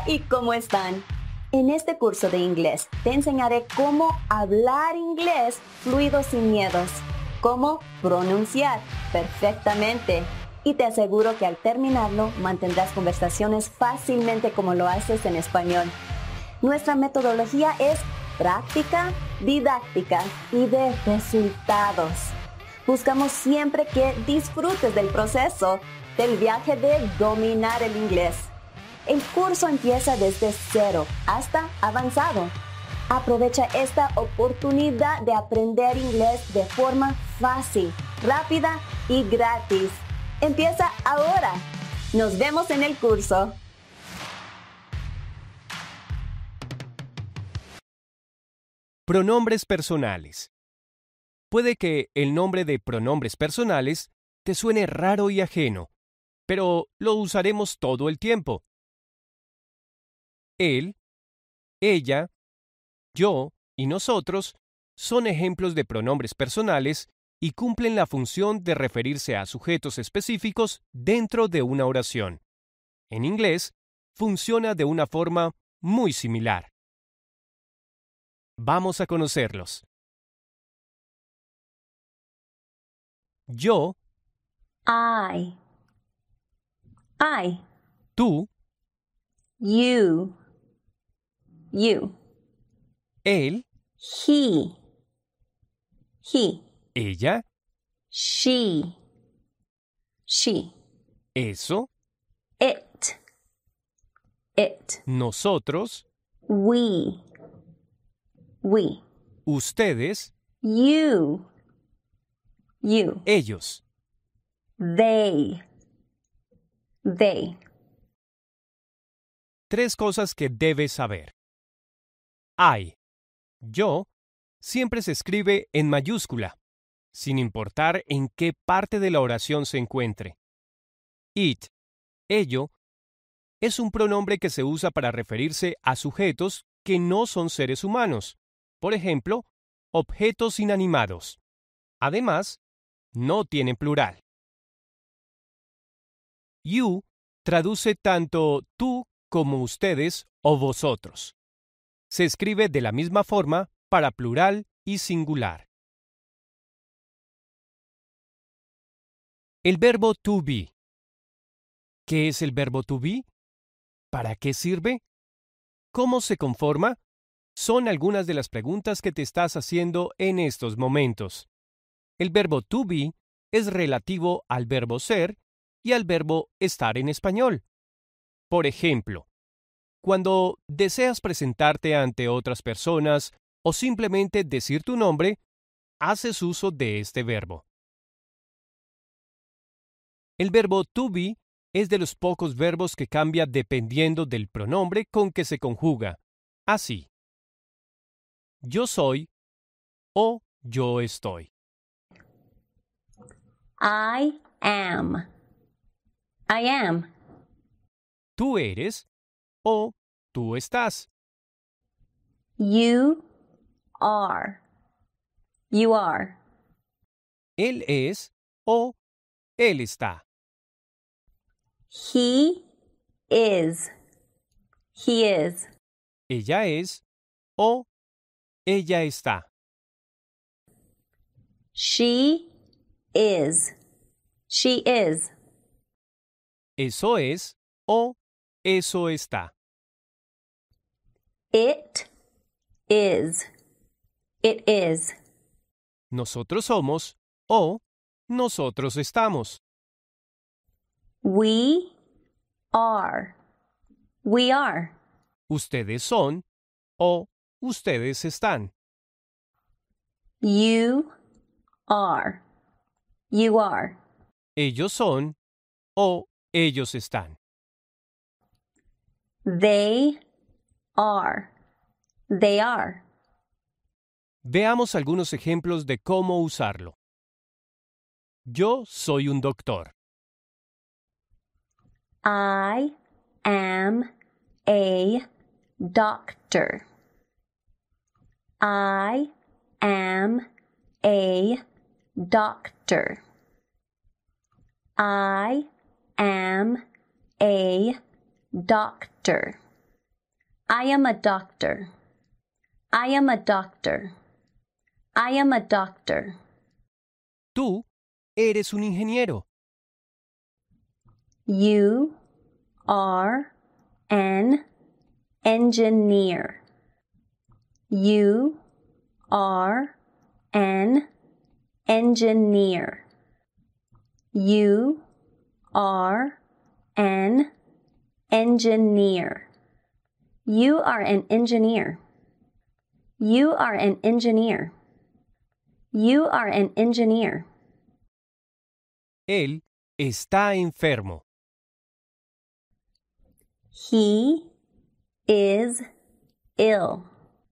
¿Y cómo están? En este curso de inglés te enseñaré cómo hablar inglés fluido sin miedos, cómo pronunciar perfectamente y te aseguro que al terminarlo mantendrás conversaciones fácilmente como lo haces en español. Nuestra metodología es práctica, didáctica y de resultados. Buscamos siempre que disfrutes del proceso, del viaje de dominar el inglés. El curso empieza desde 0 hasta avanzado. Aprovecha esta oportunidad de aprender inglés de forma fácil, rápida y gratis. Empieza ahora. Nos vemos en el curso. Pronombres personales. Puede que el nombre de pronombres personales te suene raro y ajeno, pero lo usaremos todo el tiempo. Él, ella, yo y nosotros son ejemplos de pronombres personales y cumplen la función de referirse a sujetos específicos dentro de una oración. En inglés, funciona de una forma muy similar. Vamos a conocerlos. Yo, I, tú, you, él, he, ella, she, eso, it, nosotros, we, ustedes, you, ellos. they. Tres cosas que debes saber. I, yo, siempre se escribe en mayúscula, sin importar en qué parte de la oración se encuentre. It, ello, es un pronombre que se usa para referirse a sujetos que no son seres humanos, por ejemplo, objetos inanimados. Además, no tiene plural. You traduce tanto tú como ustedes o vosotros. Se escribe de la misma forma para plural y singular. El verbo to be. ¿Qué es el verbo to be? ¿Para qué sirve? ¿Cómo se conforma? Son algunas de las preguntas que te estás haciendo en estos momentos. El verbo to be es relativo al verbo ser y al verbo estar en español. Por ejemplo, cuando deseas presentarte ante otras personas o simplemente decir tu nombre, haces uso de este verbo. El verbo to be es de los pocos verbos que cambia dependiendo del pronombre con que se conjuga. Así, yo soy o yo estoy. I am. Tú eres o tú estás. You are. Él es o él está. He is. Ella es o ella está. She is. Eso es o eso está. It is. Nosotros somos o nosotros estamos. We are. Ustedes son o ustedes están. You are. Ellos son o ellos están. They are. Veamos algunos ejemplos de cómo usarlo. Yo soy un doctor. I am a doctor. I am a doctor. I am a doctor. I am a doctor. I am a doctor. I am a doctor. Tú eres un ingeniero. You are an engineer. You are an engineer. You are an engineer. You are an engineer. You are an engineer. You are an engineer. Él está enfermo. He is ill.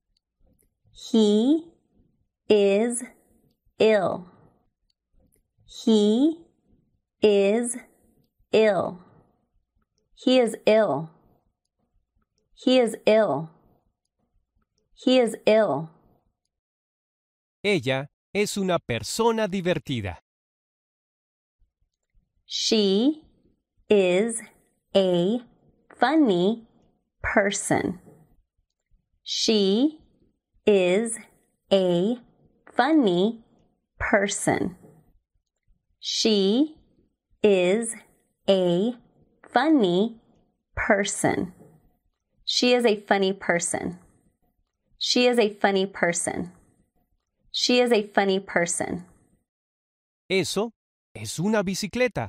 He is ill. He is ill. He is ill. He is ill. He is ill. Ella es una persona divertida. She is a funny person. She is a funny person. She is a funny person. She is a funny person. She is a funny person. She is a funny person. Eso es una bicicleta.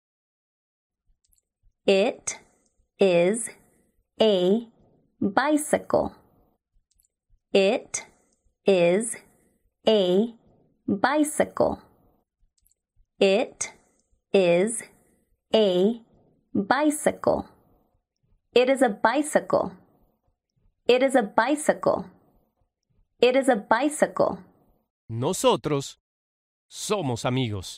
It is a bicycle. It is a bicycle. It is a bicycle. It is a bicycle. It is a bicycle. It is a bicycle. Nosotros somos amigos.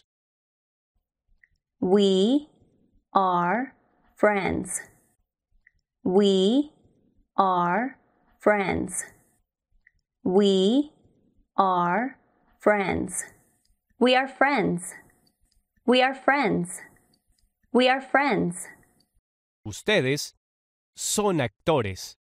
We are friends. We are friends. We are friends. We are friends. We are friends. We are friends. Ustedes son actores.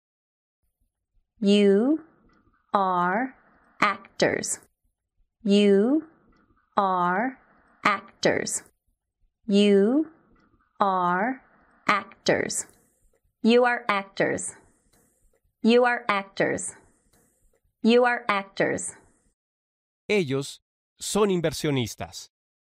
You are actors. You are actors. You are actors. You are actors. You are actors. You are actors. Ellos son inversionistas.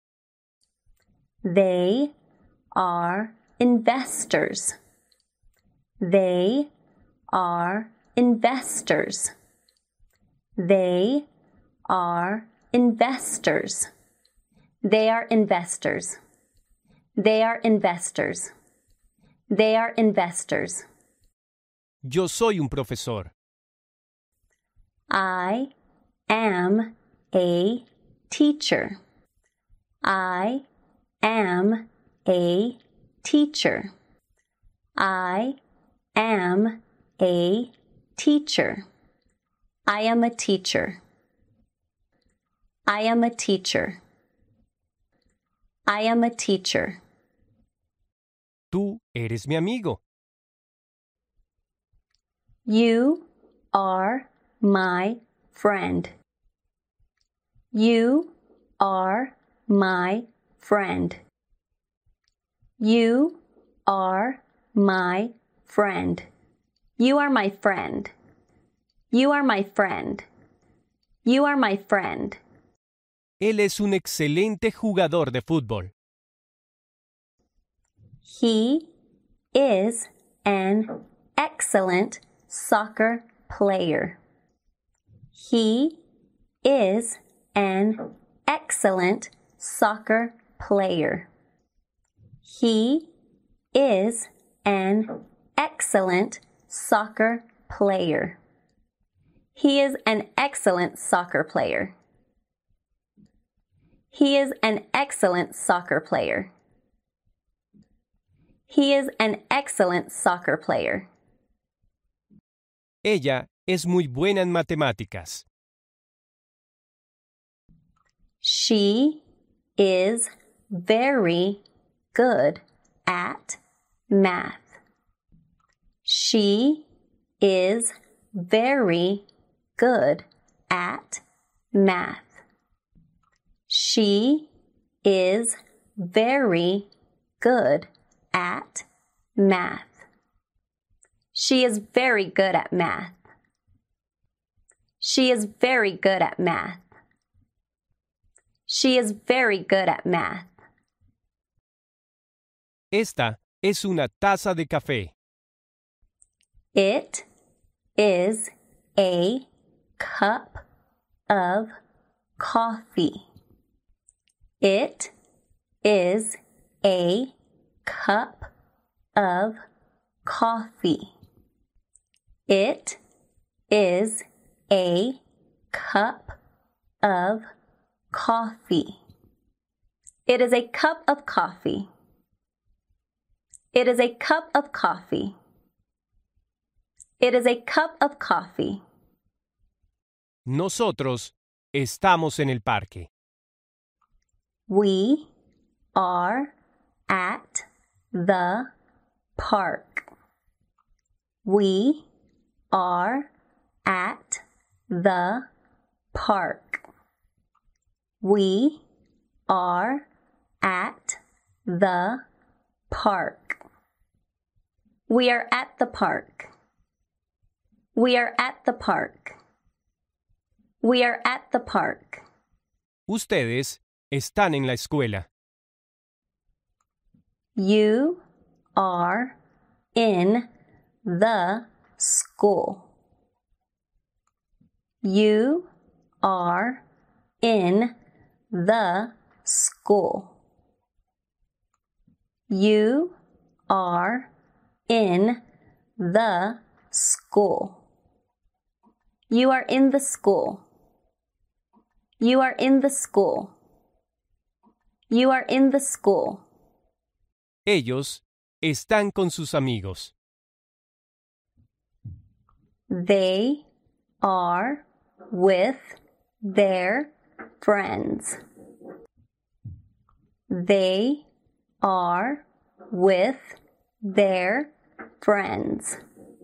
They are investors. They are investors. They are investors. They are investors. They are investors. They are investors. Yo soy un profesor. I am a teacher. I am a teacher. I am a teacher. I am a teacher. I am a teacher. I am a teacher. Tú eres mi amigo. You are my friend. You are my friend. You are my friend. You are my friend. You are my friend. You are my friend. Él es un excelente jugador de fútbol. He is an excellent soccer player. He is an excellent soccer player. He is an excellent soccer player. He is an excellent soccer player. He is an excellent soccer player. He is an excellent soccer player. Ella es muy buena en matemáticas. She is very good at math. She is very good at math. She is very good at math. She is very good at math. She is very good at math. She is very good at math. Esta es una taza de café. It is a cup of coffee. It is a cup of coffee. It is a cup of coffee. It is a cup of coffee. It is a cup of coffee. It is a cup of coffee. Nosotros estamos en el parque. We are at the park. We are at the park. We are at the park. We are at the park. We are at the park. We are at the park. Ustedes están en la escuela. You are in the school. You are in the school. You are in the school. You are in the school. You are in the school. You are in the school. Ellos están con sus amigos. They are with their friends. They are with their friends.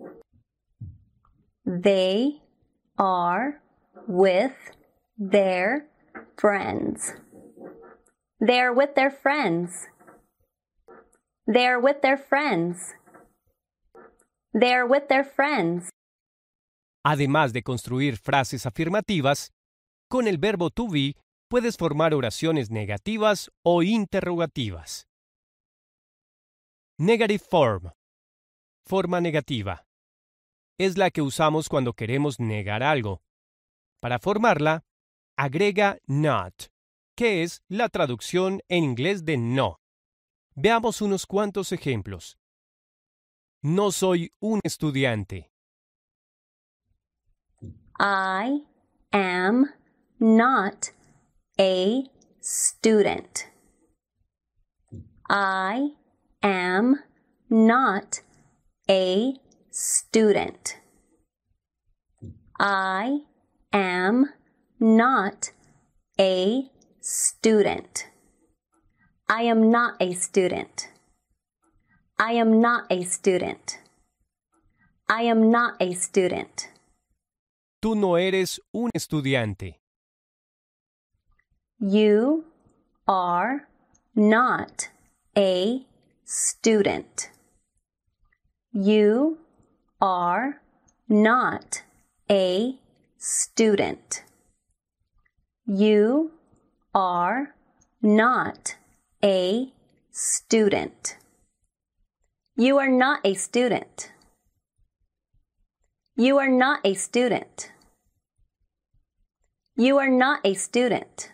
They are with their friends. They are with their friends. They are with their friends. They are with their friends. Además de construir frases afirmativas, con el verbo to be puedes formar oraciones negativas o interrogativas. Negative form. Forma negativa. Es la que usamos cuando queremos negar algo. Para formarla, agrega not, que es la traducción en inglés de no. Veamos unos cuantos ejemplos. No soy un estudiante. I am not a student. I am not a student. I am not a student. I am not a student. I am not a student. I am not a student. Tú no eres un estudiante. You are not a student. You are not a student. You are not a student. You are not a student. You are not a student. You are not a student.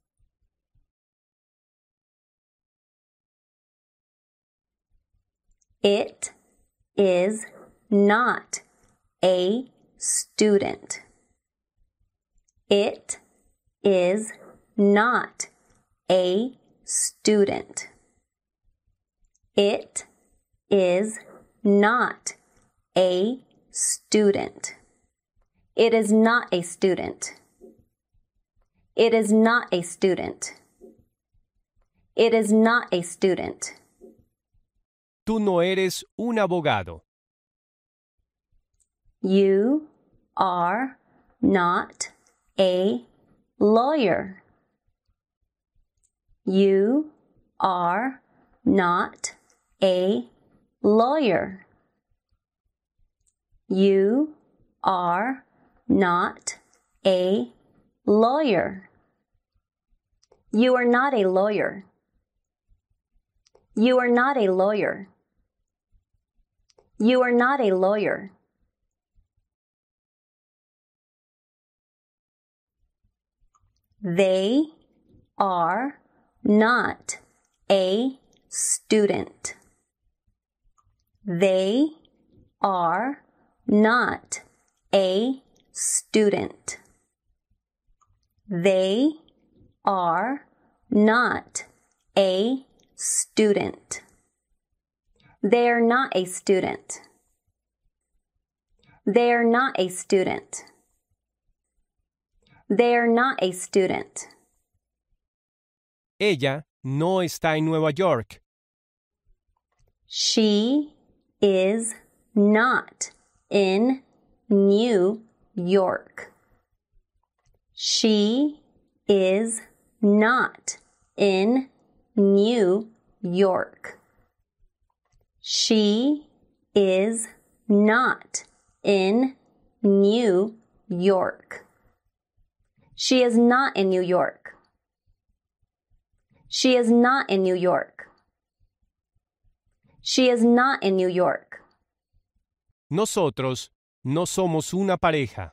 It is not a student. It is not a student. It is not a student. It is not a student. It is not a student. It is not a student. Tú no eres un abogado. You are not a lawyer. You are not a lawyer. You are not a lawyer. You are not a lawyer. You are not a lawyer. You are not a lawyer. They are not a student. They are not a student. They are not a student. They are not a student. They are not a student. They are not a student. Ella no está en Nueva York. She is not in New York. She is not in New York. She is not in New York. She is not in New York. She is not in New York. She is not in New York. Nosotros no somos una pareja.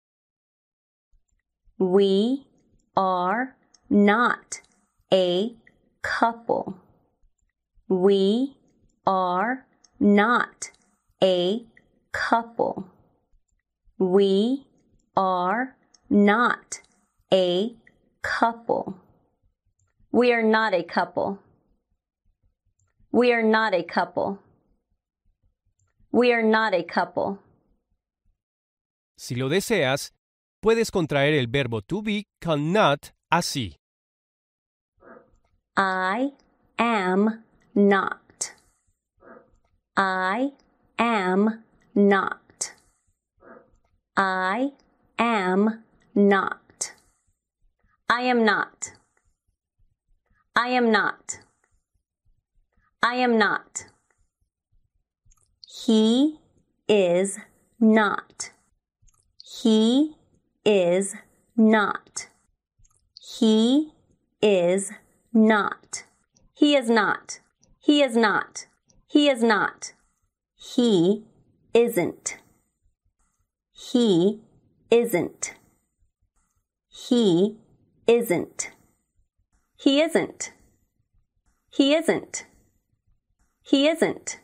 We are not a couple. We are not a couple. We are not a couple. We are not a couple. We are not a couple. We are not a couple. Si lo deseas, puedes contraer el verbo to be con not así. I am not. I am not. I am not. I am not. I am not. I am not. He is not. He is not. He is not. He is not. He is not. He is not. He isn't. He isn't. He isn't. He isn't. He isn't. He isn't.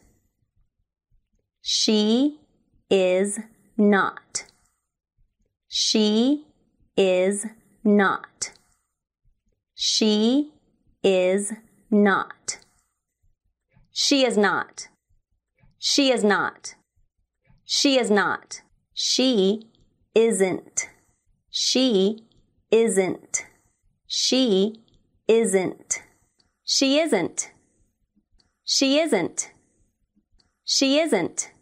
She is not. She is not. She is not. She is not. She is not. She is not. She isn't. She isn't. She isn't. She isn't. She isn't. She isn't.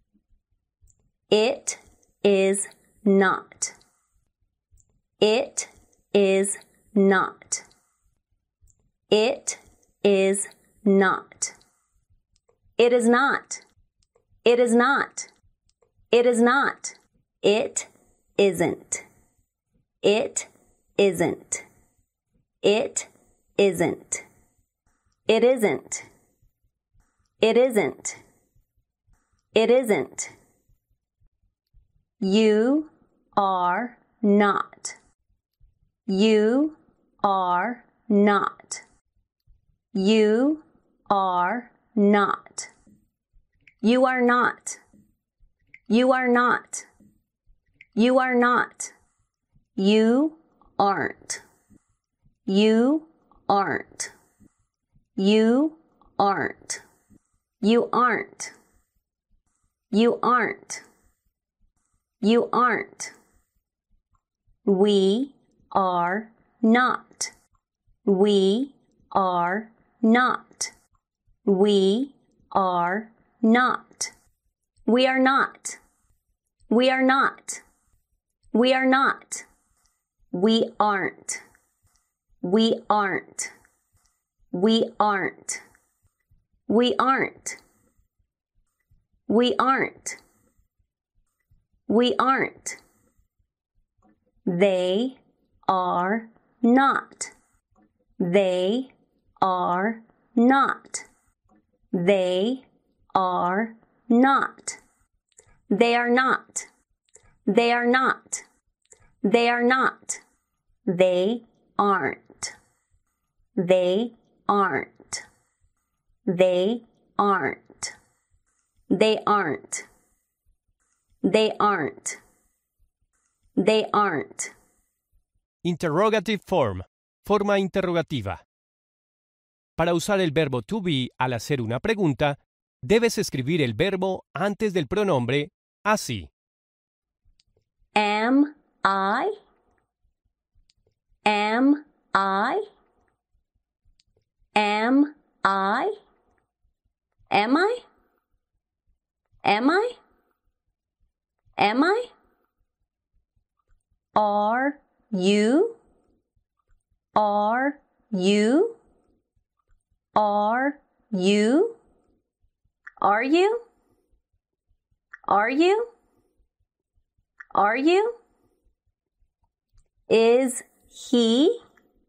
It is not. It is not. It is not. It is not. It is not. It is not. It isn't. It isn't. It isn't. It isn't. It isn't. It isn't. You are not. You are not. You are not. You are not. You are not. You are not. You aren't. You aren't. You aren't. You aren't. You aren't. You aren't. We are not. We are not. We are not. We are not. We are not. We are not. We aren't. We aren't. We aren't. We aren't. We aren't. We aren't. They are not. They are not. They are not. They are not. They are not. They are not. They aren't. They aren't. They aren't. They aren't. They aren't. They aren't. Interrogative form. Forma interrogativa. Para usar el verbo to be al hacer una pregunta, debes escribir el verbo antes del pronombre así. Am I? Am I? Am I? Am I? Am I? Am I? Are you? Are you? Are you? Are you? Are you? Are you? Is he?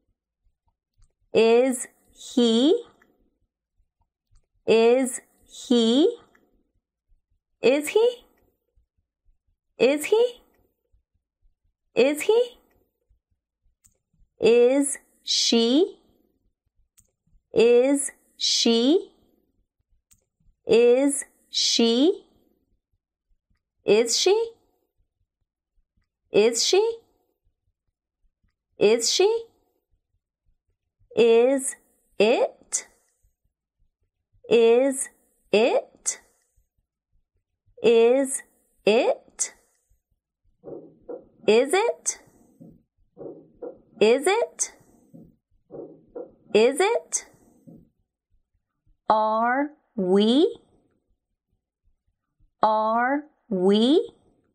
Is he? Is he? Is he? Is he? Is he? Is she? Is she? Is she? Is she? Is she? Is she? Is it? Is it? Is it? Is it? Is it? Is it? Are we? Are we?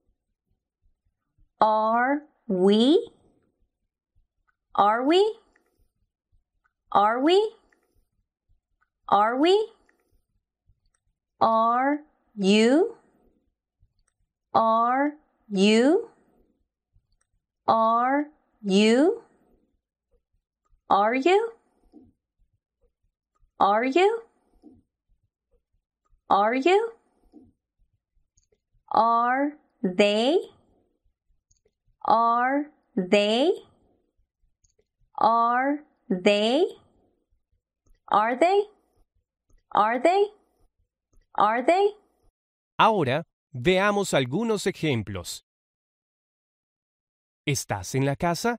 Are we? Are we? Are we? Are we? Are you? Are you? Are you? Are you? Are you? Are you? Are they? Are they? Are they? Are they? Are they? Are they? Ahora, veamos algunos ejemplos. ¿Estás en la casa?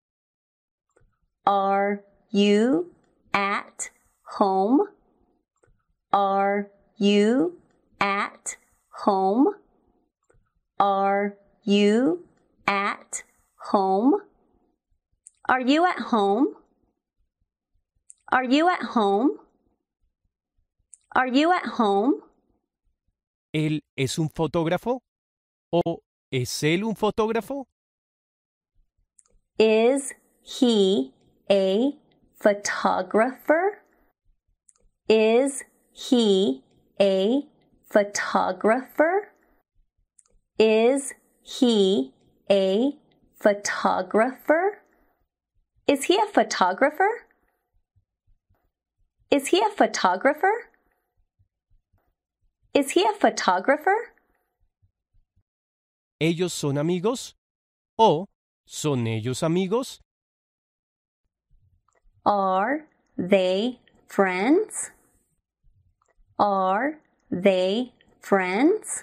Are you at home? Are you at home? Are you at home? Are you at home? Are you at home? Are you at home? ¿Él es un fotógrafo? ¿O es él un fotógrafo? Is he a photographer? Is he a photographer? Is he a photographer? Is he a photographer? Is he a photographer? Is he a photographer? ¿Ellos son amigos? ¿O son ellos amigos? Are they friends? Are they friends?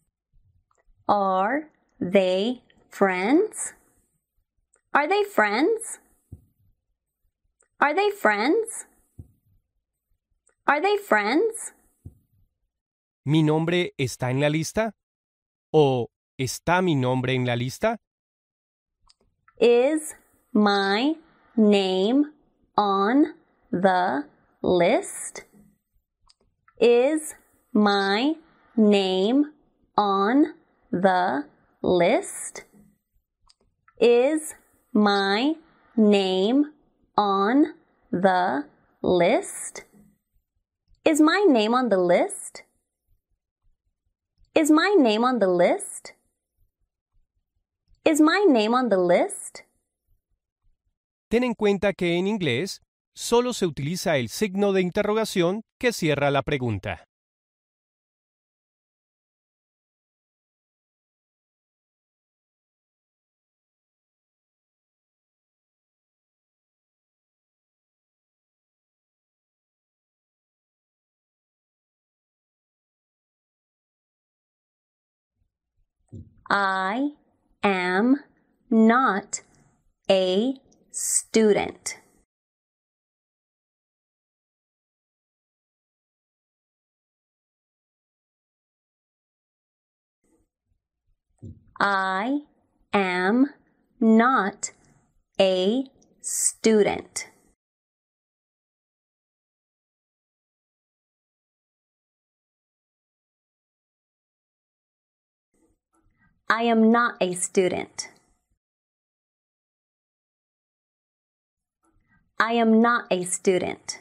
Are they friends? Are they friends? Are they friends? Are they friends? ¿Mi nombre está en la lista? ¿O está mi nombre en la lista? Is my name on the list? Is my name on the list? Is my name on the list? Is my name on the list? Is my name on the list? Is my name on the list? Ten en cuenta que en inglés solo se utiliza el signo de interrogación que cierra la pregunta. I am not a student. I am not a student. I am not a student. I am not a student.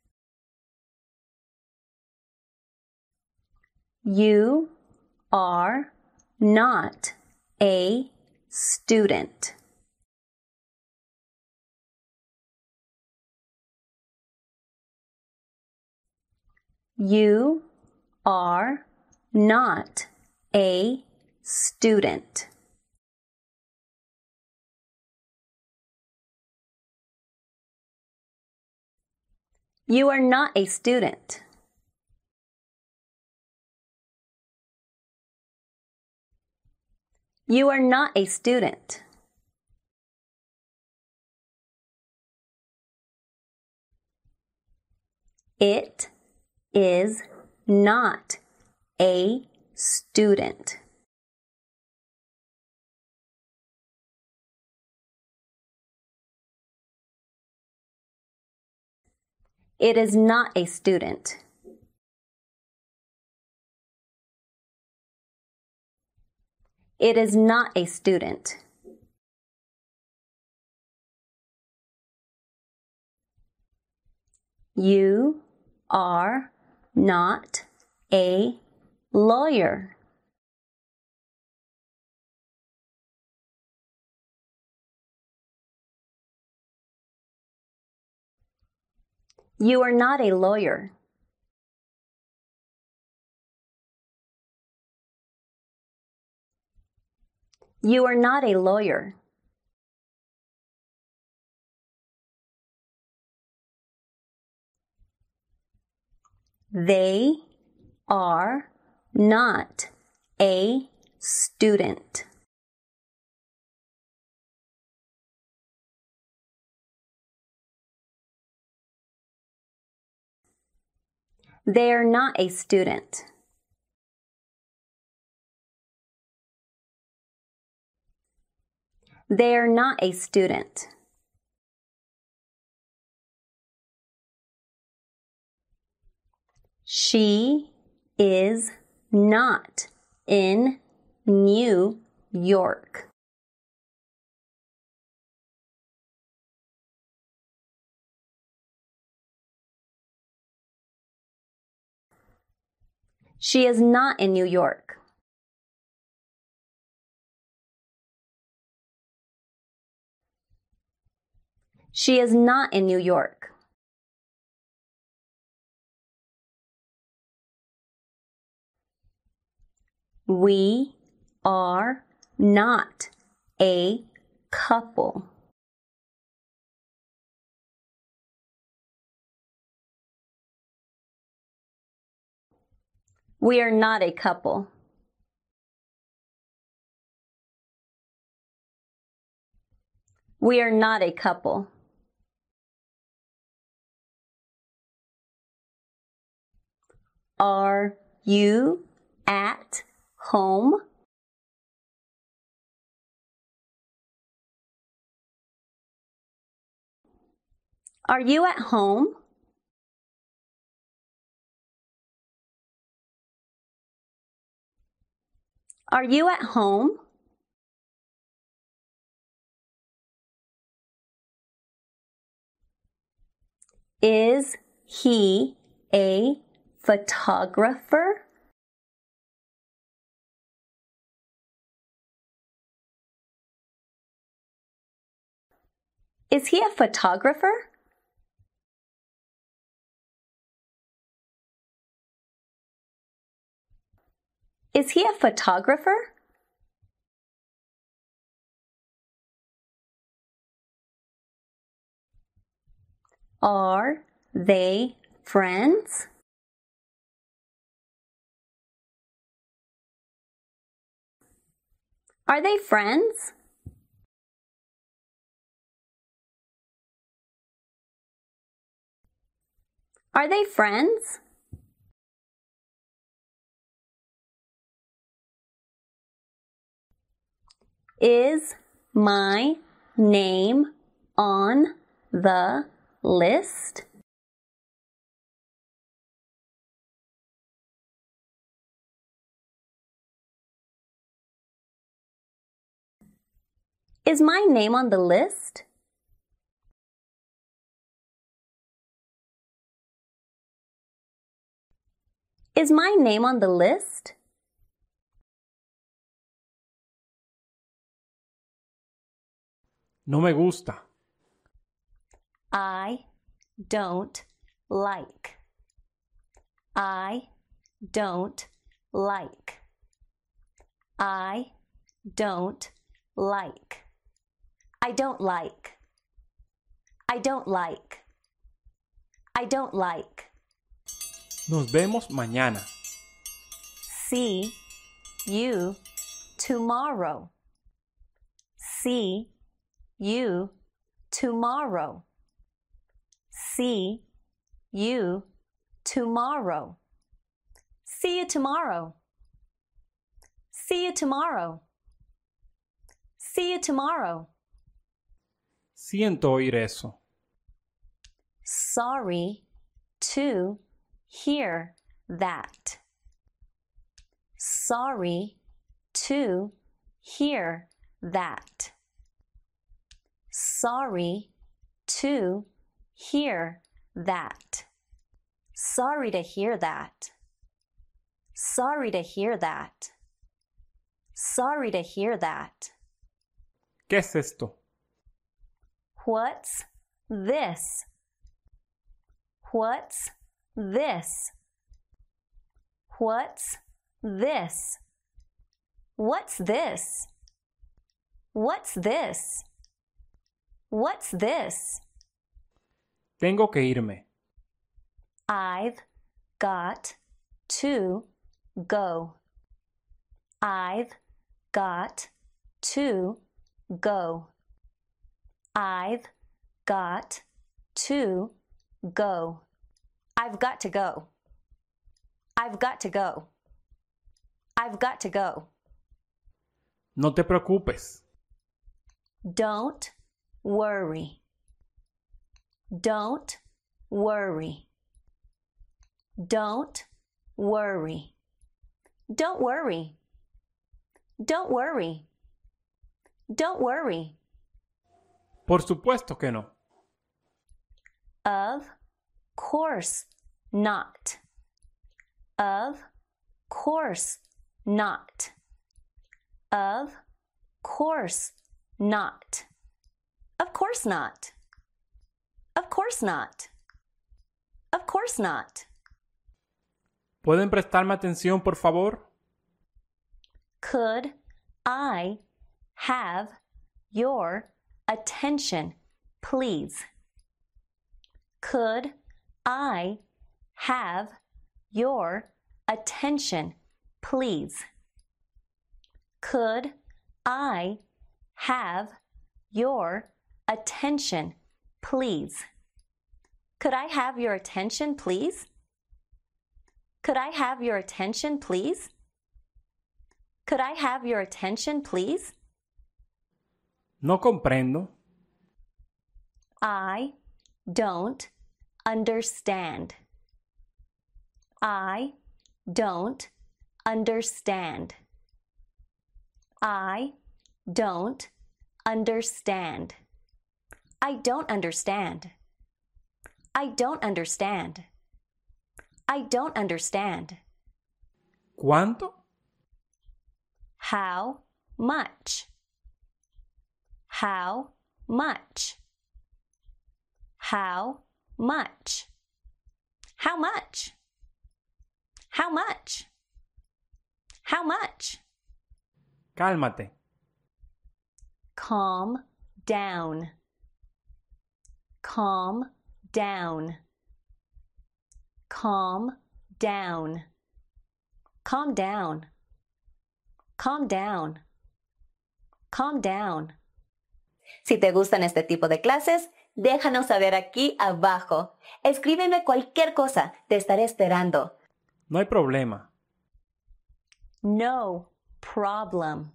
You are not a student. You are not a student. You are not a student. You are not a student. It is not a student. It is not a student. It is not a student. You are not a lawyer. You are not a lawyer. You are not a lawyer. They are not a student. They are not a student. They are not a student. She is not in New York. She is not in New York. She is not in New York. We are not a couple. We are not a couple. We are not a couple. Are you at home? Are you at home? Are you at home? Is he a photographer? Is he a photographer? Is he a photographer? Are they friends? Are they friends? Are they friends? Is my name on the list? Is my name on the list? Is my name on the list? No me gusta. I don't like. I don't like. I don't like. I don't like. I don't like. I don't like. Nos vemos mañana. See you tomorrow. See you tomorrow. See you tomorrow. See you tomorrow. See you tomorrow. See you tomorrow. Siento oír eso. Sorry to hear that. Sorry to hear that. Sorry to hear that. Sorry to hear that. Sorry to hear that. Sorry to hear that. ¿Qué es esto? What's this? What's this? What's this? What's this? What's this? What's this? Tengo que irme. I've got to go. I've got to go. I've got to go. I've got to go. I've got to go. I've got to go. No te preocupes. Don't worry. Don't worry. Don't worry. Don't worry. Don't worry. Don't worry. Por supuesto que no. Of course not. Of course not. Of course not. Of course not. Of course not. Of course not. ¿Pueden prestarme atención, por favor? Could I have your attention, please? Could I have your attention, please? Could I have your attention, please? Could I have your attention, please? Could I have your attention, please? Could I have your attention, please? No comprendo. I don't understand. I don't understand. I don't understand. I don't understand. I don't understand. I don't understand. ¿Cuánto? How much? How much? How much? How much? How much? How much? Cálmate. Calm down. Calm down. Calm down. Calm down. Calm down. Calm down. Si te gustan este tipo de clases, déjanos saber aquí abajo. Escríbeme cualquier cosa, te estaré esperando. No hay problema. No problem.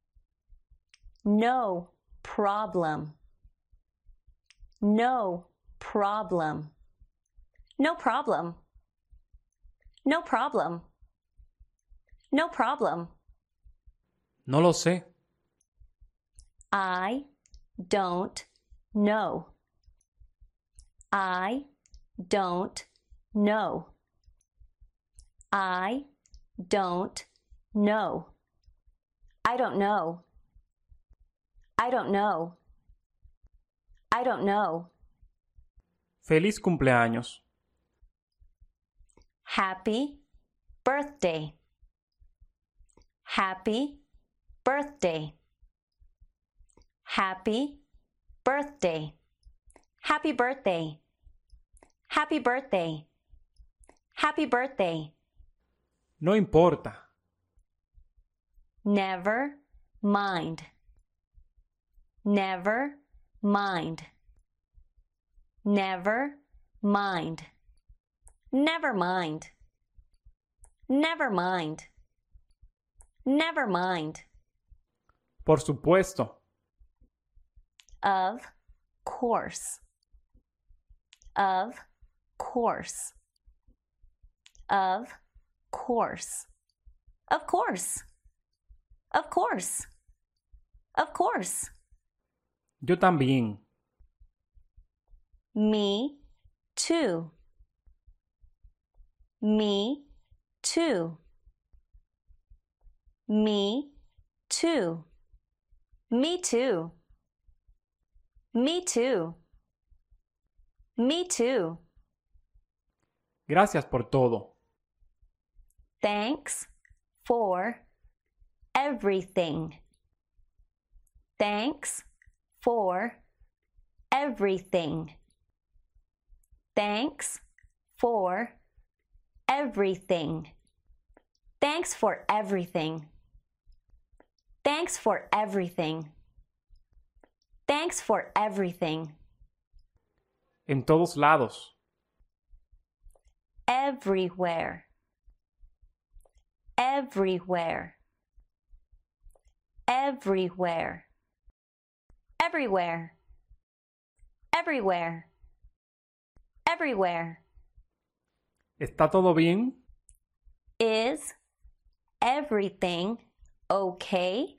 No problem. No problem. No problem. No problem. No problem. No lo sé. I don't know. I don't know. I don't know. I don't know. I don't know. I don't know. Feliz cumpleaños. Happy birthday. Happy birthday. Happy birthday. Happy birthday. Happy birthday. Happy birthday. No importa. Never mind. Never mind. Never mind. Never mind. Never mind. Never mind. Por supuesto. Of course. Of course. Of course. Of course. Of course. Of course. Yo también. Me too. Me too. Me too. Me too. Me too. Me too. Gracias por todo. Thanks for everything. Thanks for everything. Thanks for everything. Thanks for everything. Thanks for everything. Thanks for everything. En todos lados. Everywhere. Everywhere. Everywhere. Everywhere. Everywhere. Everywhere. ¿Está todo bien? Is everything okay?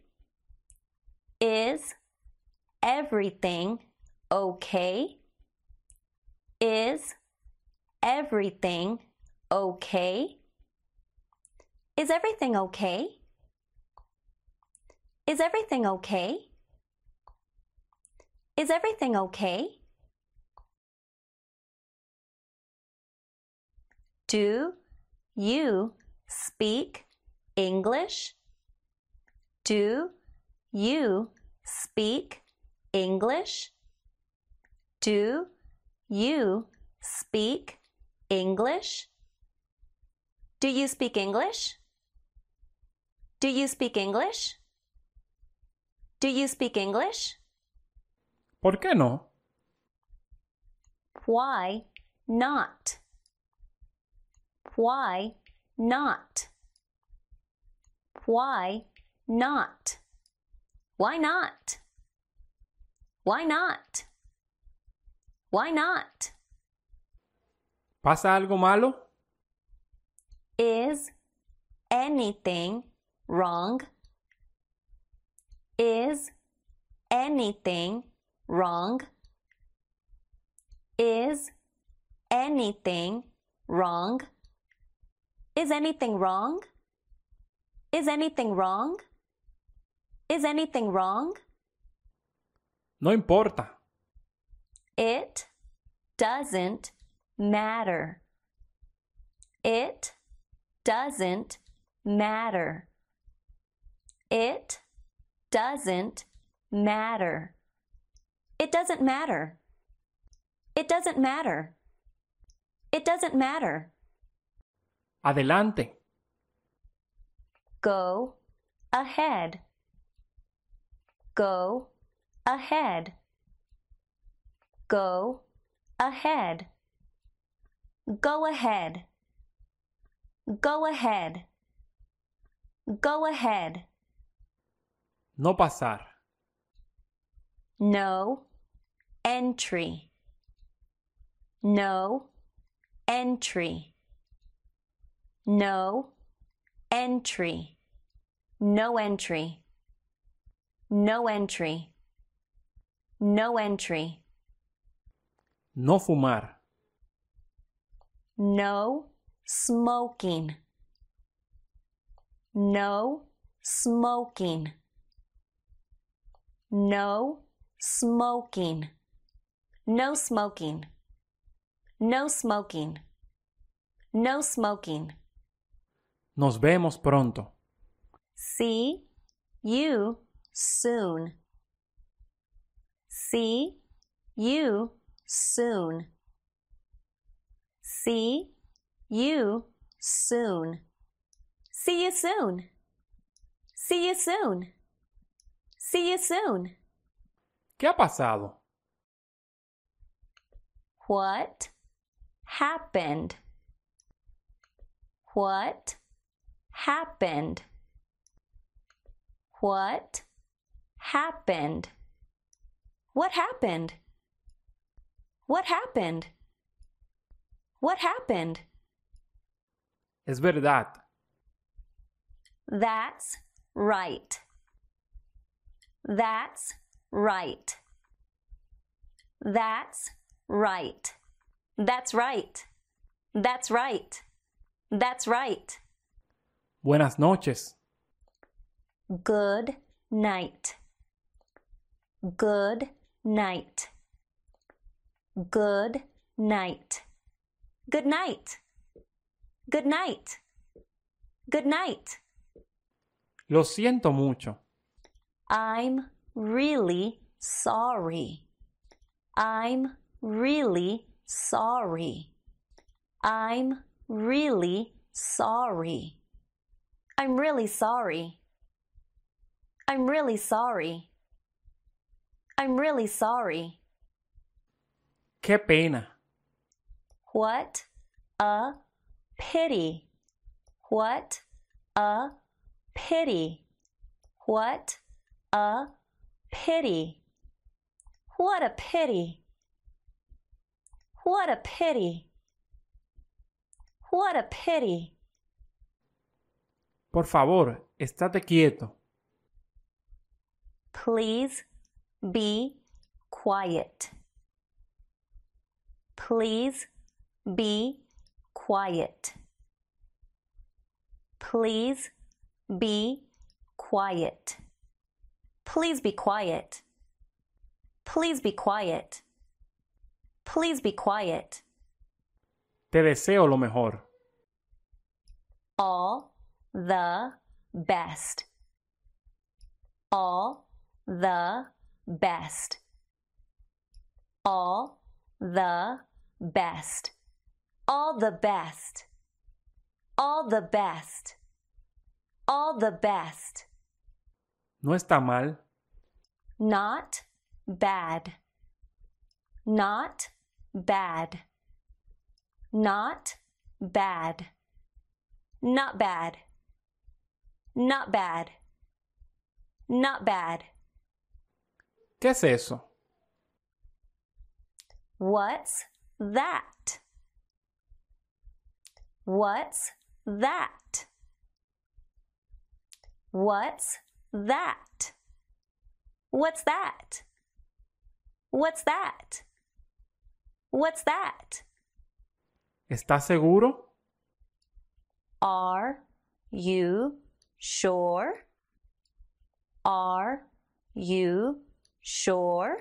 Is everything okay? Is everything okay? Is everything okay? Is everything okay? Is everything okay? Do you speak English? Do you speak English? Do you speak English? Do you speak English? Do you speak English? Do you speak English? ¿Por qué no? Why not? Why not? Why not? Why not? Why not? Why not? ¿Pasa algo malo? Is anything wrong? Is anything wrong? Is anything wrong? Is anything wrong? Is anything wrong? Is anything wrong? No importa. It doesn't matter. It doesn't matter. It doesn't matter. It doesn't matter. It doesn't matter. It doesn't matter. Adelante. Go ahead. Go ahead. Go ahead. Go ahead. Go ahead. Go ahead. No pasar. No entry. No entry. No entry. No entry. No entry. No entry. No fumar. No smoking. No smoking. No smoking. No smoking. No smoking. No smoking. Nos vemos pronto. See you soon. See you soon. See you soon. See you soon. See you soon. See you soon. ¿Qué ha pasado? What happened? What happened? What happened? What happened? What happened? What happened? Es verdad. That's right. That's right. That's right. That's right. That's right. That's right. Buenas noches. Good night. Good night. Good night. Good night. Good night. Good night. Lo siento mucho. I'm really sorry. I'm really sorry. I'm really sorry. I'm really sorry. I'm really sorry. I'm really sorry. Qué pena. What a pity. What a pity. What a pity. What a pity. What a pity. What a pity. Por favor, estate quieto. Please be quiet. Please be quiet. Please be quiet. Please be quiet. Please be quiet. Please be quiet. Te deseo lo mejor. All the best. All the best. All the best. All the best. All the best. All the best. No está mal. Not bad. Not bad. Not bad. Not bad. Not bad. Not bad. ¿Qué es eso? What's that? What's that? What's that? What's that? What's that? What's that? ¿Estás seguro? Are you sure? Are you sure?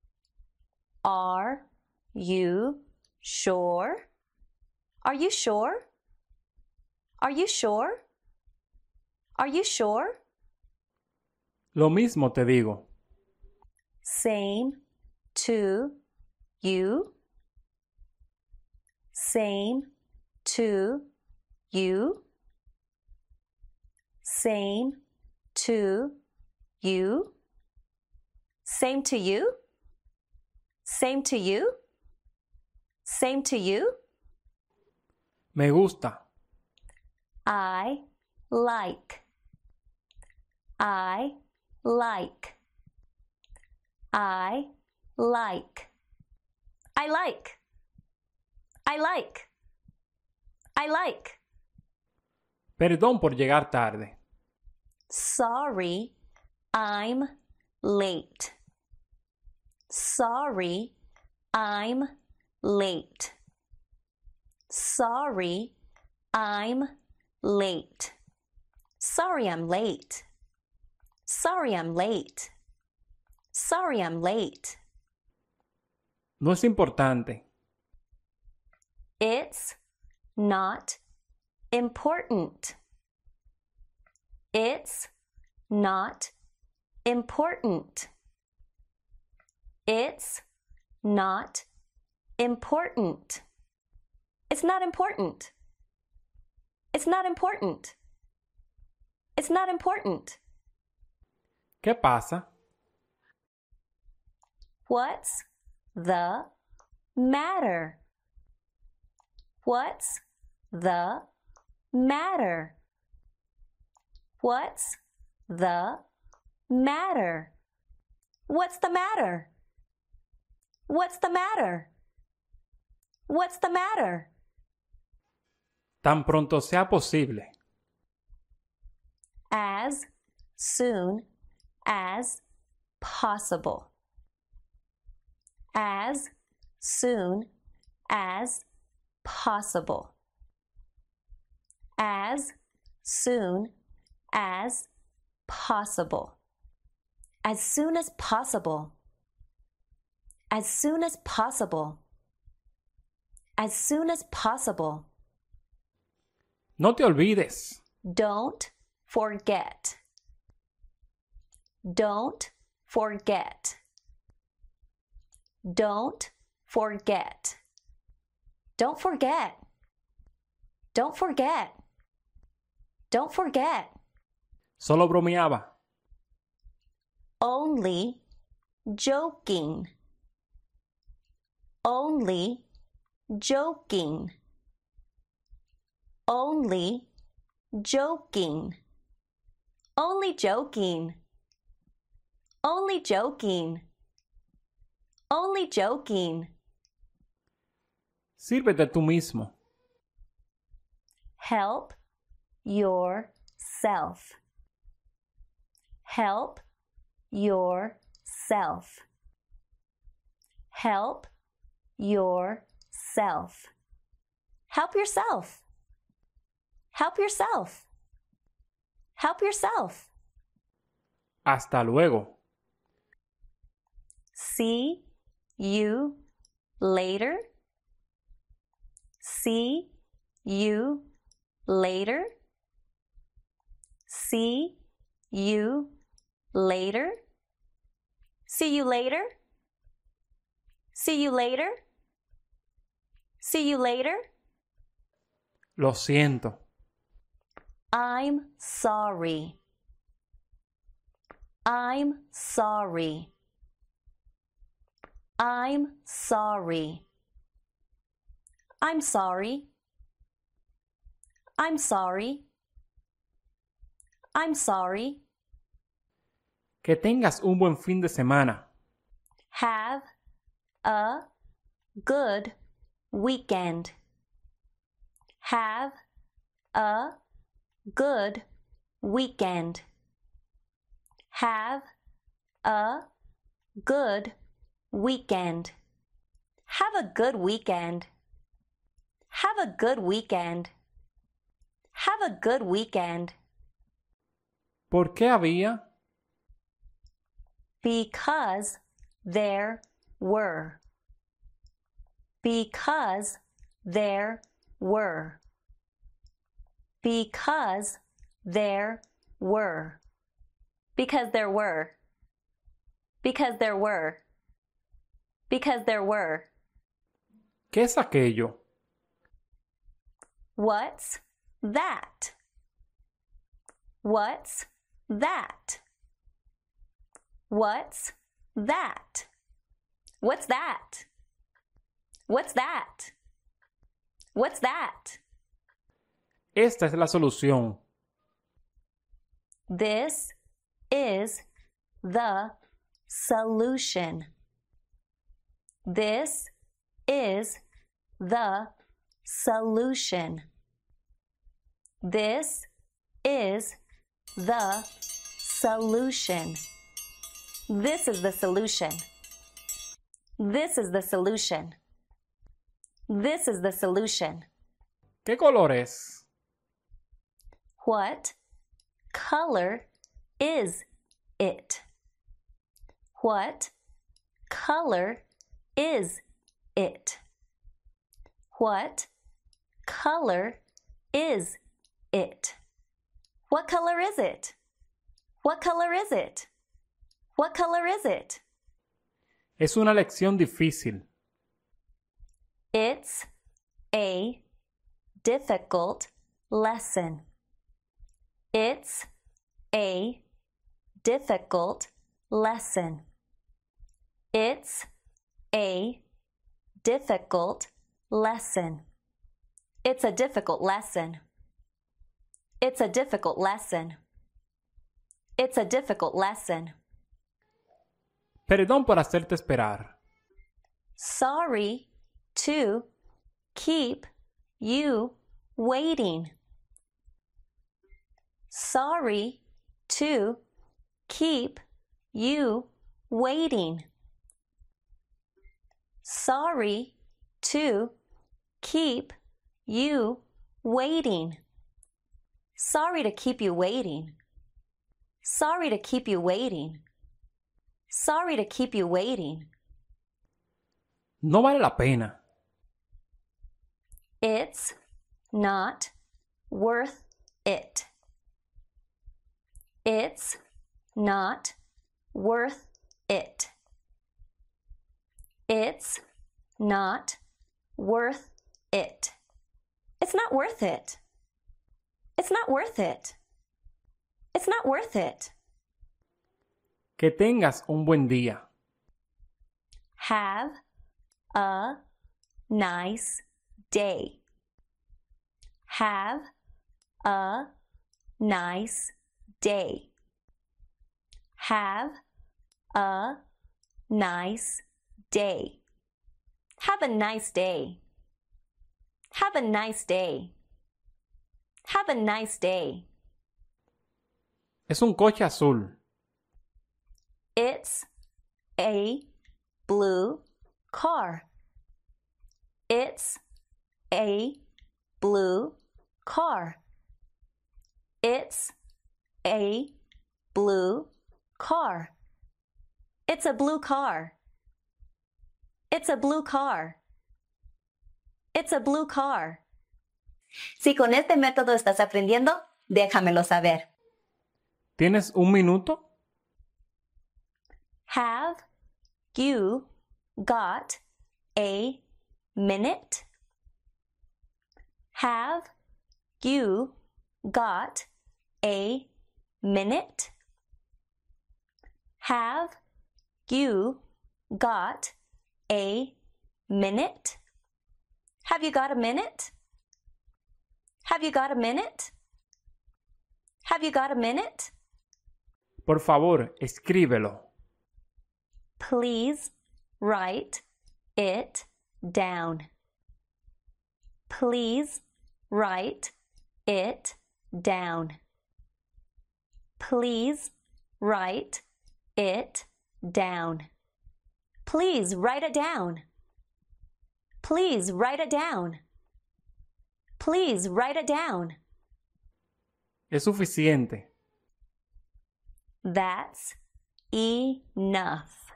Are you sure? Are you sure? Are you sure? Are you sure? Lo mismo te digo. Same to you. Same to you. Same to you. Same to you. Same to you. Same to you. Me gusta. I like. I like. I like. I like. I like. I like. Perdón por llegar tarde. Sorry, I'm late. Sorry, I'm late. Sorry, I'm late. Sorry, I'm late. Sorry, I'm late. Sorry, I'm late. No es importante. It's not important. It's not important. It's not important. It's not important. It's not important. It's not important. ¿Qué pasa? What's the matter? What's the matter? What's the matter? What's the matter? What's the matter? What's the matter? Tan pronto sea posible. As soon as possible. As soon as possible. As soon as possible. As soon as possible. As soon as possible. As soon as possible. No te olvides. Don't forget. Don't forget. Don't forget. Don't forget. Don't forget. Don't forget. Solo bromeaba. Only joking. Only joking. Only joking. Only joking. Only joking. Only joking. Sírvete tú mismo. Help yourself. Help yourself. Help yourself. Help yourself. Help yourself. Help yourself. Hasta luego. See you later. See you later. See you later. See you later. See you later. See you later. Lo siento. I'm sorry. I'm sorry. I'm sorry. I'm sorry. I'm sorry. I'm sorry. Que tengas un buen fin de semana. Have a good weekend. Have a good weekend. Have a good weekend. Have a good weekend. Have a good weekend. Have a good weekend. ¿Por qué había? Because there were. Because there were. Because there were. Because there were. Because there were. Because there were. ¿Qué es aquello? What's that? What's that? What's that? What's that? What's that? What's that? Esta es la solución. This is the solution. This is the solution. This is the solution. This is the solution. This is the solution. This is the solution. ¿Qué color es? What color is it? What color is it? What color is it? What color is it? What color is it? What color is it? Es una lección difícil. It's a difficult lesson. It's a difficult lesson. It's a difficult lesson. It's a difficult lesson. It's a difficult lesson. It's a difficult lesson. Perdón por hacerte esperar. Sorry to keep you waiting. Sorry to keep you waiting. Sorry to keep you waiting. Sorry to keep you waiting. Sorry to keep you waiting. Sorry to keep you waiting. No vale la pena. It's not worth it. It's not worth it. It's not worth it. It's not worth it. It's not worth it. It's not worth it. Que tengas un buen día. Have a nice day. Have a nice day. Have a nice day. Have a nice day. Have a nice day. Have a nice day. Es un coche azul. It's a blue car. It's a blue car. It's a blue car. It's a blue car. It's a blue car. It's a blue car. Si con este método estás aprendiendo, déjamelo saber. ¿Tienes un minuto? Have you got a minute? Have you got a minute? Have you got a minute? Have you got a minute? Have you got a minute? Have you got a minute? Por favor, escríbelo. Please write it down. Please write it down. Please write it down. Please write it down. Please write it down. Please write it down. Es suficiente. That's enough.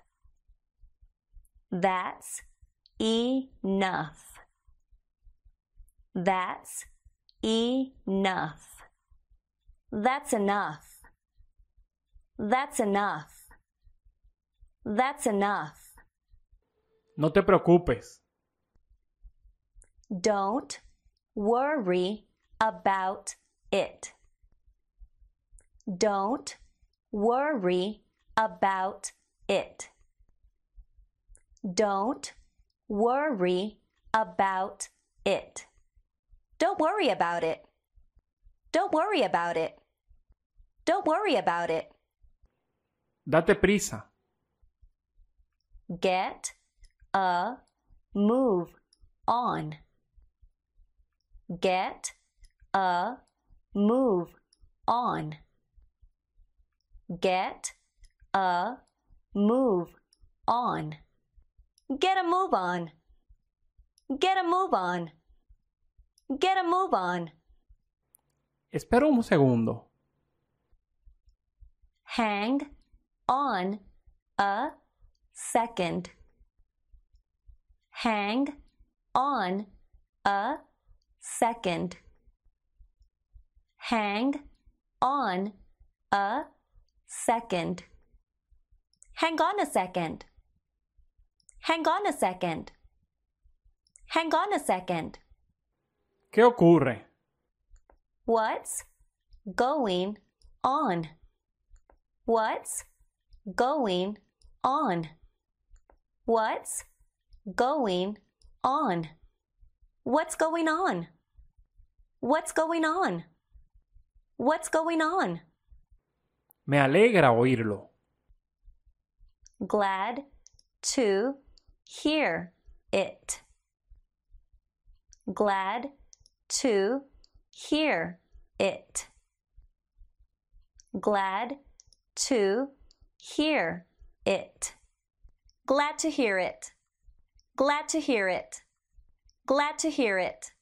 That's enough. That's enough. That's enough. That's enough. That's enough. No te preocupes. Don't worry about it. Don't worry about it. Don't worry about it. Don't worry about it. Don't worry about it. Don't worry about it. Date prisa. Get a move on. Get a move on. Get a move on. Get a move on. Get a move on. Get a move on. Espera un segundo. Hang on a second. Hang on a second. Hang on a second. Hang on a second. Hang on a second. Hang on a second. ¿Qué ocurre? What's going on? What's going on? What's going on? What's going on? What's going on? What's going on? Me alegra oírlo. Glad to hear it. Glad to hear it. Glad to hear it. Glad to hear it. Glad to hear it. Glad to hear it.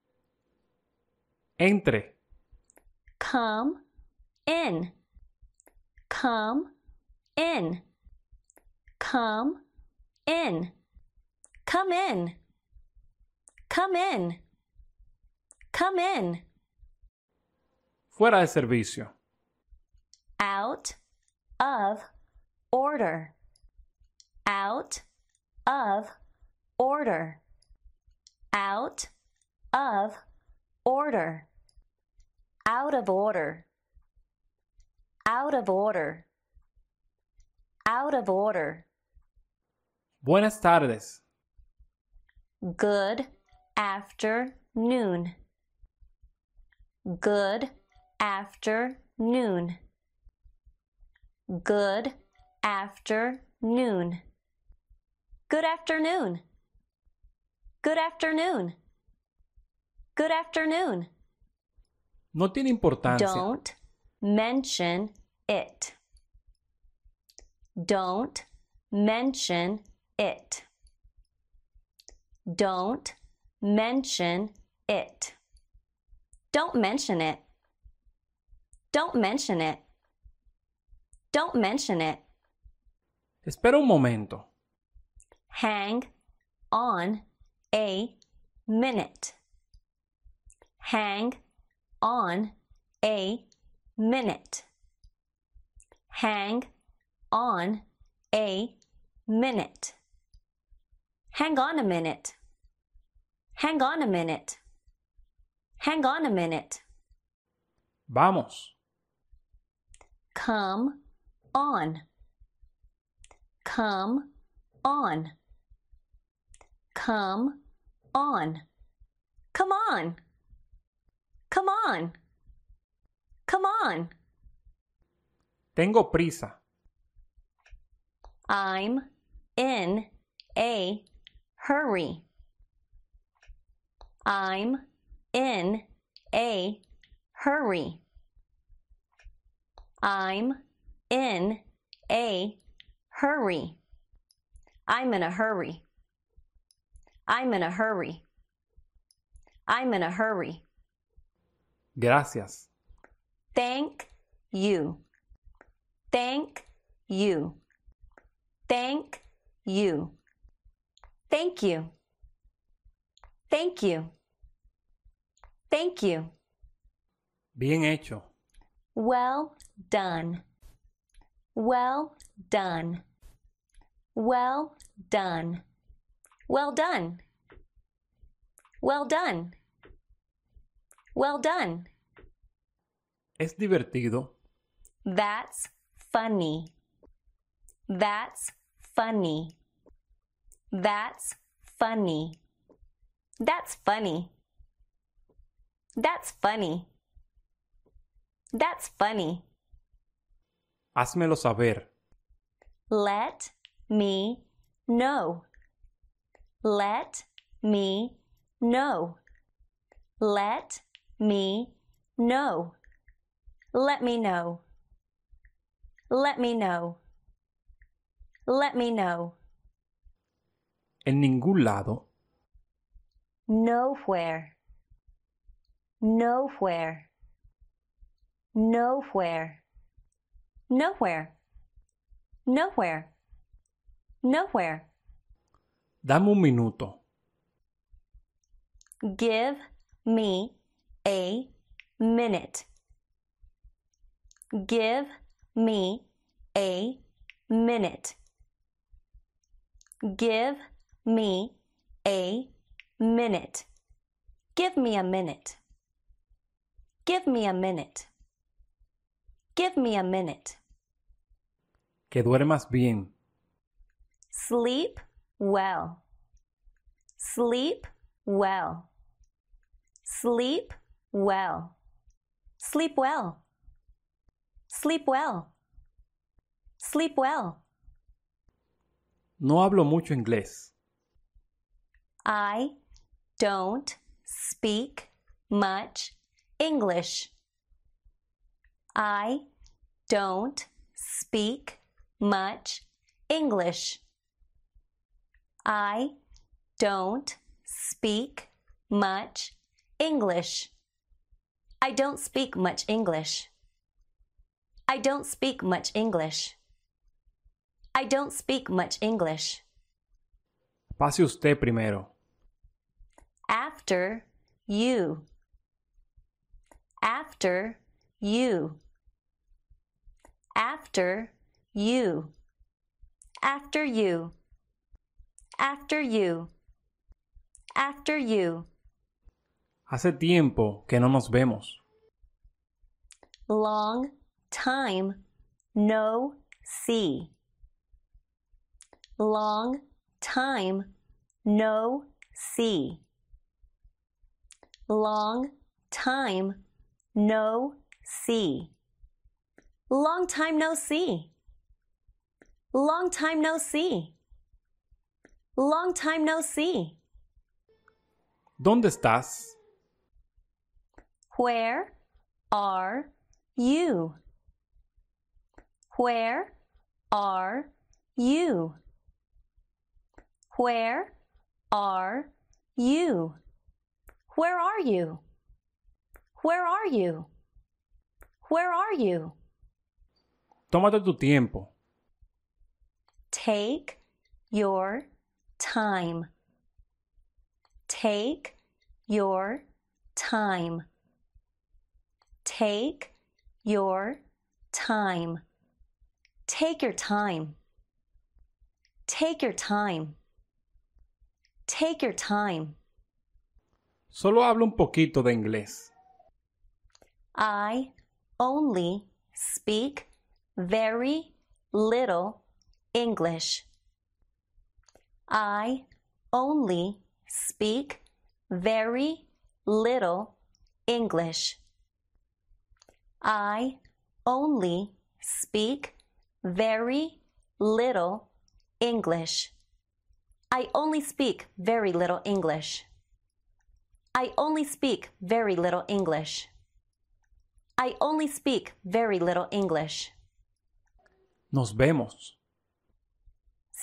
Entre. Come in. Come in. Come in. Come in. Come in. Come in. Fuera de servicio. Out of order. Out of order. Out of order. Out of order. Out of order. Out of order. Buenas tardes. Good afternoon. Good afternoon. Good afternoon. Good afternoon. Good afternoon. Good afternoon. No tiene importancia. Don't mention it. Don't mention it. Don't mention it. Don't mention it. Don't mention it. Don't mention it. Espera un momento. Hang on a minute. Hang on a minute. Hang on a minute. Hang on a minute. Hang on a minute. Hang on a minute. Vamos. Come on. Come on. Come on. Come on. Come on. Come on. Tengo prisa. I'm in a hurry. I'm in a hurry. I'm in a Hurry. I'm in a hurry. I'm in a hurry. I'm in a hurry. Gracias. Thank you. Thank you. Thank you. Thank you. Thank you. Thank you. Bien hecho. Well done. Well done. Well done. Well done. Well done. Well done. Es divertido. That's funny. That's funny. That's funny. That's funny. That's funny. That's funny. Házmelo saber. Let me know. Let me know. Let me know. Let me know. Let me know. Let me know. En ningún lado. Nowhere. Nowhere. Nowhere. Nowhere. Nowhere. Nowhere. Dame un minuto. Give me a minute. Give me a minute. Give me a minute. Give me a minute. Give me a minute. Give me a minute. Que duermas bien. Sleep well. Sleep well. Sleep well. Sleep well. Sleep well. Sleep well. No hablo mucho inglés. I don't speak much English. I don't speak much English. I don't speak much English. I don't speak much English. I don't speak much English. I don't speak much English. Pase usted primero. After you. After you. After you. After you. After you. After you. Hace tiempo que no nos vemos. Long time no see. Long time no see. Long time no see. Long time no see. Long time no see. Long time no see. ¿Dónde estás? Where are you? Where are you? Where are you? Where are you? Where are you? Where are you? Tómate tu tiempo. Take your time. Take your time. Take your time. Take your time. Take your time. Take your time. Solo hablo un poquito de inglés. I only speak very little English. I only speak very little English. I only speak very little English. I only speak very little English. I only speak very little English. I only speak very little English. Nos vemos.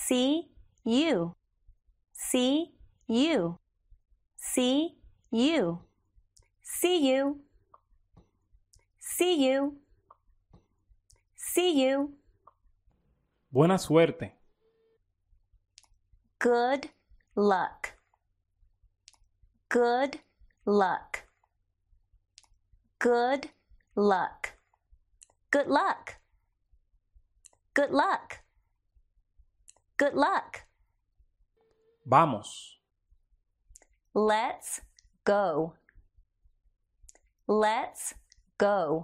See you. See you. See you. See you. See you. See you. Buena suerte. Good luck. Good luck. Good luck. Good luck. Good luck. Good luck. Vamos. Let's go. Let's go.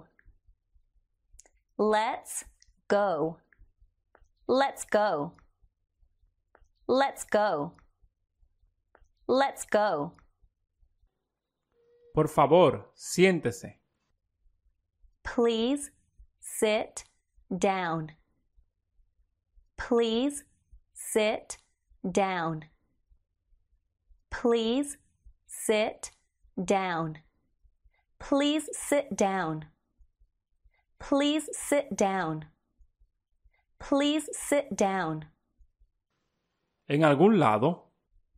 Let's go. Let's go. Let's go. Let's go. Por favor, siéntese. Please sit down. Please sit down. Please sit down. Please sit down. Please sit down. Please sit down. ¿En algún lado?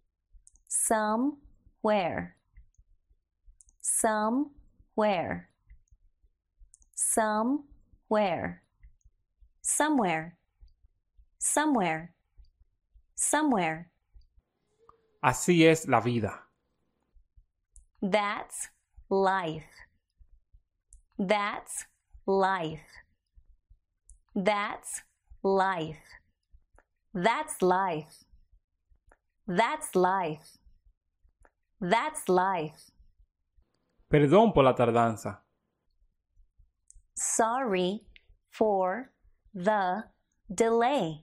Somewhere. Somewhere. Somewhere. Somewhere. Somewhere. Somewhere. Así es la vida. That's life. That's life. That's life. That's life. That's life. That's life. Perdón por la tardanza. Sorry for the delay.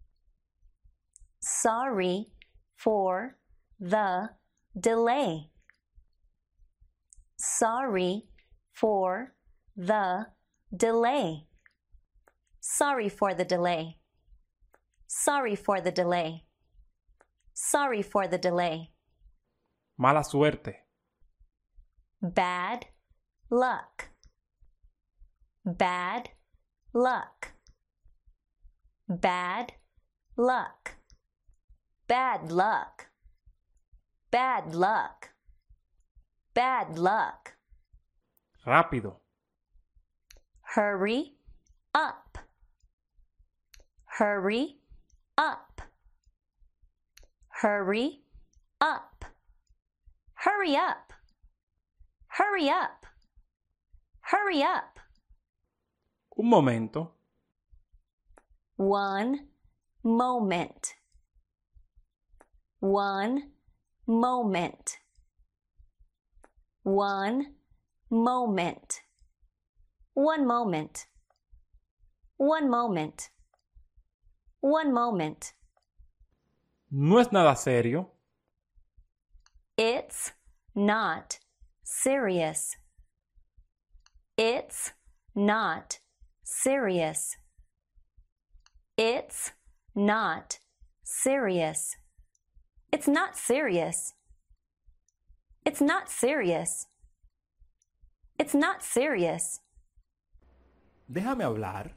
Sorry for the delay. Sorry for the delay. Sorry for the delay. Sorry for the delay. Sorry for the delay. Mala suerte. Bad luck. Bad luck. Bad luck. Bad luck. Bad luck. Bad luck. Rápido. Hurry up. Hurry up. Hurry up. Hurry up. Hurry up. Hurry up. Un momento. One moment. One moment. One moment. One moment. One moment. One moment. No es nada serio. It's not serious. It's not serious. It's not serious. It's not serious. It's not serious. It's not serious. Déjame hablar.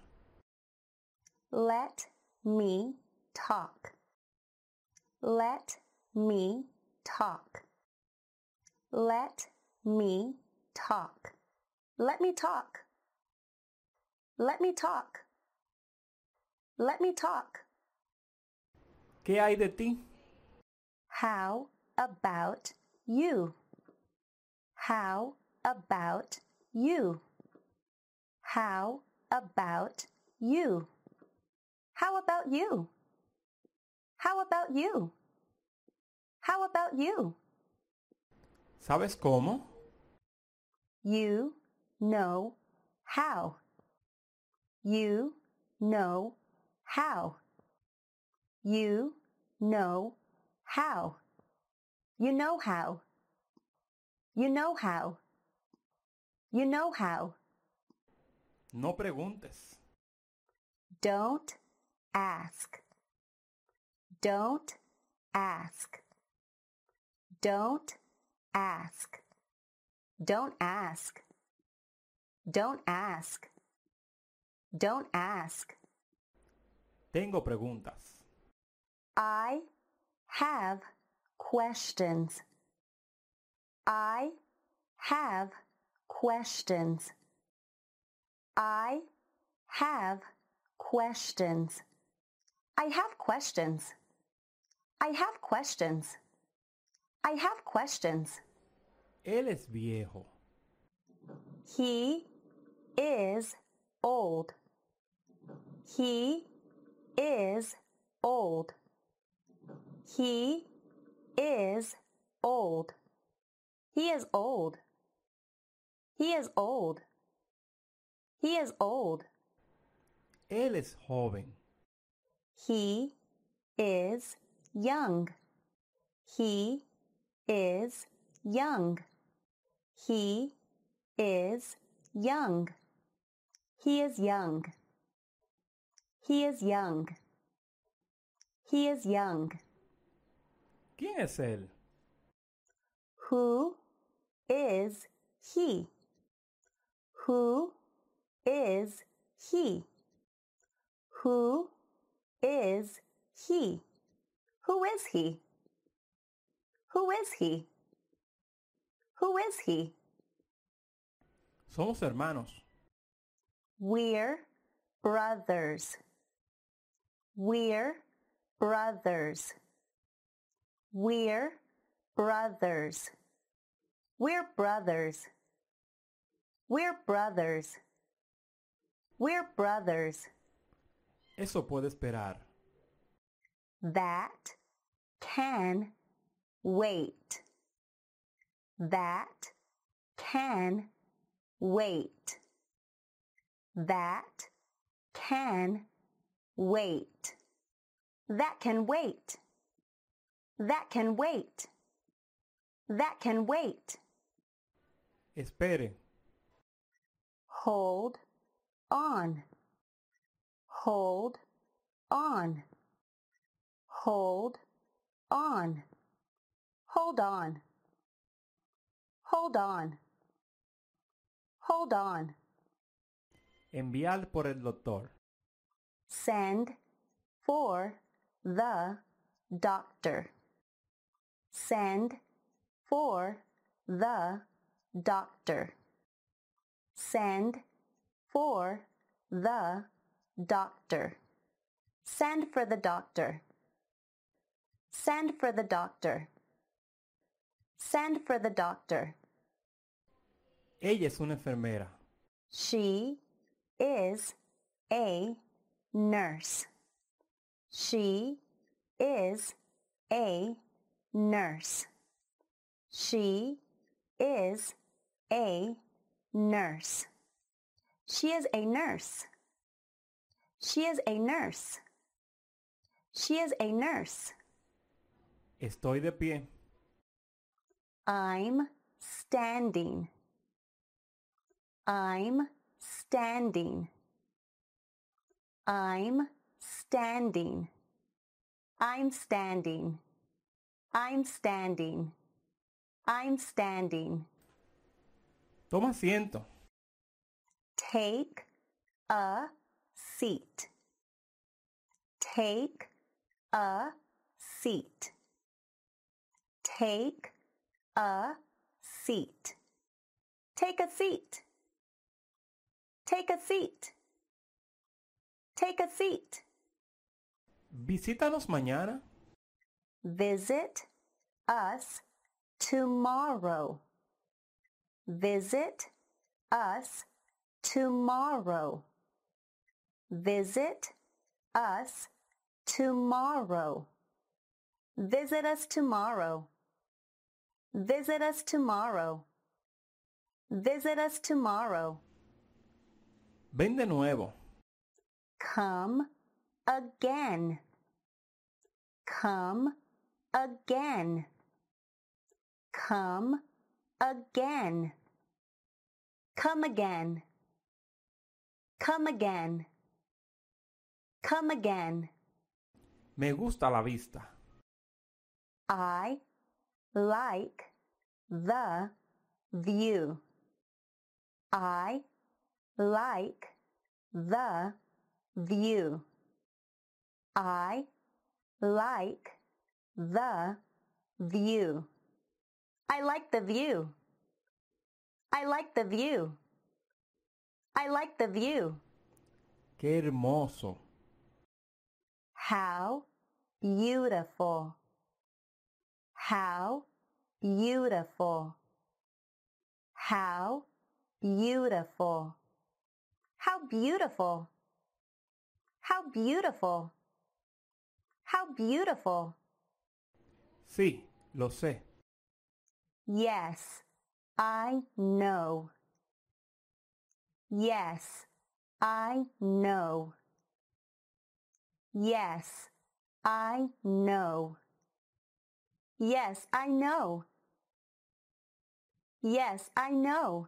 Let me talk. Let me talk. Let me talk. Let me talk. Let me talk. Let me talk. ¿Qué hay de ti? How about you? How about you? How about you? How about you? How about you? How about you? ¿Sabes cómo? You know how. You know how. You know how. You know how. You know how. You know how. No preguntes. Don't ask. Don't ask. Don't ask. Don't ask. Don't ask. Don't ask. Tengo preguntas. I have questions. I have questions. I have questions. I have questions. I have questions. I have questions. Él es viejo. He is old. He is old. He is old. He is old. He is old. He is old. Él es joven. He is young. He is young. He is young. He is young. He is young. He is young. ¿Quién es él? Who is he? Who is he? Who is he? Who is he? Who is he? Who is he? Somos hermanos. We're brothers. We're brothers. We're brothers. We're brothers. We're brothers. We're brothers. Eso puede esperar. That can wait. That can wait. That can wait. That can wait. That can wait. That can wait. Espere. Hold on. Hold on. Hold on. Hold on. Hold on. Hold on. Enviar por el doctor. Send for the doctor. Send for the doctor. Send for the doctor. Send for the doctor. Send for the doctor. Send for the doctor. Ella es una enfermera. She is a nurse. She is a nurse. She is a nurse. She is a nurse. She is a nurse. She is a nurse. Estoy de pie. I'm standing. I'm standing. I'm standing. I'm standing. I'm standing. I'm standing. Toma asiento. Take a seat. Take a seat. Take a seat. Take a seat. Take a seat. Take a seat. Visítanos mañana. Visit us tomorrow. Visit us tomorrow. Visit us tomorrow. Visit us tomorrow. Visit us tomorrow. Visit us tomorrow. Ven de nuevo. Come again. Come again. Come again. Come again. Come again. Come again. Me gusta la vista. I like the view. I like the view. I like the view. I like the view. I like the view. I like the view. Qué hermoso. How beautiful. How beautiful. How beautiful. How beautiful. How beautiful. How beautiful. Sí, lo sé. Yes, I know. Yes, I know. Yes, I know. Yes, I know. Yes, I know.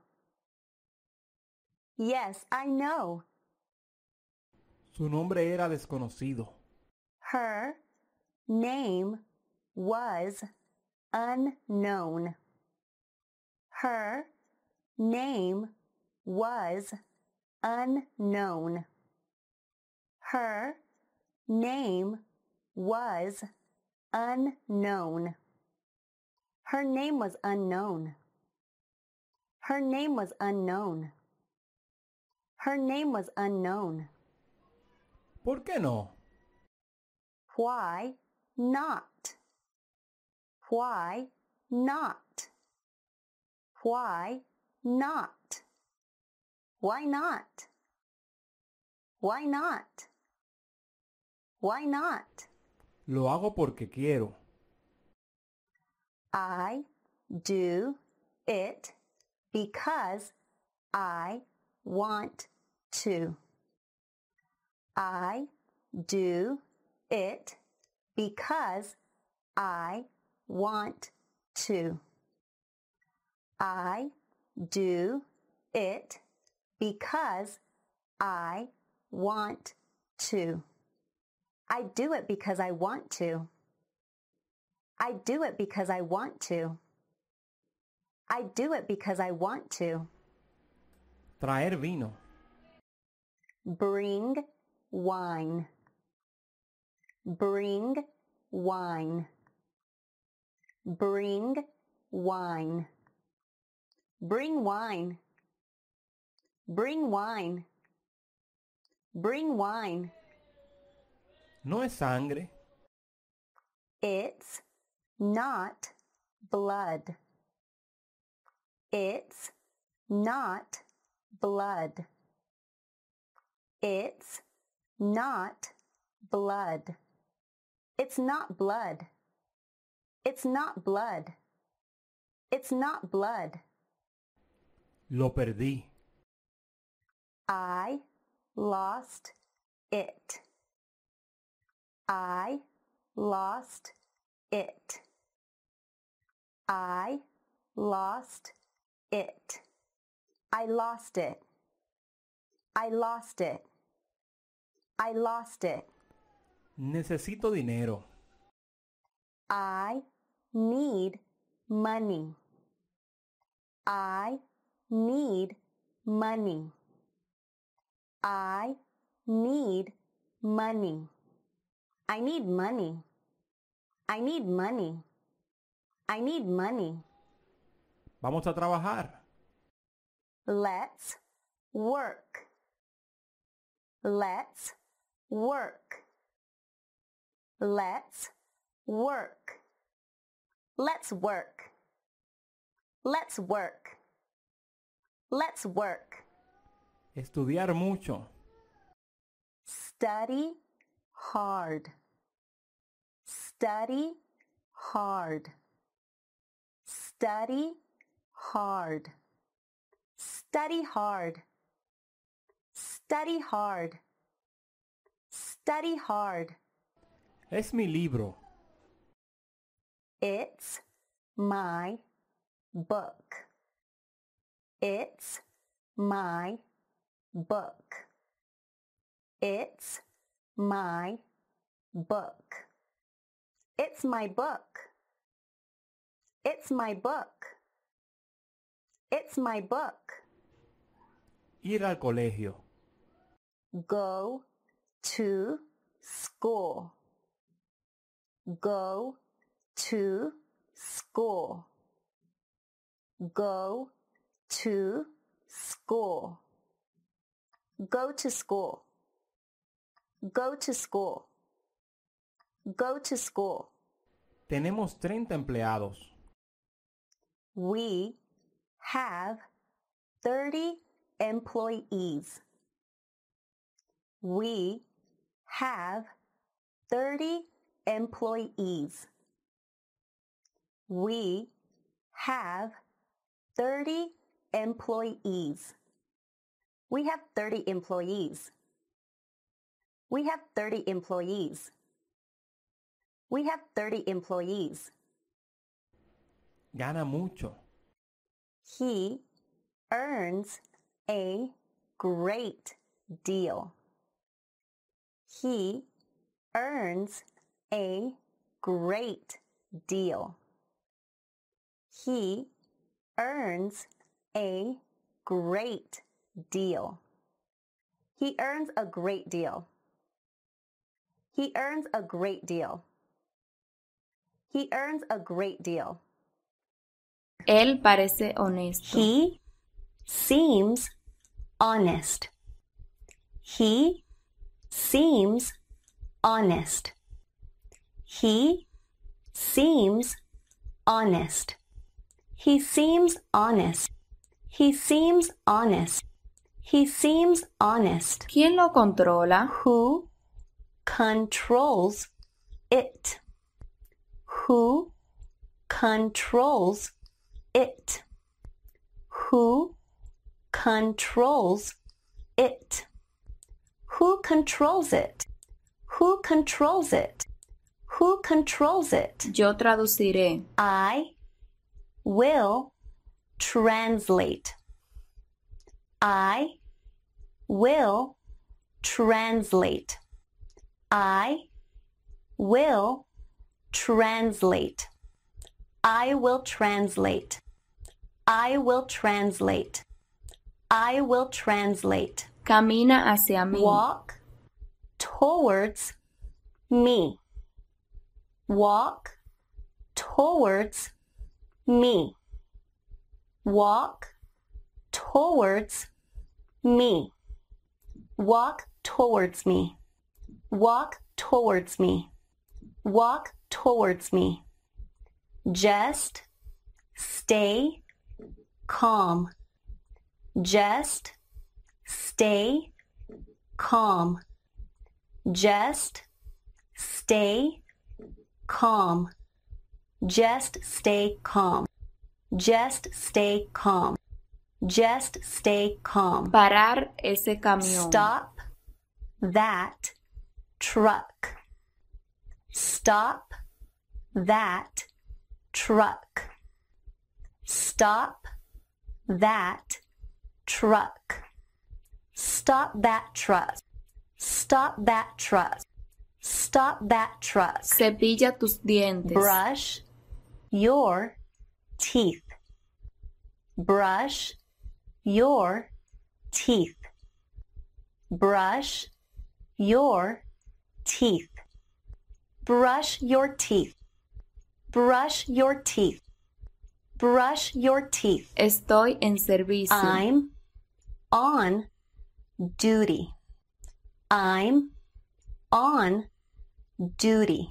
Yes, I know. Su nombre era desconocido. Her name was unknown. Her name was unknown. Her name was unknown. Her name was unknown. Her name was unknown. Her name was unknown. ¿Por qué no? Why not? Why not? Why not? Why not? Why not? Why not? Lo hago porque quiero. I do it because I want to. I do it because I want to. I do it because I want to. I do it because I want to. I do it because I want to. I do it because I want to. Traer vino. Bring wine. Bring wine. Bring wine. Bring wine. Bring wine. Bring wine. No es sangre. It's not blood. It's not blood. It's not blood. It's not blood. It's not blood. It's not blood. Lo perdí. I lost it. I lost it. I lost it. I lost it. I lost it. I lost it. Necesito dinero. I need money. I need money. I need money. I need money. I need money. I need money. Vamos a trabajar. Let's work. Let's work. Let's work. Let's work. Let's work. Let's work. Estudiar mucho. Study hard. Study hard. Study hard. Study hard. Study hard. Study hard. Es mi libro. It's my book. It's my book. It's my book. It's my book. It's my book. It's my book. Ir al colegio. Go to school. Go to school. Go to school. Go to school. Go to school. Go to school. Tenemos 30 empleados. We have 30 employees. We have 30 employees. We have 30 employees. We have 30 employees. We have 30 employees. We have 30 employees. Gana mucho. He earns a great deal. He earns a great deal. He earns a great deal. He earns a great deal. He earns a great deal. He earns a great deal. Él parece honesto. He seems honest. He seems honest. He seems honest. He seems honest. He seems honest. He seems honest. ¿Quién lo controla? Who controls it? Who controls it? Who controls it? Who controls it? Who controls it? Who controls it? Yo traduciré. I will translate. I will translate. I will translate. I will translate. I will translate. I will translate. Camina hacia mí. Walk towards me. Walk towards me. Walk towards me. Walk towards me. Walk towards me. Walk towards me. Just stay calm. Just stay calm. Just stay calm. Just stay calm. Just stay calm. Just stay calm. Parar ese camión. Stop that truck. Stop that truck. Stop that truck. Stop that truck. Stop that truck. Stop that truck. Cepilla tus dientes. Brush your teeth. Brush your teeth. Brush your teeth. Brush your teeth. Brush your teeth. Brush your teeth. Estoy en servicio. I'm on duty. I'm on duty.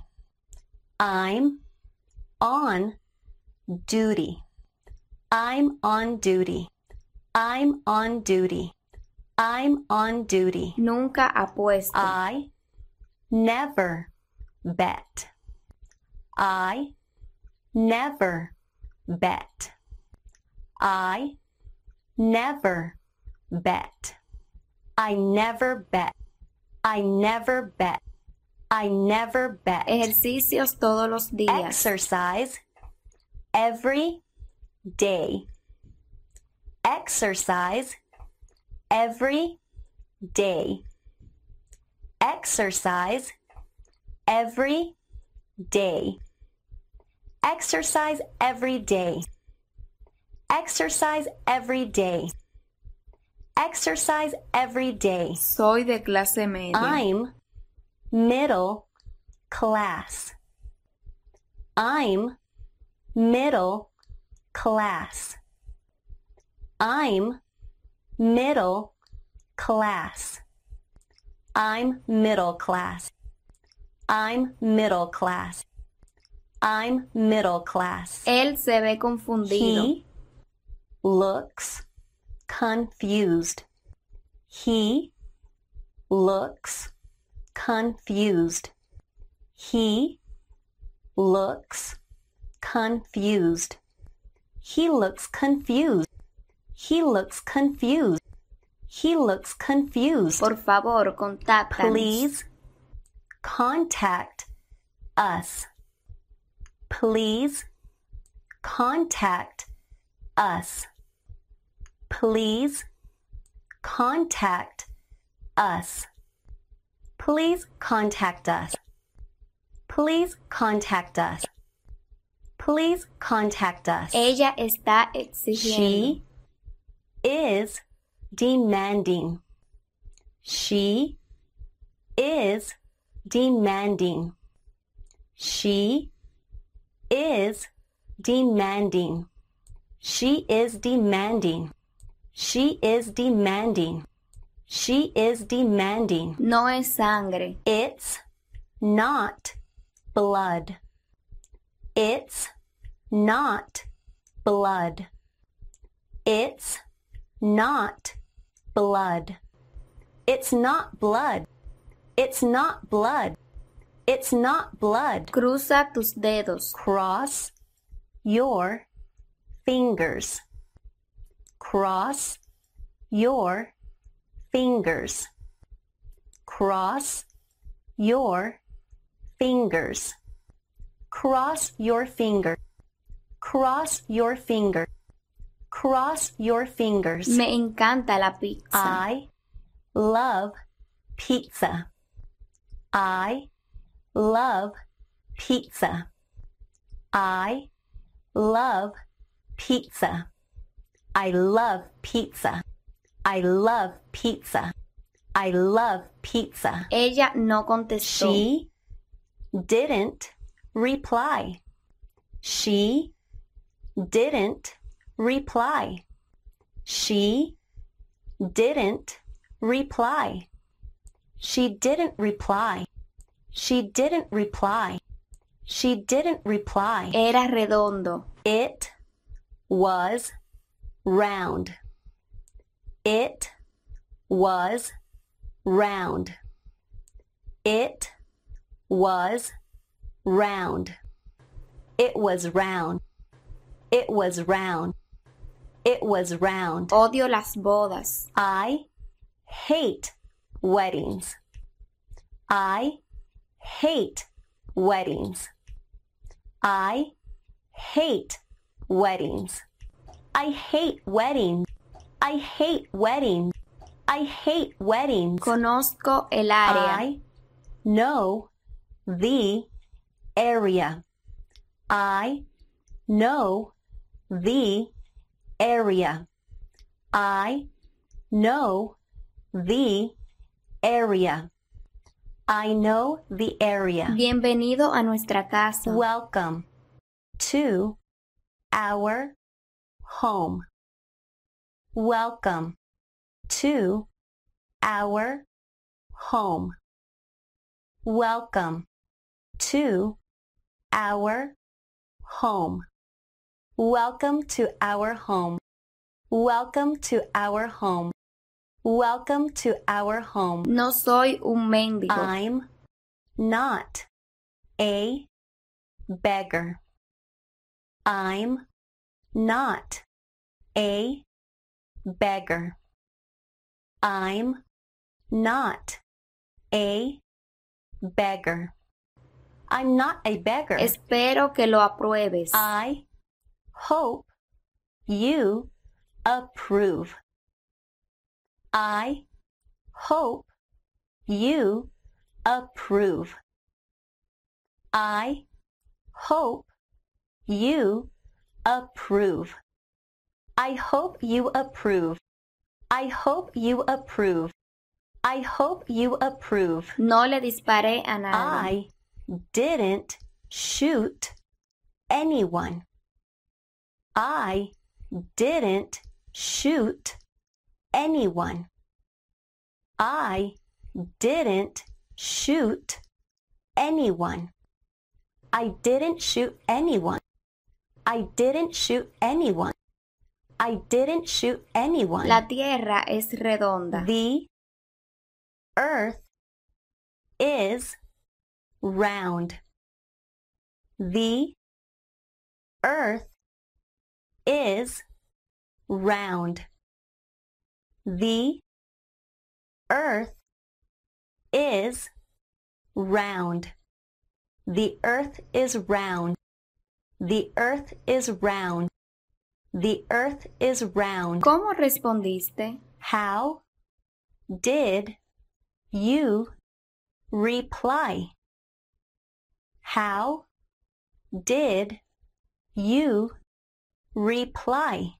I'm on duty. I'm on duty. I'm on duty. I'm on duty. Nunca apuesto. I never bet. I never bet. I never bet. I never bet. I never bet. I never bet. Ejercicios todos los días. Exercise every day. Exercise every day. Exercise every day. Exercise every day. Exercise every day. Exercise every day. Soy de clase media. I'm middle class. I'm middle class. I'm middle class. I'm middle class. I'm middle class. I'm middle class. Él se ve confundido. He looks confused. He looks confused. He looks confused. He looks confused. He looks confused. He looks confused. Por favor, contáctanos. Please contact us. Please contact us. Please contact us. Please contact us. Please contact us. Please contact us. Ella está exigiendo. She is demanding. She is demanding. She is demanding. She is demanding. She is demanding. She is demanding. No es sangre. It's not blood. It's not blood. It's not blood. It's not blood. It's not blood. It's not blood. Cruza tus dedos. Cross your fingers. Cross your fingers. Cross your fingers. Cross your finger. Cross your finger. Cross your fingers. Me encanta la pizza. I love pizza. I love pizza. I love pizza. I love pizza. I love pizza. I love pizza. Ella no contestó. She didn't reply. She didn't reply. She didn't reply. She didn't reply. She didn't reply. She didn't reply. Era redondo. It was round. It was round. It was round. It was round. It was round. It was round. Odio las bodas. I hate weddings. I hate weddings. I hate weddings. I hate weddings. I hate weddings. I hate weddings. Conozco el área. I know the area. I know the area. I know the area. I know the area. Bienvenido a nuestra casa. Welcome to our home. Welcome to our home. Welcome to our home. Welcome to our home. Welcome to our home. Welcome to our home. No soy un mendigo. I'm not a beggar. I'm not a beggar. I'm not a beggar. I'm not a beggar. Espero que lo apruebes. I hope you approve. I hope you approve. I hope you approve. I hope you approve. I hope you approve. I hope you approve. No le disparé a nadie. I didn't shoot anyone. I didn't shoot anyone. I didn't shoot anyone. I didn't shoot anyone. I didn't shoot anyone. I didn't shoot anyone. La tierra es redonda. The earth is round. The earth is round. The earth is round. The earth is round. The earth is round. The earth is round. ¿Cómo respondiste? How did you reply? How did you reply?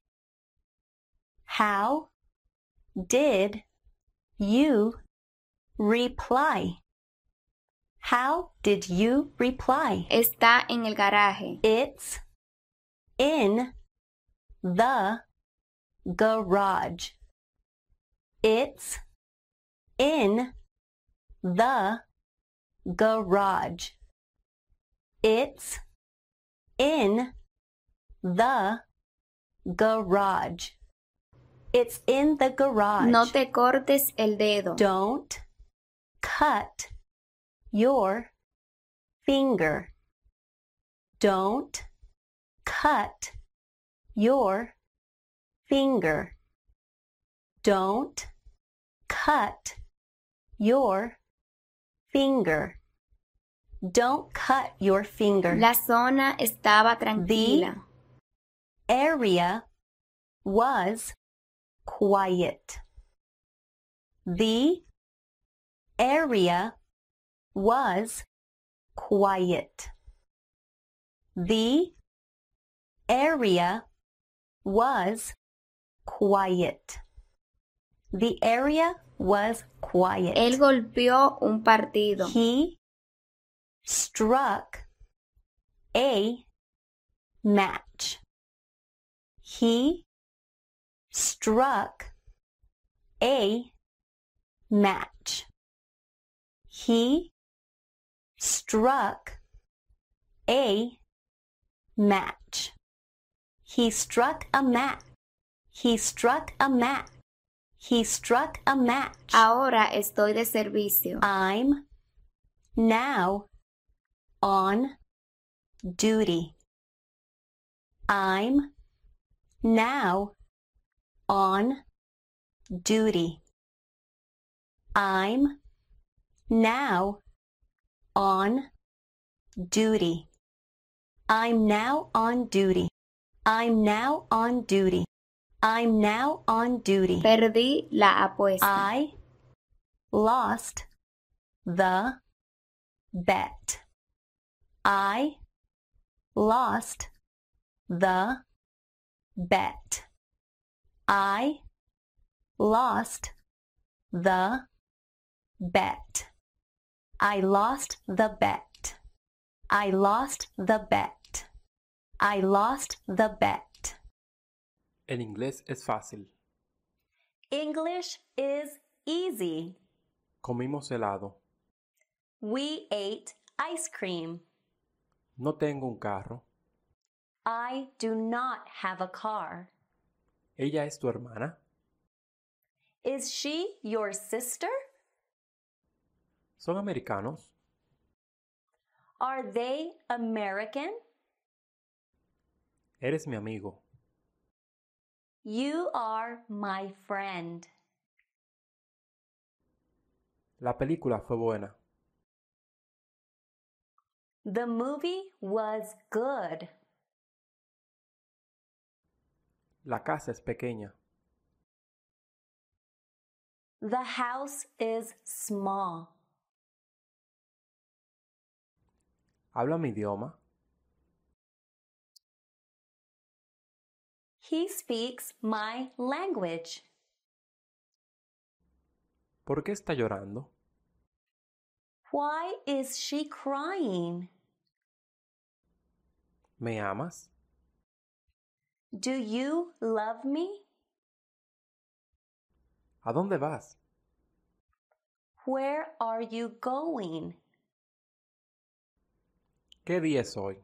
How did you reply? How did you reply? Está en el garaje. It's in the garage. It's in the garage. It's in the garage. It's in the garage. No te cortes el dedo. Don't cut your finger. Don't cut your finger. Don't cut your finger. Don't cut your finger. La zona estaba tranquila. The area was quiet. The area was quiet. The area was quiet. The area was quiet. Él golpeó un partido. He struck a match. He struck a match. He struck a match. He struck a match. He struck a match. He struck a match. Ahora estoy de servicio. I'm now on duty. I'm now on duty. I'm now on duty. I'm now on duty. I'm now on duty. I'm now on duty. Perdí la apuesta. I lost the bet. I lost the bet. I lost the bet. I lost the bet. I lost the bet. I lost the bet. El inglés es fácil. English is easy. Comimos helado. We ate ice cream. No tengo un carro. I do not have a car. ¿Ella es tu hermana? Is she your sister? ¿Son americanos? Are they American? Eres mi amigo. You are my friend. La película fue buena. The movie was good. La casa es pequeña. The house is small. ¿Habla mi idioma? He speaks my language. ¿Por qué está llorando? Why is she crying? ¿Me amas? Do you love me? ¿A dónde vas? Where are you going? ¿Qué día es hoy?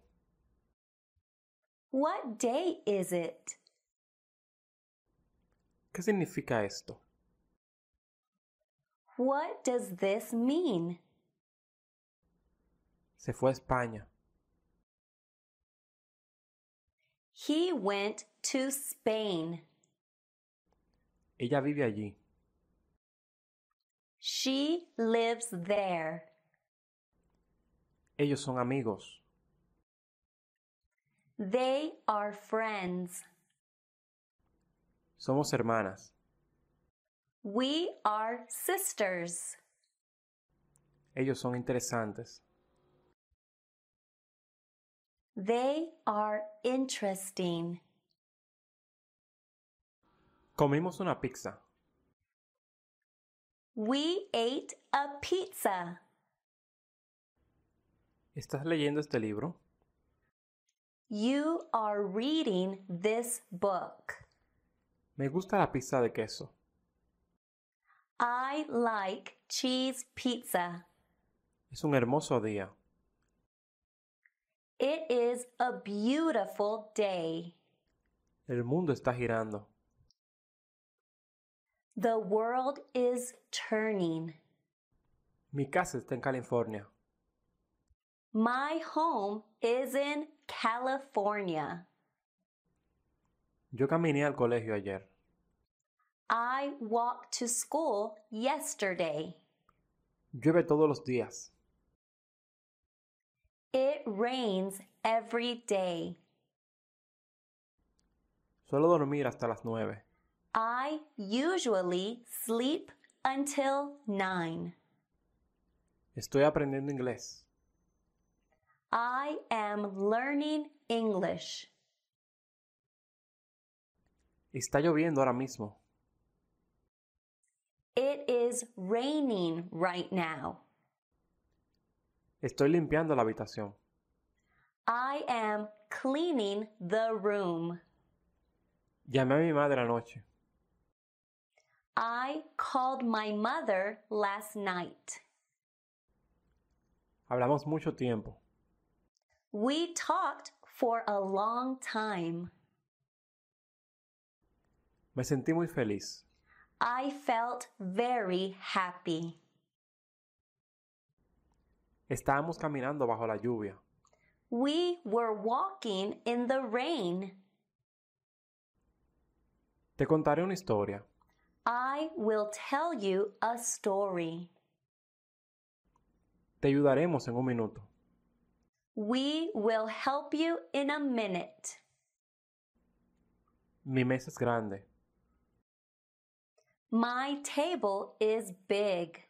What day is it? ¿Qué significa esto? What does this mean? Se fue a España. He went to Spain. Ella vive allí. She lives there. Ellos son amigos. They are friends. Somos hermanas. We are sisters. Ellos son interesantes. They are interesting. Comimos una pizza. We ate a pizza. ¿Estás leyendo este libro? You are reading this book. Me gusta la pizza de queso. I like cheese pizza. Es un hermoso día. It is a beautiful day. El mundo está girando. The world is turning. Mi casa está en California. My home is in California. Yo caminé al colegio ayer. I walked to school yesterday. Llueve todos los días. It rains every day. Suelo dormir hasta las 9. I usually sleep until 9. Estoy aprendiendo inglés. I am learning English. Está lloviendo ahora mismo. It is raining right now. Estoy limpiando la habitación. I am cleaning the room. Llamé a mi madre anoche. I called my mother last night. Hablamos mucho tiempo. We talked for a long time. Me sentí muy feliz. I felt very happy. Estábamos caminando bajo la lluvia. We were walking in the rain. Te contaré una historia. I will tell you a story. Te ayudaremos en un minuto. We will help you in a minute. Mi mesa es grande. My table is big.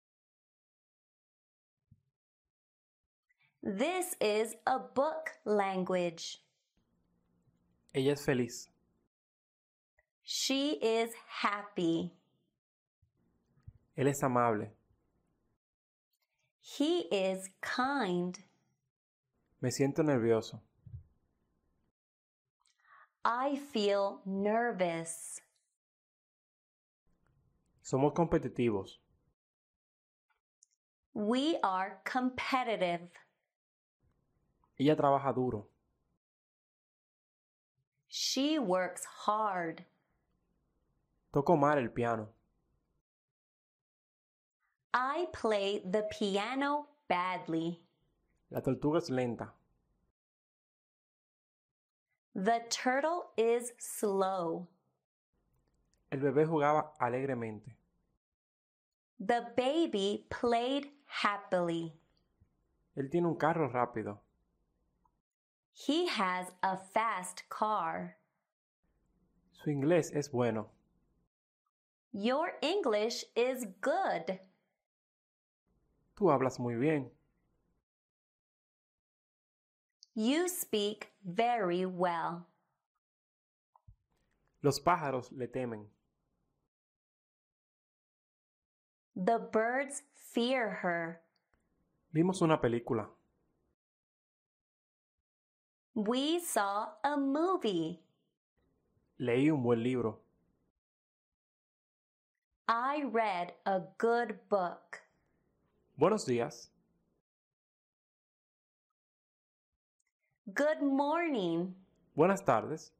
This is a book language. Ella es feliz. She is happy. Él es amable. He is kind. Me siento nervioso. I feel nervous. Somos competitivos. We are competitive. Ella trabaja duro. She works hard. Toco mal el piano. I play the piano badly. La tortuga es lenta. The turtle is slow. El bebé jugaba alegremente. The baby played happily. Él tiene un carro rápido. He has a fast car. Su inglés es bueno. Your English is good. Tú hablas muy bien. You speak very well. Los pájaros le temen. The birds fear her. Vimos una película. We saw a movie. Leí un buen libro. I read a good book. Buenos días. Good morning. Buenas tardes.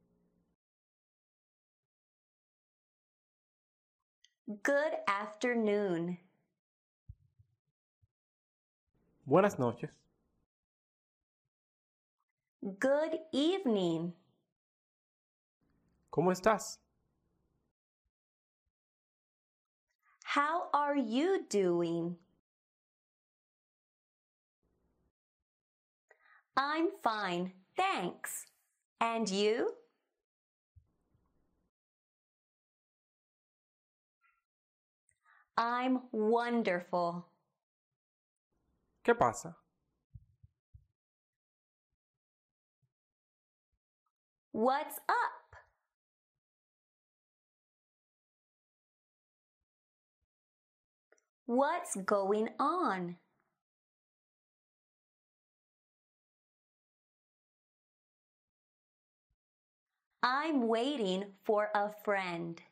Good afternoon. Buenas noches. Good evening. ¿Cómo estás? How are you doing? I'm fine, thanks. And you? I'm wonderful. ¿Qué pasa? What's up? What's going on? I'm waiting for a friend.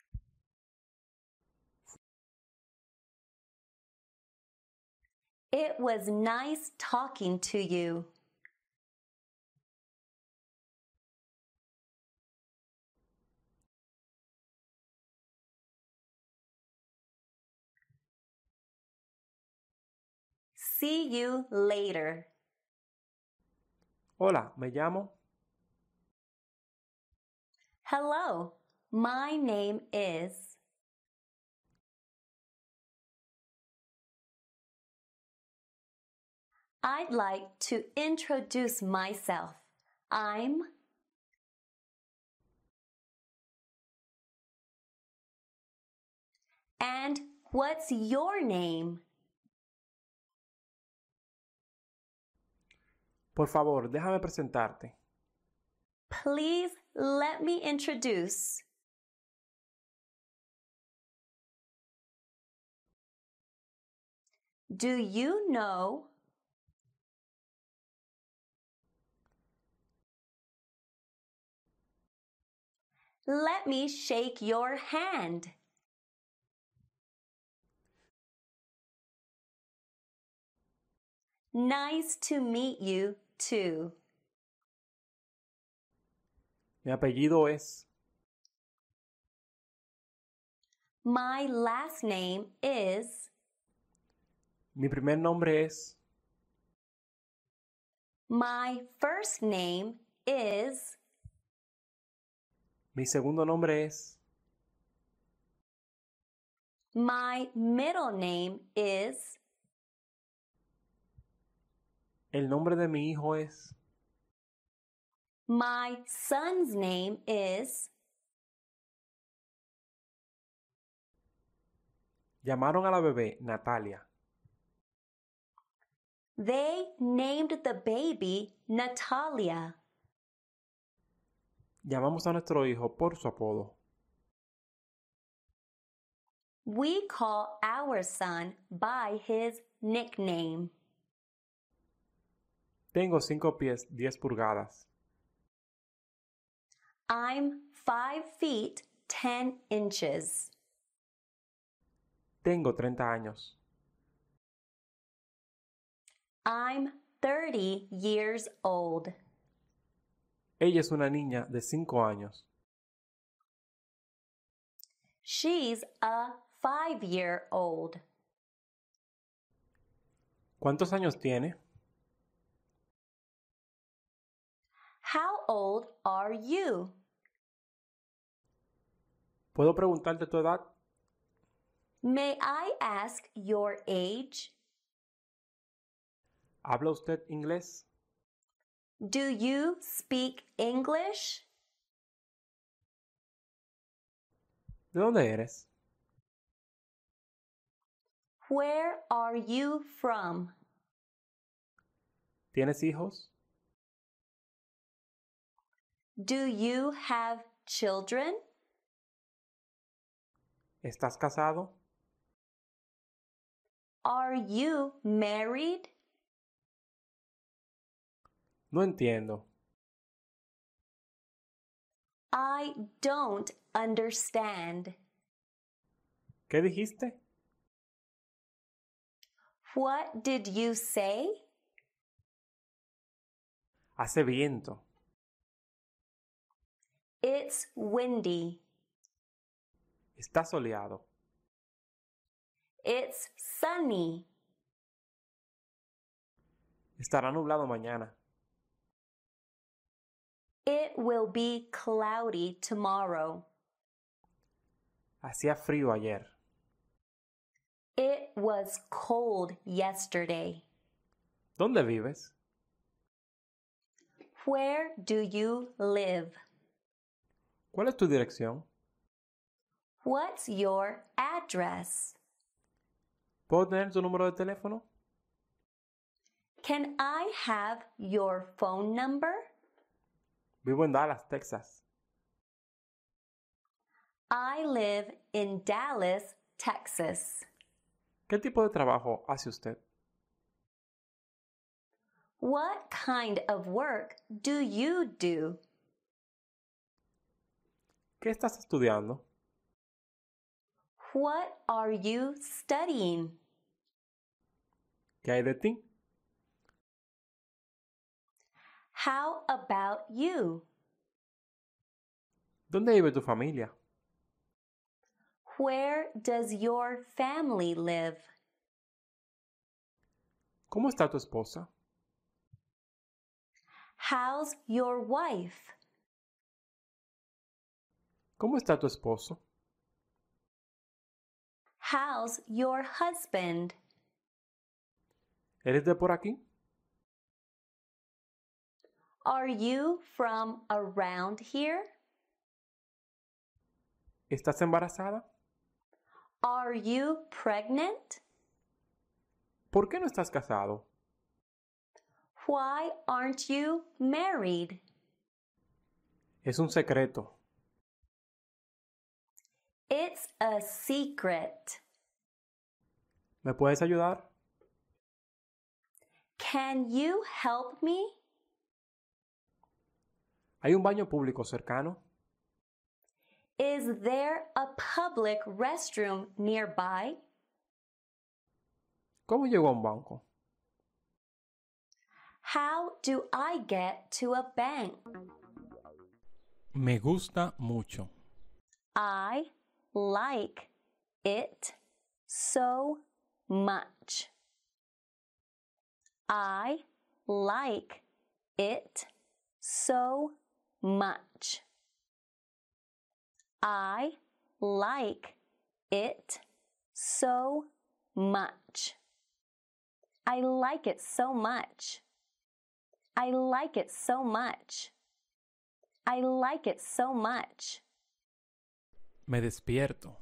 It was nice talking to you. See you later. Hola, me llamo. Hello, my name is. I'd like to introduce myself. I'm. And what's your name? Por favor, déjame presentarte. Please let me introduce. Do you know? Let me shake your hand. Nice to meet you too. Mi apellido es. My last name is. Mi primer nombre es. My first name is. Mi segundo nombre es. My middle name is. El nombre de mi hijo es. My son's name is. Llamaron a la bebé Natalia. They named the baby Natalia. Llamamos a nuestro hijo por su apodo. We call our son by his nickname. Tengo 5 pies 10 pulgadas. I'm 5 feet 10 inches. Tengo 30 años. I'm 30 years old. Ella es una niña de 5 años. She's a 5-year-old. ¿Cuántos años tiene? How old are you? ¿Puedo preguntarte tu edad? May I ask your age? ¿Habla usted inglés? Do you speak English? ¿De dónde eres? Where are you from? ¿Tienes hijos? Do you have children? ¿Estás casado? Are you married? No entiendo. I don't understand. ¿Qué dijiste? What did you say? Hace viento. It's windy. Está soleado. It's sunny. Estará nublado mañana. It will be cloudy tomorrow. Hacía frío ayer. It was cold yesterday. ¿Dónde vives? Where do you live? ¿Cuál es tu dirección? What's your address? ¿Puedo tener tu número de teléfono? Can I have your phone number? Vivo en Dallas, Texas. I live in Dallas, Texas. ¿Qué tipo de trabajo hace usted? What kind of work do you do? ¿Qué estás estudiando? What are you studying? ¿Qué hay de ti? How about you? ¿Dónde vive tu familia? Where does your family live? ¿Cómo está tu esposa? How's your wife? ¿Cómo está tu esposo? How's your husband? ¿Eres de por aquí? Are you from around here? ¿Estás embarazada? Are you pregnant? ¿Por qué no estás casado? Why aren't you married? Es un secreto. It's a secret. ¿Me puedes ayudar? Can you help me? ¿Hay un baño público cercano? Is there a public restroom nearby? ¿Cómo llego a un banco? How do I get to a bank? Me gusta mucho. I like it so much. I like it so much. I like it so much. I like it so much. I like it so much. I like it so much. Me despierto.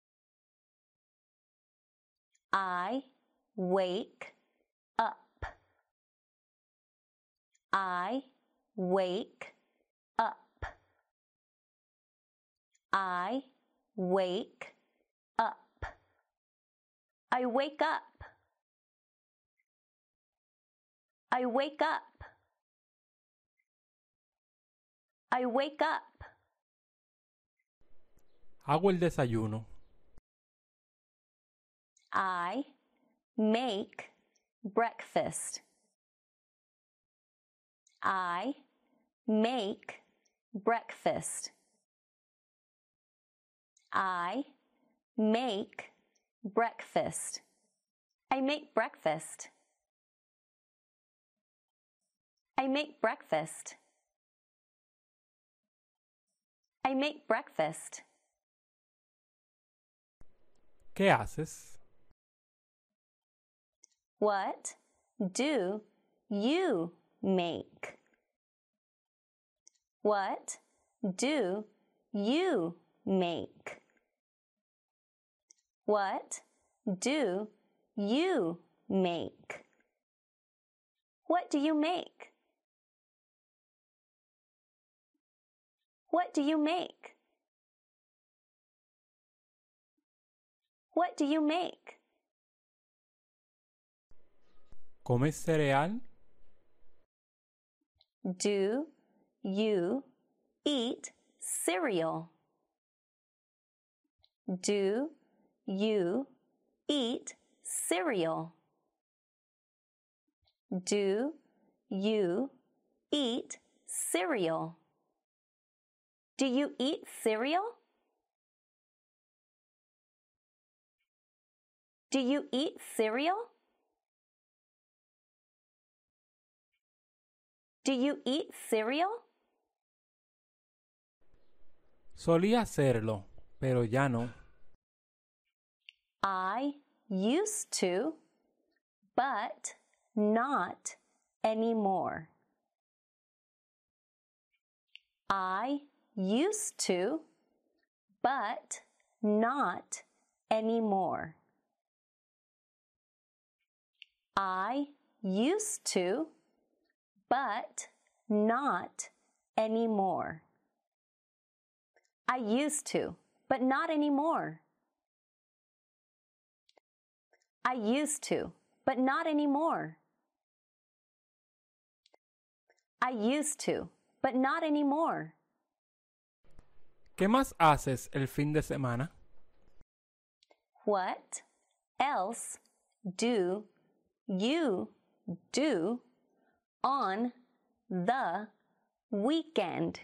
I wake up. I wake up. I wake up. I wake up. I wake up. I wake up. Hago el desayuno. I make breakfast. I make breakfast. I make breakfast. I make breakfast. I make breakfast. I make breakfast. ¿Qué haces? What do you make? What do you make? What do you make? What do you make? What do you make? What do you make? ¿Comes cereal? Do you eat cereal? Do you eat cereal? Do you eat cereal? Do you eat cereal? Do you eat cereal? Do you eat cereal? Solía hacerlo, pero ya no. I used to, but not anymore. I used to, but not anymore. I used to, but not anymore. I used to, but not anymore. I used to, but not anymore. I used to, but not anymore. ¿Qué más haces el fin de semana? What else do you do on the weekend?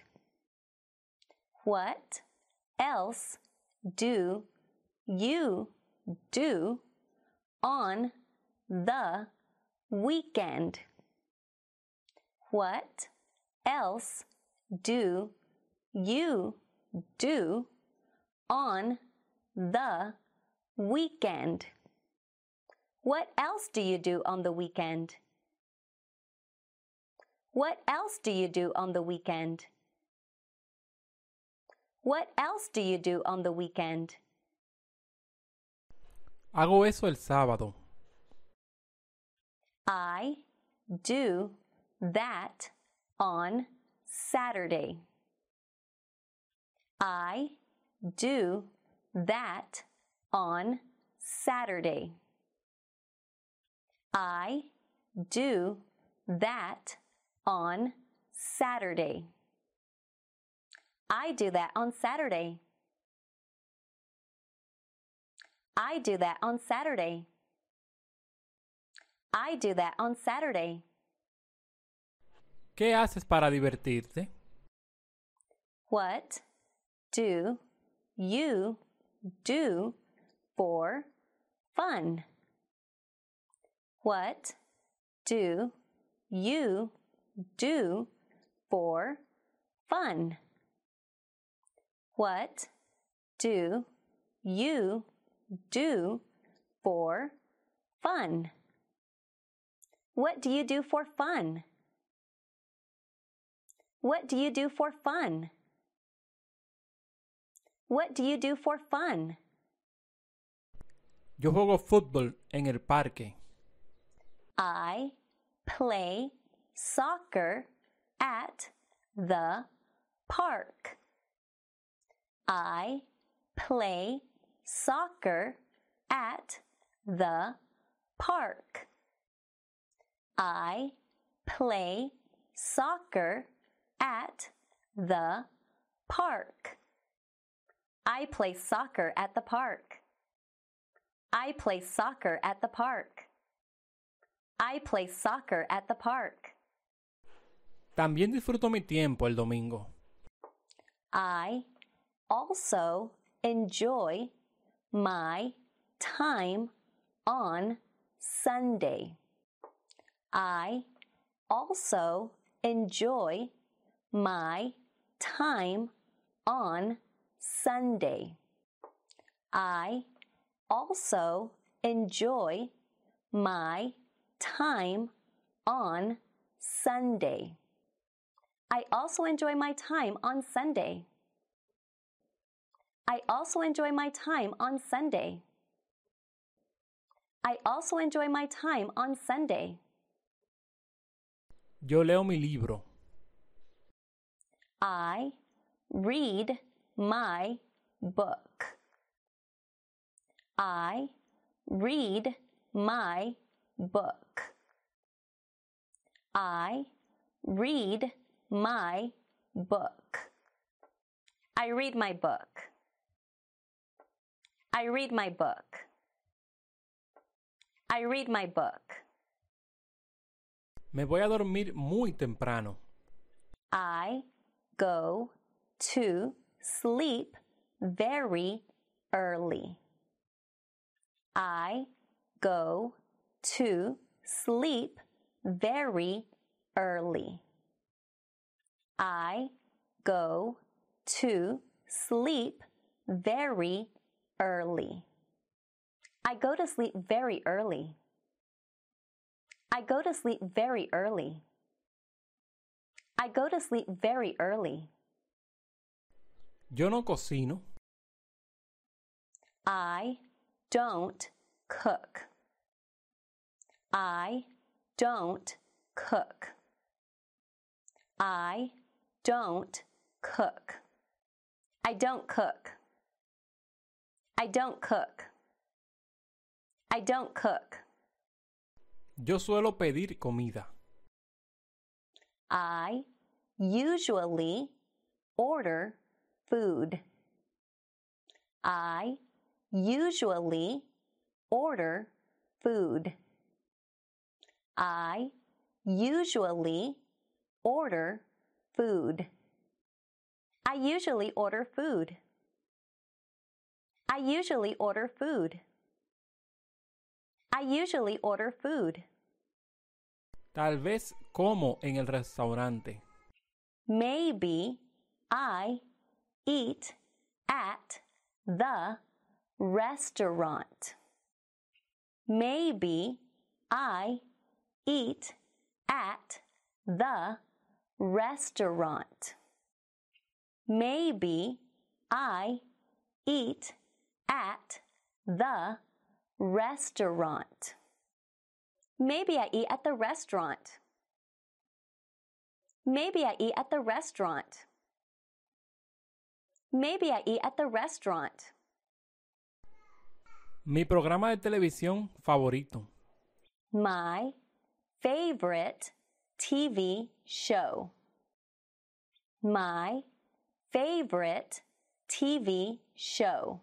What else do you do on the weekend? What else do you do on the weekend? What else do you do on the weekend? What else do you do on the weekend? What else do you do on the weekend? Hago eso el sábado. I do that on Saturday. I do that on Saturday. I do that on Saturday. I do that on Saturday. I do that on Saturday. I do that on Saturday. ¿Qué haces para divertirte? What do you do for fun? What do you do for fun? What do you do for fun? What do you do for fun? What do you do for fun? What do you do for fun? Yo juego fútbol en el parque. I play soccer at the park. I play soccer at the park. I play soccer at the park. I play soccer at the park. I play soccer at the park. I play soccer at the park. También disfruto mi tiempo el domingo. I also enjoy my time on Sunday. I also enjoy my time on Sunday. I also enjoy my time on Sunday. I also enjoy my time on Sunday. I also enjoy my time on Sunday. I also enjoy my time on Sunday. Yo leo mi libro. I read my book. I read my book. I read my book. I read my book. I read my book. I read my book. Me voy a dormir muy temprano. I go to sleep very early. I go to sleep very early. I go to sleep very early. I go to sleep very early. I go to sleep very early. I go to sleep very early. Yo no cocino. I don't cook. I don't cook. I don't cook. I don't cook. I don't cook. I don't cook. Yo suelo pedir comida. I usually order food. I usually order food. I usually order food. I usually order food. I usually order food. I usually order food. Tal vez como en el restaurante. Maybe I eat at the restaurant. Maybe I eat at the restaurant. Maybe I eat at the restaurant. Maybe I eat at the restaurant. Maybe I eat at the restaurant. Maybe I eat at the restaurant. Mi programa de televisión favorito. My favorite TV show. My favorite TV show.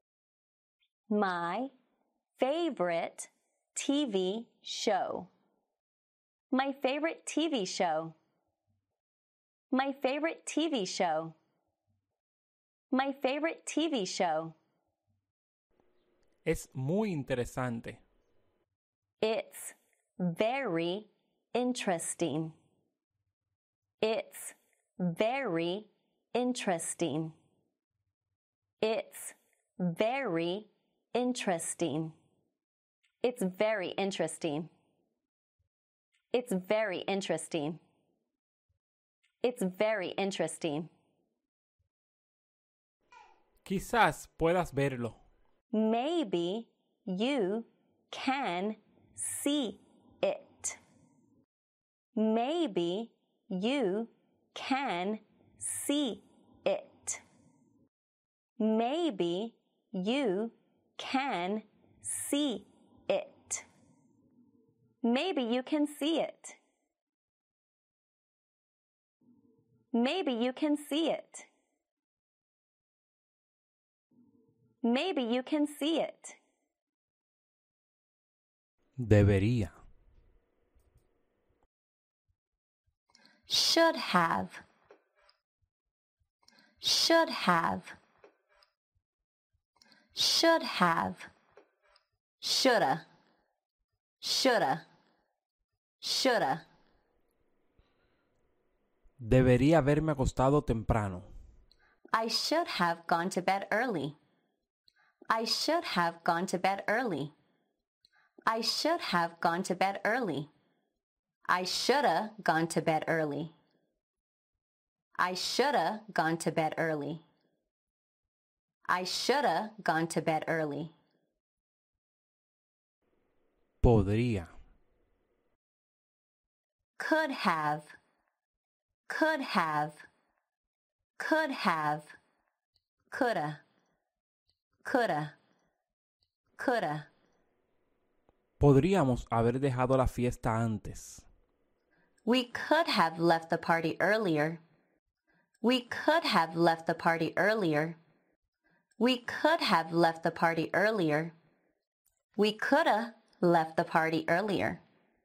My favorite TV show. My favorite TV show. My favorite TV show. My favorite TV show. Es muy interesante. It's very interesting. It's very interesting. It's very interesting. It's very interesting. It's very interesting. It's very interesting. Quizás puedas verlo. Maybe you can see it. Maybe you can see it. Maybe you can see it. Maybe you can see it. Maybe you can see it. Maybe you can see it. Debería. Should have. Should have. Should have. Shoulda. Shoulda. Shoulda. Debería haberme acostado temprano. I should have gone to bed early. I should have gone to bed early. I should have gone to bed early. I shoulda gone to bed early. I shoulda gone to bed early. I shoulda gone to bed early. Podría. Could have. Could have. Could have. Coulda. Coulda. Coulda. Podríamos haber dejado la fiesta antes. We could have left the party earlier. We could have left the party earlier. We could have left the party earlier. We coulda left the party earlier.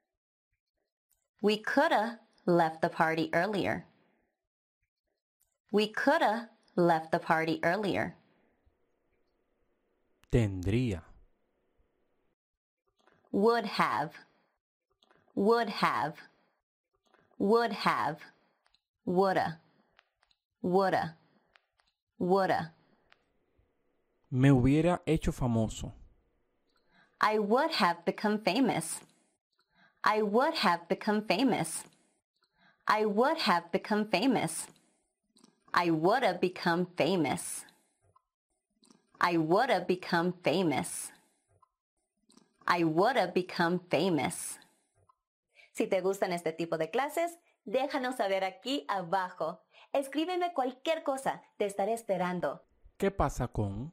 We coulda left the party earlier. We coulda left the party earlier. Tendría. Would have. Would have. Would have. Woulda. Woulda. Woulda. Me hubiera hecho famoso. I would have become famous. I would have become famous. I would have become famous. I woulda become famous. I woulda become famous. I woulda become famous. Si te gustan este tipo de clases, déjanos saber aquí abajo. Escríbeme cualquier cosa, te estaré esperando. ¿Qué pasa con?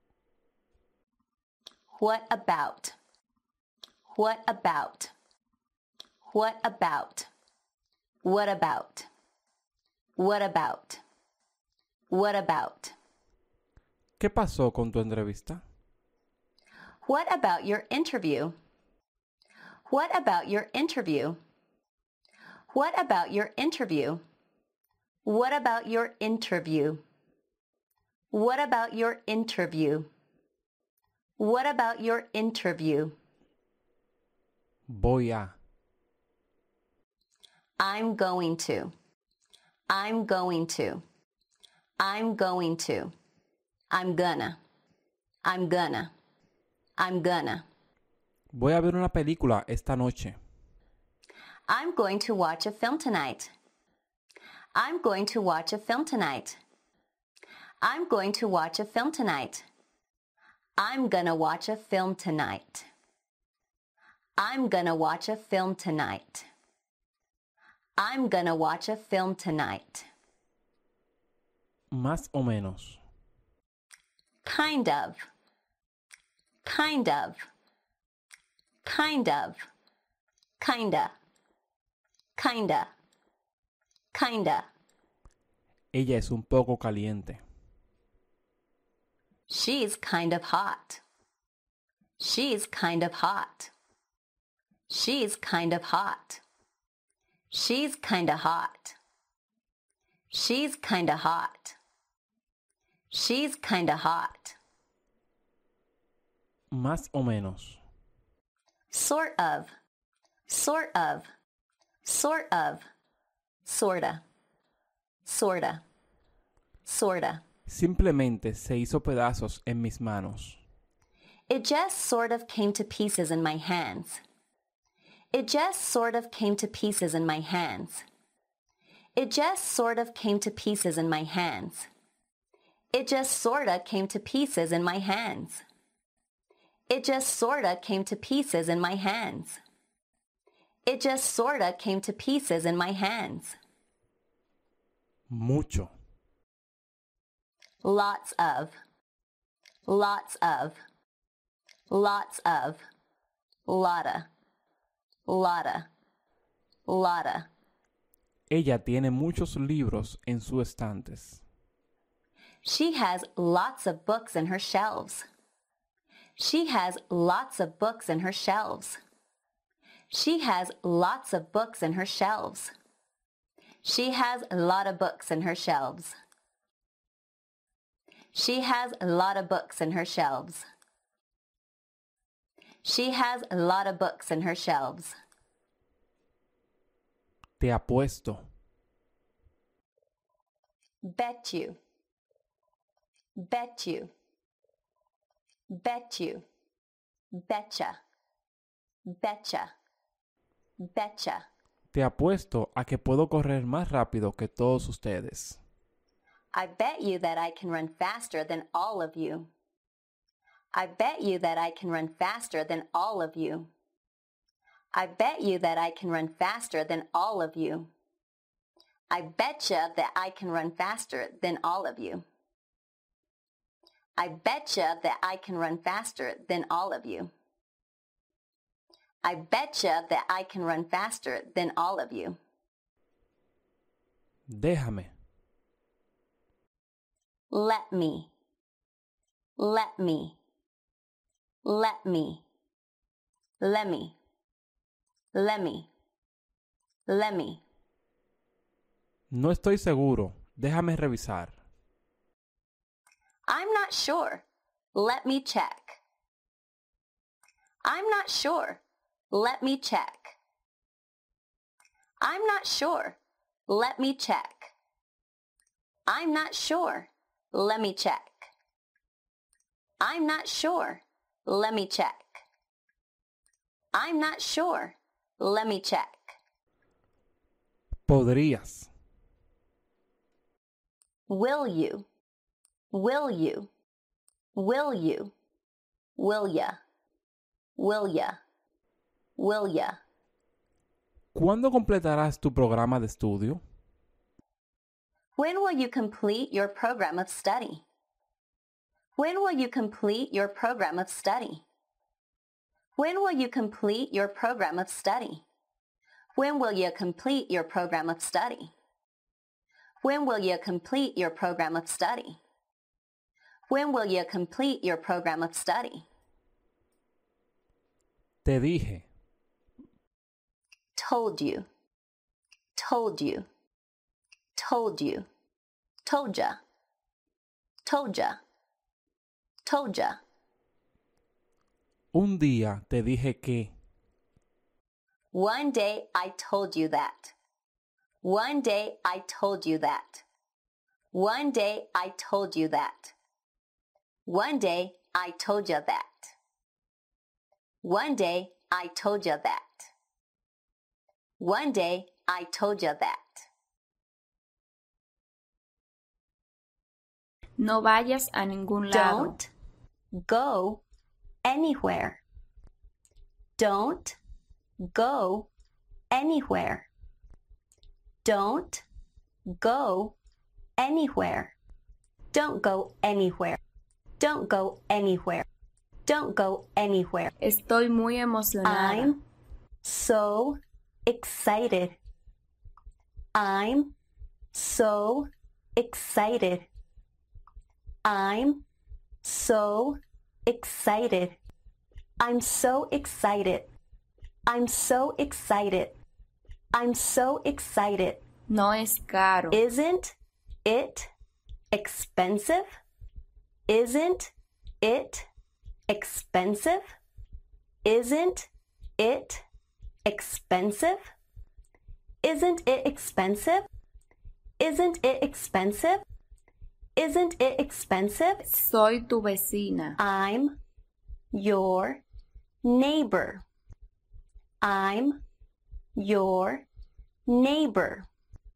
What about? What about? What about? What about? What about? What about? ¿Qué pasó con tu entrevista? What about your interview? What about your interview? What about your interview? What about your interview? What about your interview? What about your interview? Voy a. I'm going to. I'm going to. I'm going to. I'm gonna. I'm gonna. I'm gonna. Voy a ver una película esta noche. I'm going to watch a film tonight. I'm going to watch a film tonight. I'm going to watch a film tonight. I'm gonna watch a film tonight. I'm gonna watch a film tonight. I'm gonna watch a film tonight. Más o menos. Kind of. Kind of. Kind of. Kinda. Kinda. Kinda. Ella es un poco caliente. She's kind of hot. She's kind of hot. She's kind of hot. She's kind of hot. She's kind of hot. She's kind of hot. Más o menos. Sort of. Sort of. Sort of. Sorta. Sorta. Sorta. Simplemente se hizo pedazos en mis manos. It just sort of came to pieces in my hands. It just sort of came to pieces in my hands. It just sort of came to pieces in my hands. It just sorta came to pieces in my hands. It just sorta came to pieces in my hands. It just sorta came to pieces in my hands. Mucho. Lots of. Lots of. Lots of. Lotta. Lotta. Lotta. Ella tiene muchos libros en sus estantes. She has lots of books in her shelves. She has lots of books in her shelves. She has lots of books in her shelves. She has a lot of books in her shelves. She has a lot of books in her shelves. She has a lot of books in her shelves. Te apuesto. Bet you. Bet you. Bet you. Betcha. Betcha. Betcha. Te apuesto a que puedo correr más rápido que todos ustedes. I bet you that I can run faster than all of you. I bet you that I can run faster than all of you. I bet you that I can run faster than all of you. I betcha that I can run faster than all of you. I betcha that I can run faster than all of you. I betcha that I can run faster than all of you. Déjame. Let me. Let me. Let me. Let me. Let me. Let me. No estoy seguro. Déjame revisar. I'm not sure. Let me check. I'm not sure. Let me check. I'm not sure. Let me check. I'm not sure. Let me check. I'm not sure. Let me check. I'm not sure. Let me check. Podrías. Will you? Will you? Will you? Will ya? Will ya? Will ya? ¿Cuándo completarás tu programa de estudio? When will you complete your program of study? When will you complete your program of study? When will you complete your program of study? When will you complete your program of study? When will you complete your program of study? When will you complete your program of study? Te dije. Told you. Told you. Told you. Told ya. Told ya. Told ya. Un día te dije que. One day I told you that. One day I told you that. One day I told you that. One day I told you that. One day I told you that. One day I told you that. No vayas a ningún lado. Don't go anywhere. Don't go anywhere. Don't go anywhere. Don't go anywhere. Don't go anywhere. Don't go anywhere. Estoy muy emocionada. I'm so excited. I'm so excited. I'm so excited. I'm so excited. I'm so excited. I'm so excited. No es caro. Isn't it expensive? Isn't it expensive? Isn't it expensive? Isn't it expensive? Isn't it expensive? Isn't it expensive? Soy tu vecina. I'm your neighbor. I'm your neighbor.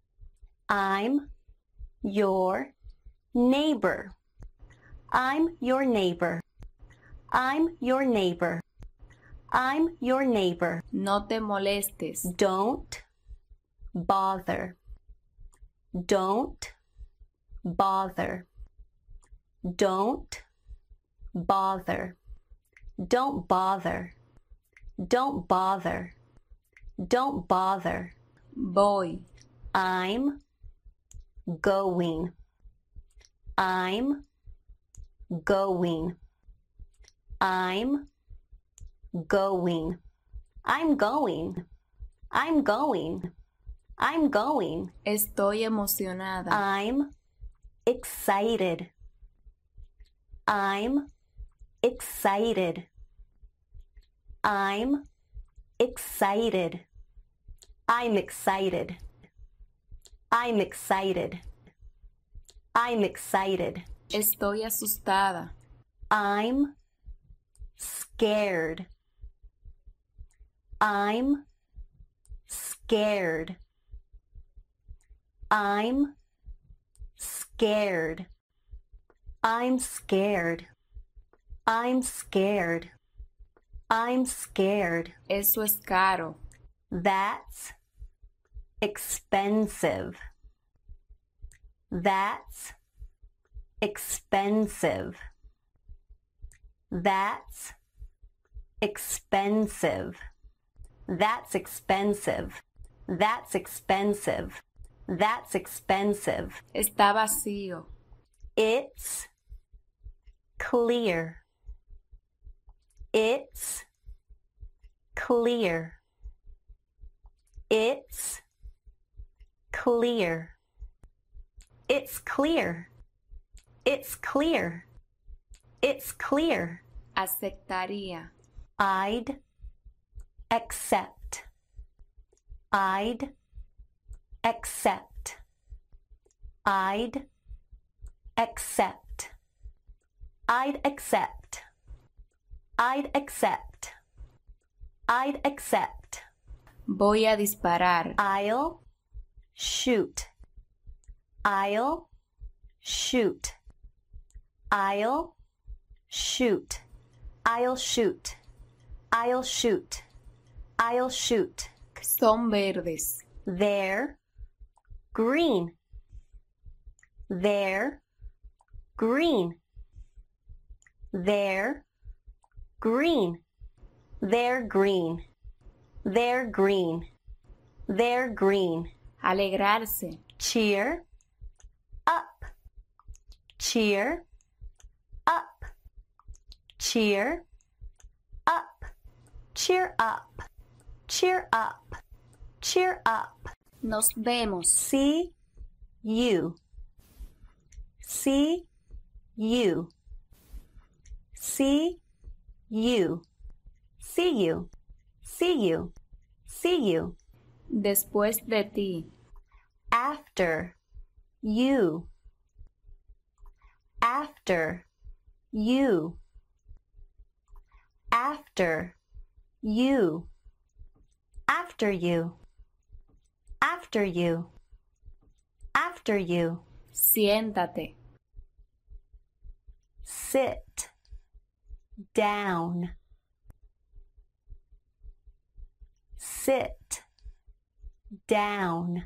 I'm your neighbor. I'm your neighbor. I'm your neighbor. I'm your neighbor. No te molestes. Don't bother. Don't bother. Don't bother. Don't bother. Don't bother. Don't bother. Voy. I'm going. I'm going. I'm going. I'm going. I'm going. I'm going. Estoy emocionada. I'm excited. I'm excited. I'm excited. I'm excited. I'm excited. I'm excited. Estoy asustada. I'm scared. I'm scared. I'm scared. I'm scared. I'm scared. I'm scared. Eso es caro. That's expensive. That's expensive. That's expensive. That's expensive. That's expensive. That's expensive. Está vacío. It's clear. It's clear. It's clear. It's clear. It's clear. It's clear. Aceptaría. I'd accept. I'd accept. I'd accept. I'd accept. I'd accept. I'd accept. Voy a disparar. I'll shoot. I'll shoot. I'll shoot. I'll shoot. I'll shoot. I'll shoot. Son verdes. They're green. They're green. They're green. They're green. They're green. They're green. Alegrarse. Cheer up. Cheer up. Cheer up. Cheer up. Cheer up. Cheer up. Nos vemos. See you. See you. See you. See you. See you. See you. Después de ti. After you. After you. After you. After you. After you. After you. Siéntate. Sit down. Sit down.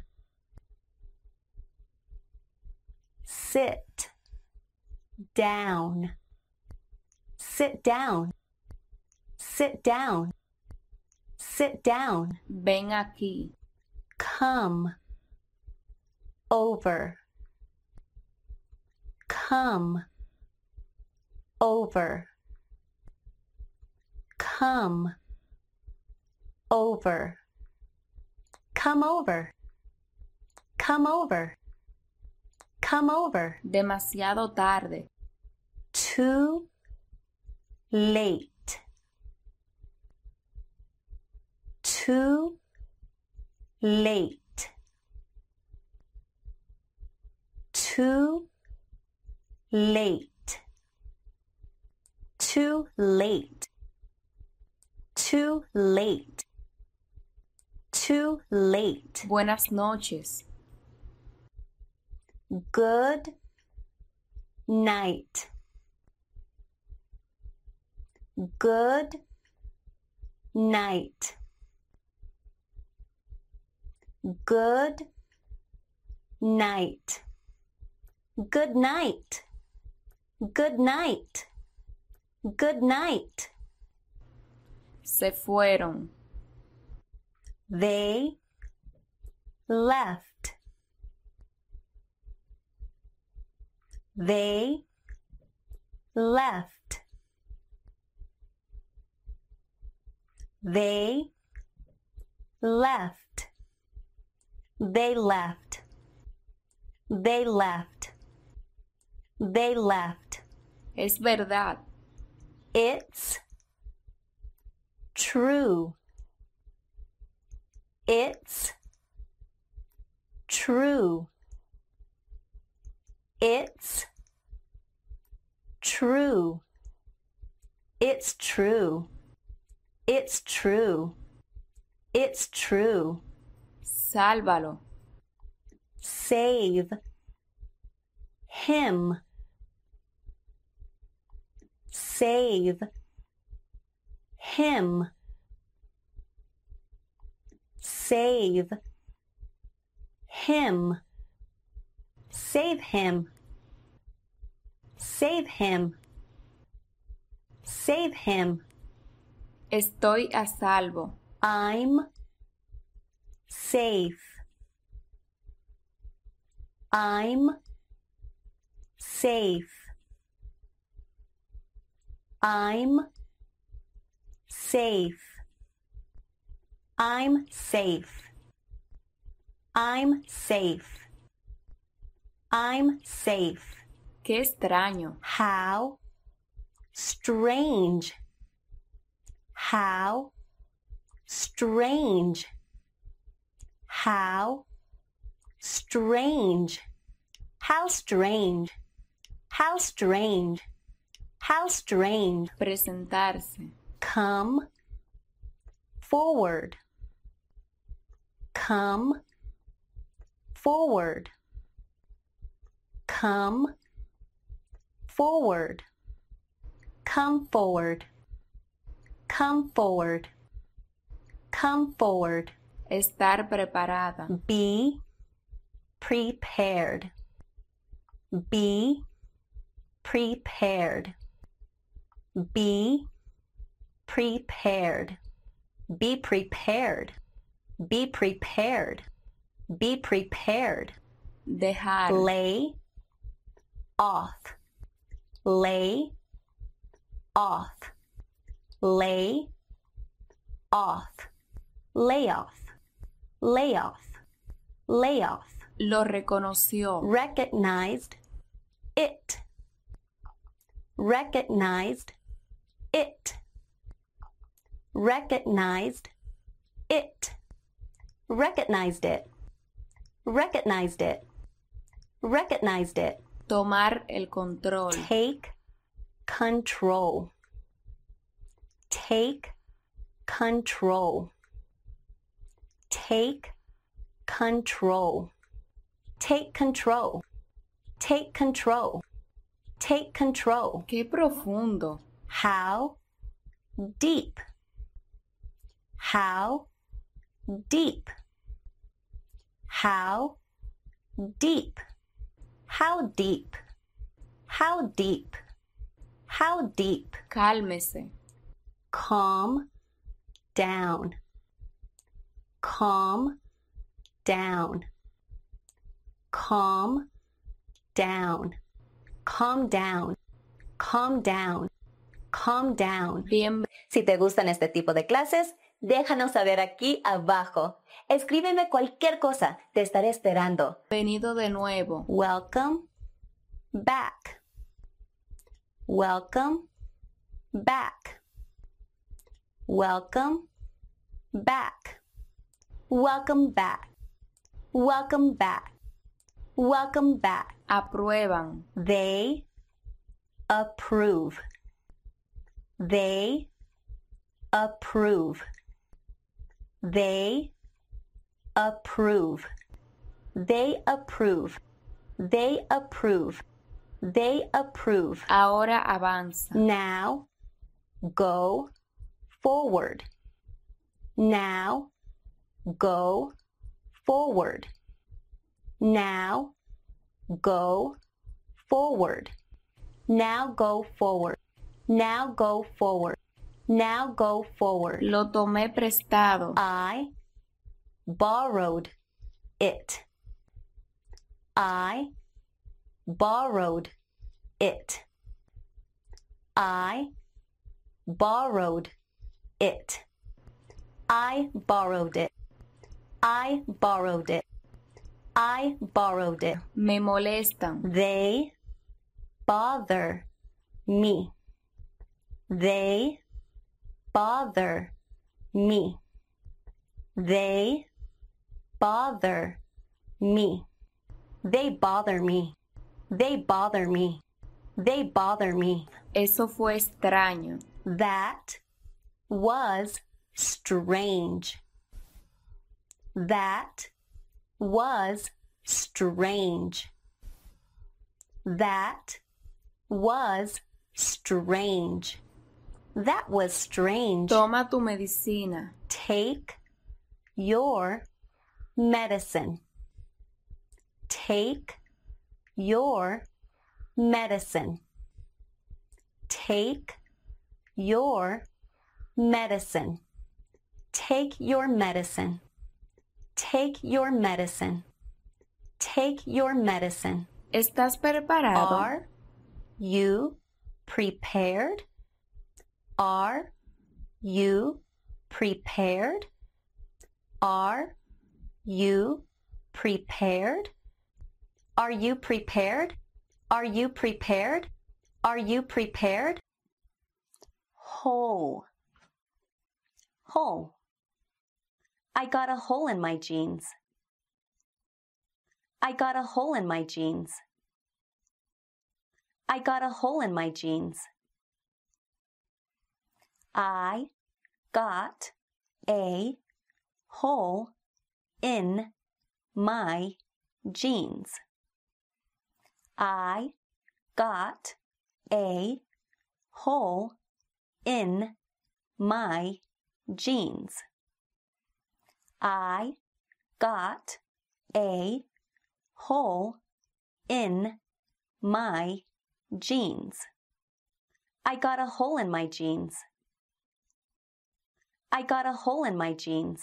Sit down. Sit down. Sit down. Sit down. Ven aquí. Come over. Come over. Come over. Come over. Come over. Come over. Demasiado tarde. Too late. Too late. Too late. Too late. Too late. Too late. Buenas noches. Good night. Good night. Good night. Good night. Good night. Good night. Se fueron. They left. They left. They left. They left. They left. They left. Es verdad. It's true. It's true. It's true. It's true. It's true. It's true. Sálvalo. Save him. Save him. Save him. Save him. Save him. Save him. Estoy a salvo. I'm safe. I'm safe. I'm safe. I'm safe. I'm safe. I'm safe. Qué extraño. How strange. How strange. How strange. How strange. How strange. How strange. Presentarse. Come forward. Come forward. Come forward. Come forward. Come forward. Come forward. Estar preparada. Be prepared. Be prepared. Be prepared. Be prepared. Be prepared. Be prepared. Dejar. Lay off. Lay off. Lay off. Lay off. Lay off. Lay off. Lo reconoció. Recognized it. Recognized it. Recognized it. Recognized it. Recognized it. Recognized it. Tomar el control. Take control. Take control. Take control. Take control. Take control. Take control. Qué profundo. How deep? How deep? How deep? How deep? How deep? How deep? Cálmese. Calm down. Calm down. Calm down. Calm down. Calm down. Calm down. Bien. Si te gustan este tipo de clases, déjanos saber aquí abajo. Escríbeme cualquier cosa, te estaré esperando. Bienvenido de nuevo. Welcome back. Welcome back. Welcome back. Welcome back. Welcome back. Welcome back. Aprueban. They approve. They approve. They approve. They approve. They approve. They approve. Ahora avanza. Now go forward. Now go forward. Now go forward. Now go forward. Now go forward. Now go forward. Lo tomé prestado. I borrowed it. I borrowed it. I borrowed it. I borrowed it. I borrowed it. I borrowed it. Me molestan. They bother me. They bother me. They bother me. They bother me. They bother me. They bother me. Eso fue extraño. That was strange. That was strange. That was strange. That was strange. Toma tu medicina. Take your medicine. Take your medicine. Take your medicine. Take your medicine. Take your medicine. Take your medicine. ¿Estás preparado? Are you prepared? Are you prepared? Are you prepared? Are you prepared? Are you prepared? Are you prepared? Hole. Hole. I got a hole in my jeans. I got a hole in my jeans. I got a hole in my jeans. I got a hole in my jeans. I got a hole in my jeans. I got a hole in my jeans. I got a hole in my jeans. I got a hole in my jeans.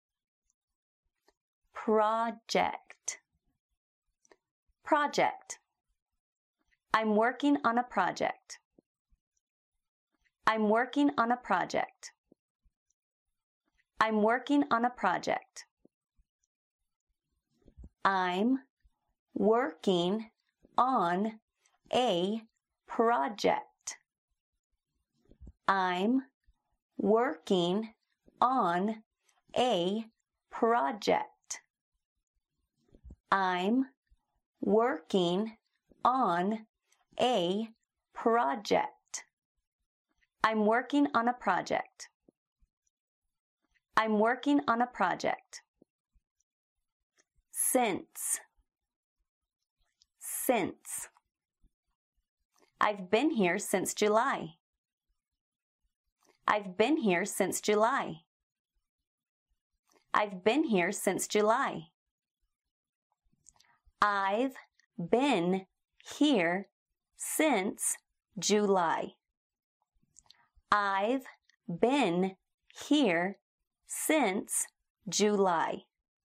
Project. Project. I'm working on a project. I'm working on a project. I'm working on a project. I'm working on a project. I'm working on a project. I'm working on a project. I'm working on a project. I'm working on a project. Since. Since. I've been here since July. I've been here since July. I've been here since July. I've been here since July. I've been here since July.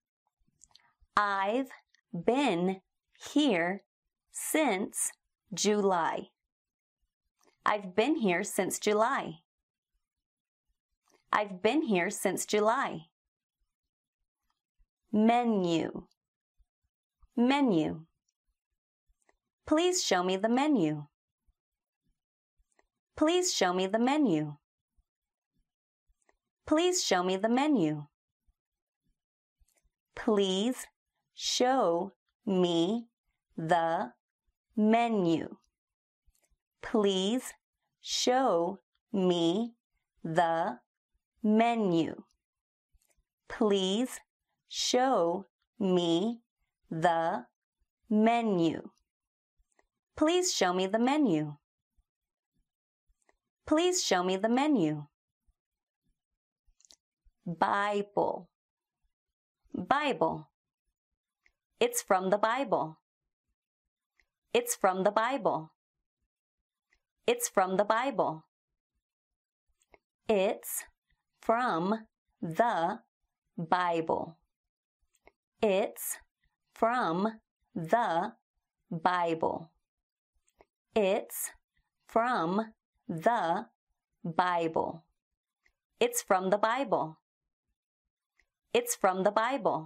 I've been here since July. I've been here since July. I've been here since July. Menu. Menu. Please show me the menu. Please show me the menu. Please show me the menu. Please show me the menu. Please show me the menu. Please show me the menu. Please show me the menu. Please show me the menu. Bible. Bible. It's from the Bible. It's from the Bible. It's from the Bible. It's from the Bible. It's from the Bible. It's from the Bible. It's from the Bible. It's from the Bible.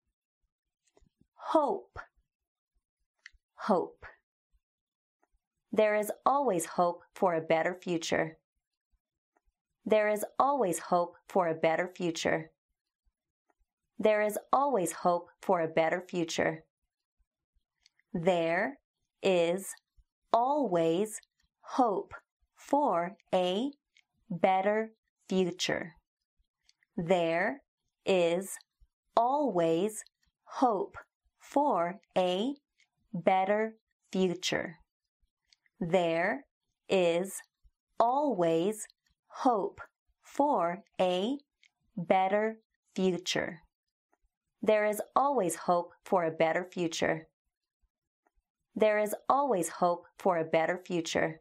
Hope. Hope. There is always hope for a better future. There is always hope for a better future. There is always hope for a better future. There is always hope for a better future. There is always hope for a better future. There is always hope for a better future. There is always hope for a better future. There is always hope for a better future.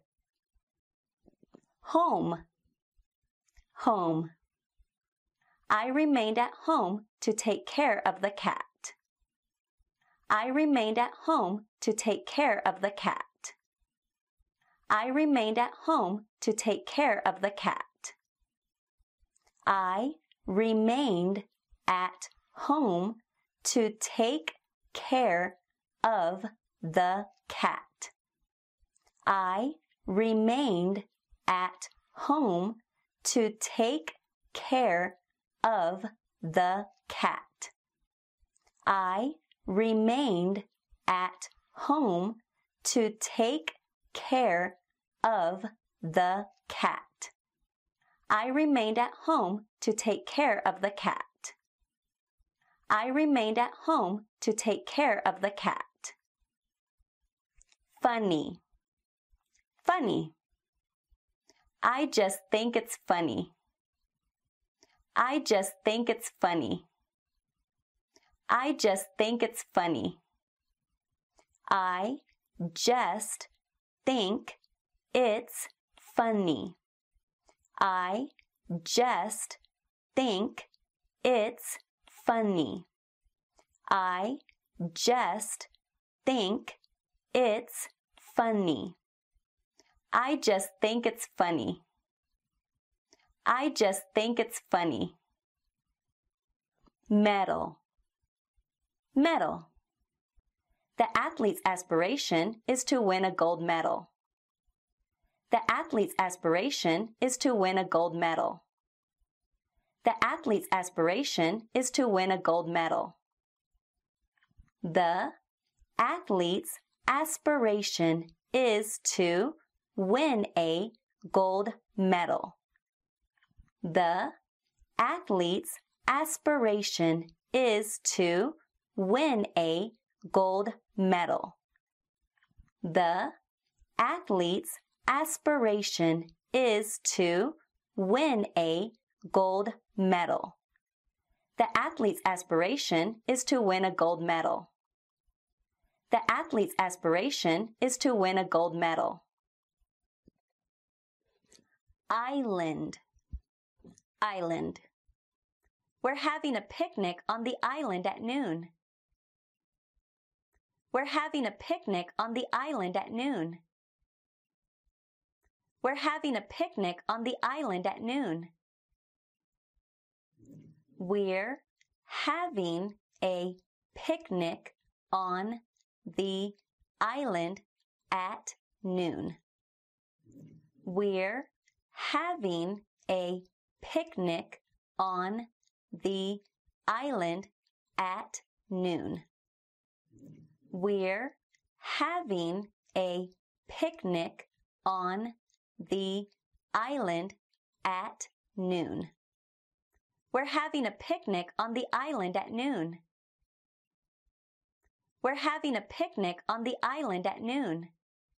Home. Home. I remained at home to take care of the cat. I remained at home to take care of the cat. I remained at home to take care of the cat. I remained at home to take care of the cat. I remained at home to take care of the cat. I remained at home to take care of the cat. I remained at home to take care of the cat. I remained at home to take care of the cat. Funny. Funny. I just think it's funny. I just think it's funny. I just think it's funny. I just think it's funny. I just think it's funny. I just think it's funny. I just think it's funny. I just think it's funny. Medal. Medal. The athlete's aspiration is to win a gold medal. The athlete's aspiration is to win a gold medal. The athlete's aspiration is to win a gold medal. The athlete's aspiration is to win a gold medal. The athlete's aspiration is to win a gold medal. The athlete's aspiration is to win a gold medal. The athlete's aspiration is to win a gold medal. The athlete's aspiration is to win a gold medal. Island. Island. We're having a picnic on the island at noon. We're having a picnic on the island at noon. We're having a picnic on the island at noon. We're having a picnic on the island at noon. We're having a picnic on the island at noon. We're having a picnic on the island at noon. We're having a picnic on the island at noon. We're having a picnic on the island at noon.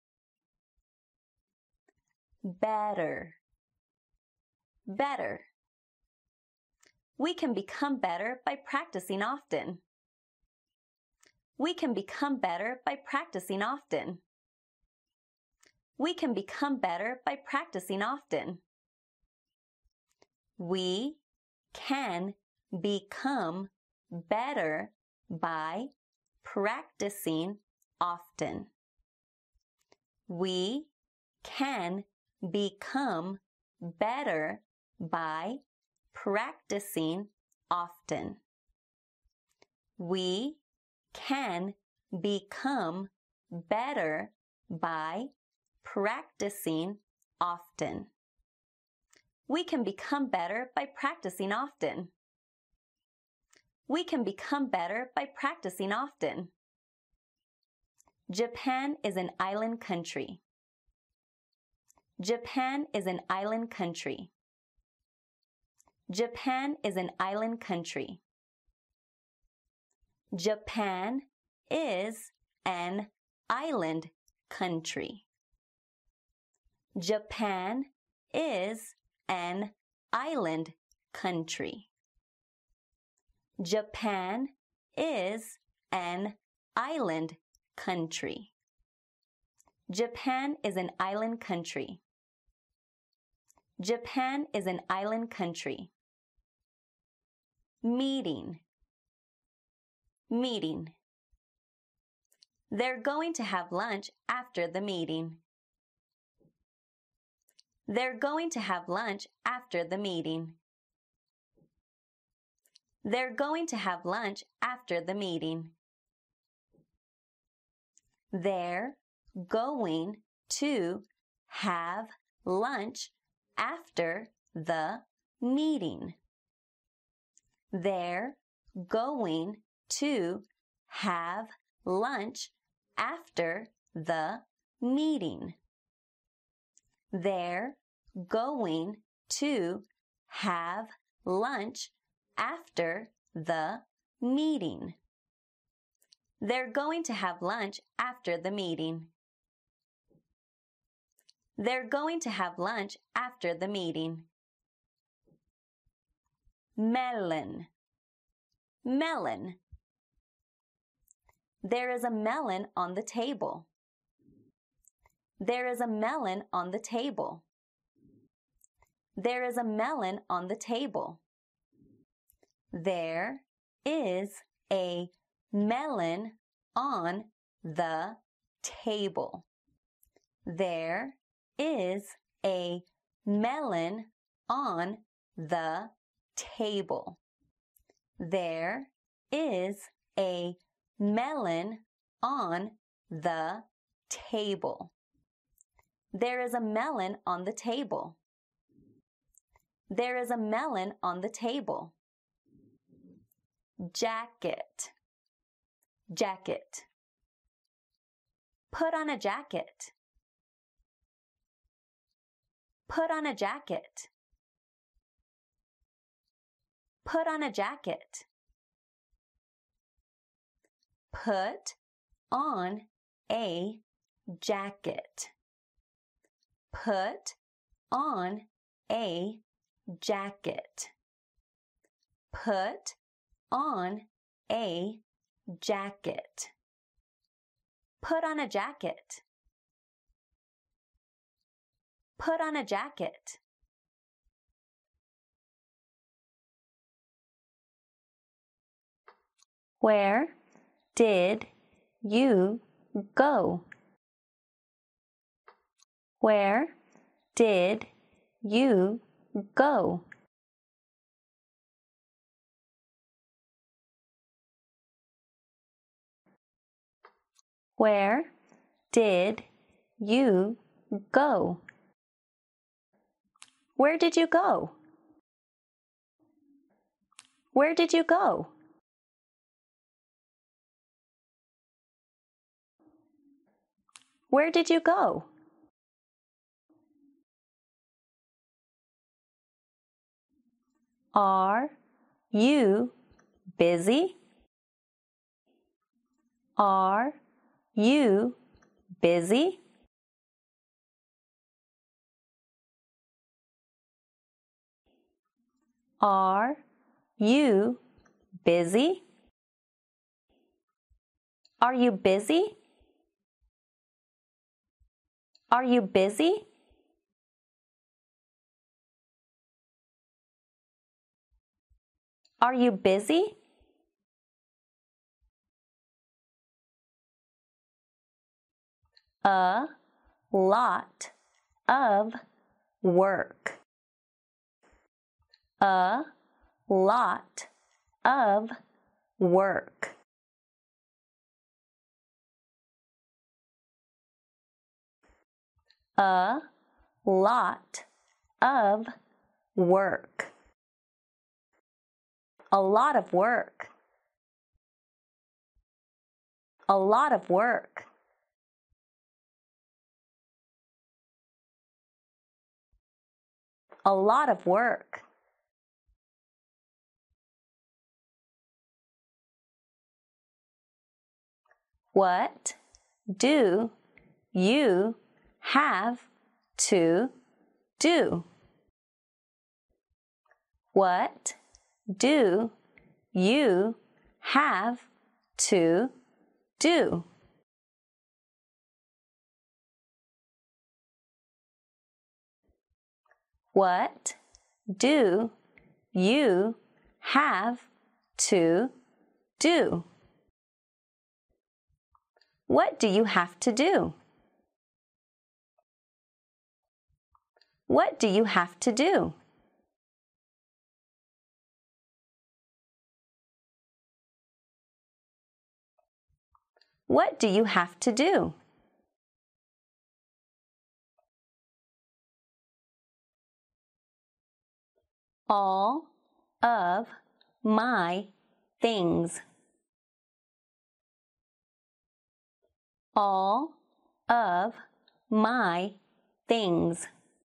Better. Better. We can become better by practicing often. We can become better by practicing often. We can become better by practicing often. We can become better by practicing often. We can become better by practicing often. We can become better by practicing often. We can become better by practicing often. We can become better by practicing often. Japan is an island country. Japan is an island country. Japan is an island country. Japan is an island country. Japan is an island country. Japan is an island country. Japan is an island country. Japan is an island country. Meeting. Meeting. They're going to have lunch after the meeting. They're going to have lunch after the meeting. They're going to have lunch after the meeting. They're going to have lunch after the meeting. They're going to have lunch after the meeting. They're going to have lunch after the meeting. They're going to have lunch after the meeting. They're going to have lunch after the meeting. Melon. Melon. There is a melon on the table. There is a melon on the table. There is a melon on the table. There is a melon on the table. There is a melon on the table. There is a melon on the table. There is a melon on the table. There is a melon on the table. Jacket. Jacket. Put on a jacket. Put on a jacket. Put on a jacket. Put on a jacket. Put on a jacket. Put on a jacket. Put on a jacket. Put on a jacket. Where did you go? Where did you go? Where did you go? Where did you go? Where did you go? Where did you go? Are you busy? Are you busy? Are you busy? Are you busy? Are you busy? Are you busy? A lot of work. A lot of work. A lot of work. A lot of work. A lot of work. A lot of work. What do you have to do? What do you have to do? What do you have to do? What do you have to do? What do you have to do? What do you have to do? All of my things. All of my things.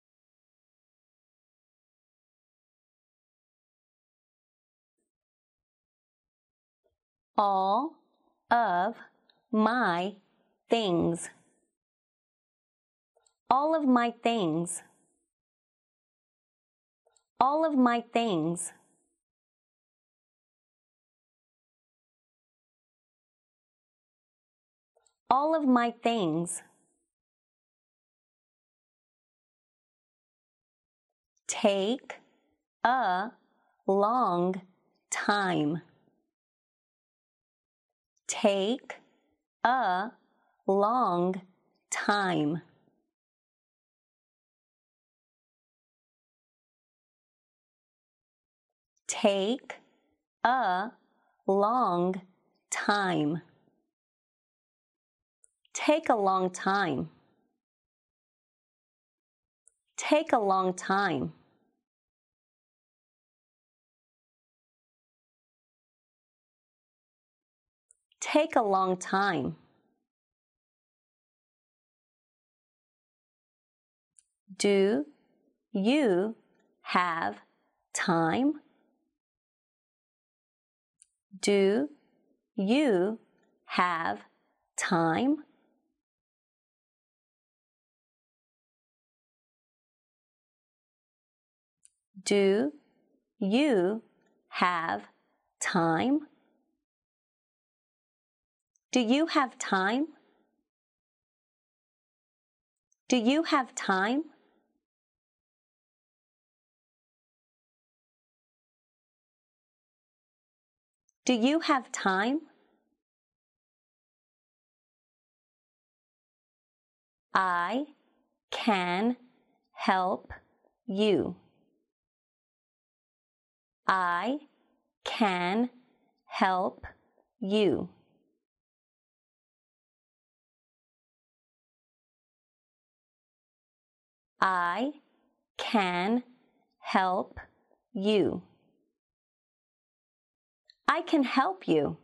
All of my things. All of my things. All of my things. All of my things. Take a long time. Take a long time. Take a long time. Take a long time. Take a long time. Take a long time. Do you have time? Do you have time? Do you have time? Do you have time? Do you have time? Do you have time? I can help you. I can help you. I can help you. I can help you.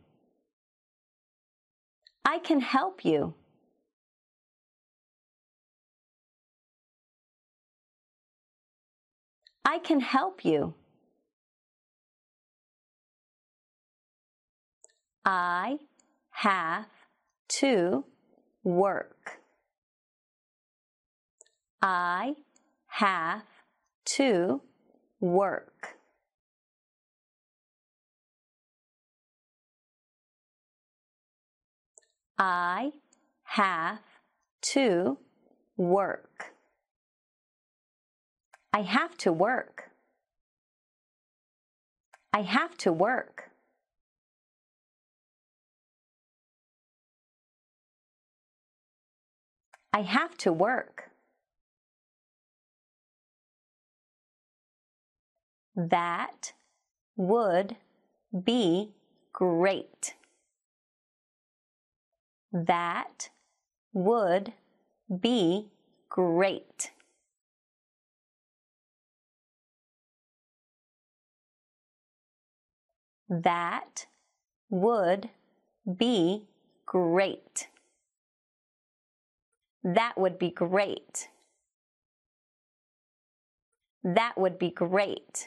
I can help you. I can help you. I have to work. I have to work. I have to work. I have to work. I have to work. I have to work. That would be great. That would be great. That would be great. That would be great. That would be great.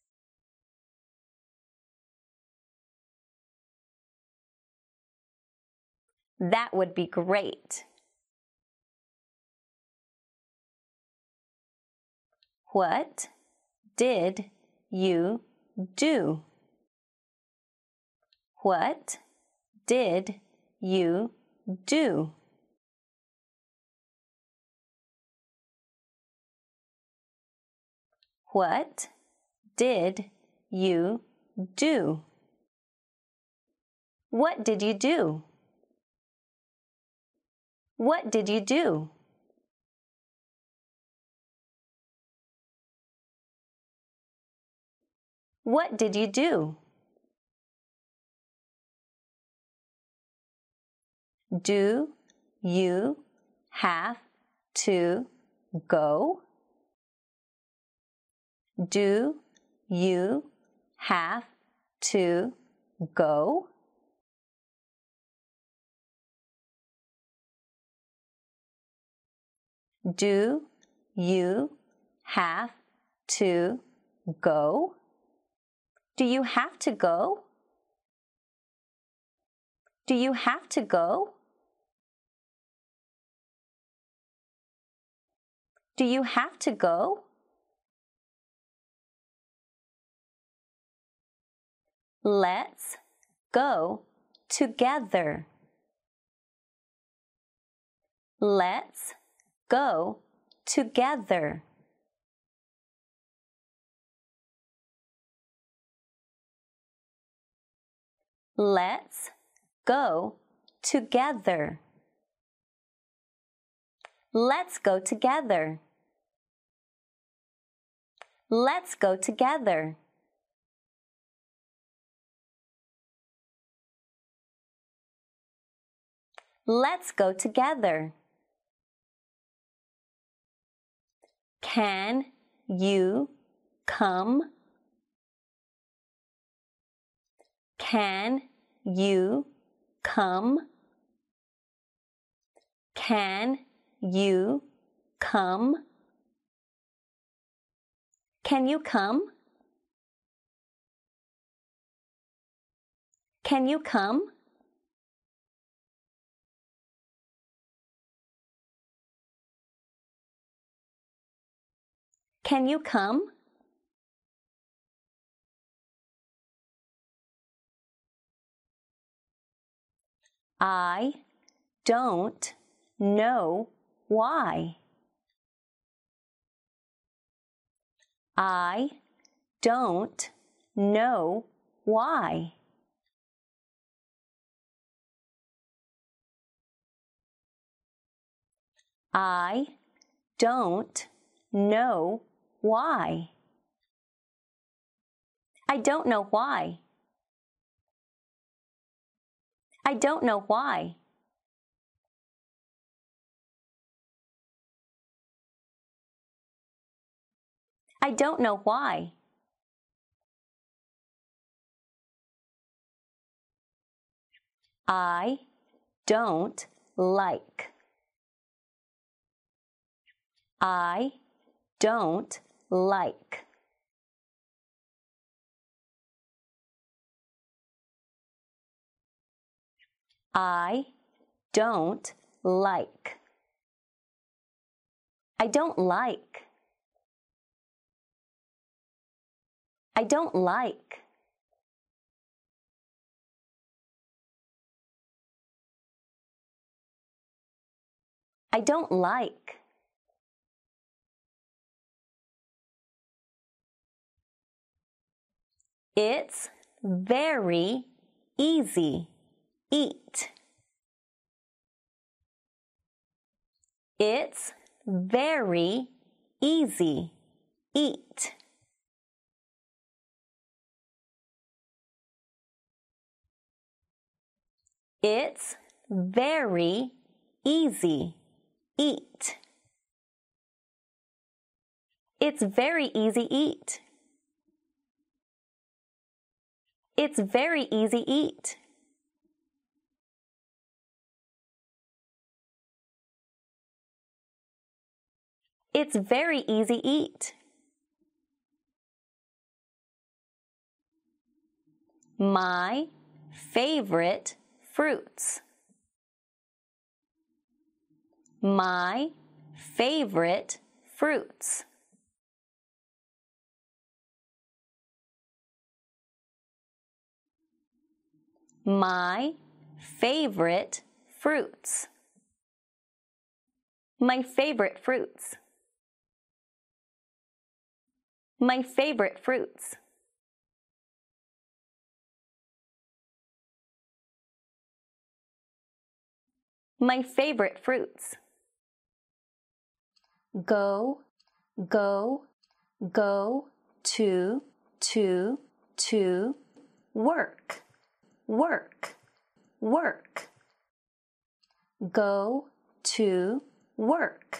That would be great. What did you do? What did you do? What did you do? What did you do? What did you do? What did you do? Do you have to go? Do you have to go? Do you have to go? Do you have to go? Do you have to go? Do you have to go? Let's go together. Let's go together. Let's go together. Let's go together. Let's go together. Let's go together. Can you come? Can you come? Can you come? Can you come? Can you come? Can you come? I don't know why. I don't know why. I don't know why. I don't know why. I don't know why. I don't know why. I don't like. I don't like. I don't like. I don't like. I don't like. I don't like. It's very easy. Eat. It's very easy. Eat. It's very easy. Eat. It's very easy eat. It's very easy eat. It's very easy eat. My favorite fruits. My favorite fruits. My favorite fruits. My favorite fruits. My favorite fruits. My favorite fruits. Go, go, go to, work, work, work. Go to work.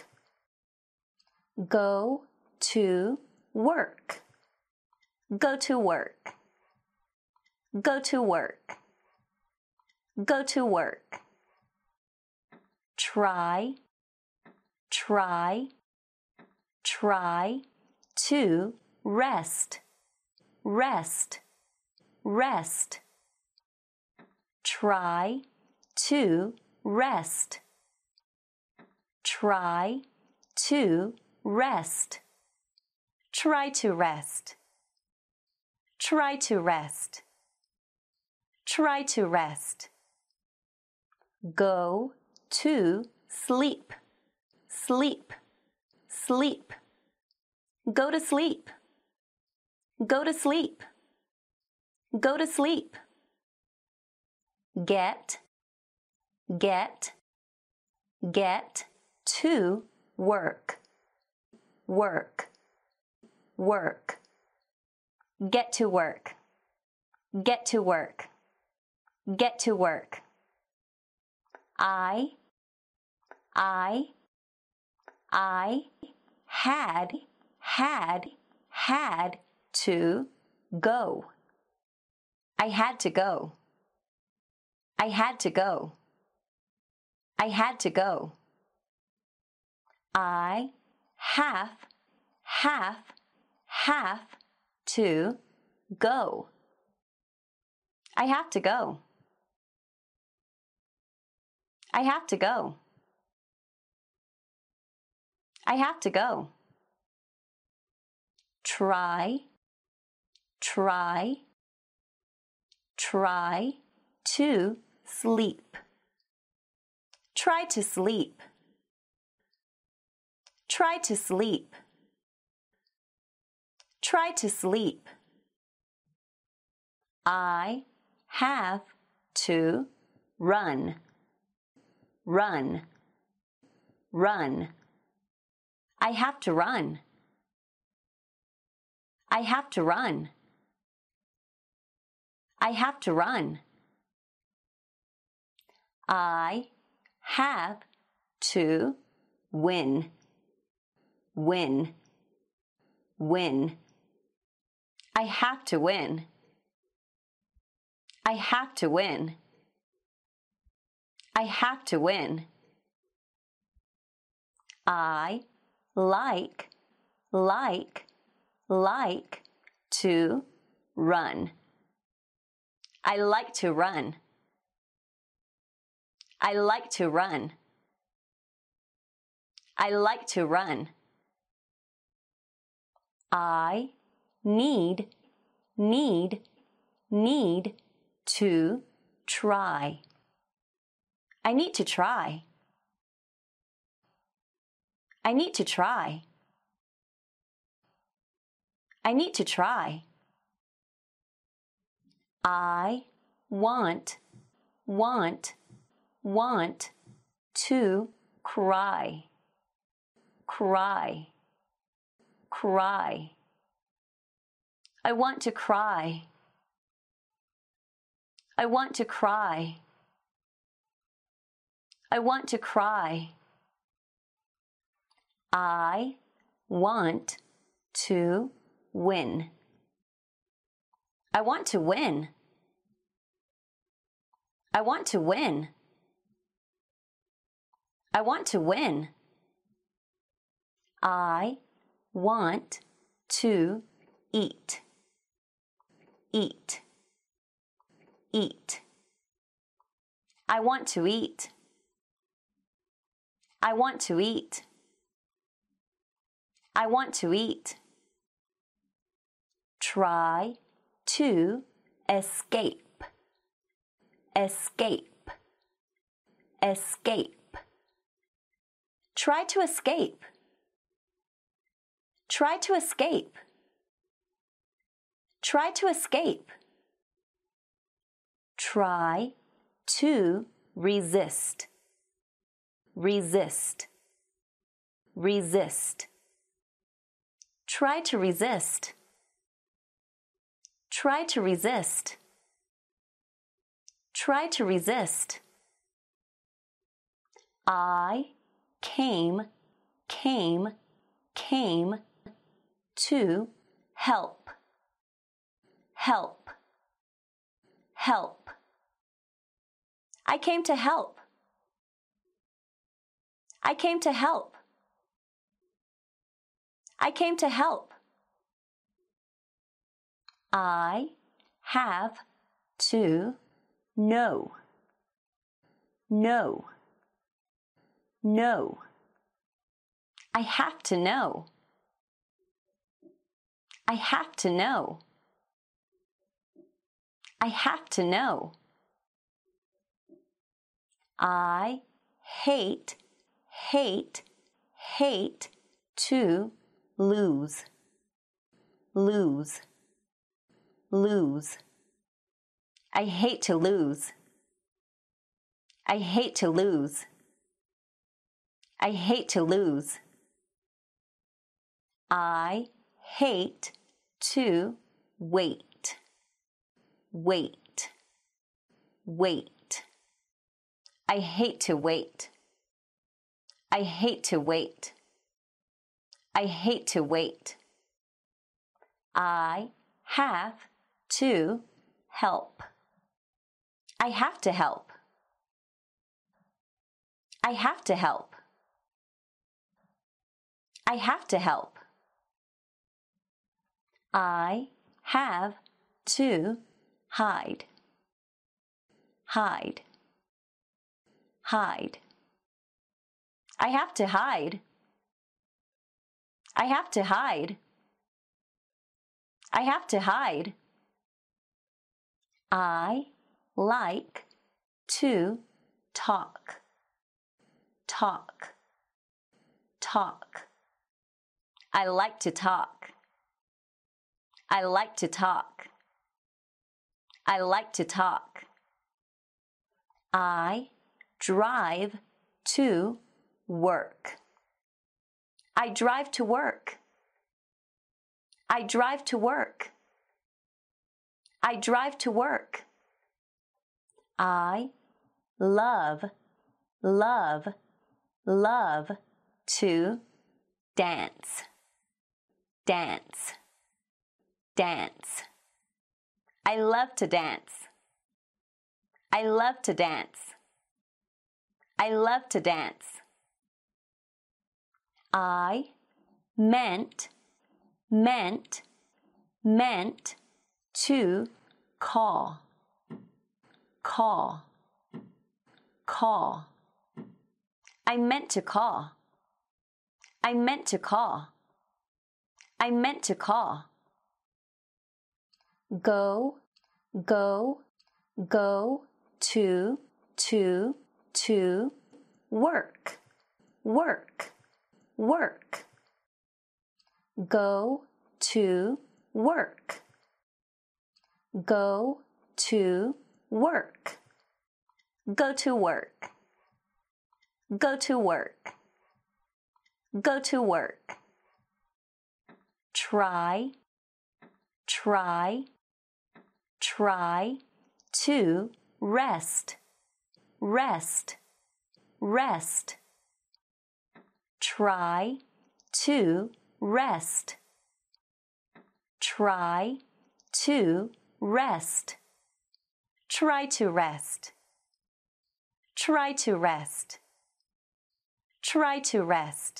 Go to work. Go to work. Go to work. Go to work. Try, try, try to rest, rest, rest. Try to rest. Try to rest. Try to rest. Try to rest. Try to rest. Go to sleep, sleep, sleep. Go to sleep. Go to sleep. Go to sleep. Get, get, get to work, work, work. Get to work. Get to work. Get to work. I had to go. I had to go. I had to go. I had to go. I have to go. I have to go. I have to go. I have to go. Try, try, try to sleep. Try to sleep. Try to sleep. Try to sleep. I have to run. Run. Run. I have to run. I have to run. I have to run. I have to win. Win. Win. I have to win. I have to win. I have to win. I like to run. I like to run. I like to run. I like to run. I need to try. I need to try. I need to try. I need to try. I want to cry. Cry. Cry. I want to cry. I want to cry. I want to cry. I want to win. I want to win. I want to win. I want to win. I want to eat. Eat. Eat. I want to eat. I want to eat. I want to eat. Try to escape. Escape. Escape. Try to escape. Try to escape. Try to escape. Try to resist. resist, resist. Try to resist. Try to resist. Try to resist. I came to help, help, help. I came to help. I came to help. I came to help. I have to know, know, know. I have to know. I have to know. I have to know. I hate to lose, lose, lose. I hate to lose. I hate to lose. I hate to lose. I hate to wait, wait, wait. I hate to wait. I hate to wait. I hate to wait. I have to help. I have to help. I have to help. I have to help. I have to hide, hide, hide. I have to hide. I have to hide. I have to hide. I like to talk, talk, talk. I like to talk. I like to talk. I like to talk. I drive to work. I drive to work. I drive to work. I drive to work. I love, love, love to dance, dance, dance. I love to dance. I love to dance. I love to dance. I meant to call, call, call. I meant to call. I meant to call. I meant to call. Go, go, go to work, work, work. Go to work. Go to work. Go to work. Go to work. Go to work. Try, try, try to rest, rest, rest. Try to rest. Try to rest. Try to rest. Try to rest. Try to rest.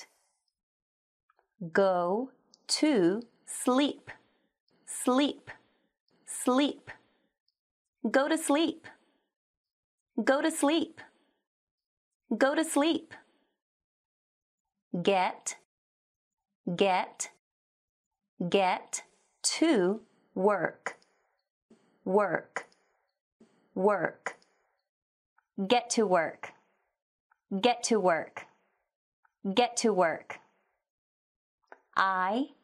Go to sleep, sleep, sleep. Go to sleep. Go to sleep. Go to sleep. Get to work, work, work. Get to work. Get to work. Get to work. I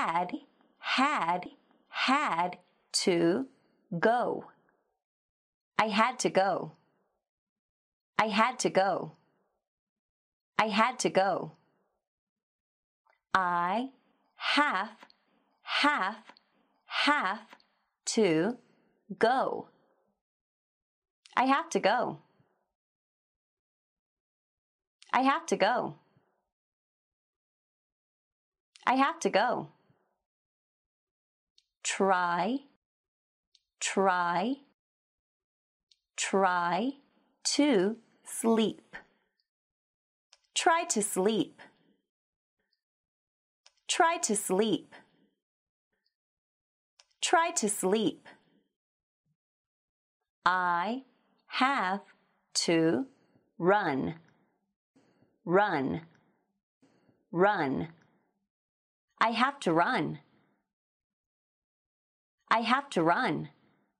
had to go. I had to go. I had to go. I had to go. I have to go. I have to go. I have to go. I have to go. Try to sleep. Try to sleep. Try to sleep. Try to sleep. I have to run. Run. Run. I have to run. I have to run.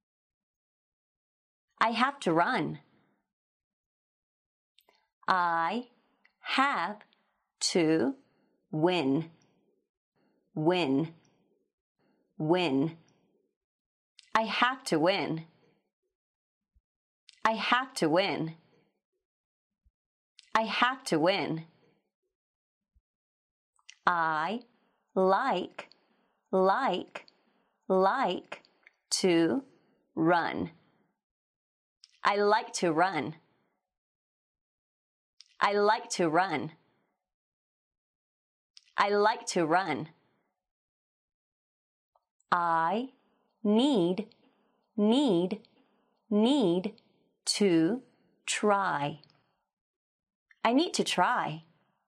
I have to run. I have to win. Win. Win. I have to win. I have to win. I have to win. I like to run. I like to run. I like to run. I like to run. I need to try. I need to try.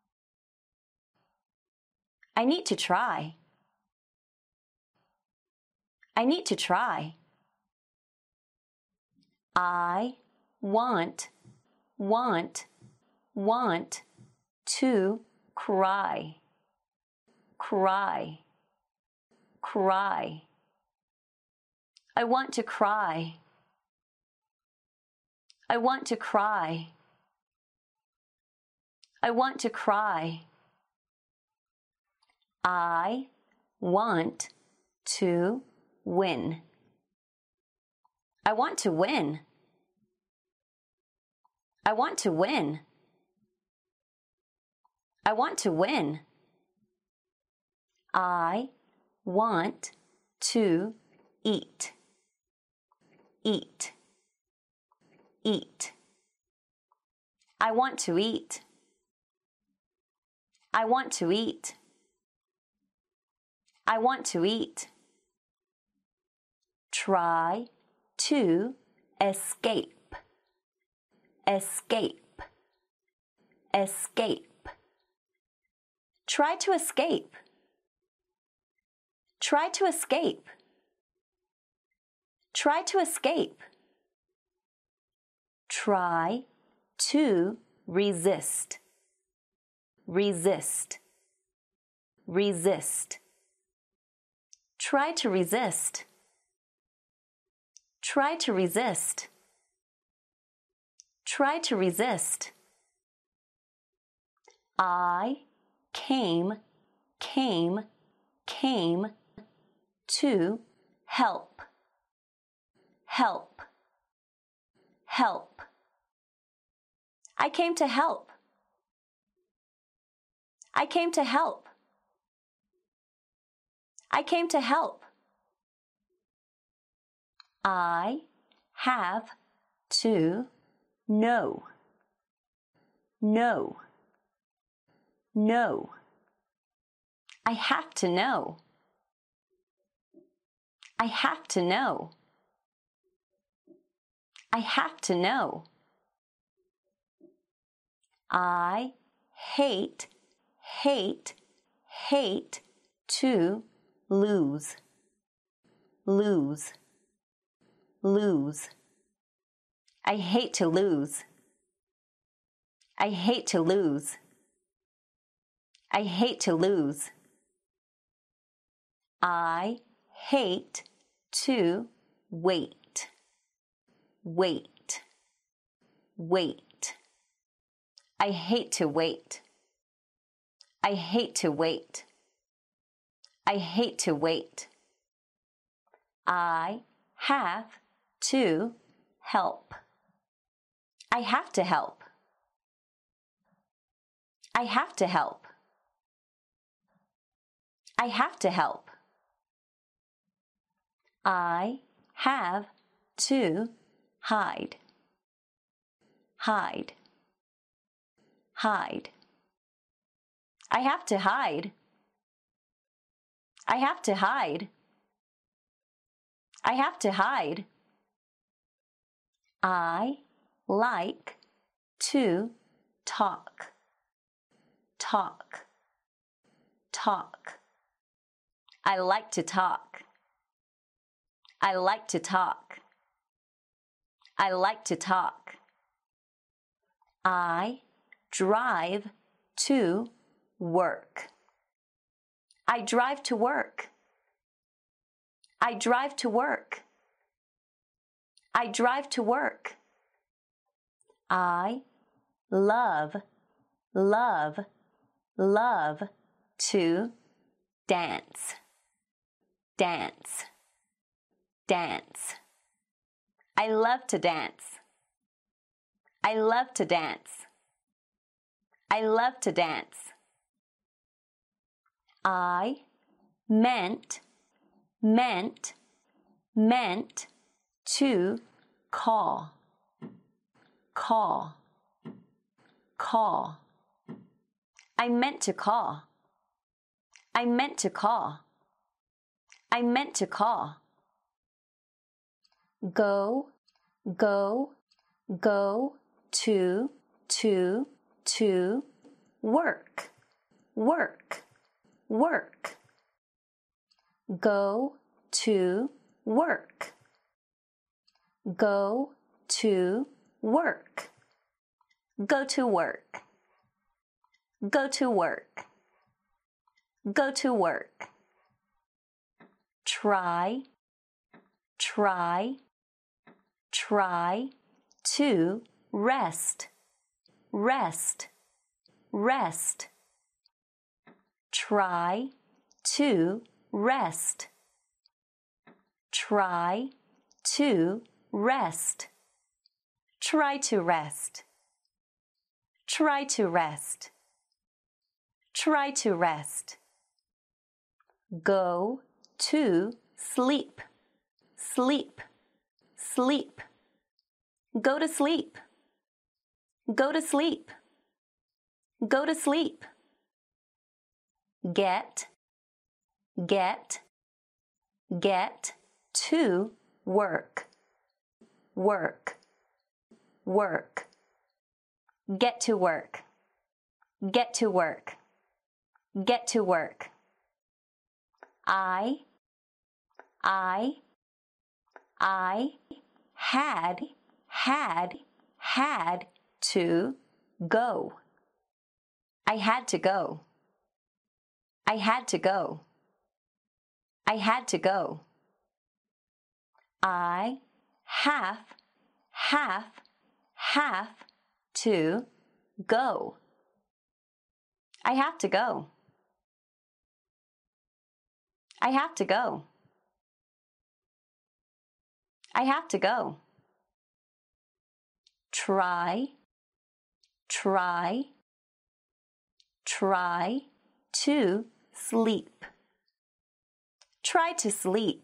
I need to try. I need to try. I want to cry. Cry. Cry. I want to cry. I want to cry. I want to cry. I want to win. I want to win. I want to win. I want to win. I want to eat. Eat. Eat. I want to eat. I want to eat. I want to eat. Try to escape. Escape. Escape. Try to escape. Try to escape. Try to escape. Try to resist. Resist. Resist. Try to resist. Try to resist. Try to resist. I came to help. Help. Help. I came to help. I came to help. I came to help. I have to know. Know. Know. I have to know. I have to know. I have to know. I hate to lose. Lose. Lose. I hate to lose. I hate to lose. I hate to lose. I hate to wait. Wait. Wait. I hate to wait. I hate to wait. I hate to wait. I have to help. I have to help. I have to help. I have to help. I have to hide. Hide. Hide. I have to hide. I have to hide. I have to hide. I like to talk. Talk. Talk. I like to talk. I like to talk. I like to talk. I drive to work. I drive to work. I drive to work. I drive to work. I love, love, love to dance. Dance. Dance. I love to dance. I love to dance. I love to dance. I meant to call. Call. Call. I meant to call. I meant to call. I meant to call. Go, go, go to work, work, work. Go to work. Go to work. Go to work. Go to work. Go to work. Try, try, try to rest. Rest, rest. Try to rest. Try to rest. Try to rest. Try to rest. Try to rest. Go to sleep. Sleep. Sleep. Go to sleep. Go to sleep. Go to sleep. Get to work. Work. Work. Get to work. Get to work. Get to work. I had to go. I had to go. I had to go. I had to go. I have to go. I have to go. I have to go. I have to go. Try to sleep. Try to sleep.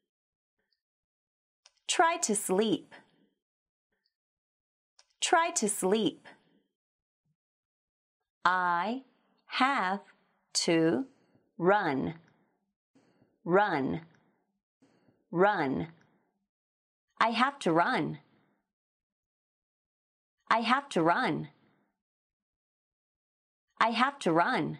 Try to sleep. Try to sleep. I have to run. Run. Run. I have to run. I have to run. I have to run.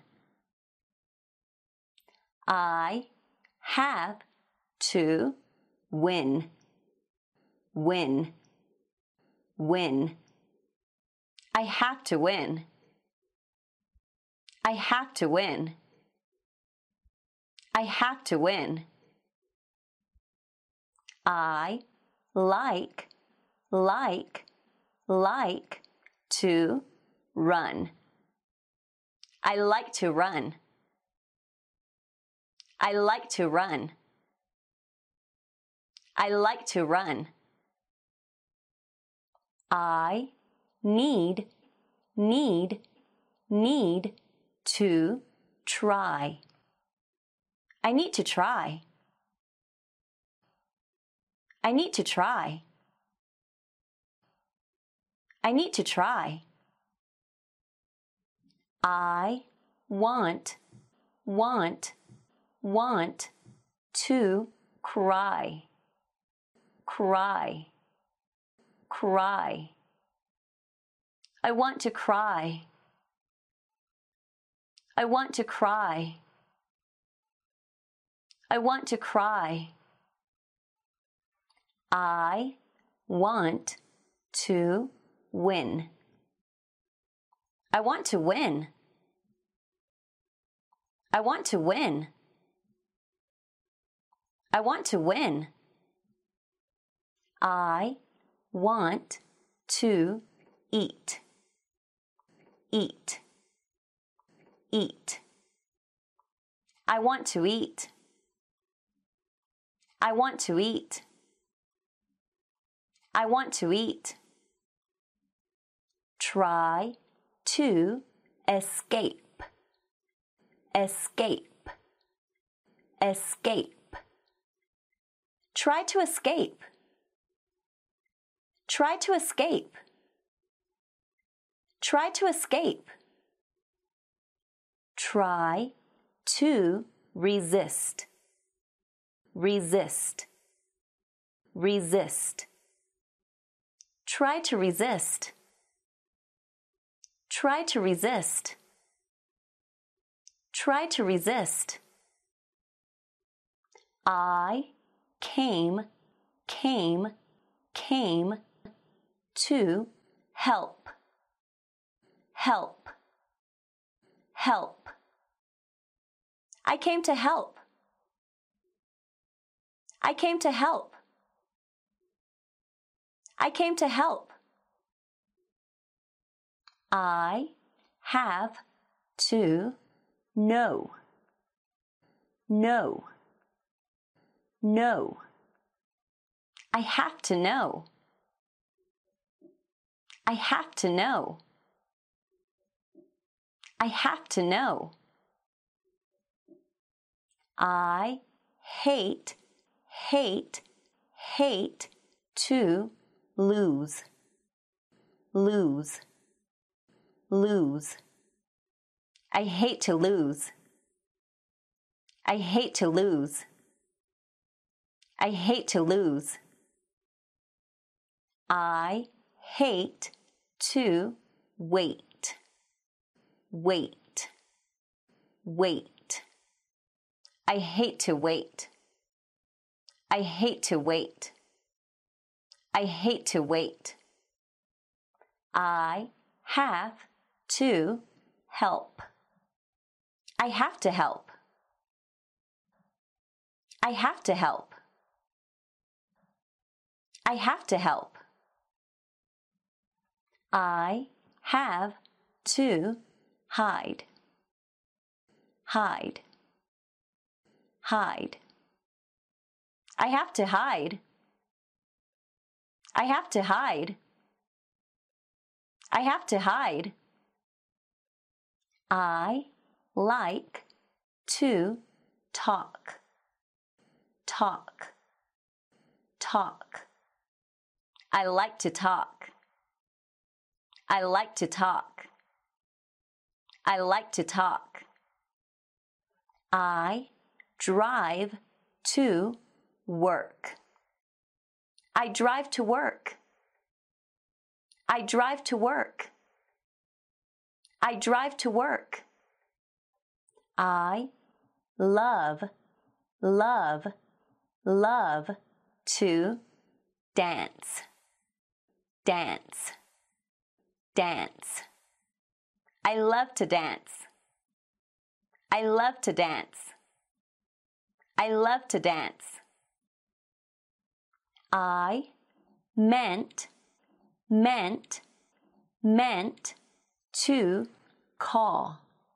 I have to win. Win. Win. I have to win. I have to win. I have to win. I like to run. I like to run. I like to run. I like to run. I need to try. I need to try. I need to try. I need to try. I want to cry. Cry. Cry. I want to cry. I want to cry. I want to cry. I want to win. I want to win. I want to win. I want to win. I want to eat. Eat. Eat. I want to eat. I want to eat. I want to eat. Try to escape. Escape. Escape. Try to escape. Try to escape. Try to escape. Try to resist. Resist. Resist. Try to resist. Try to resist. Try to resist. I came to help. Help. Help. I came to help. I came to help. I came to help. I have to know. Know. Know. I have to know. I have to know. I have to know. I hate to lose. Lose. Lose. I hate to lose. I hate to lose. I hate to lose. I hate to wait. Wait. Wait. I hate to wait. I hate to wait. I hate to wait. I have to help. I have to help. I have to help. I have to help. I have to hide. Hide. Hide. I have to hide. I have to hide. I have to hide. I like to talk. Talk. Talk. I like to talk. I like to talk. I like to talk. I drive to work. I drive to work. I drive to work. I drive to work. I love to dance. Dance. Dance. I love to dance. I love to dance. I love to dance. I meant to call.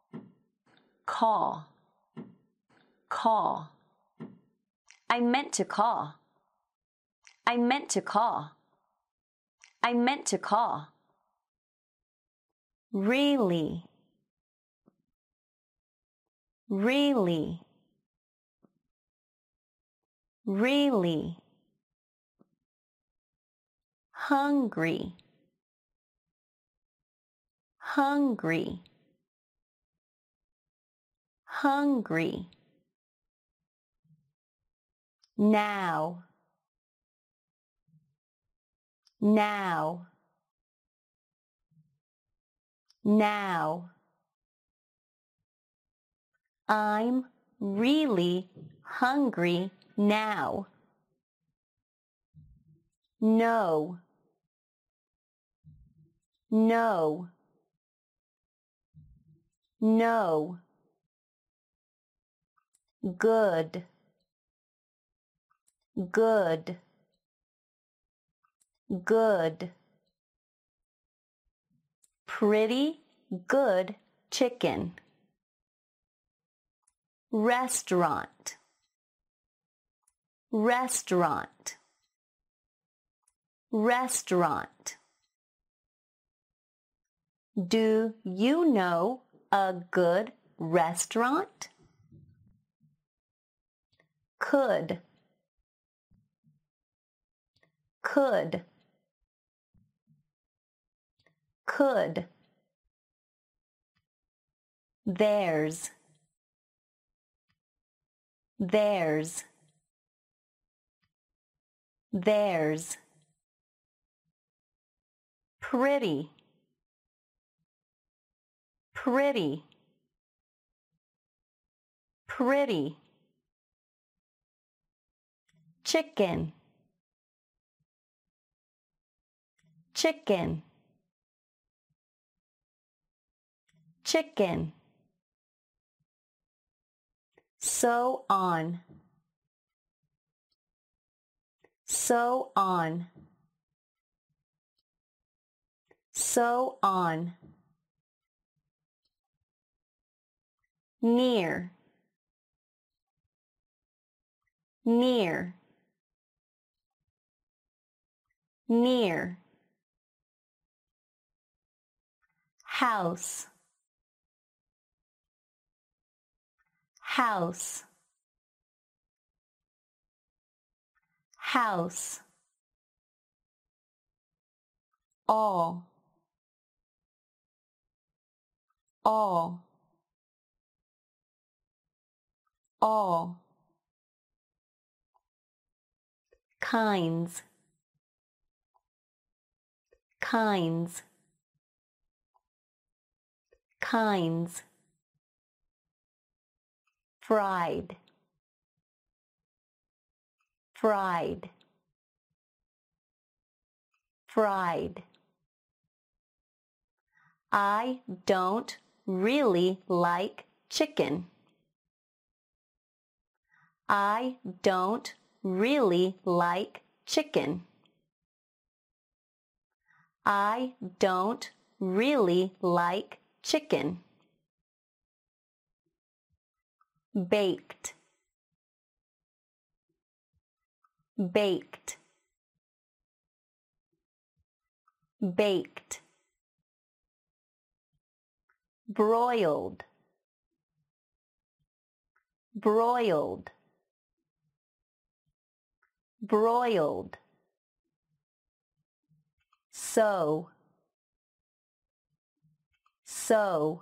Call. Call. I meant to call. I meant to call. I meant to call. Really. Really. Really. Hungry. Hungry. Hungry. Now. Now. Now. I'm really hungry now. No. No. No. Good. Good. Good. Pretty good chicken. Restaurant. Restaurant. Restaurant. Do you know a good restaurant? Could. Could. Could. There's. There's. There's. Pretty. Pretty. Pretty. Chicken. Chicken. Chicken. So on. So on. So on. Near. Near. Near. House. House. House. All. All. All. Kinds. Kinds. Kinds. Fried. Fried. Fried. I don't really like chicken. I don't really like chicken. I don't really like chicken. Baked. Baked. Baked. Broiled. Broiled. Broiled. So. So.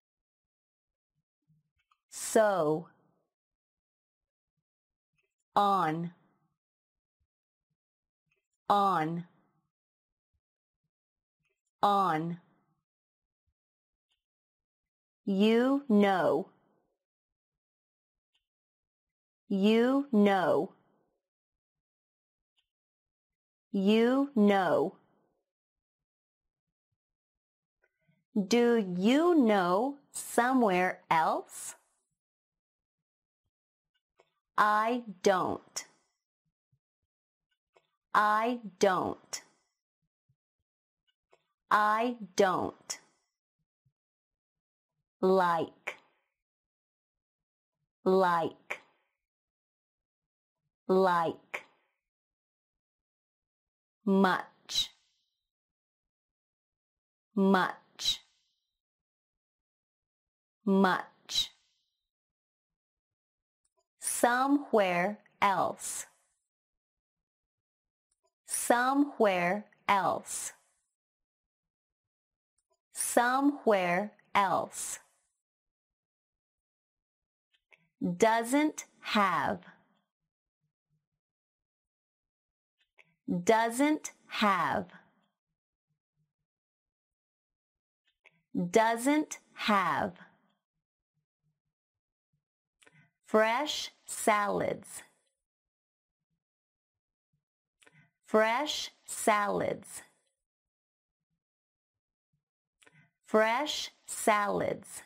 So. On. On. On. You know. You know. You know. Do you know somewhere else? I don't. I don't. I don't. Like. Like. Like. Much. much, much. Somewhere else, somewhere else, somewhere else. Doesn't have, doesn't have, doesn't have. Fresh salads, fresh salads, fresh salads.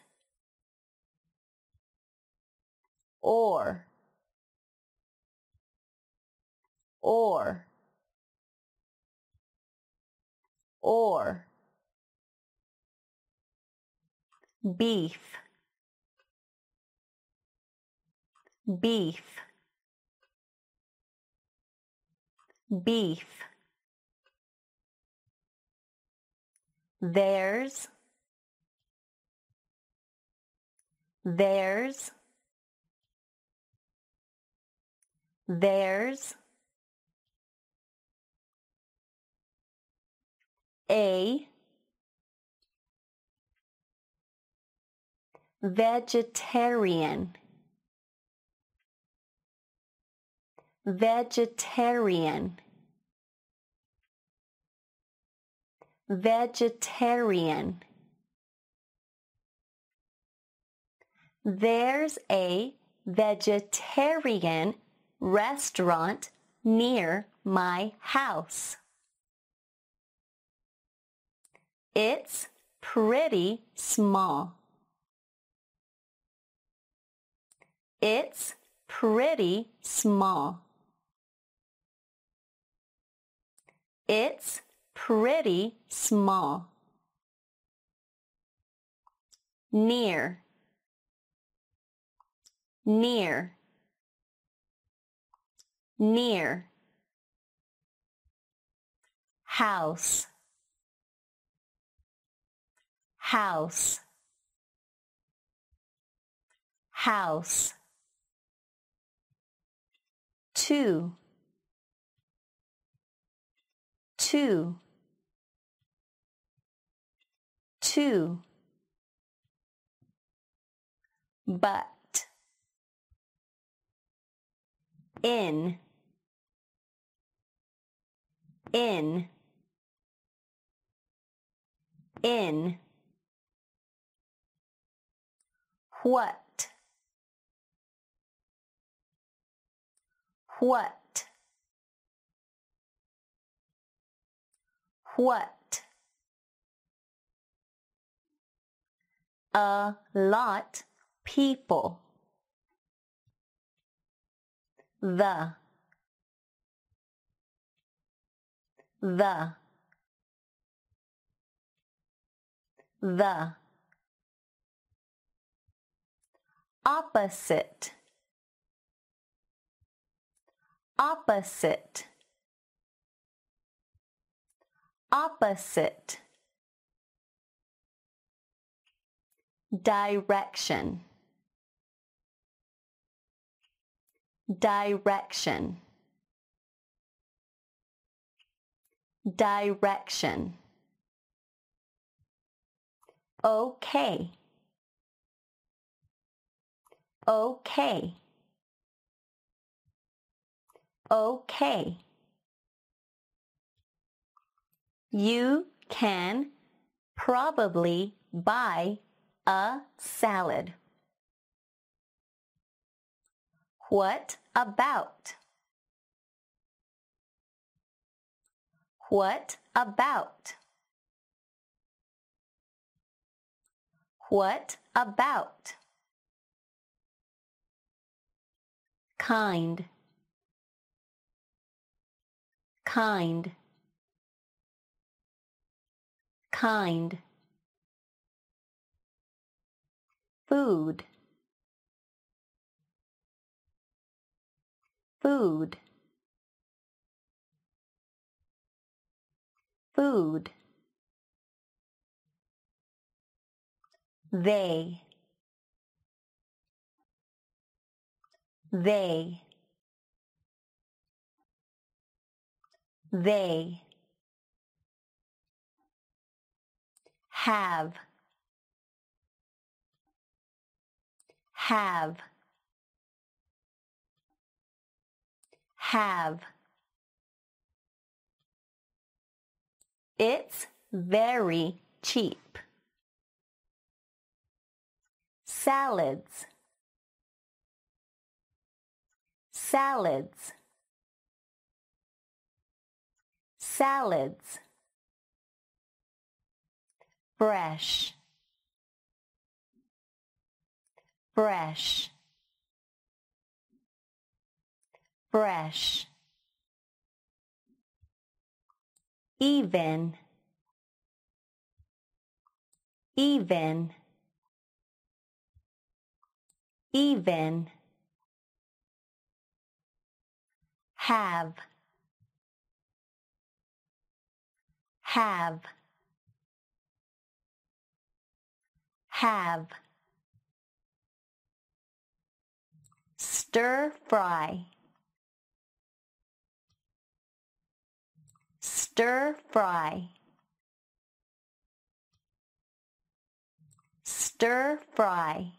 Or, or, or. Beef, beef, beef. There's, there's, there's. A vegetarian, vegetarian, vegetarian. There's a vegetarian restaurant near my house. It's pretty small. It's pretty small. It's pretty small. Near, near, near. House, house, house. Two, two, two. But, in, in, in. What, what, what. A lot people. The, the, the. Opposite, opposite, opposite. Direction, direction, direction. Okay, okay, okay. You can probably buy a salad. What about? What about? What about? Kind, kind, kind. Food, food, food. they, they, they, have, have, have. It's very cheap. Salads, salads, salads. Fresh, fresh, fresh. Even, even, even. Have, have, have. Stir fry, stir fry, stir fry.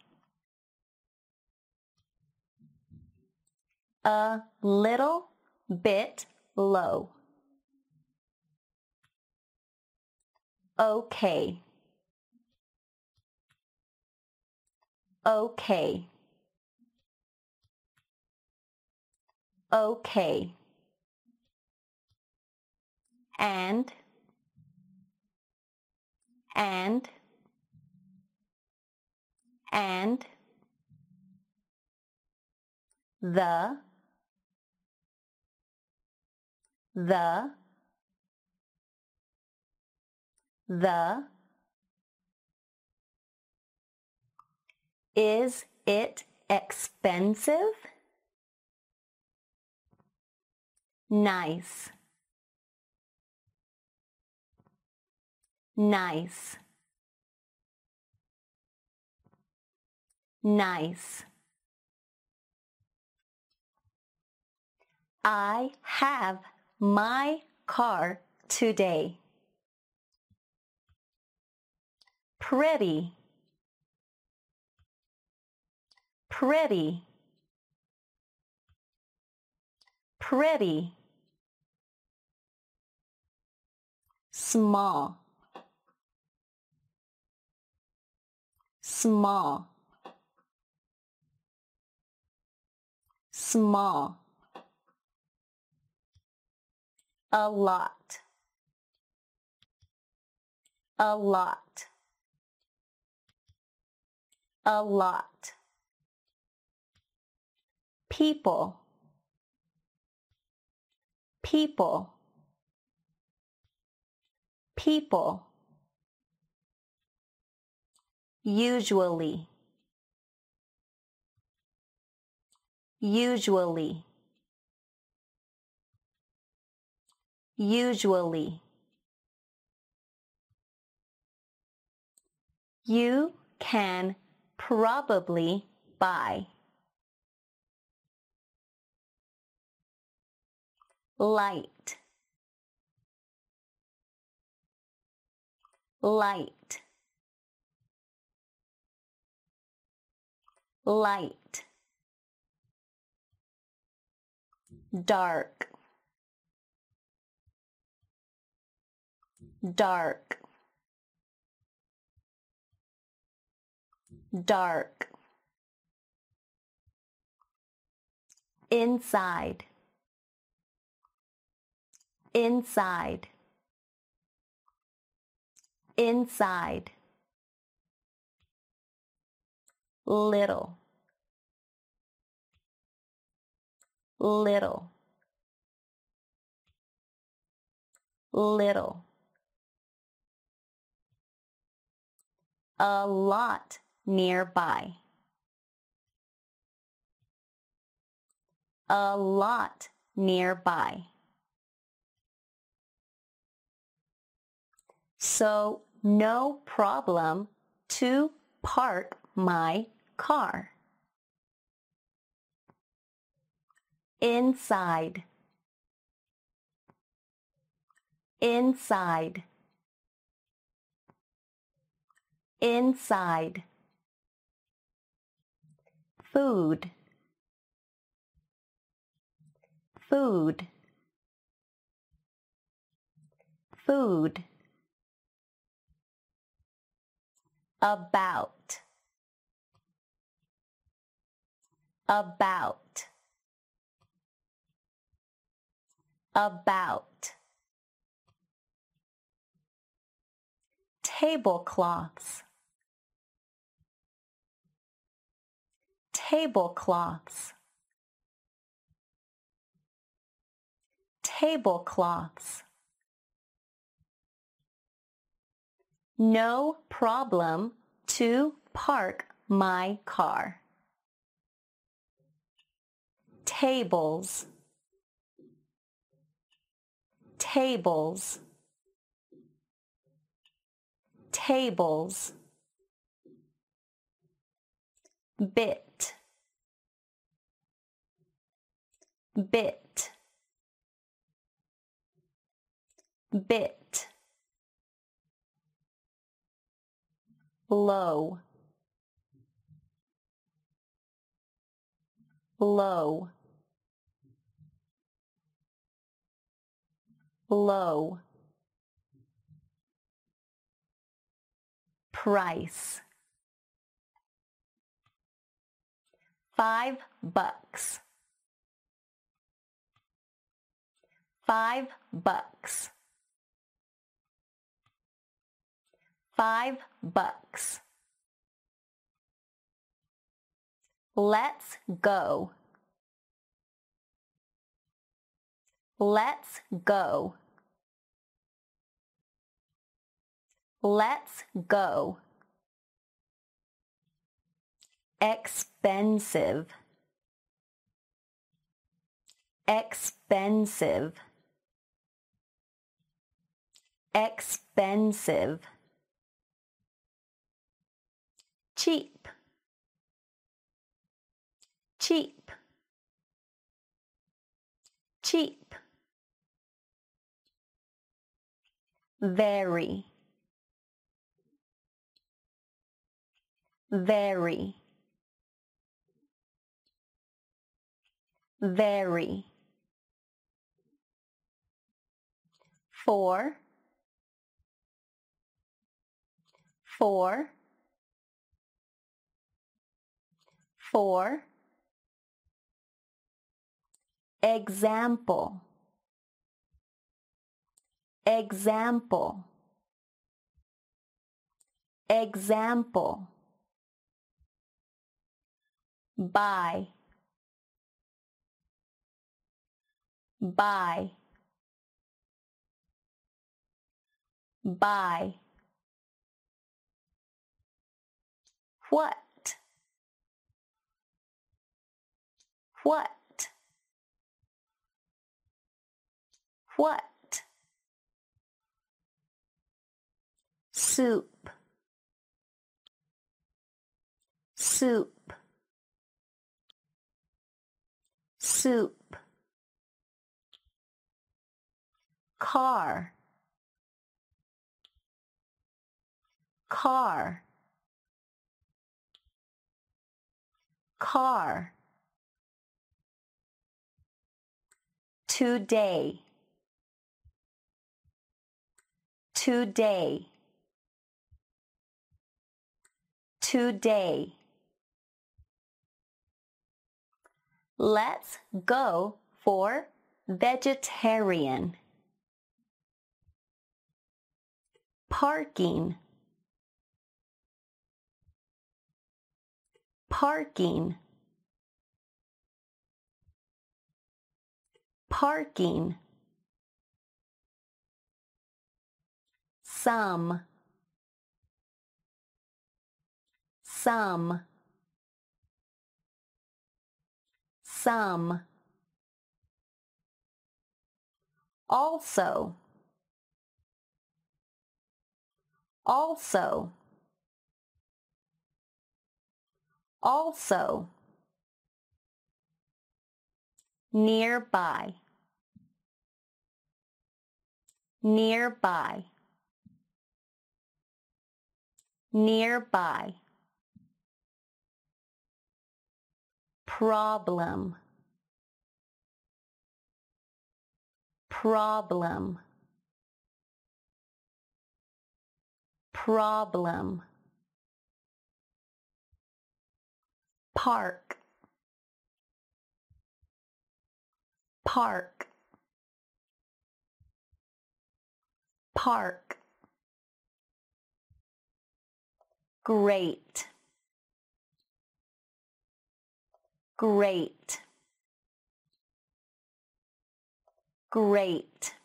A little bit low. Okay, okay, okay. And the is it expensive? Nice, nice, nice. I have my car today. Pretty, pretty, pretty. Small, small, small. A lot, a lot, a lot. People, people, people. Usually, usually, usually. You can probably buy. Light, light, light. Dark, dark, dark. Inside, inside, inside. Little, little, little. A lot nearby. A lot nearby. So no problem to park my car? Inside. Inside. Inside. Food. Food. Food. About. About. About. Tablecloths. Tablecloths. Tablecloths. No problem to park my car. Tables. Tables. Tables. Bit. Bit. Bit. Low. Low. Low. Price. $5. $5. $5. Let's go. Let's go. Let's go. Expensive. Expensive. Expensive. Cheap. Cheap. Cheap. Very. Very. Very. 4. 4. 4. Example. Example. Example. Buy. Buy. Buy. What? What? What? Soup. Soup. Soup. Car. Car. Car. Today. Today. Today. Let's go for vegetarian. Parking. Parking. Parking. Some. Some. Some. Also. Also. Also. Nearby. Nearby. Nearby. Problem. Problem. Problem. Park. Park. Park. Great. Great. Great.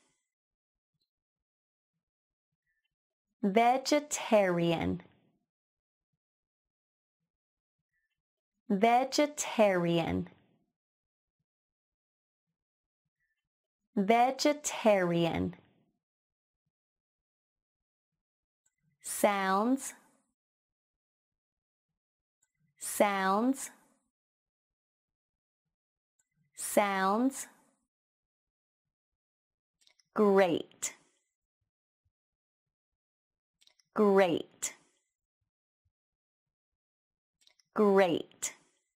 Vegetarian. Vegetarian. Vegetarian. Sounds. Sounds. Sounds. Great. Great. Great.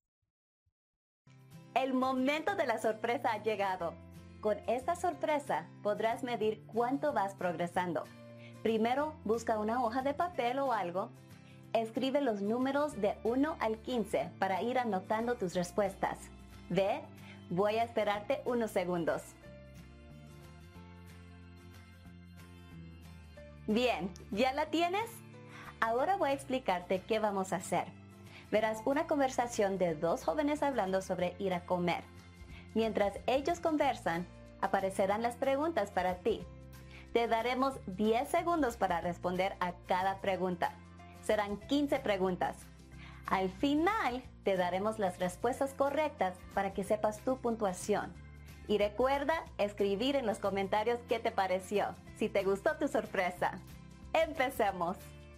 El momento de la sorpresa ha llegado. Con esta sorpresa podrás medir cuánto vas progresando. Primero, busca una hoja de papel o algo. Escribe los números de 1 al 15 para ir anotando tus respuestas. Ve, voy a esperarte unos segundos. Bien, ¿ya la tienes? Ahora voy a explicarte qué vamos a hacer. Verás una conversación de dos jóvenes hablando sobre ir a comer. Mientras ellos conversan, aparecerán las preguntas para ti. Te daremos 10 segundos para responder a cada pregunta. Serán 15 preguntas. Al final, te daremos las respuestas correctas para que sepas tu puntuación. Y recuerda escribir en los comentarios qué te pareció, si te gustó tu sorpresa. ¡Empecemos!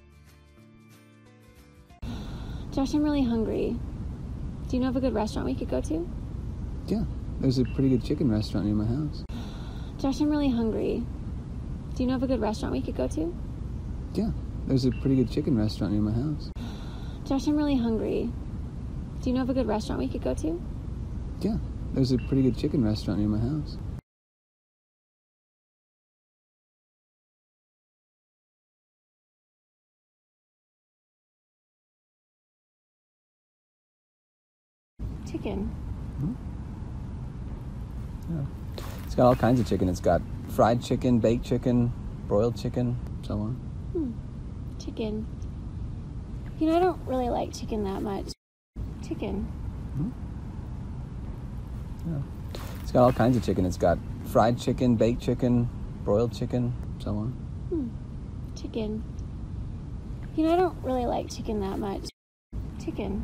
Josh, I'm really hungry. Do you know of a good restaurant we could go to? Yeah, there's a pretty good chicken restaurant near my house. Josh, I'm really hungry. Do you know of a good restaurant we could go to? Yeah, there's a pretty good chicken restaurant near my house. Josh, I'm really hungry. Do you know of a good restaurant we could go to? Yeah, there's a pretty good chicken restaurant near my house. Chicken. Yeah. It's got all kinds of chicken. It's got fried chicken, baked chicken, broiled chicken, so on. Chicken. You know, I don't really like chicken that much. Chicken. Yeah. It's got all kinds of chicken. It's got fried chicken, baked chicken, broiled chicken, so on. Chicken. You know, I don't really like chicken that much. Chicken.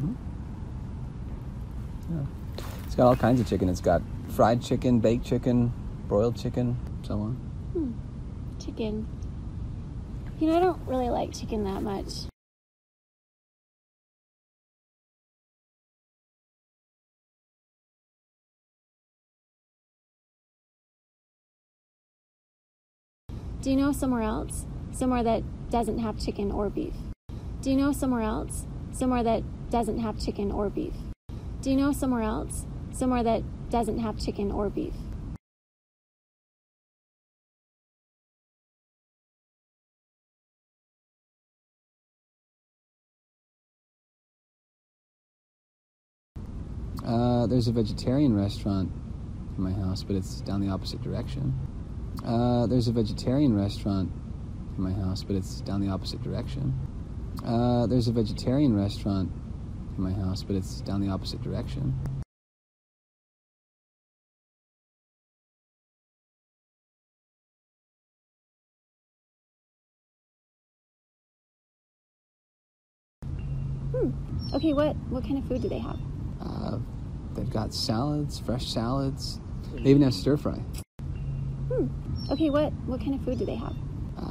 Yeah. It's got all kinds of chicken. It's got fried chicken, baked chicken, broiled chicken, so on. Chicken. You know, I don't really like chicken that much. Do you know somewhere else? Somewhere that doesn't have chicken or beef? Do you know somewhere else? Somewhere that doesn't have chicken or beef? Do you know somewhere else? Somewhere that doesn't have chicken or beef? There's a vegetarian restaurant in my house, but it's down the opposite direction. There's a vegetarian restaurant in my house, but it's down the opposite direction. There's a vegetarian restaurant in my house, but it's down the opposite direction. Okay, what kind of food do they have? They've got salads, fresh salads. They even have stir fry. Okay, what kind of food do they have?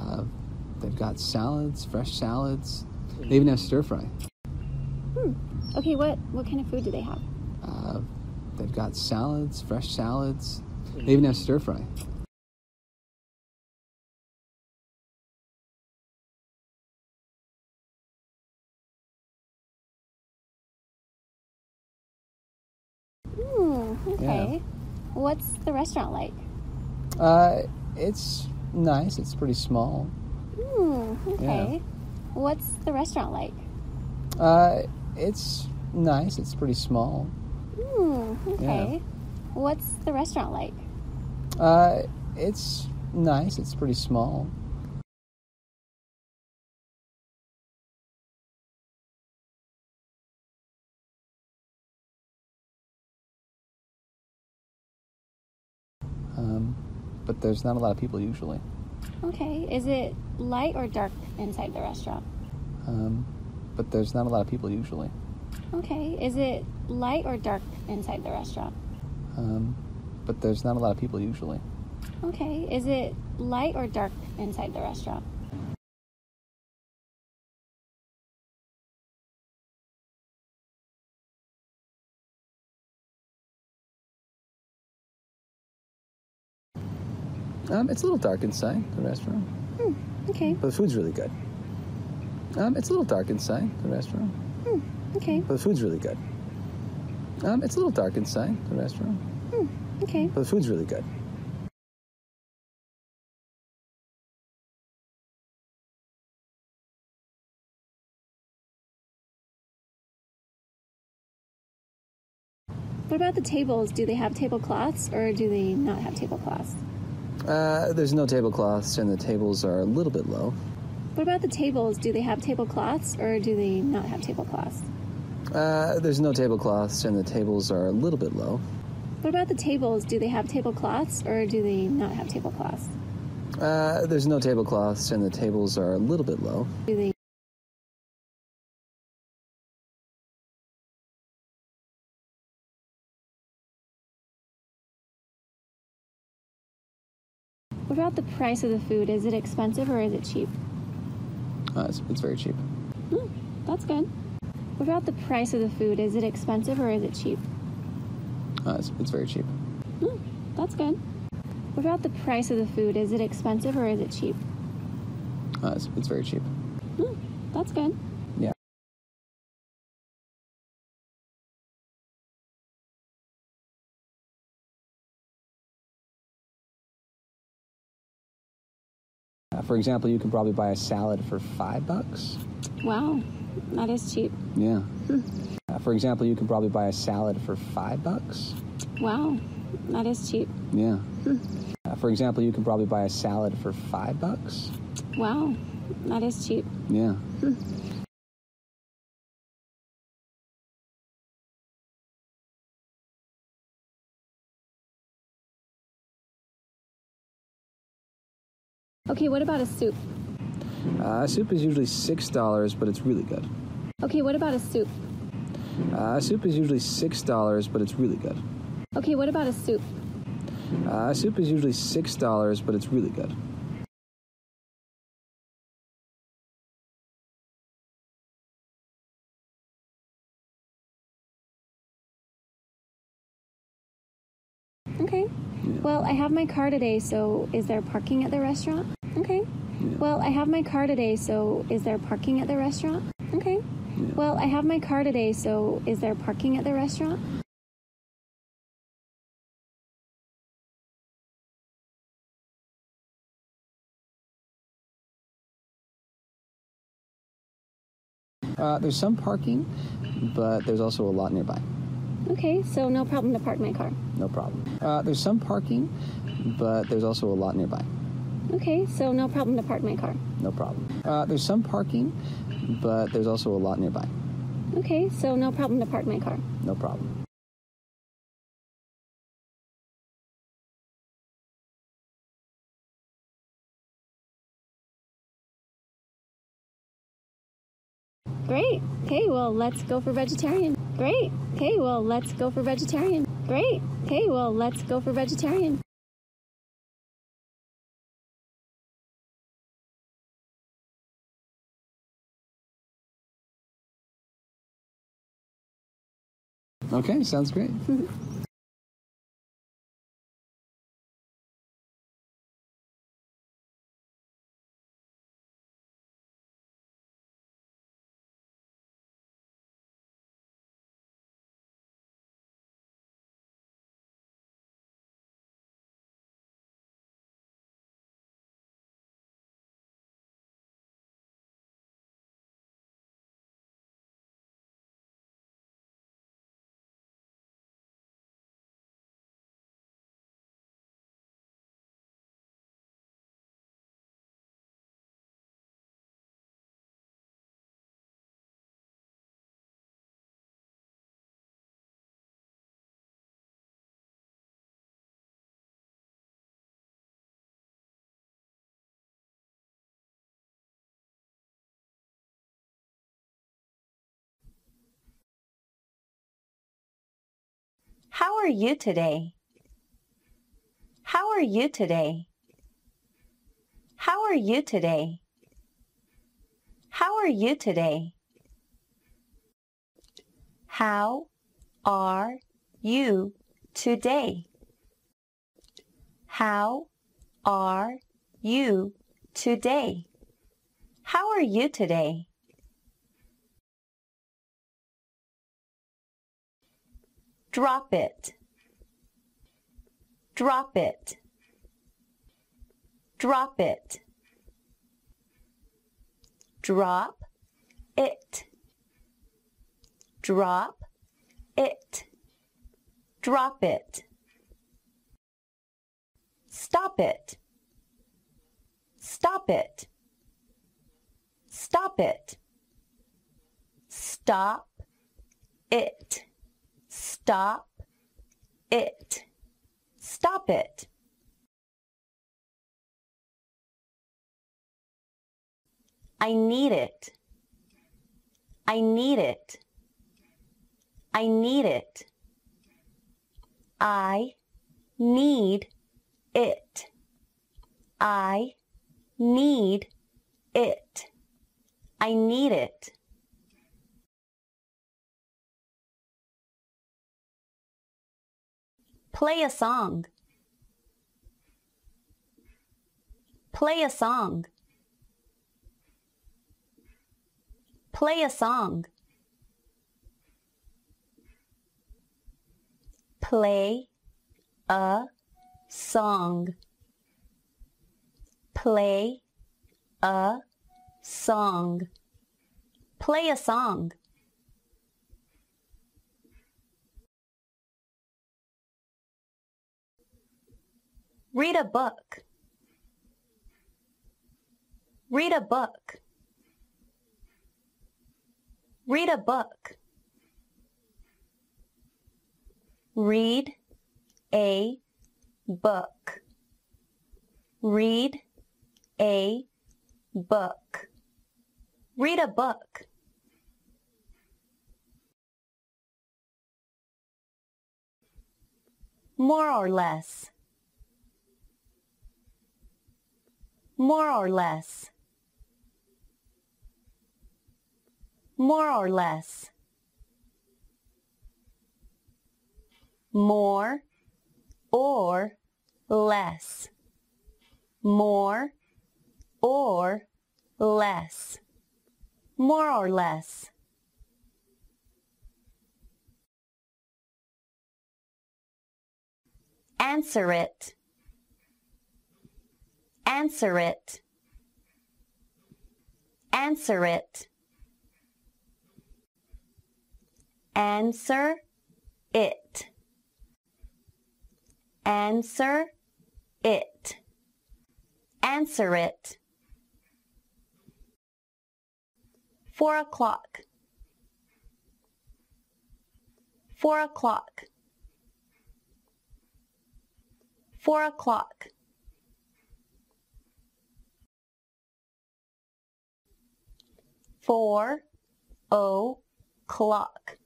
They've got salads, fresh salads. They even have stir fry. Okay, what kind of food do they have? Uh, they've got salads, fresh salads. They even have stir fry. Okay. Yeah. What's the restaurant like? It's nice. It's pretty small. Okay. Yeah. What's the restaurant like? It's nice. It's pretty small. Okay. Yeah. What's the restaurant like? It's nice. It's pretty small. But there's not a lot of people usually. Okay. Is it light or dark inside the restaurant? But there's not a lot of people usually. Okay. Is it light or dark inside the restaurant? But there's not a lot of people usually. Okay. Is it light or dark inside the restaurant? It's a little dark inside the restaurant, Okay. but the food's really good. It's a little dark inside the restaurant, Okay. but the food's really good. It's a little dark inside the restaurant, Okay. but the food's really good. What about the tables? Do they have tablecloths or do they not have tablecloths? There's no tablecloths, and the tables are a little bit low. What about the tables? Do they have tablecloths or do they not have tablecloths? There's no tablecloths, and the tables are a little bit low. What about the tables? Do they have tablecloths or do they not have tablecloths? There's no tablecloths, and the tables are a little bit low. Do they? What about the price of the food? Is it expensive or is it cheap? It's very cheap. That's good. What about the price of the food? Is it expensive or is it cheap? It's very cheap. That's good. What about the price of the food? Is it expensive or is it cheap? It's very cheap. That's good. Yeah. For example, you can probably buy a salad for $5. Wow, that is cheap. Yeah. For example, you can probably buy a salad for $5. Wow, that is cheap. Yeah. For example, you can probably buy a salad for $5. Wow, that is cheap. Yeah. Okay, what about a soup? Soup is usually $6, but it's really good. Okay, what about a soup? Soup is usually $6, but it's really good. Okay, what about a soup? Soup is usually $6, but it's really good. Okay. Well, I have my car today, so is there parking at the restaurant? Okay. Well, I have my car today, so is there parking at the restaurant? Okay. Well, I have my car today, so is there parking at the restaurant? There's some parking, but there's also a lot nearby. Okay, so no problem to park my car. No problem. There's some parking, but there's also a lot nearby. Okay, so no problem to park my car. No problem. There's some parking, but there's also a lot nearby. Okay, so no problem to park my car. No problem. Great. Okay, well, let's go for vegetarian. Great. Okay, well, let's go for vegetarian. Great. Okay, well, let's go for vegetarian. Okay, sounds great. How are you today? How are you today? How are you today? How are you today? How are you today? How are you today? How are you today? Drop it. Drop it. Drop it. Drop it. Drop it. Drop it. Stop it. Stop it. Stop it. Stop it. Stop it. Stop it. I need it. I need it. I need it. I need it. I need it. I need it. Play a song. Play a song. Play a song. Play a song. Play a song. Play a song. Read a book. Read a book. Read a book. Read a book. Read a book. Read a book. More or less. More or less. More or less. More or less. More or less. More or less. Answer it. Answer it. Answer it. Answer it. Answer it. Answer it. 4 o'clock. 4 o'clock. 4 o'clock. 4 o'clock.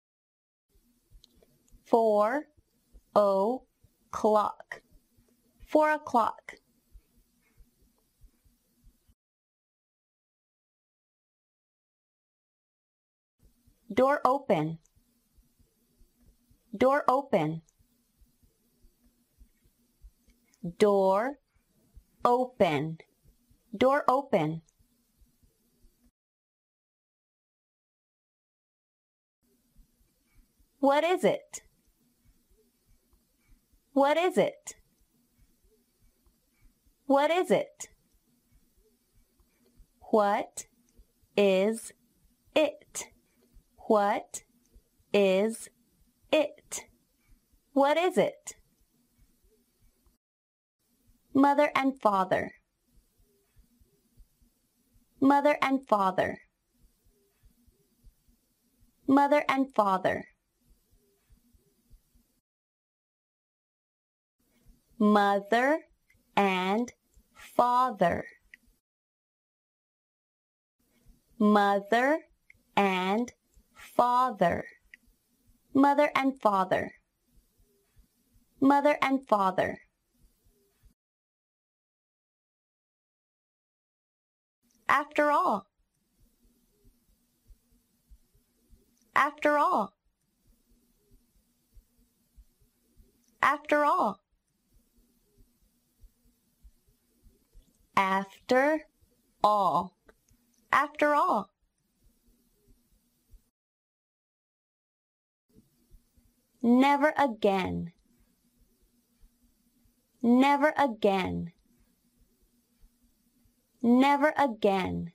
4 o'clock. 4 o'clock. Door open. Door open. Door open. Door open. What is it? What is it? What is it? What is it? What is it? What is it? Mother and father. Mother and father. Mother and father. Mother and father. Mother and father. Mother and father. Mother and father. After all. After all. After all. After all. After all. Never again. Never again. Never again.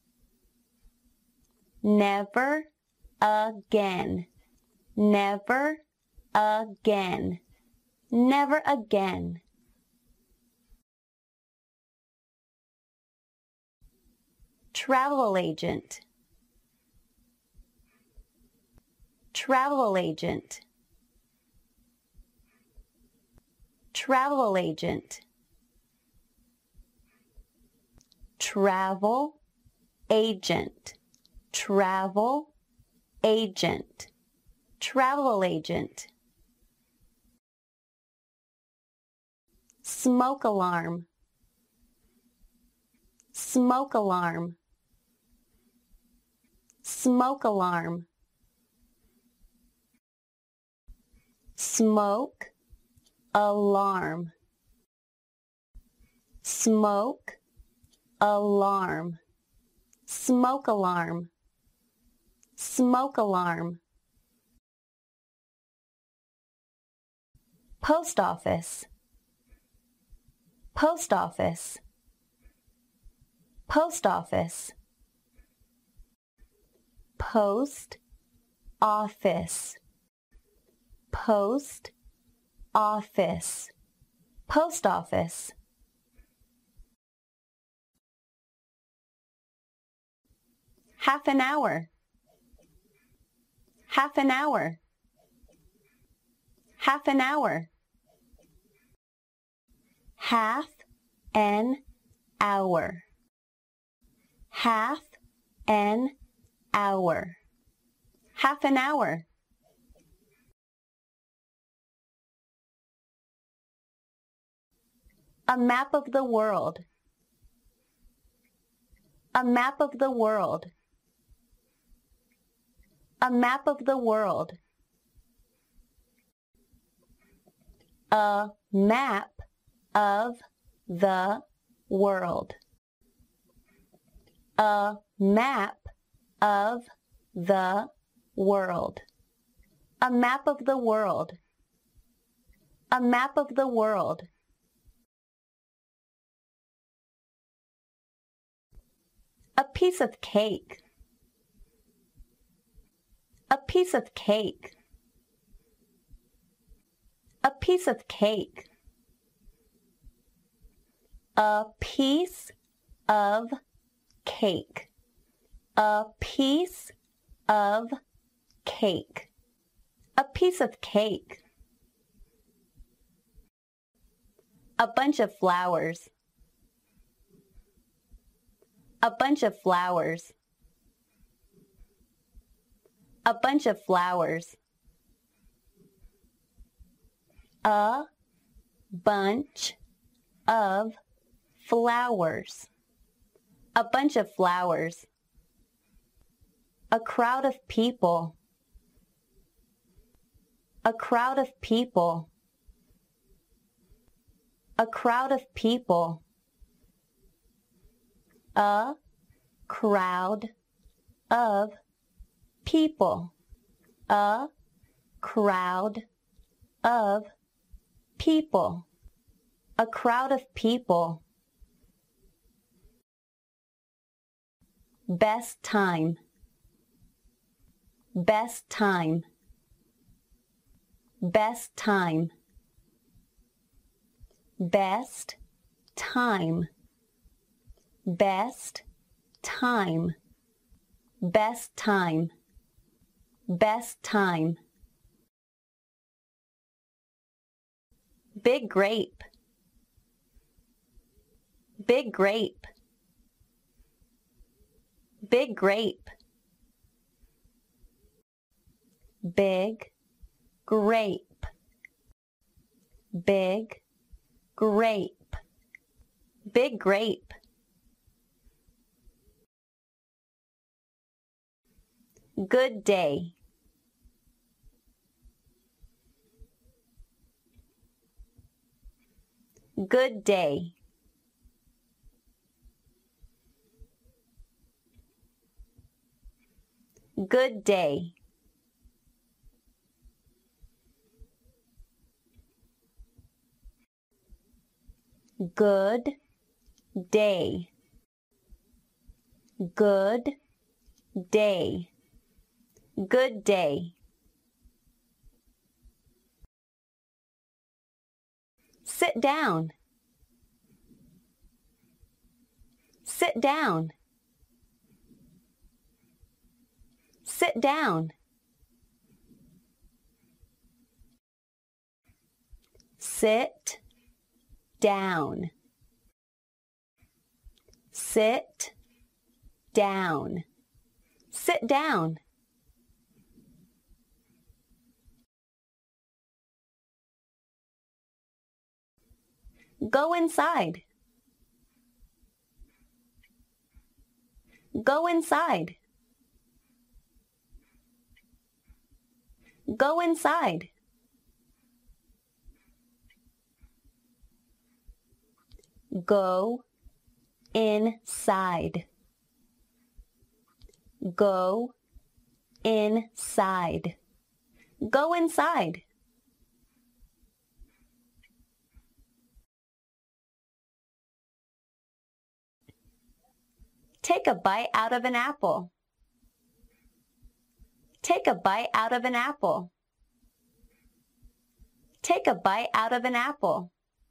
Never again. Never again. Never again. Travel agent. Travel agent. Travel agent. Travel agent. Travel agent. Travel agent. Smoke alarm. Smoke alarm. Smoke alarm. Smoke alarm. Smoke alarm. Smoke alarm. Smoke alarm. Post office. Post office. Post office. Post office. Post office. Post office. Half an hour. Half an hour. Half an hour. Half an hour. Half an hour. Half an hour. A map of the world. A map of the world. A map of the world. A map of the world. A map of the world. A map of the world. A map of the world. A piece of cake. A piece of cake. A piece of cake. A piece of cake. A piece of cake. A piece of cake. A bunch of flowers. A bunch of flowers. A bunch of flowers. A bunch of flowers. A bunch of flowers. A crowd of people. A crowd of people. A crowd of people. A crowd of people. A crowd of people. A crowd of people. Best time. Best time. Best time. Best time. Best time. Best time. Best time. Big grape. Big grape. Big grape. Big grape. Big grape. Big grape. Good day. Good day. Good day. Good day. Good day. Good day. Sit down. Sit down. Sit down. Sit down. Sit down. Sit down. Go inside. Go inside. Go inside. Go inside. Go inside. Go inside. Take a bite out of an apple. Take a bite out of an apple. Take a bite out of an apple.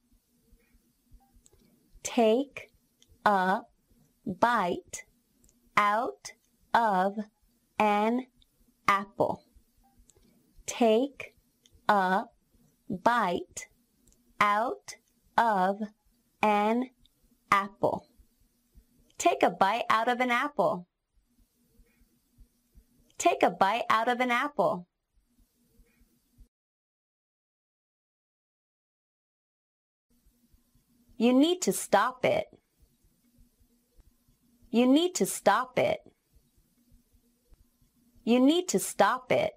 Take a bite out of an apple. Take a bite out of an apple. Take a bite out of an apple. Take a bite out of an apple. You need to stop it. You need to stop it. You need to stop it.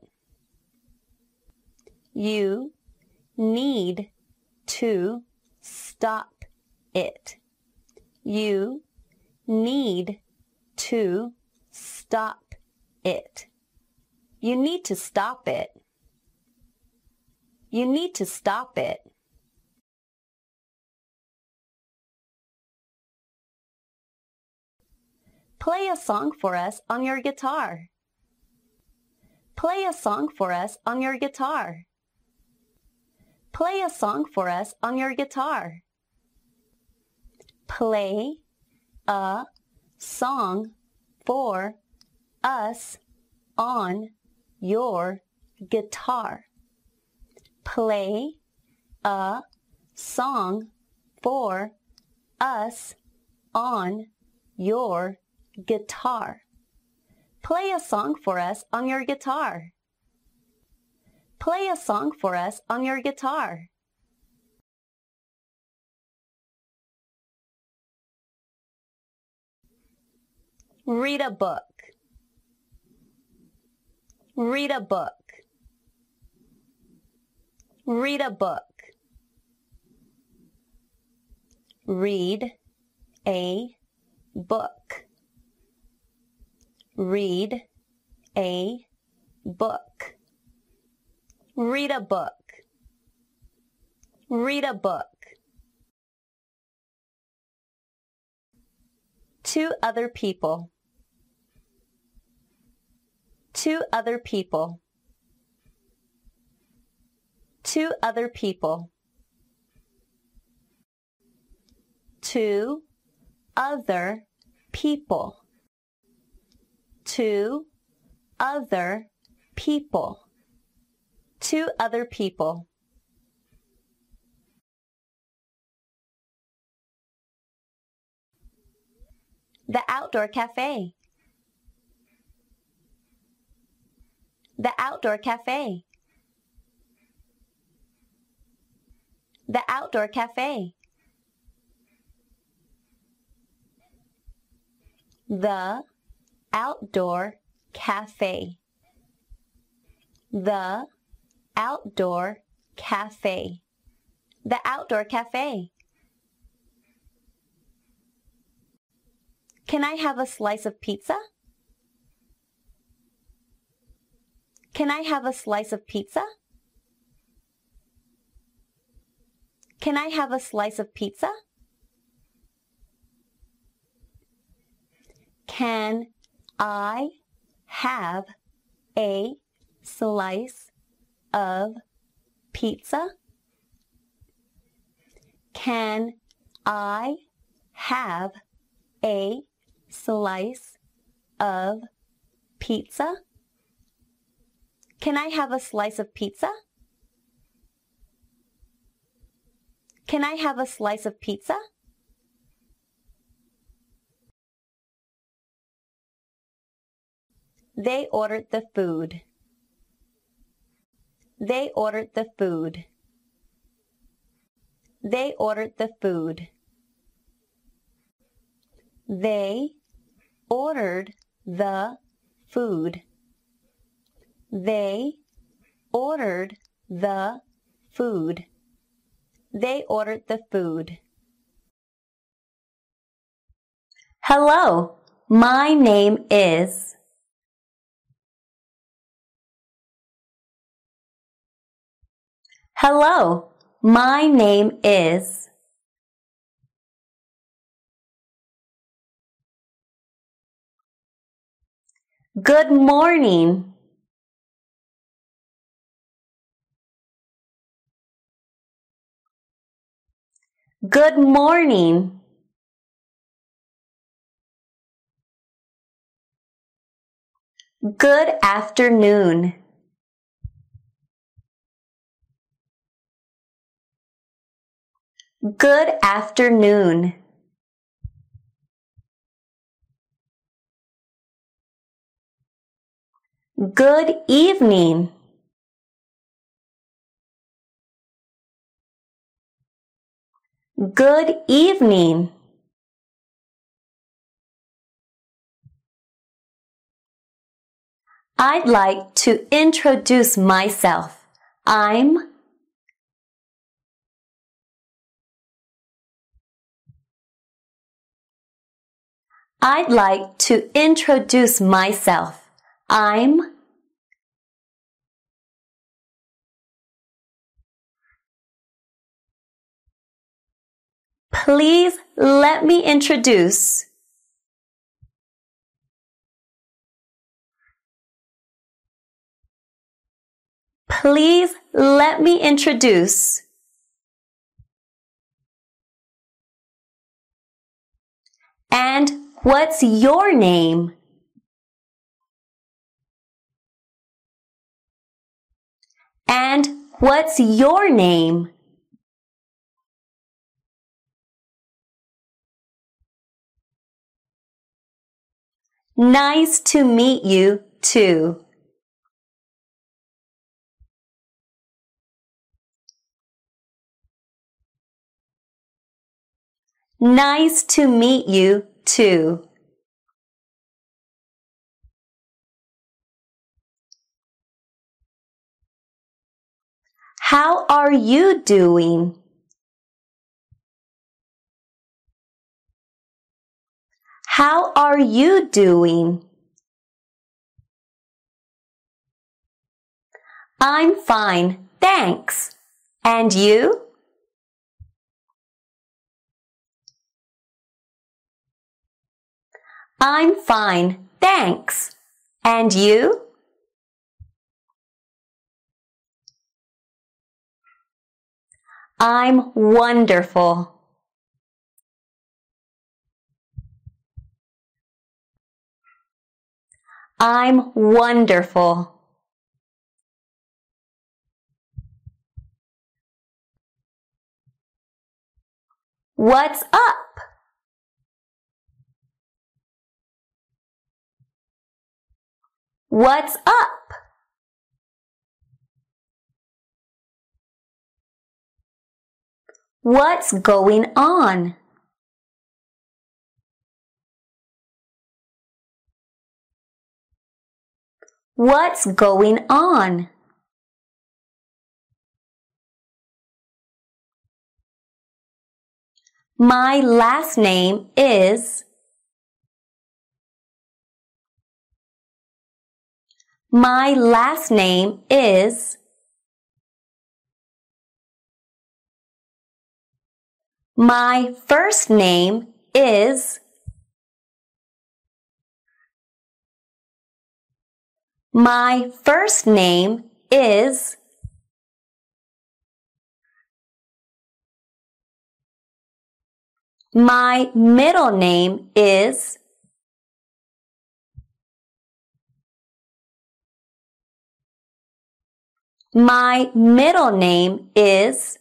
You need to stop it. You need to stop it. You need to stop it. You need to stop it. Play a song for us on your guitar. Play a song for us on your guitar. Play a song for us on your guitar. Play a song for us on your guitar. Play a song for us on your guitar. Play a song for us on your guitar. Play a song for us on your guitar. Read a book. Read a book. Read a book. Read a book. Read a book. Read a book. Read a book. Two other people. Two other people. Two other people. Two other people. Two other people. Two other people. The outdoor cafe. The outdoor cafe. The outdoor cafe. The outdoor cafe. The outdoor cafe. The outdoor cafe. Can I have a slice of pizza? Can I have a slice of pizza? Can I have a slice of pizza? Can I have a slice of pizza? Can I have a slice of pizza? Can I have a slice of pizza? Can I have a slice of pizza? They ordered the food. They ordered the food. They ordered the food. They ordered the food. They ordered the food. They ordered the food. Hello, my name is. Hello, my name is. Good morning. Good morning. Good afternoon. Good afternoon. Good evening. Good evening. I'd like to introduce myself. I'd like to introduce myself. Please let me introduce. Please let me introduce. And what's your name? And what's your name? Nice to meet you, too. Nice to meet you, too. How are you doing? How are you doing? I'm fine, thanks. And you? I'm fine, thanks. And you? I'm wonderful. I'm wonderful. What's up? What's up? What's going on? What's going on? My last name is. My last name is. My first name is. My first name is. My middle name is. My middle name is.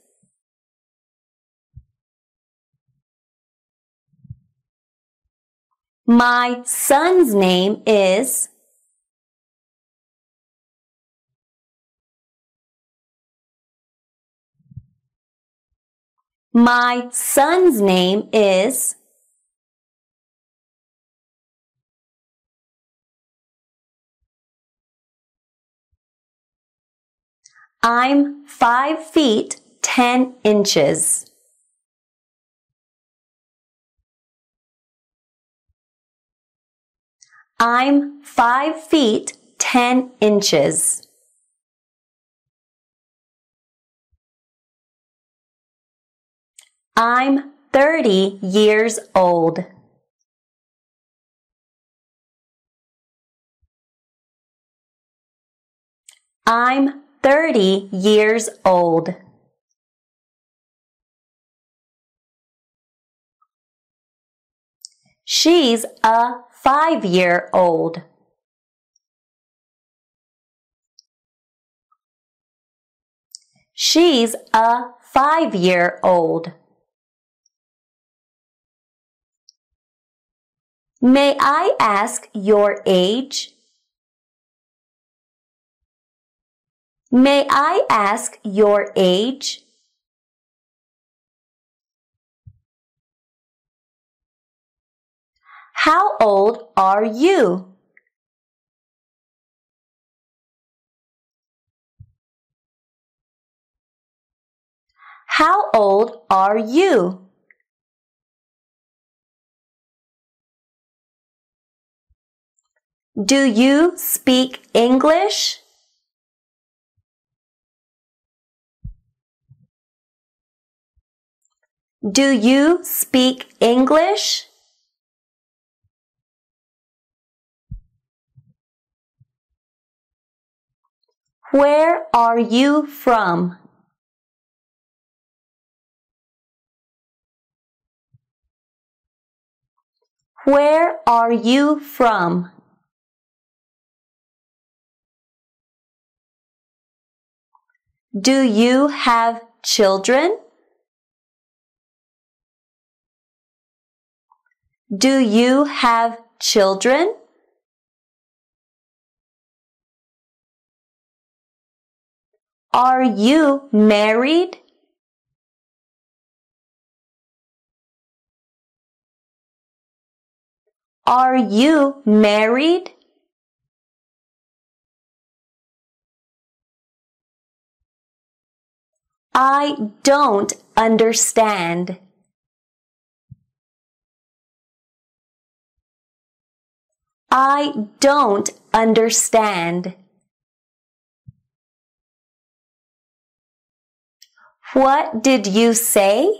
My son's name is. My son's name is. I'm 5 feet 10 inches. I'm 5 feet 10 inches. I'm 30 years old. I'm 30 years old. She's a 5-year-old. She's a 5-year-old. May I ask your age? May I ask your age? How old are you? How old are you? Do you speak English? Do you speak English? Where are you from? Where are you from? Do you have children? Do you have children? Are you married? Are you married? I don't understand. I don't understand. What did you say?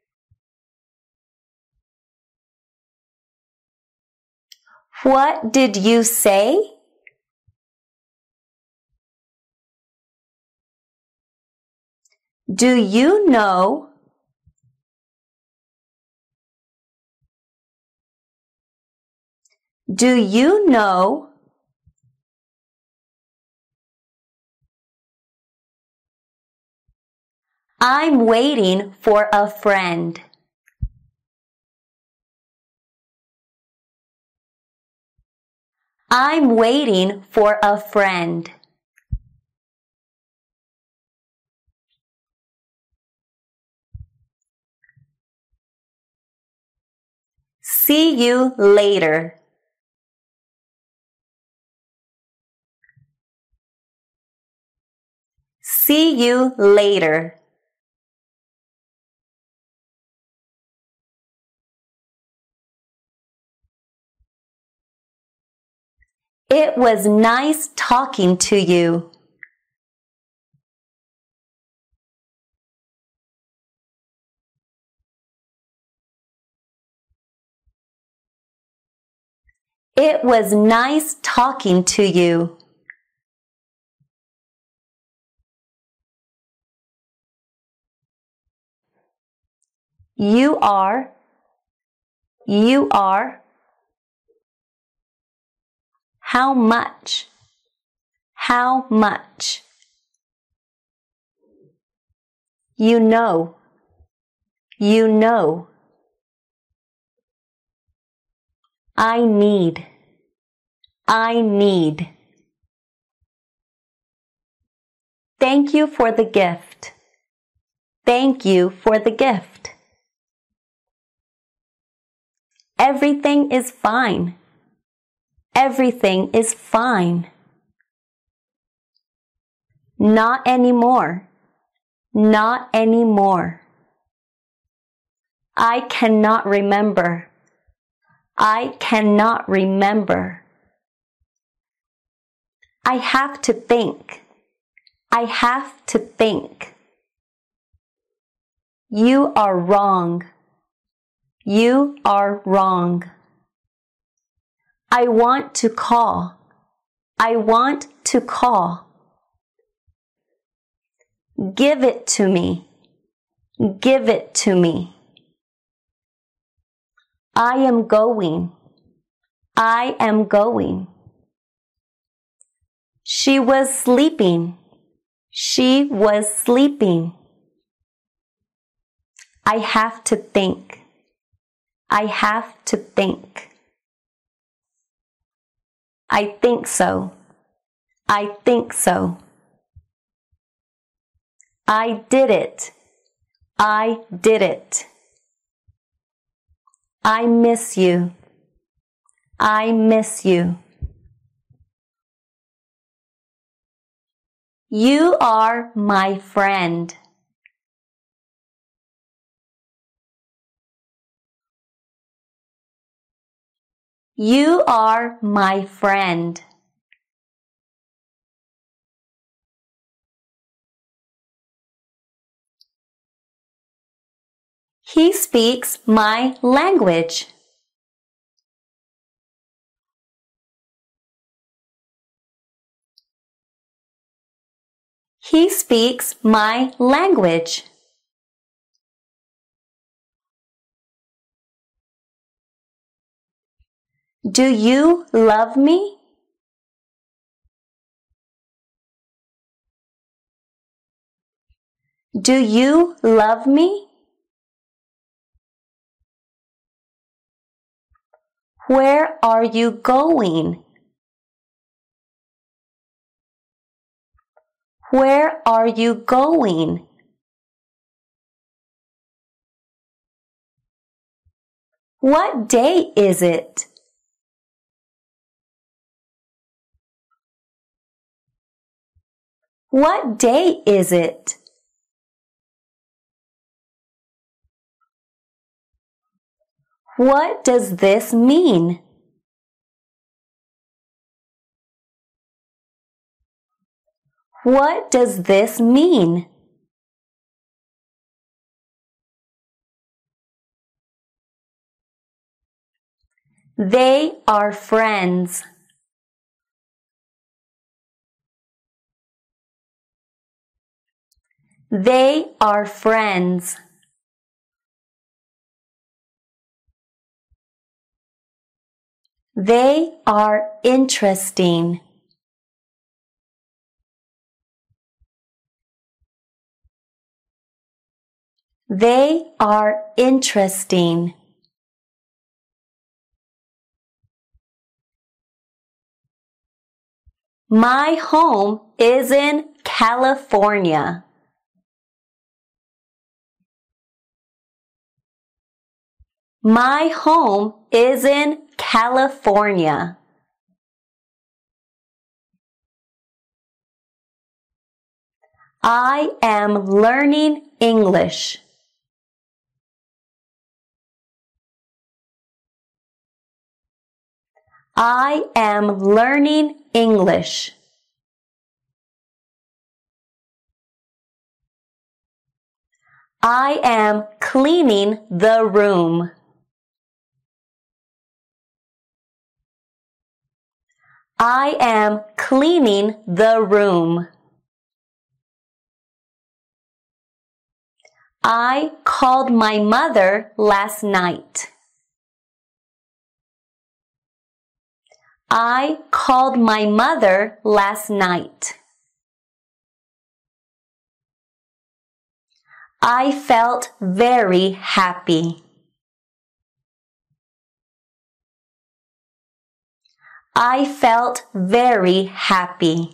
What did you say? Do you know? Do you know? I'm waiting for a friend. I'm waiting for a friend. See you later. See you later. It was nice talking to you. It was nice talking to you. You are. You are. How much? How much? You know. You know. I need. I need. Thank you for the gift. Thank you for the gift. Everything is fine. Everything is fine. Not anymore. Not anymore. I cannot remember. I cannot remember. I have to think. I have to think. You are wrong. You are wrong. I want to call. I want to call. Give it to me. Give it to me. I am going. I am going. She was sleeping. She was sleeping. I have to think. I have to think. I think so. I think so. I did it. I did it. I miss you. I miss you. You are my friend. You are my friend. He speaks my language. He speaks my language. Do you love me? Do you love me? Where are you going? Where are you going? What day is it? What day is it? What does this mean? What does this mean? They are friends. They are friends. They are interesting. They are interesting. My home is in California. My home is in California. I am learning English. I am learning English. I am cleaning the room. I am cleaning the room. I called my mother last night. I called my mother last night. I felt very happy. I felt very happy.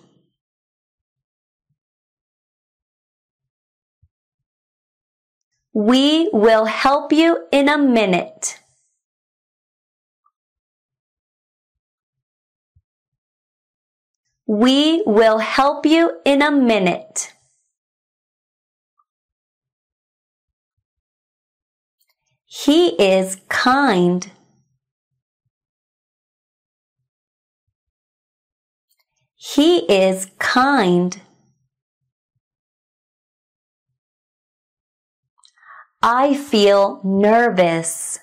We will help you in a minute. We will help you in a minute. He is kind. He is kind. I feel nervous.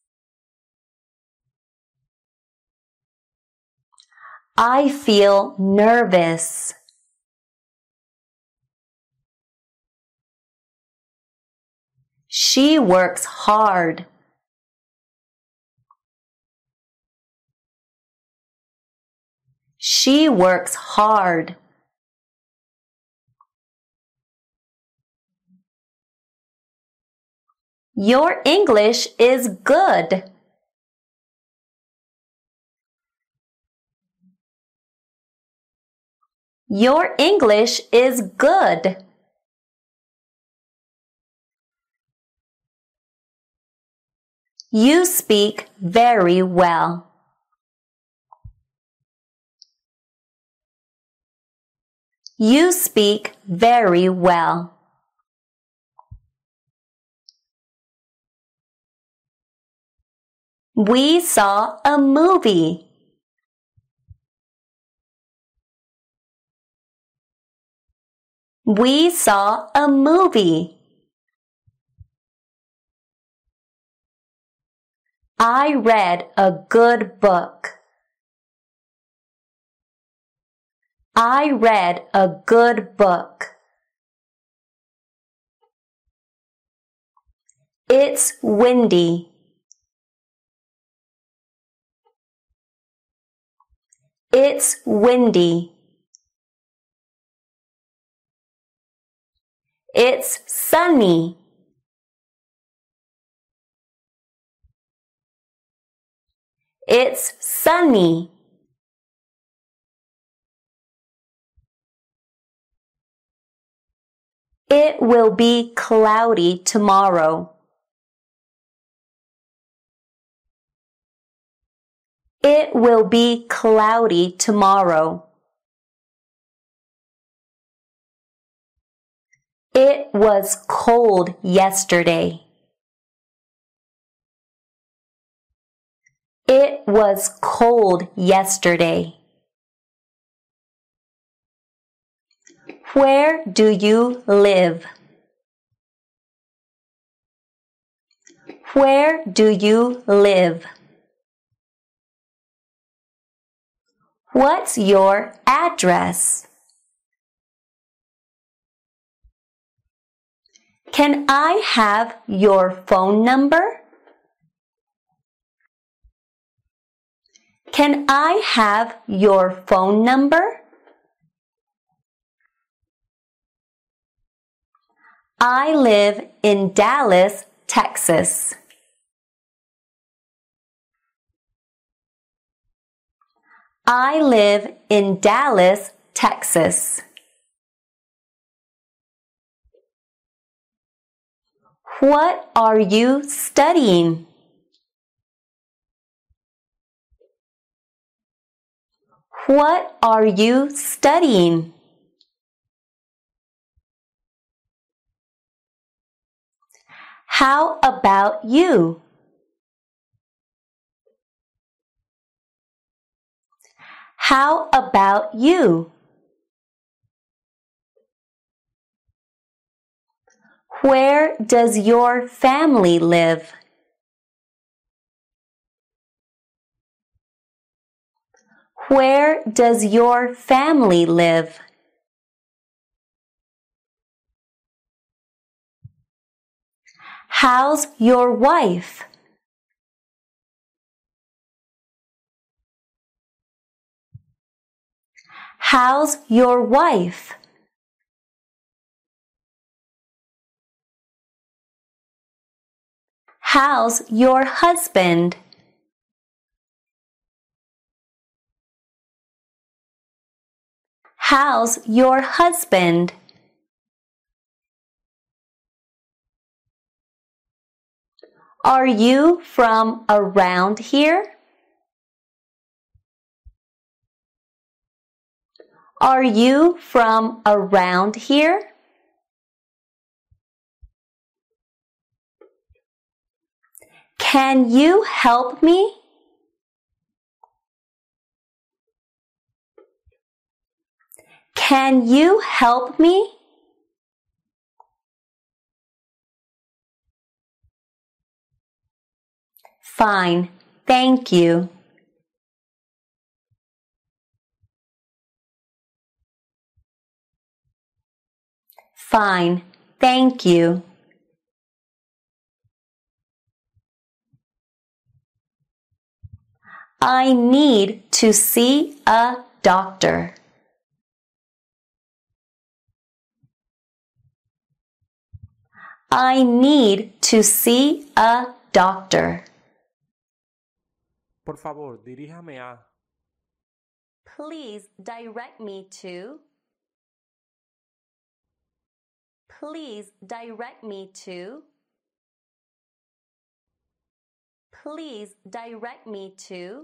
I feel nervous. She works hard. She works hard. Your English is good. Your English is good. You speak very well. You speak very well. We saw a movie. We saw a movie. I read a good book. I read a good book. It's windy. It's windy. It's sunny. It's sunny. It will be cloudy tomorrow. It will be cloudy tomorrow. It was cold yesterday. It was cold yesterday. Where do you live? Where do you live? What's your address? Can I have your phone number? Can I have your phone number? I live in Dallas, Texas. I live in Dallas, Texas. What are you studying? What are you studying? How about you? How about you? Where does your family live? Where does your family live? How's your wife? How's your wife? How's your husband? How's your husband? Are you from around here? Are you from around here? Can you help me? Can you help me? Fine, thank you. Fine, thank you. I need to see a doctor. I need to see a doctor. Por favor, diríjame a. Please direct me to. Please direct me to. Please direct me to.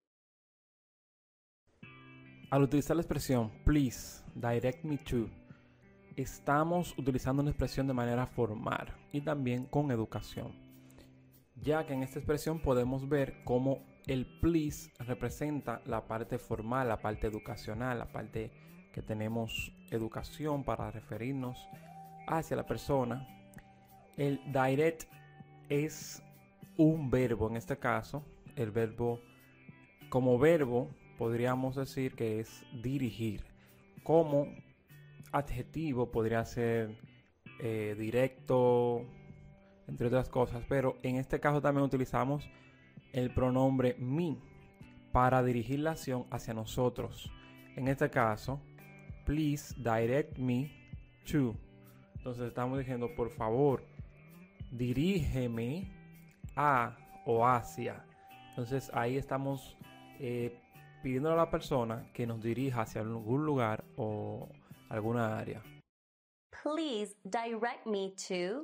Al utilizar la expresión please direct me to, estamos utilizando una expresión de manera formal y también con educación, ya que en esta expresión podemos ver cómo el please representa la parte formal, la parte educacional, la parte que tenemos educación para referirnos hacia la persona. El direct es un verbo, en este caso, el verbo como verbo podríamos decir que es dirigir. Como adjetivo podría ser directo, entre otras cosas, pero en este caso también utilizamos el pronombre me para dirigir la acción hacia nosotros. En este caso, please direct me to. Entonces estamos diciendo, por favor, dirígeme a o hacia. Entonces ahí estamos pidiéndole a la persona que nos dirija hacia algún lugar o alguna área. Please direct me to.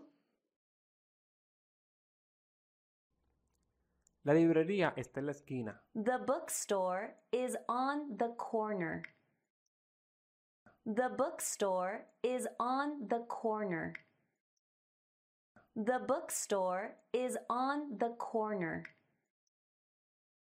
La librería está en la esquina. The bookstore is on the corner. The bookstore is on the corner. The bookstore is on the corner.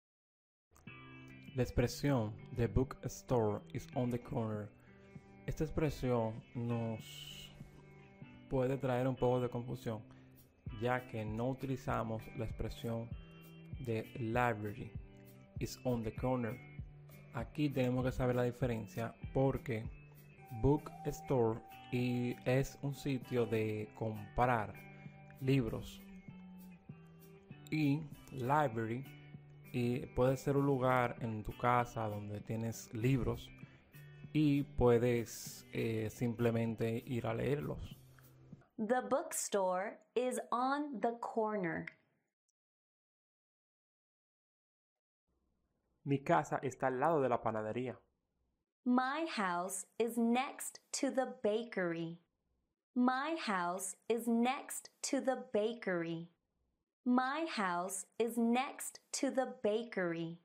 La expresión "The bookstore is on the corner". Esta expresión nos puede traer un poco de confusión, ya que no utilizamos la expresión de library is on the corner. Aquí tenemos que saber la diferencia porque bookstore es un sitio de comprar libros y library puede ser un lugar en tu casa donde tienes libros y puedes simplemente ir a leerlos. The bookstore is on the corner. Mi casa está al lado de la panadería. My house is next to the bakery. My house is next to the bakery. My house is next to the bakery.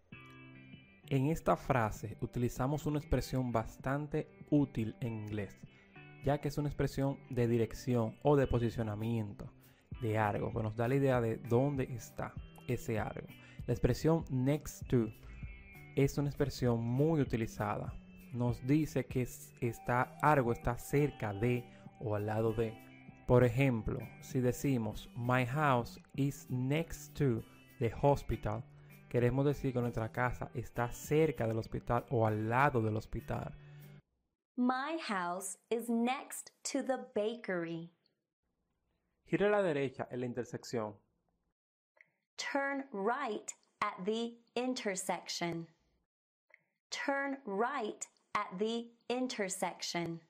En esta frase utilizamos una expresión bastante útil en inglés, ya que es una expresión de dirección o de posicionamiento de algo, que nos da la idea de dónde está ese algo. La expresión next to es una expresión muy utilizada. Nos dice que algo está cerca de o al lado de. Por ejemplo, si decimos my house is next to the hospital, queremos decir que nuestra casa está cerca del hospital o al lado del hospital. My house is next to the bakery. Gira a la derecha en la intersección. Turn right at the intersection. Turn right at the intersection.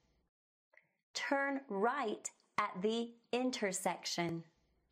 Turn right at the intersection.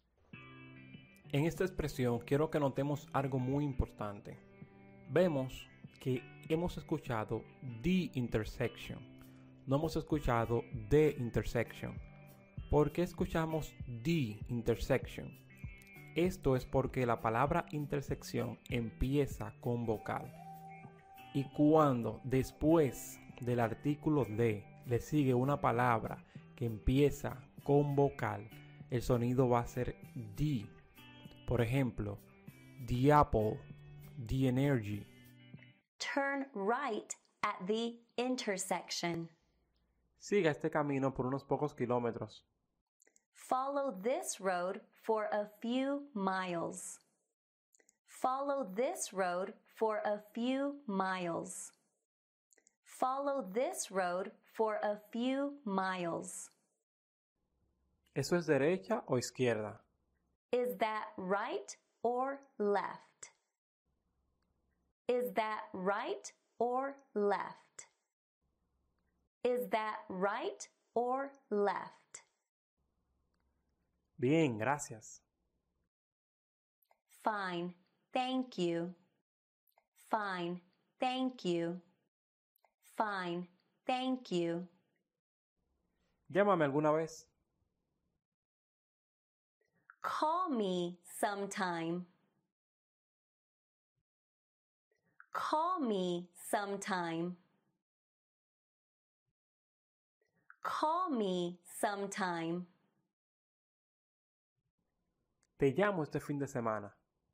En esta expresión quiero que notemos algo muy importante. Vemos que hemos escuchado the intersection. No hemos escuchado the intersection. ¿Por qué escuchamos the intersection? Esto es porque la palabra intersección empieza con vocal. Y cuando después del artículo de le sigue una palabra que empieza con vocal, el sonido va a ser the. Por ejemplo, the apple, the energy. Turn right at the intersection. Siga este camino por unos pocos kilómetros. Follow this road for a few miles. Follow this road for a few miles. Follow this road for a few miles. ¿Eso es derecha o izquierda? Is that right or left? Is that right or left? Is that right or left? Bien, gracias. Fine, thank you. Fine, thank you. Fine, thank you. Llámame alguna vez. Call me sometime. Call me sometime. Call me sometime. Te llamo este fin de semana.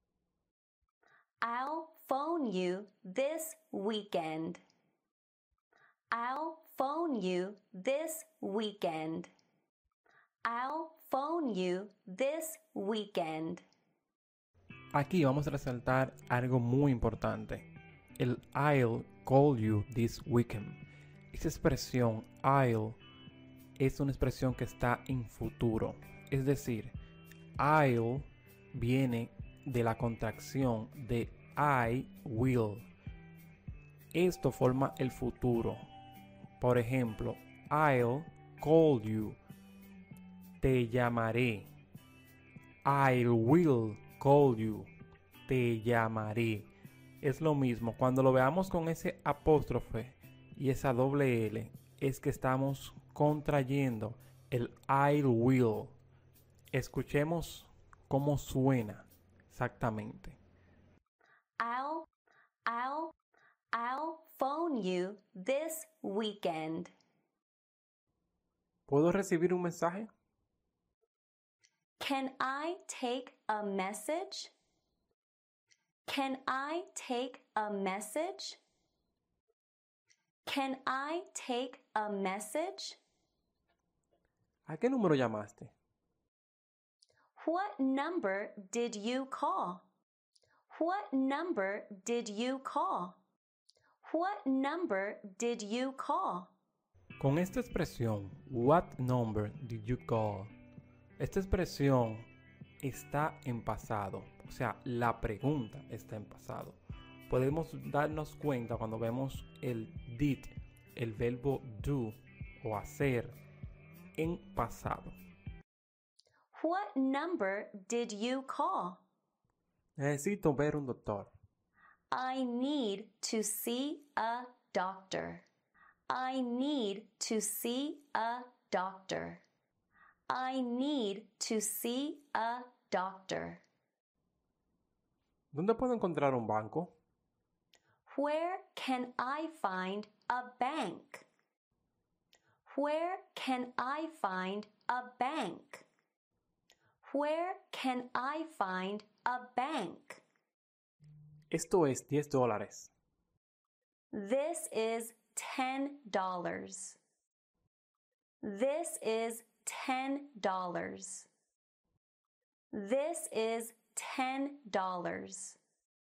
I'll phone you this weekend. I'll phone you this weekend. I'll phone you this weekend. Aquí vamos a resaltar algo muy importante. El I'll call you this weekend. Esa expresión I'll es una expresión que está en futuro. Es decir, I'll viene de la contracción de I will. Esto forma el futuro. Por ejemplo, I'll call you. Te llamaré. I will call you. Te llamaré. Es lo mismo. Cuando lo veamos con ese apóstrofe y esa doble L, es que estamos contrayendo el I will. Escuchemos cómo suena exactamente. I'll phone you this weekend. ¿Puedo recibir un mensaje? Can I take a message? Can I take a message? Can I take a message? ¿A qué número llamaste? What number did you call? What number did you call? What number did you call? Con esta expresión, what number did you call? Esta expresión está en pasado, o sea, la pregunta está en pasado. Podemos darnos cuenta cuando vemos el did, el verbo do o hacer en pasado. What number did you call? Necesito ver un doctor. I need to see a doctor. I need to see a doctor. I need to see a doctor. ¿Dónde puedo encontrar un banco? Where can I find a bank? Where can I find a bank? Where can I find a bank? Esto es $10. This is $10. This is $10. This is $10.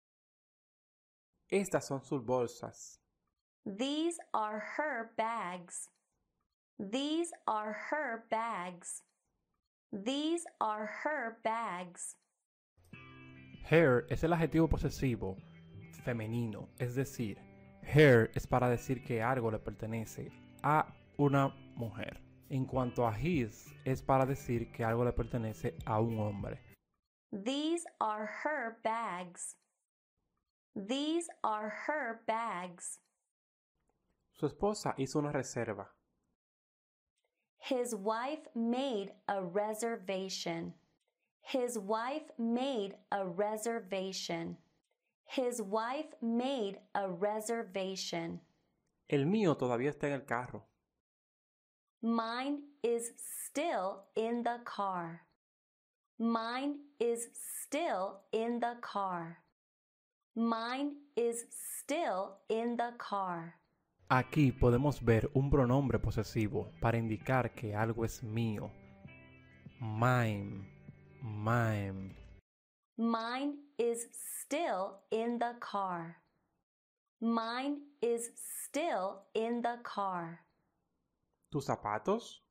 Estas son sus bolsas. These are her bags. These are her bags. These are her bags. Her es el adjetivo posesivo femenino, es decir, her es para decir que algo le pertenece a una mujer. En cuanto a his, es para decir que algo le pertenece a un hombre. These are her bags. These are her bags. Su esposa hizo una reserva. His wife made a reservation. His wife made a reservation. His wife made a reservation. El mío todavía está en el carro. Mine is still in the car. Mine is still in the car. Mine is still in the car. Aquí podemos ver un pronombre posesivo para indicar que algo es mío. Mine, mine. Mine is still in the car. Mine is still in the car. ¿Tus zapatos?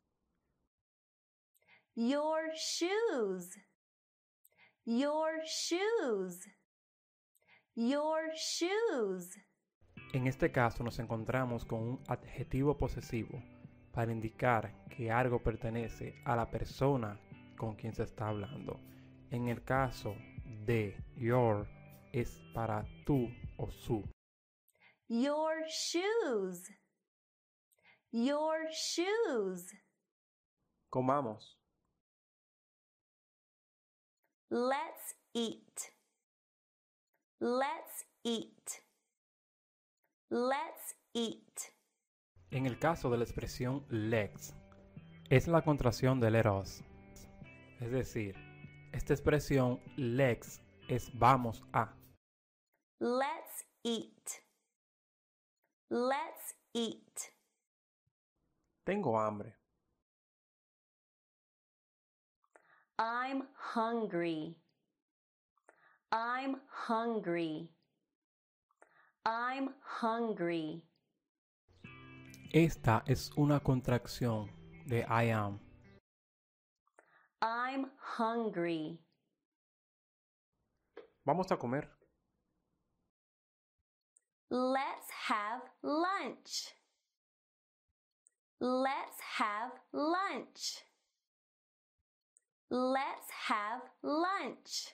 Your shoes. Your shoes. Your shoes. En este caso nos encontramos con un adjetivo posesivo para indicar que algo pertenece a la persona con quien se está hablando. En el caso de your es para tú o su. Your shoes. Your shoes. Comamos. Let's eat. Let's eat. Let's eat. En el caso de la expresión let's, es la contracción de let us. Es decir, esta expresión let's es vamos a. Let's eat. Let's eat. Tengo hambre. I'm hungry. I'm hungry. I'm hungry. Esta es una contracción de I am. I'm hungry. Vamos a comer. Let's have lunch. Let's have lunch. Let's have lunch.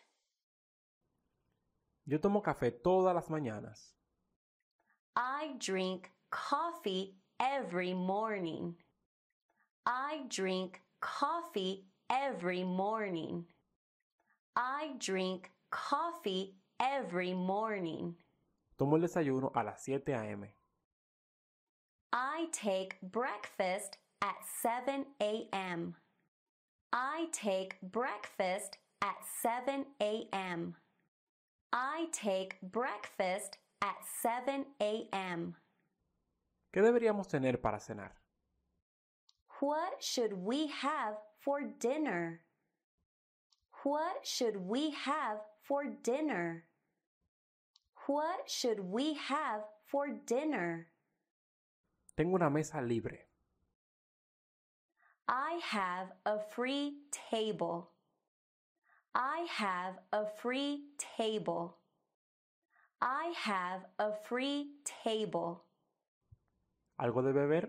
Yo tomo café todas las mañanas. I drink coffee every morning. I drink coffee every morning. I drink coffee every morning. Tomo el desayuno a las 7 a.m. I take breakfast at 7 a.m. I take breakfast at 7 a.m. I take breakfast at 7 a.m. ¿Qué deberíamos tener para cenar? What should we have for dinner? What should we have for dinner? What should we have for dinner? Tengo una mesa libre. I have a free table. I have a free table. I have a free table. ¿Algo de beber?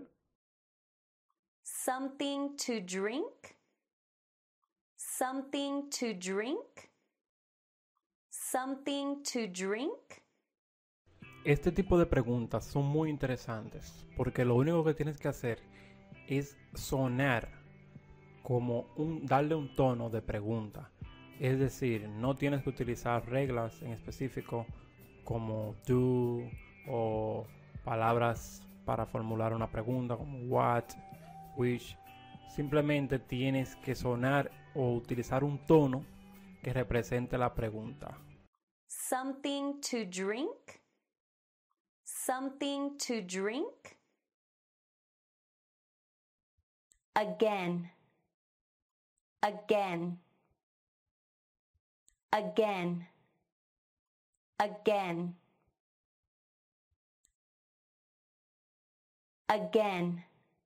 Something to drink? Something to drink? Something to drink? Este tipo de preguntas son muy interesantes porque lo único que tienes que hacer es sonar como darle un tono de pregunta. Es decir, no tienes que utilizar reglas en específico como do o palabras para formular una pregunta como what, which. Simplemente tienes que sonar o utilizar un tono que represente la pregunta. Something to drink? Something to drink? Again. Again. Again. Again. Again.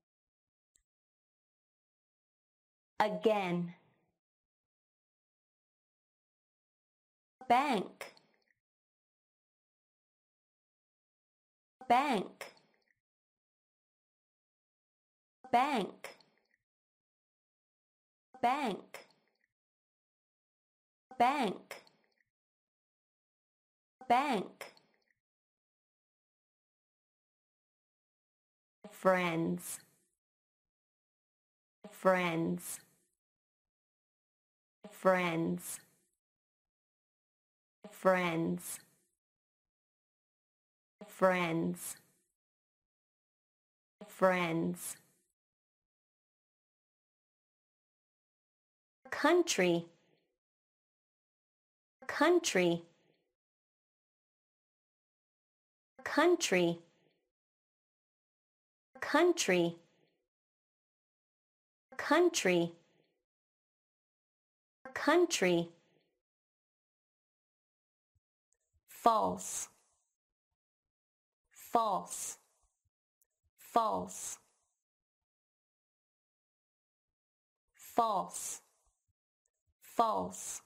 Again. Bank. Bank. Bank. Bank. Bank. Bank. Friends. Friends. Friends. Friends. Friends. Friends. Country. Country. Country. Country. Country. Country. False. False. False. False. False.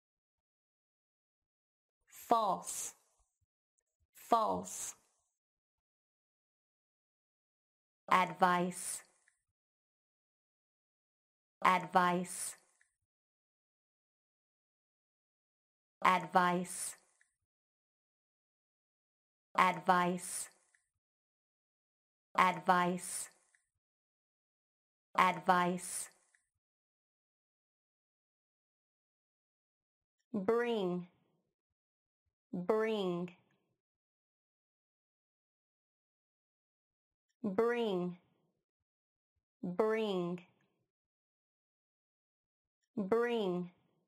False. False. Advice. Advice. Advice. Advice. Advice. Advice. Bring. Bring. Bring. Bring. Bring.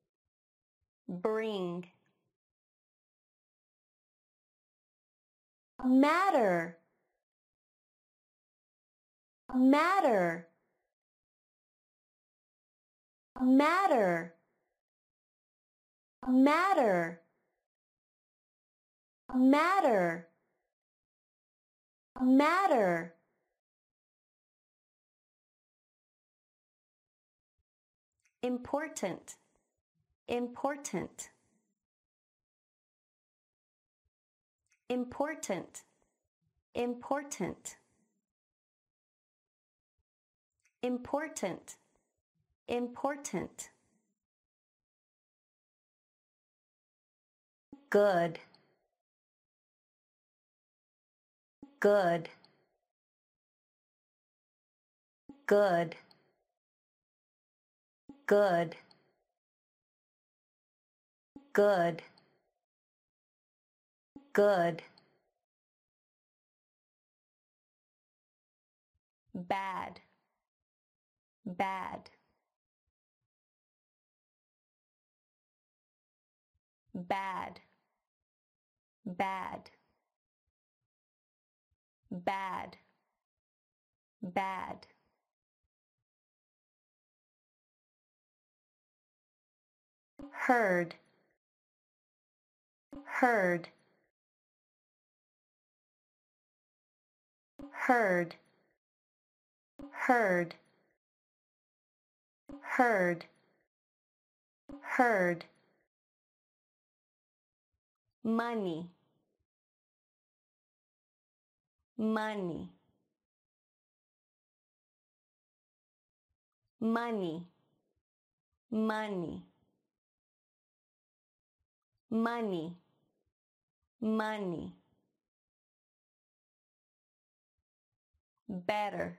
Bring. Matter. Matter. Matter. Matter. Matter. Matter. Important. Important. Important. Important. Important. Important. Good. Good. Good. Good. Good. Good. Bad. Bad. Bad. bad, bad, bad. Heard, heard, heard, heard, heard, heard. Money, money, money, money, money, money. Better,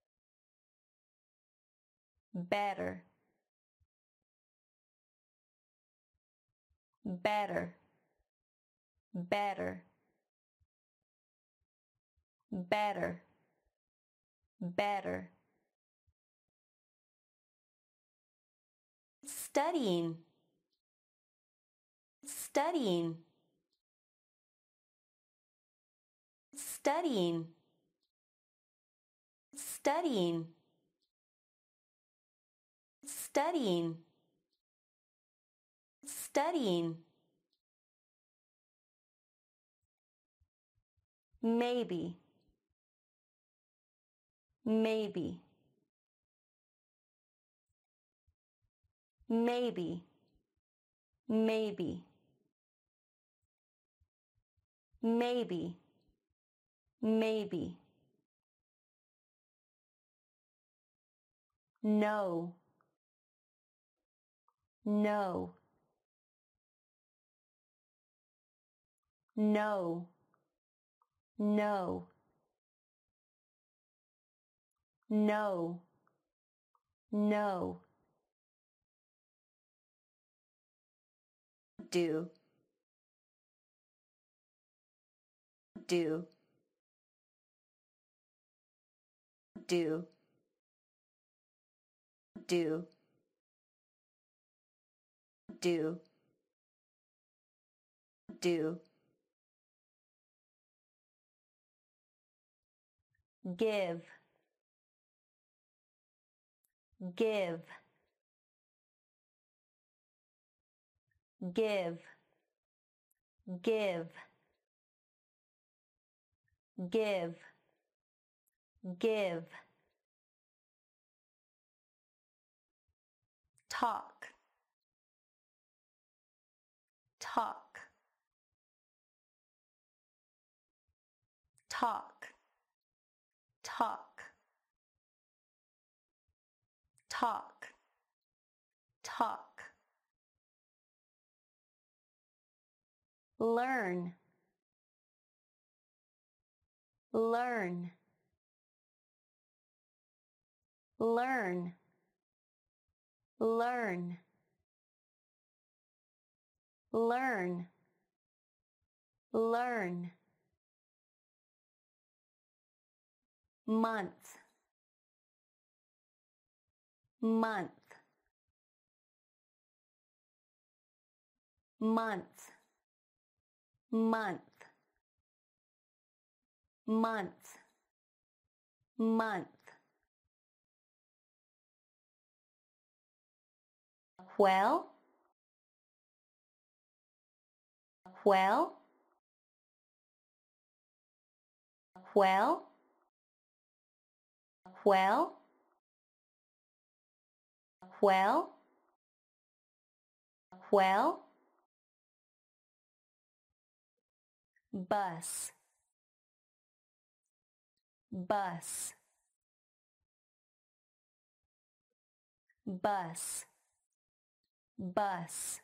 better, better, better, better, better. Studying, studying, studying, studying, studying, studying. Maybe, maybe, maybe, maybe, maybe, maybe. No, no, no, no, no, no. Do, do, do, do, do, do. Give, give, give, give, give, give. Talk, talk, talk, talk, talk, talk. Learn, learn, learn, learn, learn, learn. Month, month, month, month, month, month. Well, well, well, well, well, well. Bus, bus, bus, bus,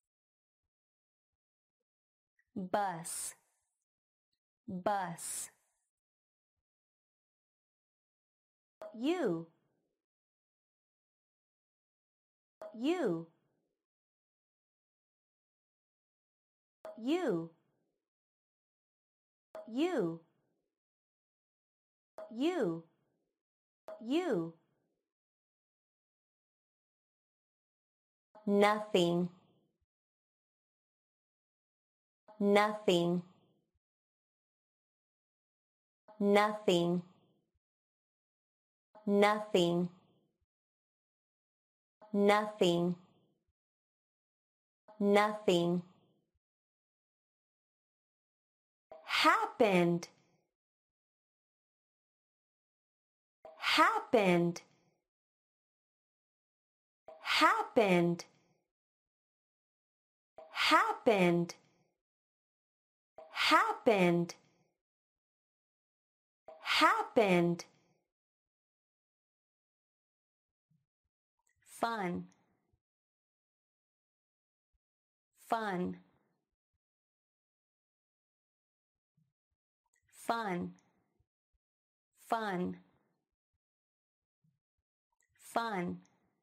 bus, bus. You, you, you, you, you, you. Nothing, nothing, nothing, nothing, nothing, nothing. Happened, happened, happened, happened, happened, happened. Fun, fun, fun, fun, fun,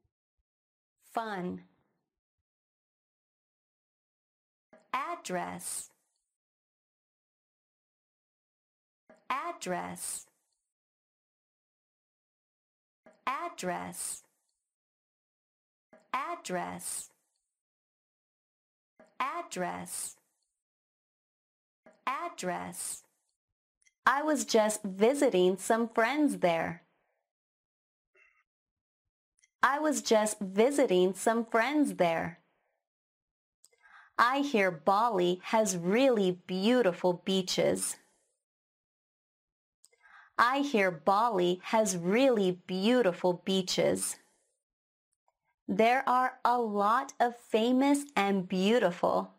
fun. Address, address, address, address, address, address. I was just visiting some friends there. I was just visiting some friends there. I hear Bali has really beautiful beaches. I hear Bali has really beautiful beaches. There are a lot of famous and beautiful.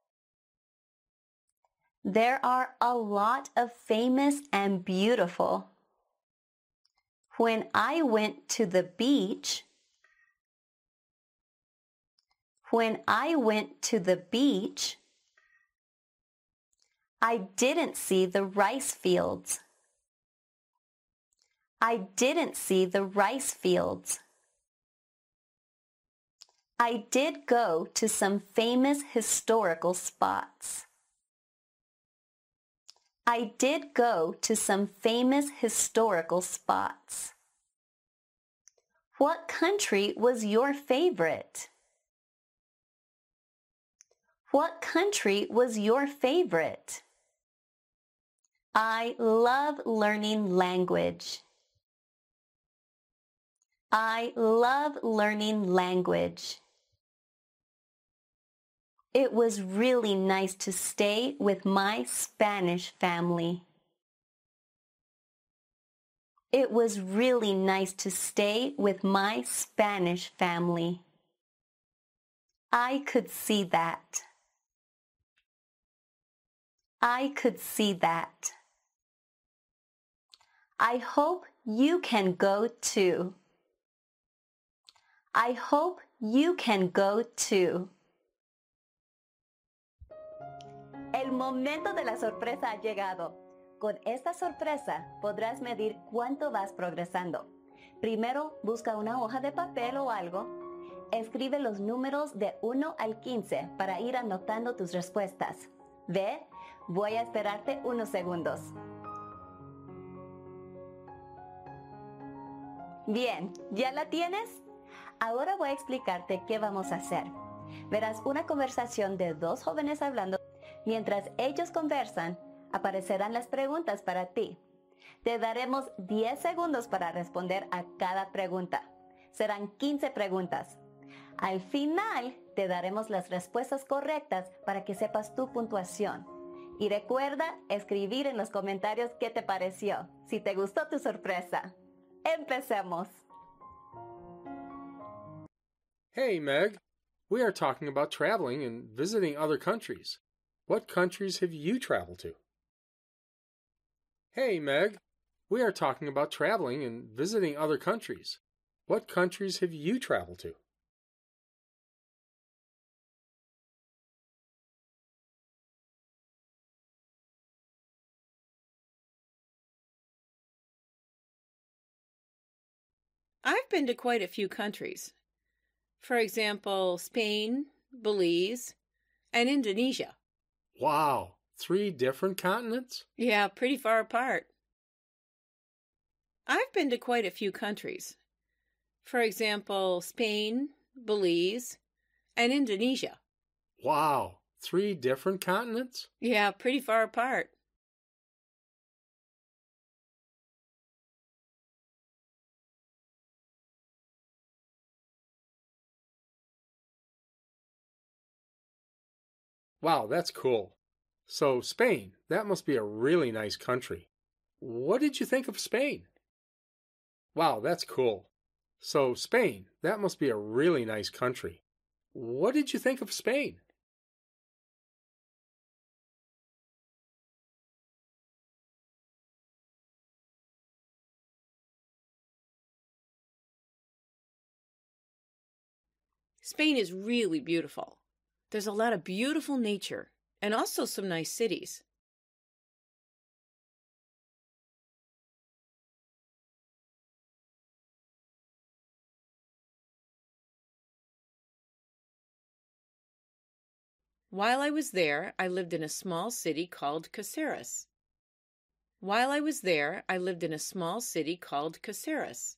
There are a lot of famous and beautiful. When I went to the beach, when I went to the beach, I didn't see the rice fields. I didn't see the rice fields. I did go to some famous historical spots. I did go to some famous historical spots. What country was your favorite? What country was your favorite? I love learning language. I love learning language. It was really nice to stay with my Spanish family. It was really nice to stay with my Spanish family. I could see that. I could see that. I hope you can go too. I hope you can go too. El momento de la sorpresa ha llegado. Con esta sorpresa podrás medir cuánto vas progresando. Primero, busca una hoja de papel o algo. Escribe los números de 1 al 15 para ir anotando tus respuestas. Ve, voy a esperarte unos segundos. Bien, ¿ya la tienes? Ahora voy a explicarte qué vamos a hacer. Verás una conversación de dos jóvenes hablando. Mientras ellos conversan, aparecerán las preguntas para ti. Te daremos 10 segundos para responder a cada pregunta. Serán 15 preguntas. Al final, te daremos las respuestas correctas para que sepas tu puntuación. Y recuerda escribir en los comentarios qué te pareció, si te gustó tu sorpresa. ¡Empecemos! Hey, Meg. We are talking about traveling and visiting other countries. What countries have you traveled to? Hey, Meg. We are talking about traveling and visiting other countries. What countries have you traveled to? I've been to quite a few countries. For example, Spain, Belize, and Indonesia. Wow, 3 different continents? Yeah, pretty far apart. I've been to quite a few countries. For example, Spain, Belize, and Indonesia. Wow, Three different continents? Yeah, pretty far apart. Wow, that's cool. So, Spain, that must be a really nice country. What did you think of Spain? Wow, that's cool. So, Spain, that must be a really nice country. What did you think of Spain? Spain is really beautiful. There's a lot of beautiful nature and also some nice cities. While I was there, I lived in a small city called Caceres. While I was there, I lived in a small city called Caceres.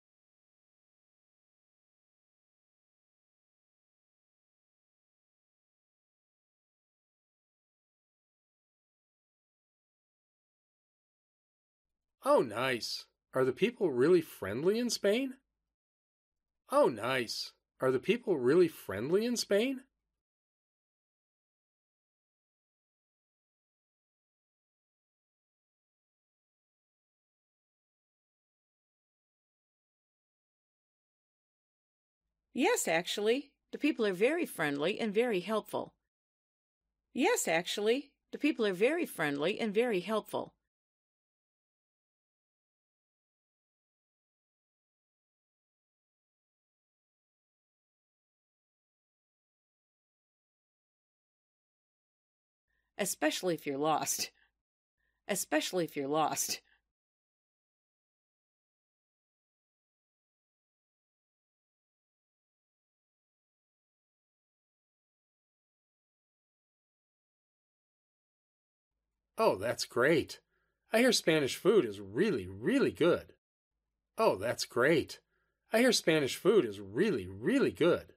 Oh, nice. Are the people really friendly in Spain? Oh, nice. Are the people really friendly in Spain? Yes, actually, the people are very friendly and very helpful. Yes, actually, the people are very friendly and very helpful. Especially if you're lost. Especially if you're lost. Oh, that's great. I hear Spanish food is really, really good. Oh, that's great. I hear Spanish food is really, really good.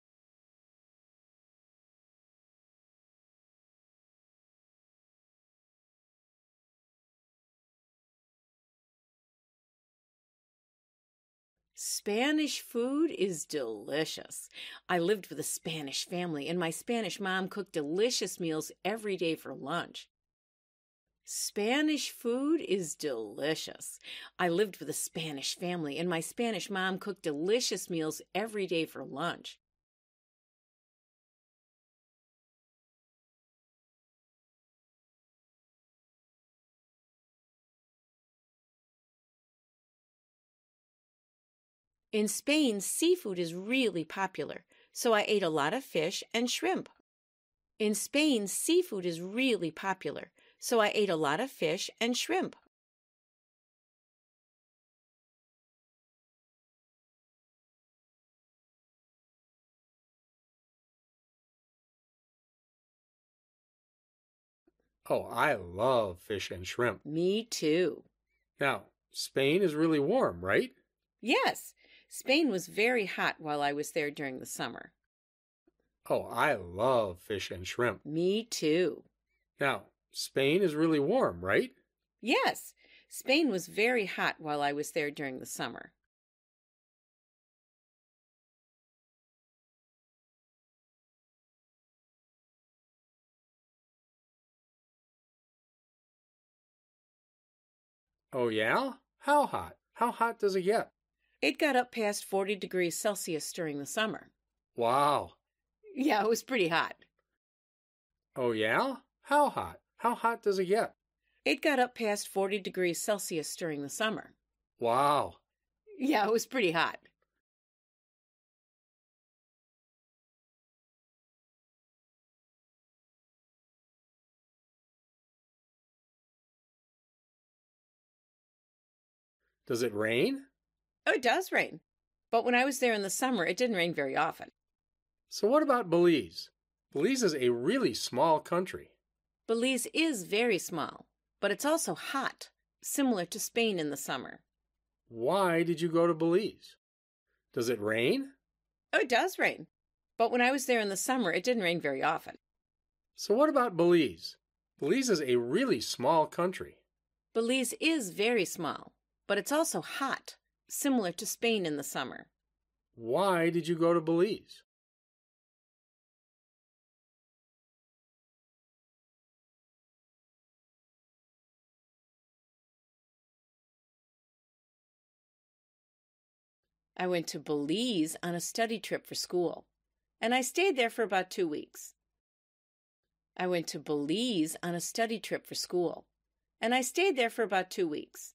Spanish food is delicious. I lived with a Spanish family, and my Spanish mom cooked delicious meals every day for lunch. Spanish food is delicious. I lived with a Spanish family, and my Spanish mom cooked delicious meals every day for lunch. In Spain, seafood is really popular, so I ate a lot of fish and shrimp. In Spain, seafood is really popular, so I ate a lot of fish and shrimp. Oh, I love fish and shrimp. Me too. Now, Spain is really warm, right? Yes, Spain was very hot while I was there during the summer. Oh, I love fish and shrimp. Me too. Now, Spain is really warm, right? Yes, Spain was very hot while I was there during the summer. Oh, yeah? How hot? How hot does it get? It got up past 40 degrees Celsius during the summer. Wow. Yeah, it was pretty hot. Oh, yeah? How hot? How hot does it get? It got up past 40 degrees Celsius during the summer. Wow. Yeah, it was pretty hot. Does it rain? Oh, it does rain. But when I was there in the summer, it didn't rain very often. So what about Belize? Belize is a really small country. Belize is very small, but it's also hot, similar to Spain in the summer. Why did you go to Belize? Does it rain? Oh, it does rain. But when I was there in the summer, it didn't rain very often. So what about Belize? Belize is a really small country. Belize is very small, but it's also hot, similar to Spain in the summer. Why did you go to Belize? I went to Belize on a study trip for school, and I stayed there for about 2 weeks. I went to Belize on a study trip for school, and I stayed there for about 2 weeks.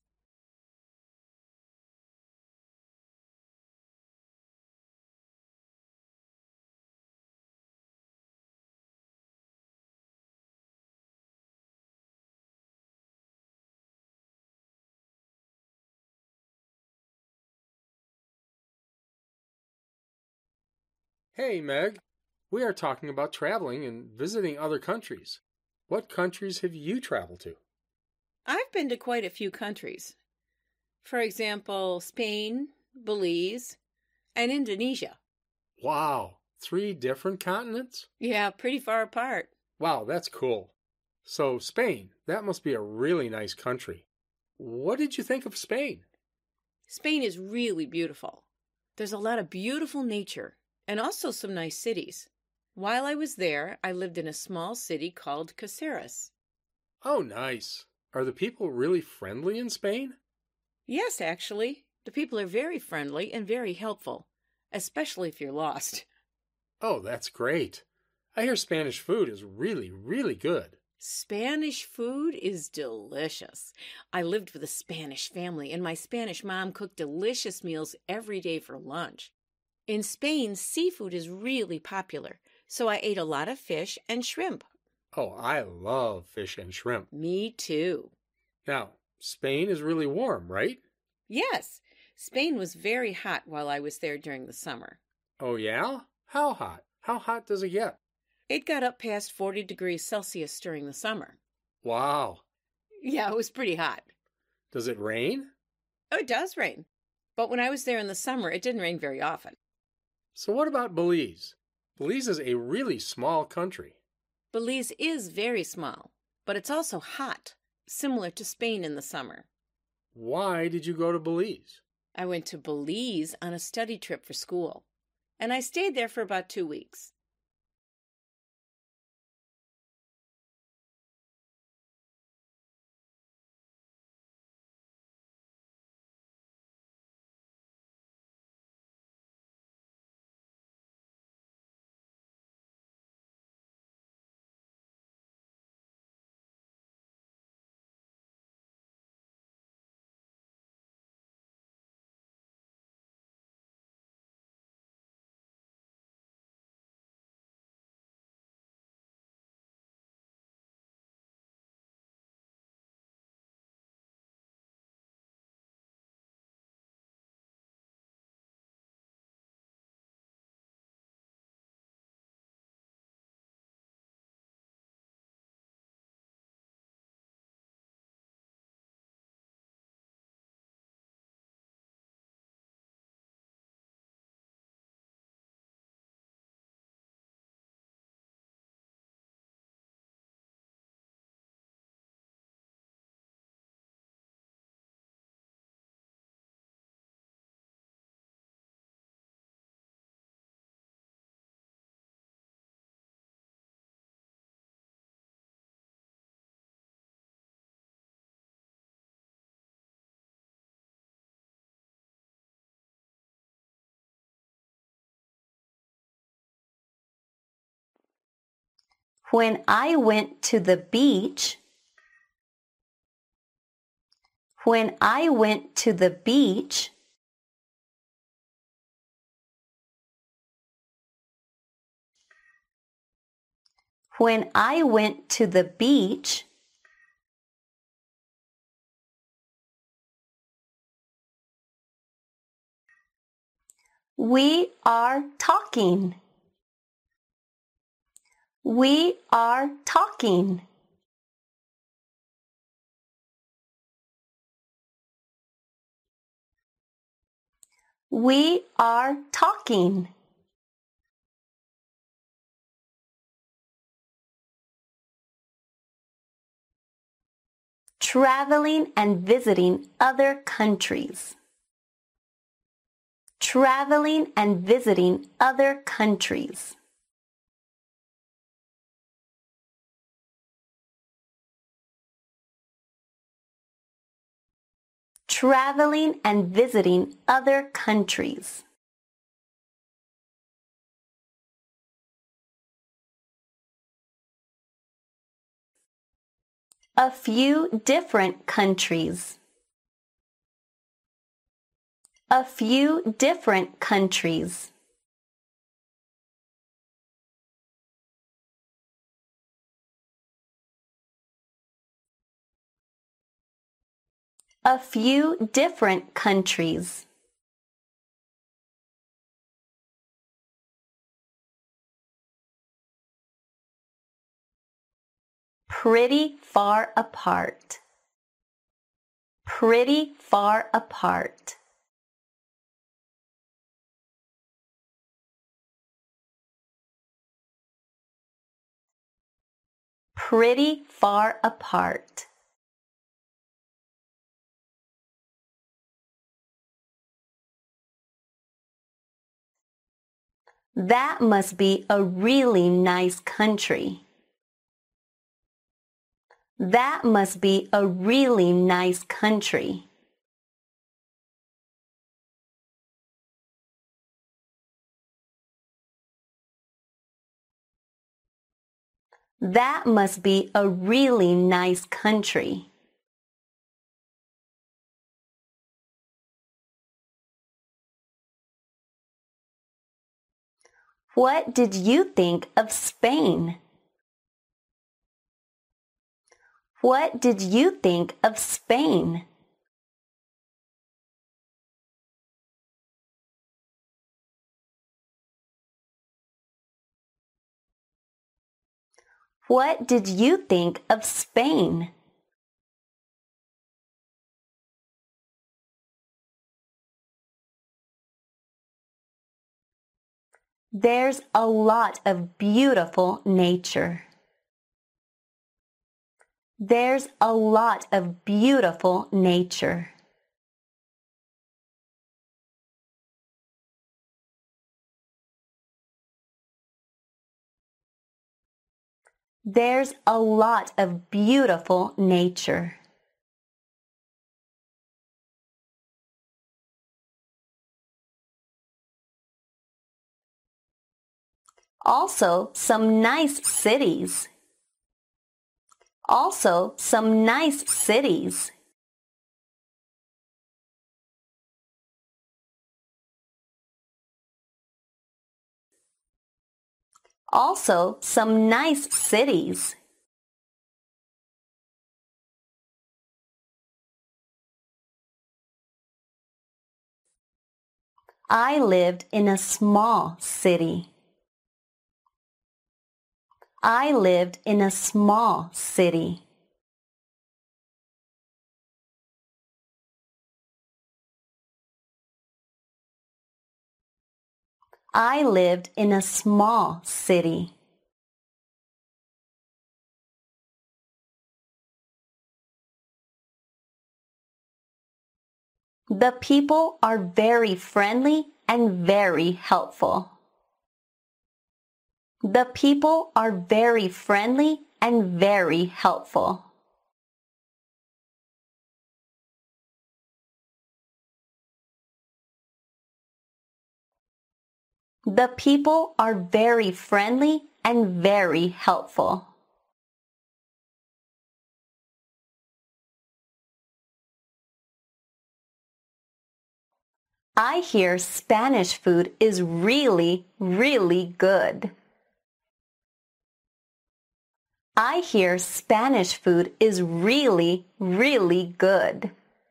Hey, Meg. We are talking about traveling and visiting other countries. What countries have you traveled to? I've been to quite a few countries. For example, Spain, Belize, and Indonesia. Wow, 3 different continents? Yeah, pretty far apart. Wow, that's cool. So, Spain, that must be a really nice country. What did you think of Spain? Spain is really beautiful. There's a lot of beautiful nature and also some nice cities. While I was there, I lived in a small city called Caceres. Oh, nice. Are the people really friendly in Spain? Yes, actually. The people are very friendly and very helpful, especially if you're lost. Oh, that's great. I hear Spanish food is really, really good. Spanish food is delicious. I lived with a Spanish family, and my Spanish mom cooked delicious meals every day for lunch. In Spain, seafood is really popular, so I ate a lot of fish and shrimp. Oh, I love fish and shrimp. Me too. Now, Spain is really warm, right? Yes, Spain was very hot while I was there during the summer. Oh, yeah? How hot? How hot does it get? It got up past 40 degrees Celsius during the summer. Wow. Yeah, it was pretty hot. Does it rain? Oh, it does rain. But when I was there in the summer, it didn't rain very often. So, what about Belize? Belize is a really small country. Belize is very small, but it's also hot, similar to Spain in the summer. Why did you go to Belize? I went to Belize on a study trip for school, and I stayed there for about 2 weeks. When I went to the beach, when I went to the beach, when I went to the beach, we are talking. We are talking. We are talking. Traveling and visiting other countries. Traveling and visiting other countries. Traveling and visiting other countries. A few different countries. A few different countries. A few different countries. Pretty far apart. Pretty far apart. Pretty far apart. That must be a really nice country. That must be a really nice country. That must be a really nice country. What did you think of Spain? What did you think of Spain? What did you think of Spain? There's a lot of beautiful nature. There's a lot of beautiful nature. There's a lot of beautiful nature. Also, some nice cities. Also, some nice cities. Also, some nice cities. I lived in a small city. I lived in a small city. I lived in a small city. The people are very friendly and very helpful. The people are very friendly and very helpful. The people are very friendly and very helpful. I hear Spanish food is really, really good. I hear Spanish food is really, really good.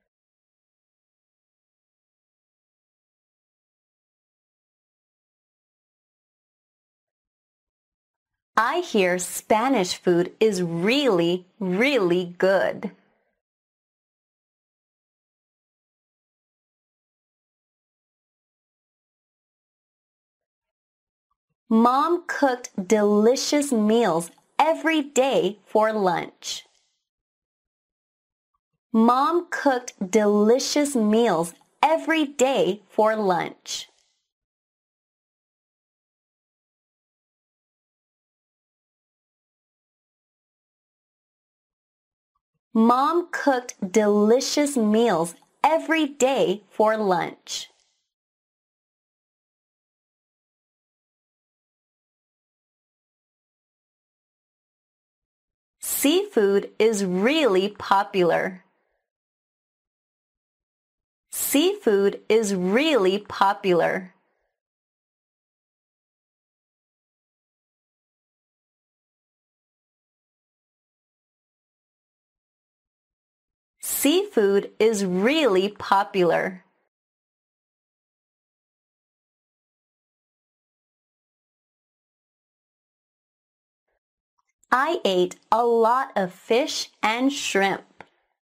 I hear Spanish food is really, really good. Mom cooked delicious meals every day for lunch. Mom cooked delicious meals every day for lunch. Mom cooked delicious meals every day for lunch. Seafood is really popular. Seafood is really popular. Seafood is really popular. I ate a lot of fish and shrimp.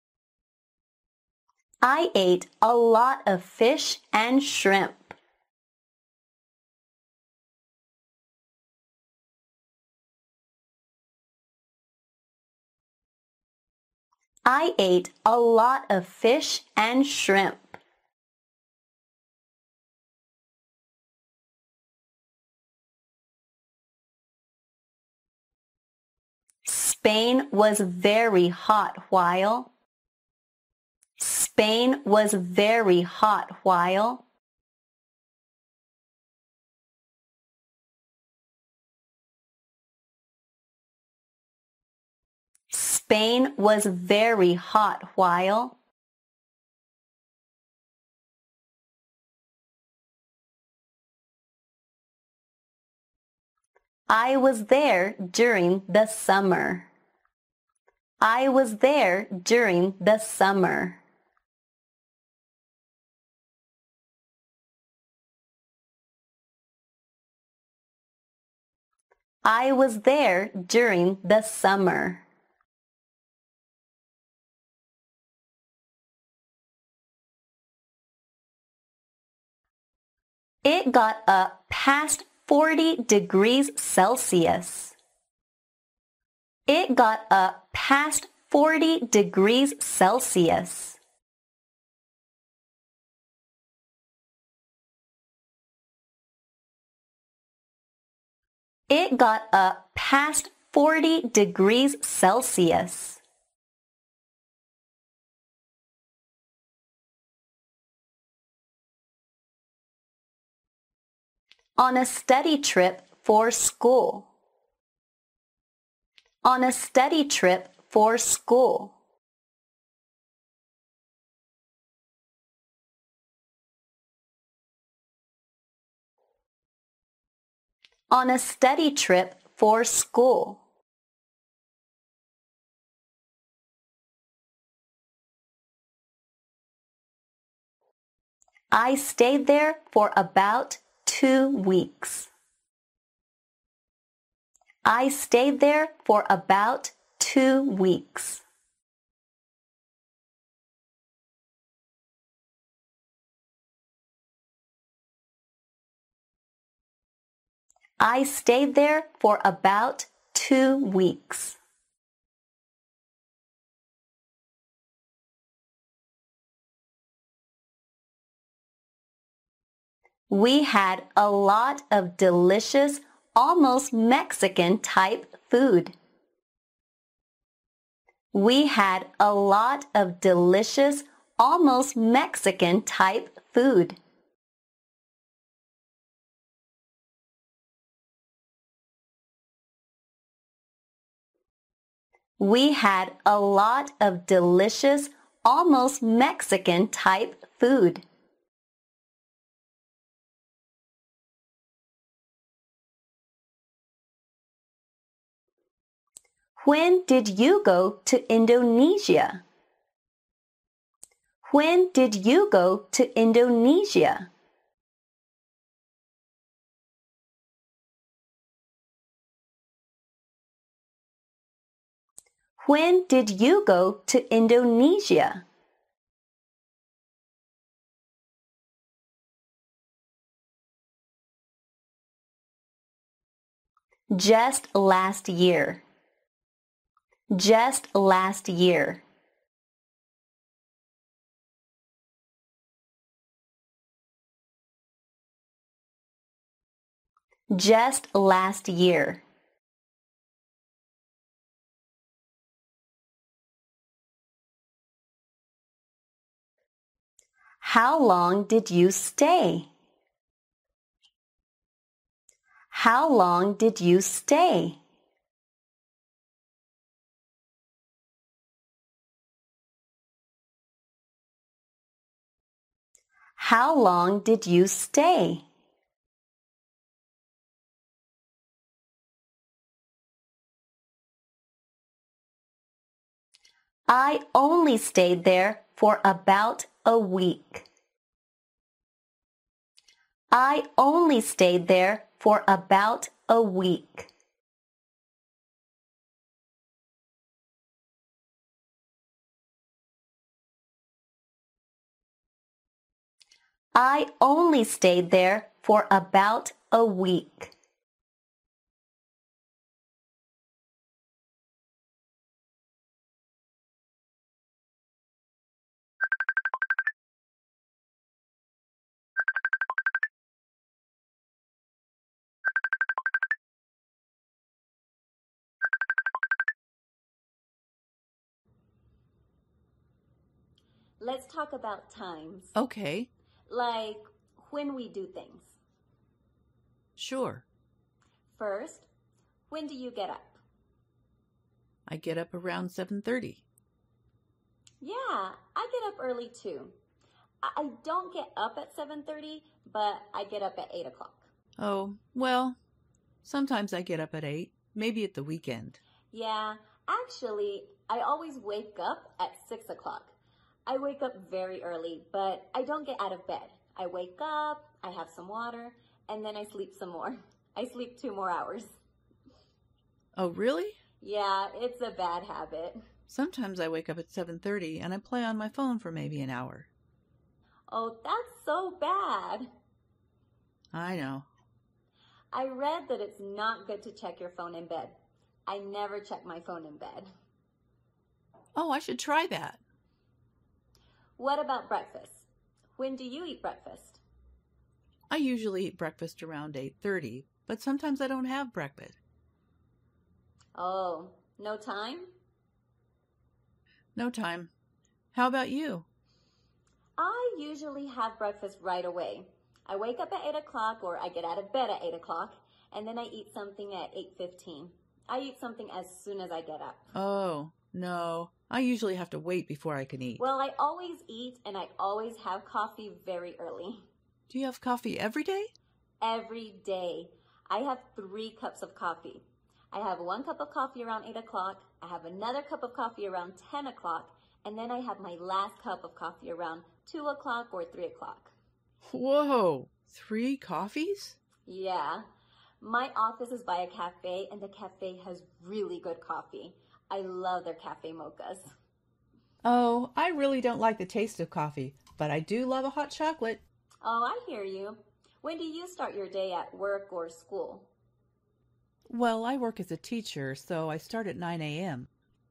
I ate a lot of fish and shrimp. I ate a lot of fish and shrimp. Spain was very hot while. Spain was very hot while. Spain was very hot while. I was there during the summer. I was there during the summer. I was there during the summer. It got up past 40 degrees Celsius. It got up past 40 degrees Celsius. It got up past 40 degrees Celsius. On a study trip for school. On a study trip for school. On a study trip for school. I stayed there for about 2 weeks. I stayed there for about 2 weeks. I stayed there for about 2 weeks. We had a lot of delicious, almost Mexican type food. We had a lot of delicious, almost Mexican type food. We had a lot of delicious, almost Mexican type food. When did you go to Indonesia? When did you go to Indonesia? When did you go to Indonesia? Just last year. Just last year. Just last year. How long did you stay? How long did you stay? How long did you stay? I only stayed there for about a week. I only stayed there for about a week. I only stayed there for about a week. Let's talk about times. Okay, Like when we do things. sure. First, when do you get up? I get up around 7:30. Yeah, I get up early too. I don't get up at 7:30, but I get up at 8 o'clock. Oh, well, sometimes I get up at 8, maybe at the weekend. Yeah, actually, I always wake up at 6 o'clock. I wake up very early, but I don't get out of bed. I wake up, I have some water, and then I sleep some more. I sleep 2 more hours. Oh, really? Yeah, it's a bad habit. Sometimes I wake up at 7:30 and I play on my phone for maybe an hour. Oh, that's so bad. I know. I read that it's not good to check your phone in bed. I never check my phone in bed. Oh, I should try that. What about breakfast? When do you eat breakfast? I usually eat breakfast around 8:30, but sometimes I don't have breakfast. Oh, no time? No time. How about you? I usually have breakfast right away. I wake up at 8 o'clock or I get out of bed at 8 o'clock and then I eat something at 8:15. I eat something as soon as I get up. Oh, no. I usually have to wait before I can eat. Well, I always eat and I always have coffee very early. Do you have coffee every day? Every day. I have 3 cups of coffee. I have 1 cup of coffee around 8 o'clock. I have another cup of coffee around 10 o'clock. And then I have my last cup of coffee around 2 o'clock or 3 o'clock. Whoa, 3 coffees? Yeah. My office is by a cafe and the cafe has really good coffee. I love their cafe mochas. Oh, I really don't like the taste of coffee, but I do love a hot chocolate. Oh, I hear you. When do you start your day at work or school? Well, I work as a teacher, so I start at 9 a.m.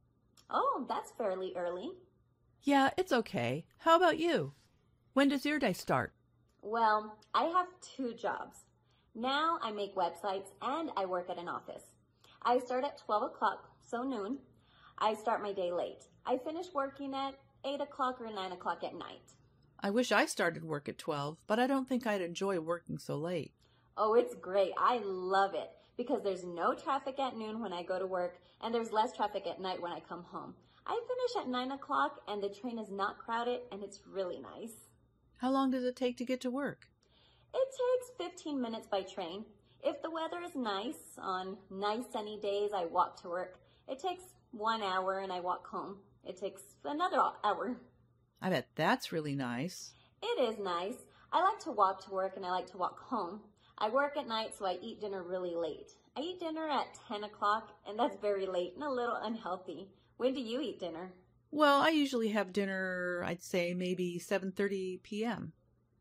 Oh, that's fairly early. Yeah, it's okay. How about you? When does your day start? Well, I have 2 jobs. Now I make websites and I work at an office. I start at 12 o'clock, so noon. I start my day late. I finish working at 8 o'clock or 9 o'clock at night. I wish I started work at 12, but I don't think I'd enjoy working so late. Oh, it's great. I love it because there's no traffic at noon when I go to work and there's less traffic at night when I come home. I finish at 9 o'clock and the train is not crowded and it's really nice. How long does it take to get to work? It takes 15 minutes by train. If the weather is nice, on nice sunny days, I walk to work. It takes 1 hour and I walk home. It takes another hour. I bet that's really nice. It is nice. I like to walk to work and I like to walk home. I work at night, so I eat dinner really late. I eat dinner at 10 o'clock, and that's very late and a little unhealthy. When do you eat dinner? Well, I usually have dinner, I'd say maybe 7:30 p.m.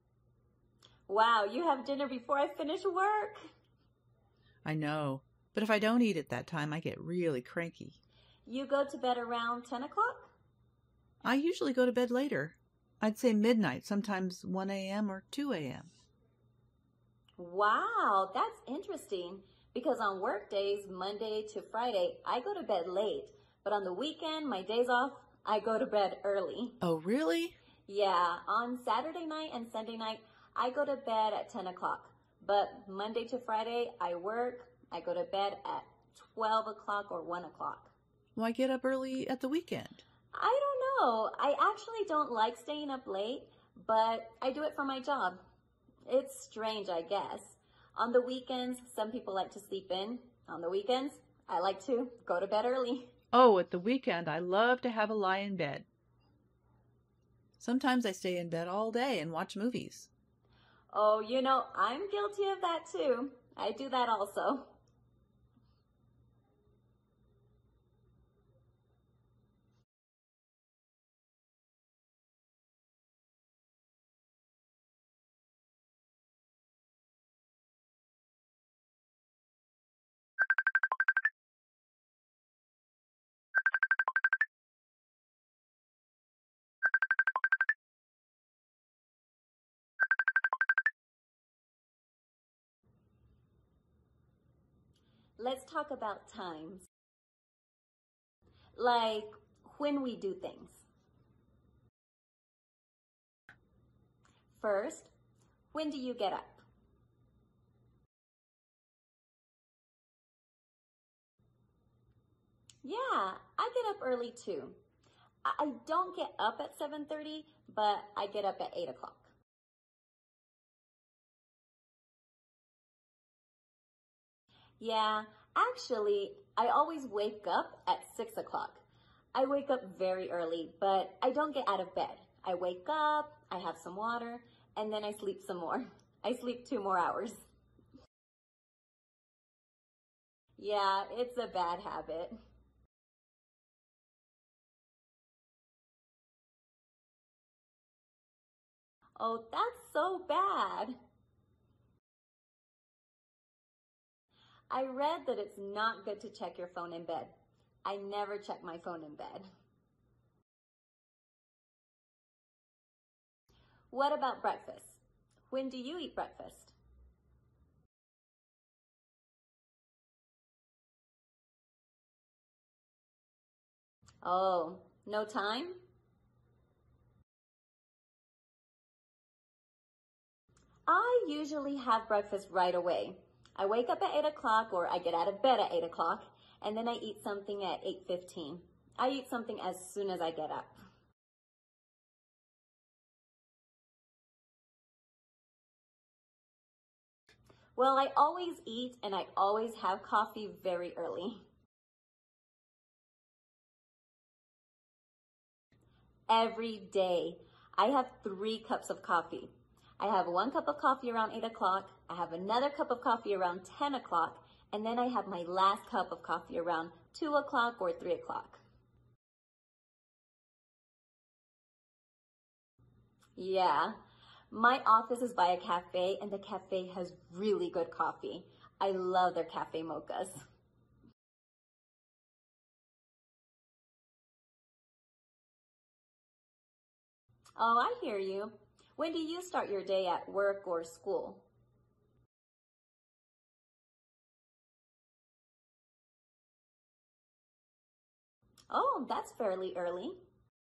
Wow, you have dinner before I finish work. I know, but if I don't eat at that time, I get really cranky. You go to bed around 10 o'clock? I usually go to bed later. I'd say midnight, sometimes 1 a.m. or 2 a.m. Wow, that's interesting because on work days, Monday to Friday, I go to bed late, but on the weekend, my days off, I go to bed early. Oh, really? Yeah, on Saturday night and Sunday night, I go to bed at 10 o'clock, but Monday to Friday, I work, I go to bed at 12 o'clock or 1 o'clock. Why get up early at the weekend? I don't know. I actually don't like staying up late, but I do it for my job. It's strange, I guess. On the weekends, some people like to sleep in. On the weekends, I like to go to bed early. Oh, at the weekend, I love to have a lie in bed. Sometimes I stay in bed all day and watch movies. Oh, I'm guilty of that too. I do that also. Let's talk about times. Like when we do things. First, when do you get up? Yeah, I get up early too. I don't get up at 7:30, but I get up at 8 o'clock. Yeah, actually, I always wake up at 6 o'clock. I wake up very early, but I don't get out of bed. I wake up, I have some water, and then I sleep some more. I sleep 2 more hours. Yeah, it's a bad habit. Oh, that's so bad. I read that it's not good to check your phone in bed. I never check my phone in bed. What about breakfast? When do you eat breakfast? Oh, no time? I usually have breakfast right away. I wake up at 8 o'clock or I get out of bed at 8 o'clock and then I eat something at 8:15. I eat something as soon as I get up. Well, I always eat and I always have coffee very early. Every day. I have 3 cups of coffee. I have 1 cup of coffee around 8 o'clock. I have another cup of coffee around 10 o'clock. And then I have my last cup of coffee around 2 o'clock or 3 o'clock. Yeah. My office is by a cafe and the cafe has really good coffee. I love their cafe mochas. Oh, I hear you. When do you start your day at work or school? Oh, that's fairly early.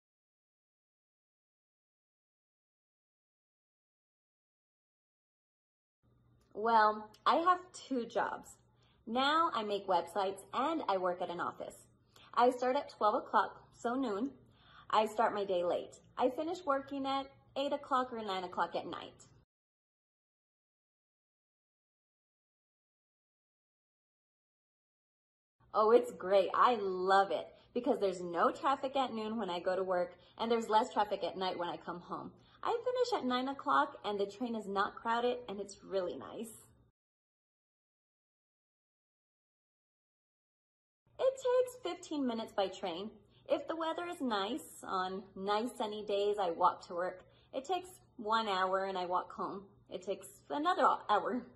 Well, I have 2 jobs. Now I make websites and I work at an office. I start at 12 o'clock, so noon. I start my day late. I finish working at 8 o'clock or 9 o'clock at night. Oh, it's great. I love it because there's no traffic at noon when I go to work and there's less traffic at night when I come home. I finish at 9 o'clock and the train is not crowded and it's really nice. It takes 15 minutes by train. If the weather is nice, on nice sunny days, I walk to work. It takes 1 hour and I walk home. It takes another hour.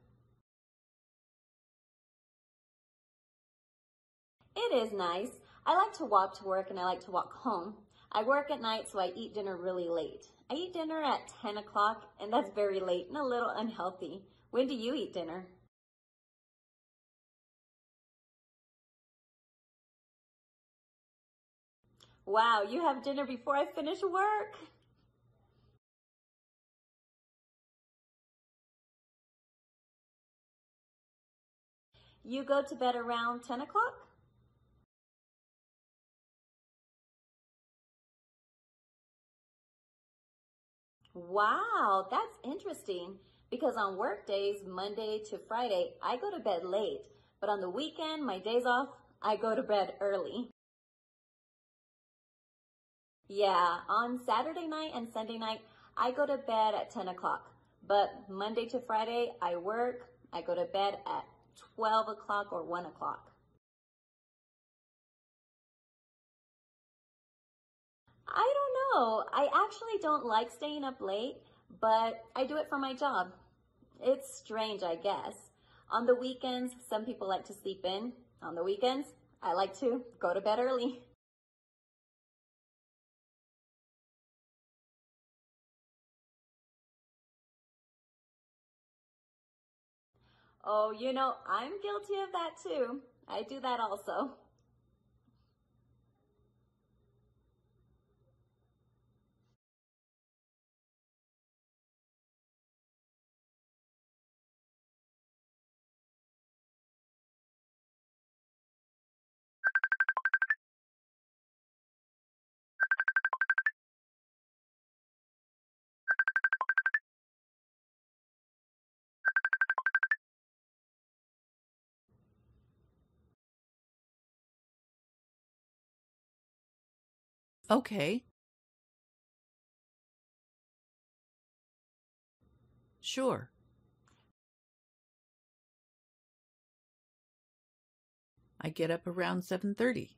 It is nice. I like to walk to work and I like to walk home. I work at night, so I eat dinner really late. I eat dinner at 10 o'clock, and that's very late and a little unhealthy. When do you eat dinner? Wow, you have dinner before I finish work. You go to bed around 10 o'clock? Wow, that's interesting. Because on work days, Monday to Friday, I go to bed late. But on the weekend, my days off, I go to bed early. Yeah, on Saturday night and Sunday night, I go to bed at 10 o'clock. But Monday to Friday, I work. I go to bed at 12 o'clock or 1 o'clock. I don't know. I actually don't like staying up late, but I do it for my job. It's strange, I guess. On the weekends, some people like to sleep in. On the weekends, I like to go to bed early. Oh, I'm guilty of that too. I do that also. Okay, sure. I get up around 7:30.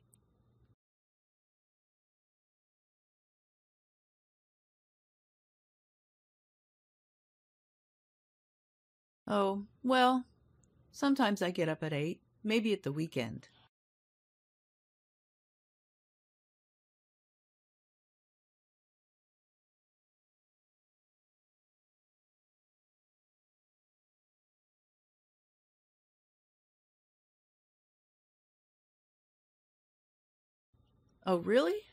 Oh, well, sometimes I get up at 8, maybe at the weekend. Oh, really?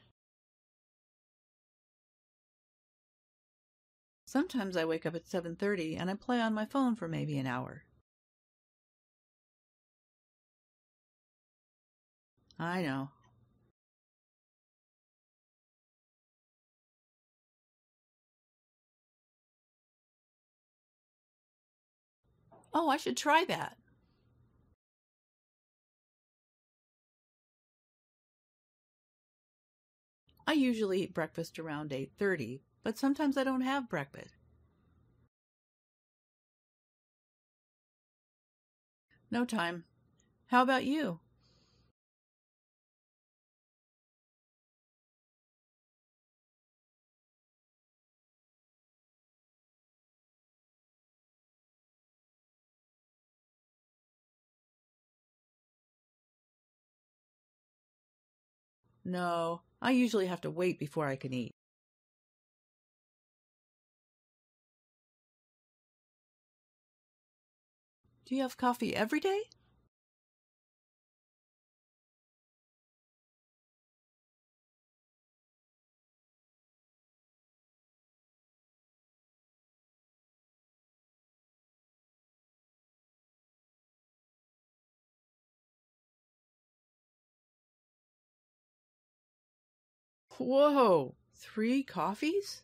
Sometimes I wake up at 7:30 and I play on my phone for maybe an hour. I know. Oh, I should try that. I usually eat breakfast around 8:30, but sometimes I don't have breakfast. No time. How about you? No, I usually have to wait before I can eat. Do you have coffee every day? Whoa, 3 coffees?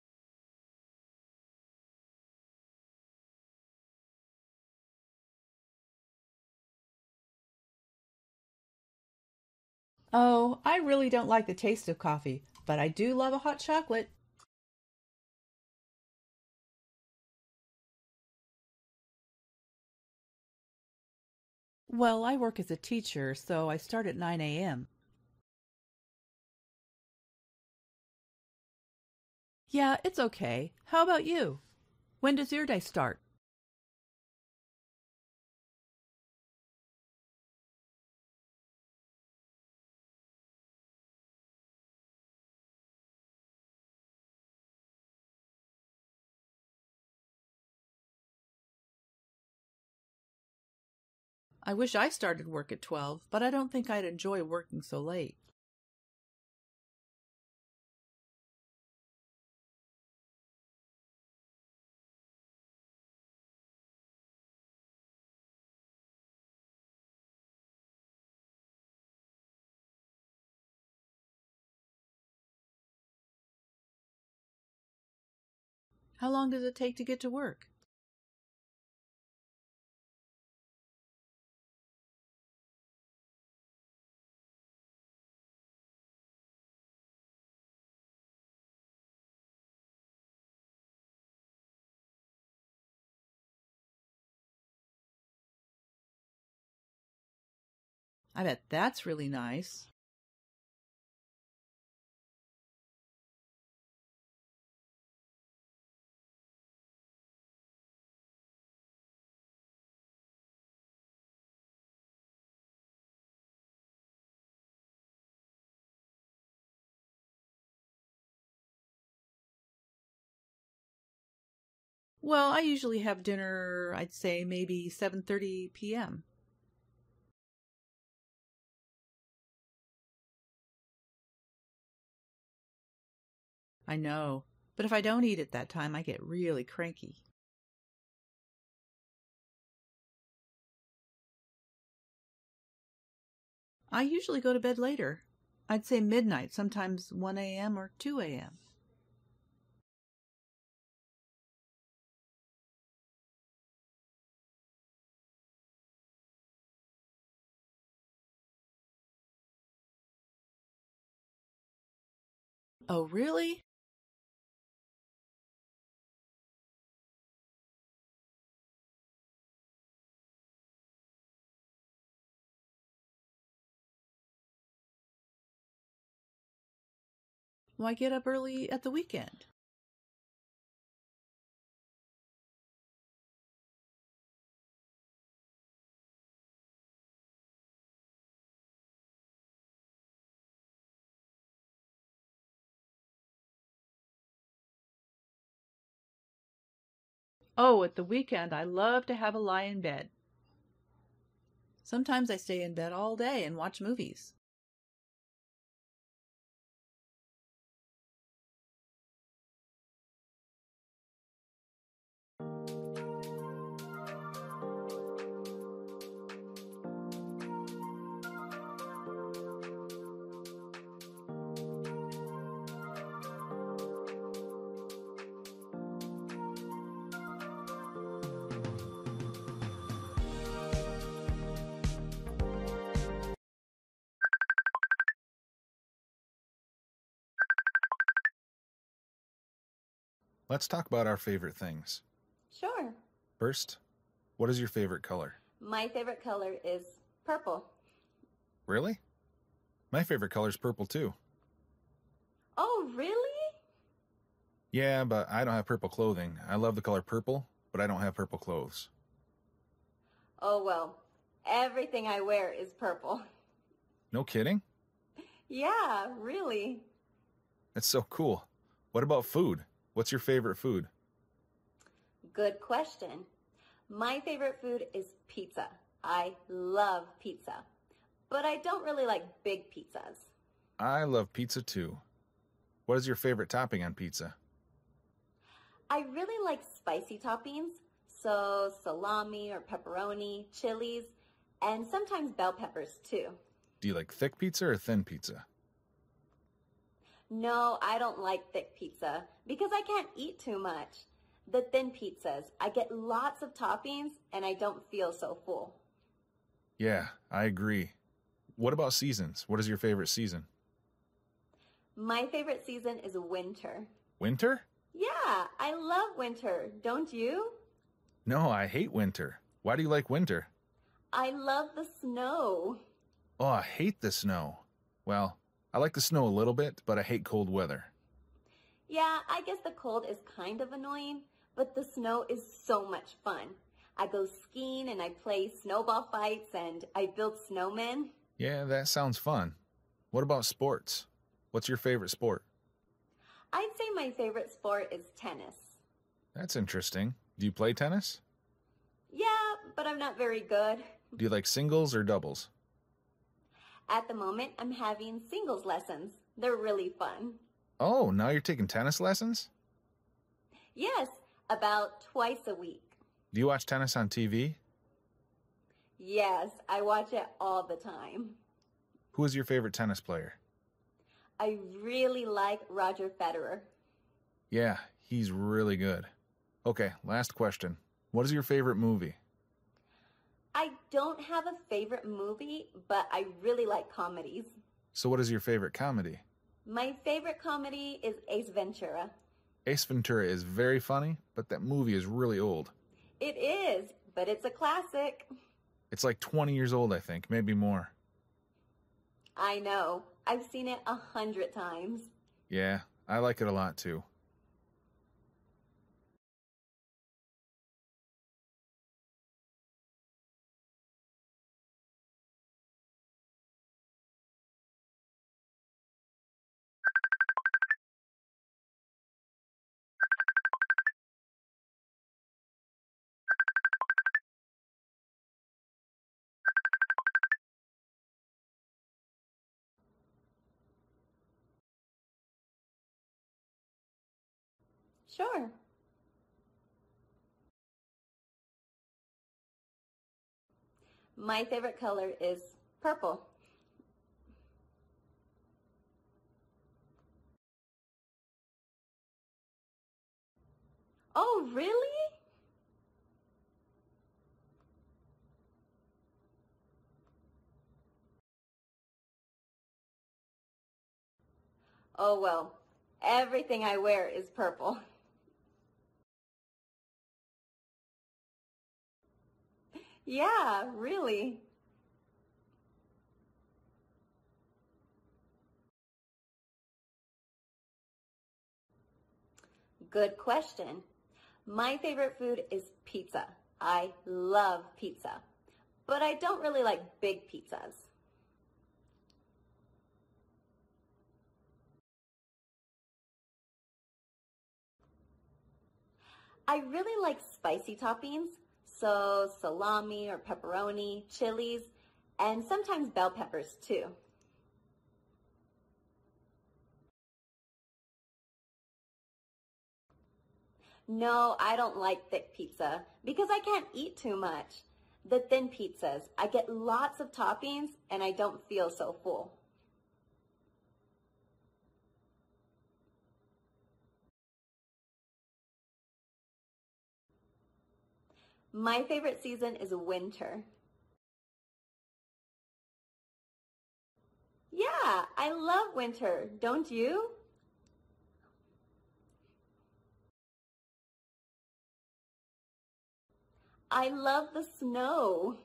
Oh, I really don't like the taste of coffee, but I do love a hot chocolate. Well, I work as a teacher, so I start at 9 a.m. Yeah, it's okay. How about you? When does your day start? I wish I started work at 12, but I don't think I'd enjoy working so late. How long does it take to get to work? I bet that's really nice. Well, I usually have dinner, I'd say maybe 7:30 p.m. I know, but if I don't eat at that time, I get really cranky. I usually go to bed later. I'd say midnight, sometimes 1 a.m. or 2 a.m. Oh, really? Why get up early at the weekend? Oh, at the weekend, I love to have a lie in bed. Sometimes I stay in bed all day and watch movies. Let's talk about our favorite things. Sure. First, what is your favorite color? My favorite color is purple. Really? My favorite color is purple too. Oh, really? Yeah, but I don't have purple clothing. I love the color purple, but I don't have purple clothes. Oh, well, everything I wear is purple. No kidding? Yeah, really. That's so cool. What about food? What's your favorite food? Good question. My favorite food is pizza. I love pizza, but I don't really like big pizzas. I love pizza too. What is your favorite topping on pizza? I really like spicy toppings, so salami or pepperoni, chilies, and sometimes bell peppers too. Do you like thick pizza or thin pizza? No, I don't like thick pizza because I can't eat too much. The thin pizzas, I get lots of toppings and I don't feel so full. Yeah, I agree. What about seasons? What is your favorite season? My favorite season is winter. Winter? Yeah, I love winter. Don't you? No, I hate winter. Why do you like winter? I love the snow. Oh, I hate the snow. Well, I like the snow a little bit, but I hate cold weather. Yeah, I guess the cold is kind of annoying, but the snow is so much fun. I go skiing and I play snowball fights and I build snowmen. Yeah, that sounds fun. What about sports? What's your favorite sport? I'd say my favorite sport is tennis. That's interesting. Do you play tennis? Yeah, but I'm not very good. Do you like singles or doubles? At the moment, I'm having singles lessons. They're really fun. Oh, now you're taking tennis lessons? Yes, about twice a week. Do you watch tennis on TV? Yes, I watch it all the time. Who is your favorite tennis player? I really like Roger Federer. Yeah, he's really good. Okay, last question. What is your favorite movie? I don't have a favorite movie, but I really like comedies. So what is your favorite comedy? My favorite comedy is Ace Ventura. Ace Ventura is very funny, but that movie is really old. It is, but it's a classic. It's like 20 years old, I think, maybe more. I know. I've seen it 100 times. Yeah, I like it a lot too. Sure. My favorite color is purple. Oh, really? Oh, well, everything I wear is purple. Yeah, really. Good question. My favorite food is pizza. I love pizza, but I don't really like big pizzas. I really like spicy toppings, so salami or pepperoni, chilies, and sometimes bell peppers too. No, I don't like thick pizza because I can't eat too much. The thin pizzas, I get lots of toppings and I don't feel so full. My favorite season is winter. Yeah, I love winter, don't you? I love the snow.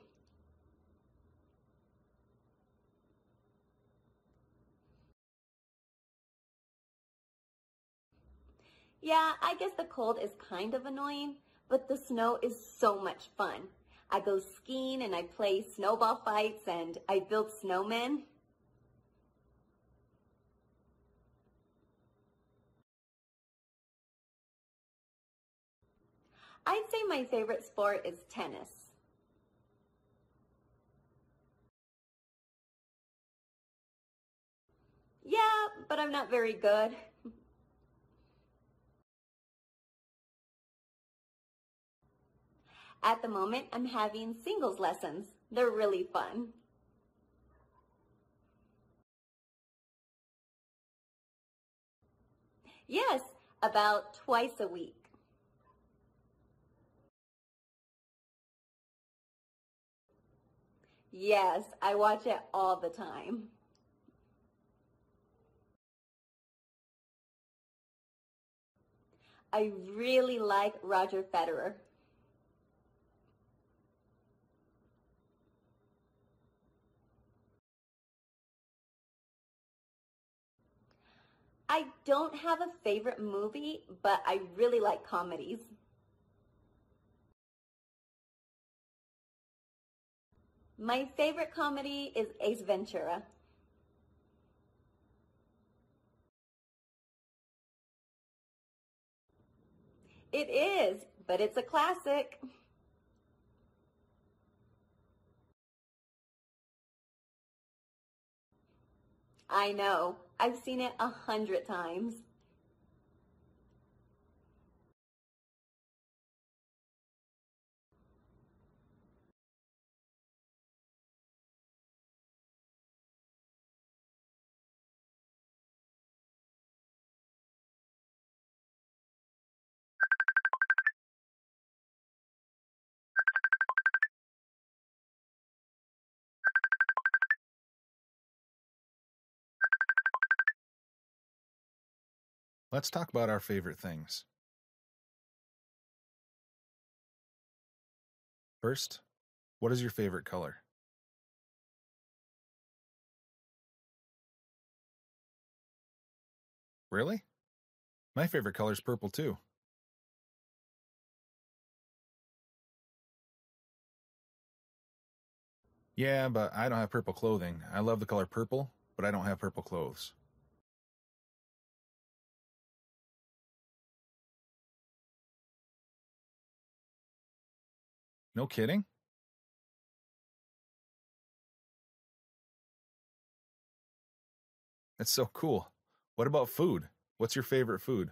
Yeah, I guess the cold is kind of annoying, but the snow is so much fun. I go skiing and I play snowball fights and I build snowmen. I'd say my favorite sport is tennis. Yeah, but I'm not very good. At the moment, I'm having singles lessons. They're really fun. Yes, about twice a week. Yes, I watch it all the time. I really like Roger Federer. I don't have a favorite movie, but I really like comedies. My favorite comedy is Ace Ventura. It is, but it's a classic. I know. I've seen it 100 times. Let's talk about our favorite things. First, what is your favorite color? Really? My favorite color is purple too. Yeah, but I don't have purple clothing. I love the color purple, but I don't have purple clothes. No kidding? That's so cool. What about food? What's your favorite food?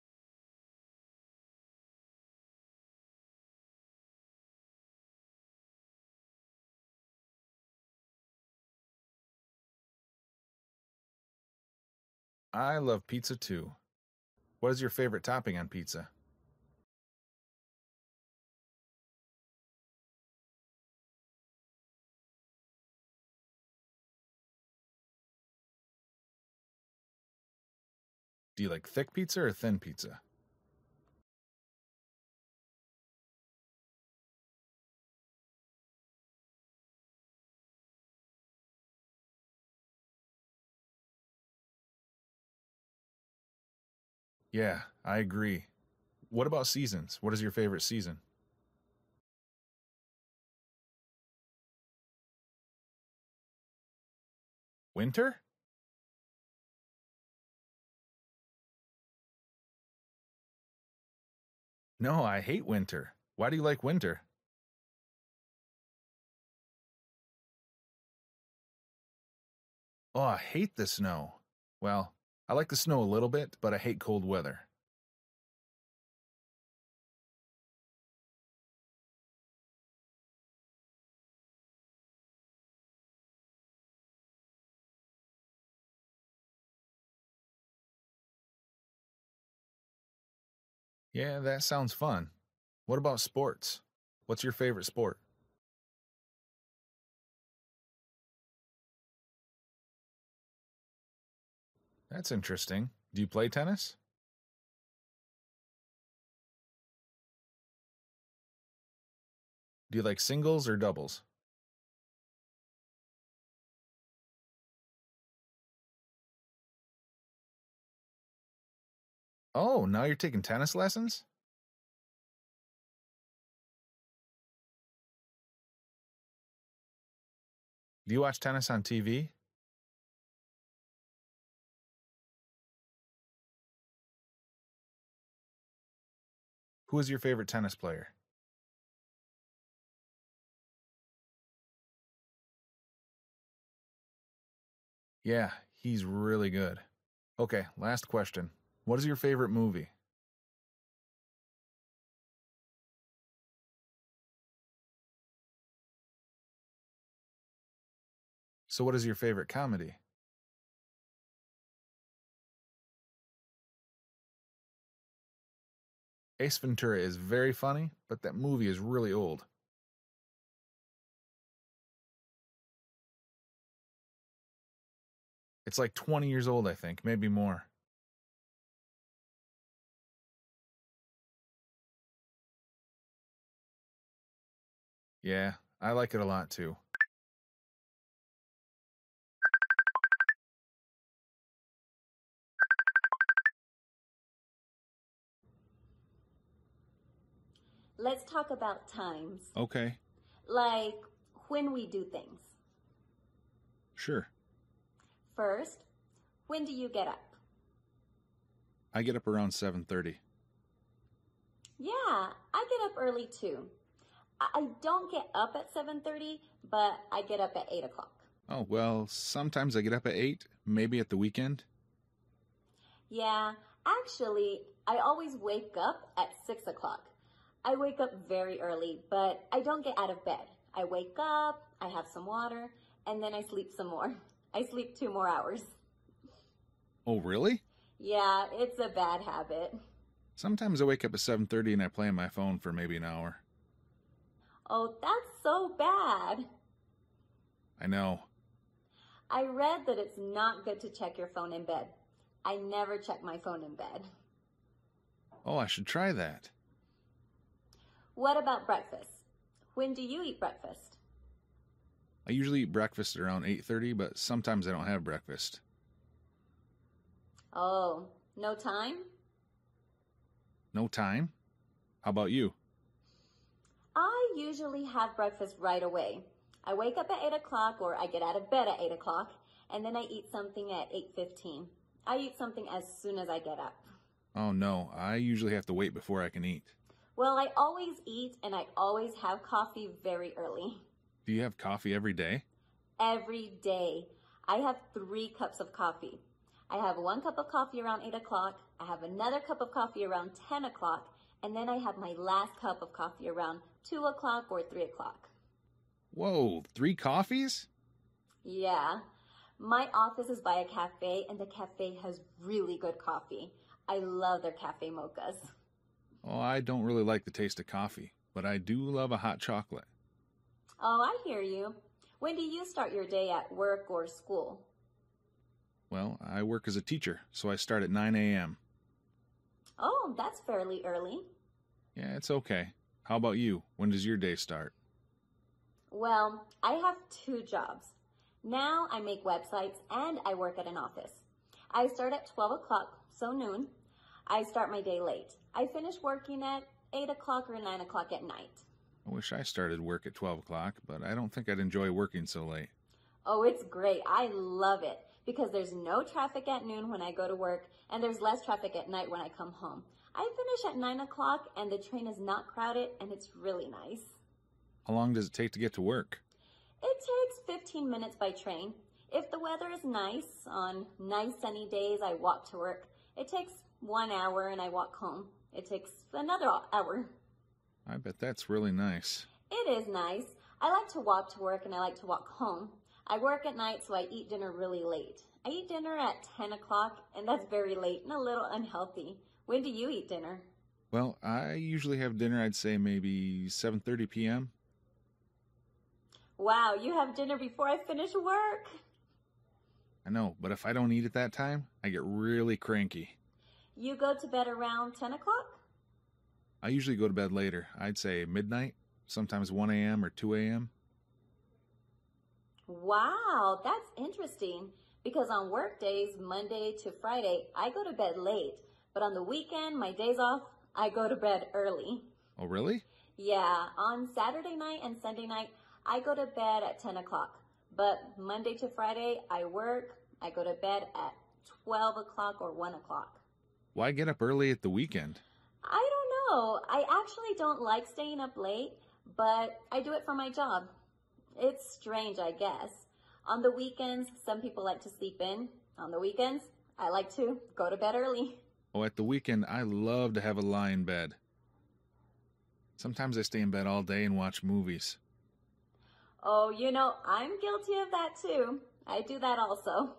I love pizza too. What is your favorite topping on pizza? Do you like thick pizza or thin pizza? Yeah, I agree. What about seasons? What is your favorite season? Winter? No, I hate winter. Why do you like winter? Oh, I hate the snow. Well, I like the snow a little bit, but I hate cold weather. Yeah, that sounds fun. What about sports? What's your favorite sport? That's interesting. Do you play tennis? Do you like singles or doubles? Oh, now you're taking tennis lessons? Do you watch tennis on TV? Who is your favorite tennis player? Yeah, he's really good. Okay, last question. What is your favorite movie? So, what is your favorite comedy? Ace Ventura is very funny, but that movie is really old. It's like 20 years old, I think, maybe more. Yeah, I like it a lot too. Let's talk about times. Okay, Like when we do things. sure. First, when do you get up? I get up around 7:30. Yeah, I get up early too. I don't get up at 7:30, but I get up at 8 o'clock. Oh, well, sometimes I get up at 8, maybe at the weekend. Yeah, actually, I always wake up at 6 o'clock. I wake up very early, but I don't get out of bed. I wake up, I have some water, and then I sleep some more. I sleep 2 more hours. Oh, really? Yeah, it's a bad habit. Sometimes I wake up at 7:30 and I play on my phone for maybe an hour. Oh, that's so bad. I know. I read that it's not good to check your phone in bed. I never check my phone in bed. Oh, I should try that. What about breakfast? When do you eat breakfast? I usually eat breakfast around 8:30, but sometimes I don't have breakfast. Oh, no time? No time? How about you? I usually have breakfast right away. I wake up at 8 o'clock or I get out of bed at 8 o'clock and then I eat something at 8:15. I eat something as soon as I get up. Oh, no, I usually have to wait before I can eat. Well, I always eat and I always have coffee very early. Do you have coffee every day? Every day. I have 3 cups of coffee. I have 1 cup of coffee around 8 o'clock. I have another cup of coffee around 10 o'clock. And then I have my last cup of coffee around 2 o'clock or 3 o'clock. Whoa, 3 coffees? Yeah. My office is by a cafe and the cafe has really good coffee. I love their cafe mochas. Oh, I don't really like the taste of coffee, but I do love a hot chocolate. Oh, I hear you. When do you start your day at work or school? Well, I work as a teacher, so I start at 9 a.m. Oh, that's fairly early. Yeah, it's okay. How about you? When does your day start? Well, I have 2 jobs. Now I make websites and I work at an office. I start at 12 o'clock, so noon. I start my day late. I finish working at 8 o'clock or 9 o'clock at night. I wish I started work at 12 o'clock, but I don't think I'd enjoy working so late. Oh, it's great. I love it because there's no traffic at noon when I go to work and there's less traffic at night when I come home. I finish at 9 o'clock and the train is not crowded and it's really nice. How long does it take to get to work? It takes 15 minutes by train. If the weather is nice, on nice sunny days, I walk to work. It takes 1 hour and I walk home. It takes another hour. I bet that's really nice. It is nice. I like to walk to work and I like to walk home. I work at night, so I eat dinner really late. I eat dinner at 10 o'clock, and that's very late and a little unhealthy. When do you eat dinner? Well, I usually have dinner, I'd say maybe 7:30 p.m. Wow, you have dinner before I finish work. I know, but if I don't eat at that time, I get really cranky. You go to bed around 10 o'clock? I usually go to bed later. I'd say midnight, sometimes 1 a.m. or 2 a.m. Wow, that's interesting. Because on work days, Monday to Friday, I go to bed late. But on the weekend, my days off, I go to bed early. Oh, really? Yeah, on Saturday night and Sunday night, I go to bed at 10 o'clock. But Monday to Friday, I work. I go to bed at 12 o'clock or 1 o'clock. Why get up early at the weekend? I don't know. I actually don't like staying up late, but I do it for my job. It's strange, I guess. On the weekends, some people like to sleep in. On the weekends, I like to go to bed early. Oh, at the weekend, I love to have a lie in bed. Sometimes I stay in bed all day and watch movies. Oh, I'm guilty of that too. I do that also.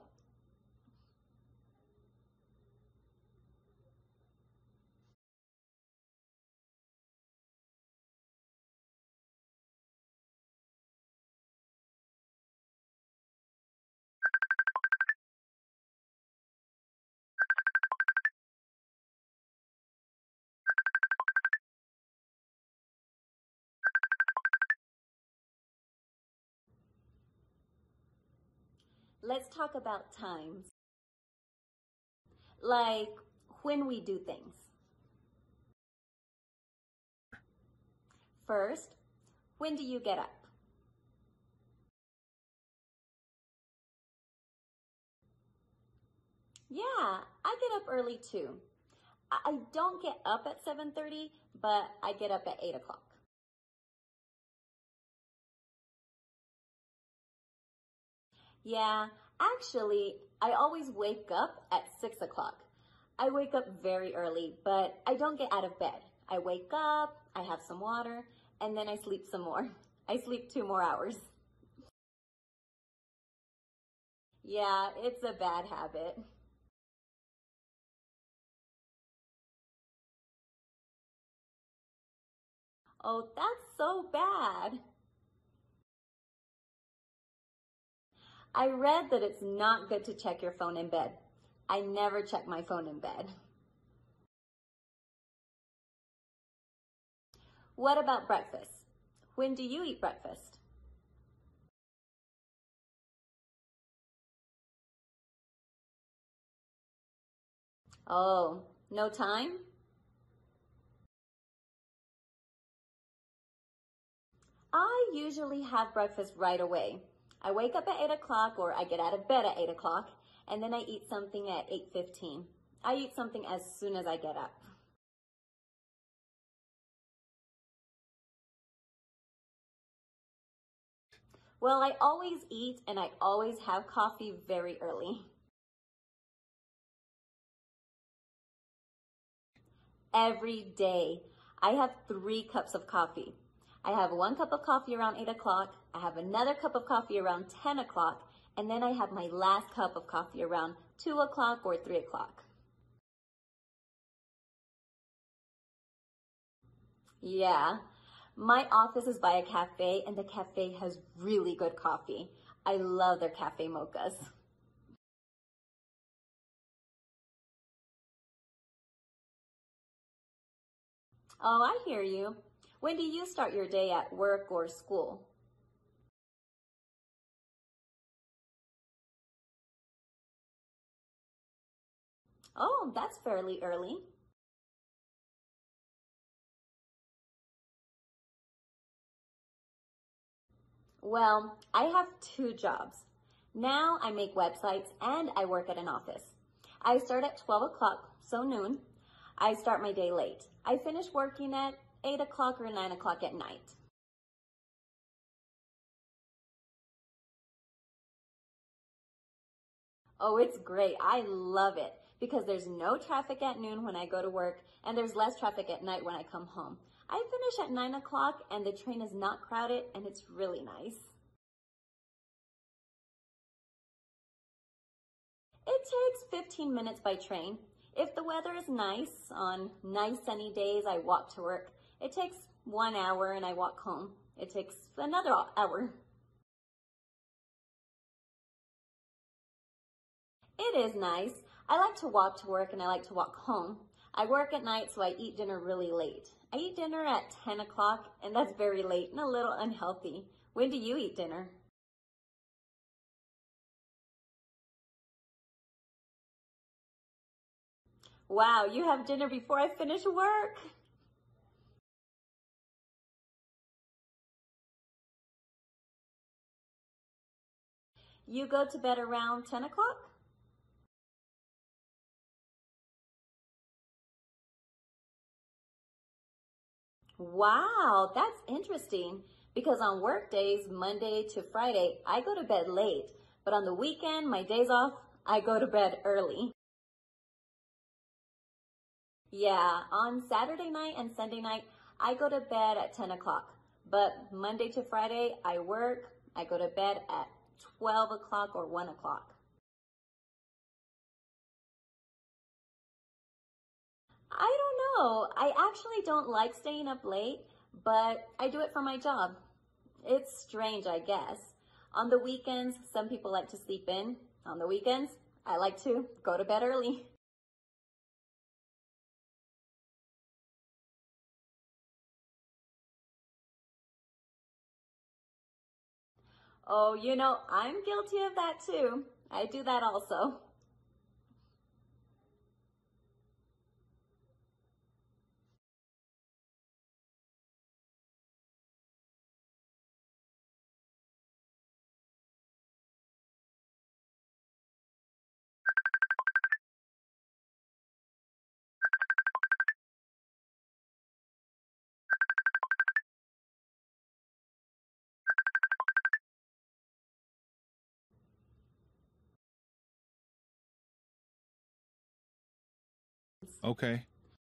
Let's talk about times. Like when we do things. First, when do you get up? Yeah, I get up early too. I don't get up at 7:30, but I get up at 8 o'clock. Yeah, actually, I always wake up at 6 o'clock. I wake up very early, but I don't get out of bed. I wake up, I have some water, and then I sleep some more. I sleep 2 more hours. Yeah, it's a bad habit. Oh, that's so bad. I read that it's not good to check your phone in bed. I never check my phone in bed. What about breakfast? When do you eat breakfast? Oh, no time? I usually have breakfast right away. I wake up at 8 o'clock or I get out of bed at 8 o'clock and then I eat something at 8:15. I eat something as soon as I get up. Well, I always eat and I always have coffee very early. Every day. I have 3 cups of coffee. I have 1 cup of coffee around 8 o'clock. I have another cup of coffee around 10 o'clock. And then I have my last cup of coffee around 2 o'clock or 3 o'clock. Yeah. My office is by a cafe and the cafe has really good coffee. I love their cafe mochas. Oh, I hear you. When do you start your day at work or school? Oh, that's fairly early. Well, I have 2 jobs. Now I make websites and I work at an office. I start at 12 o'clock, so noon. I start my day late. I finish working at 8 o'clock or 9 o'clock at night. Oh, it's great. I love it because there's no traffic at noon when I go to work and there's less traffic at night when I come home. I finish at 9 o'clock and the train is not crowded and it's really nice. It takes 15 minutes by train. If the weather is nice, on nice sunny days, I walk to work. It takes 1 hour and I walk home. It takes another hour. It is nice. I like to walk to work and I like to walk home. I work at night, so I eat dinner really late. I eat dinner at 10 o'clock, and that's very late and a little unhealthy. When do you eat dinner? Wow, you have dinner before I finish work. You go to bed around 10 o'clock? Wow, that's interesting because on work days, Monday to Friday, I go to bed late, but on the weekend, my days off, I go to bed early. Yeah, on Saturday night and Sunday night, I go to bed at 10 o'clock, but Monday to Friday, I work, I go to bed at 12 o'clock or 1 o'clock. I don't know. I actually don't like staying up late, but I do it for my job. It's strange, I guess. On the weekends, some people like to sleep in. On the weekends, I like to go to bed early. Oh, I'm guilty of that too. I do that also. Okay.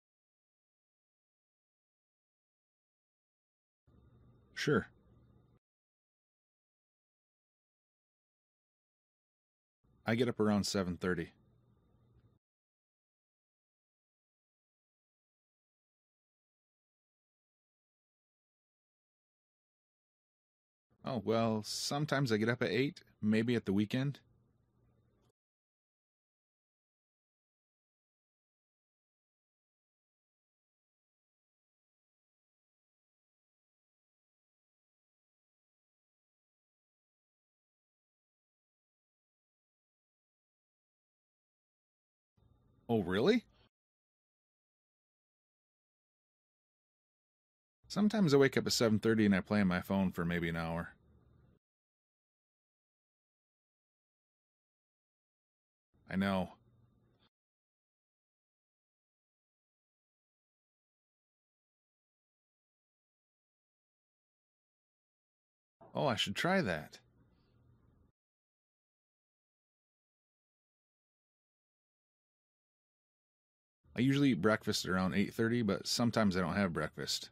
Sure. I get up around 7:30. Oh, well, sometimes I get up at 8, maybe at the weekend. Oh, really? Sometimes I wake up at 7:30 and I play on my phone for maybe an hour. I know. Oh, I should try that. I usually eat breakfast at around 8:30, but sometimes I don't have breakfast.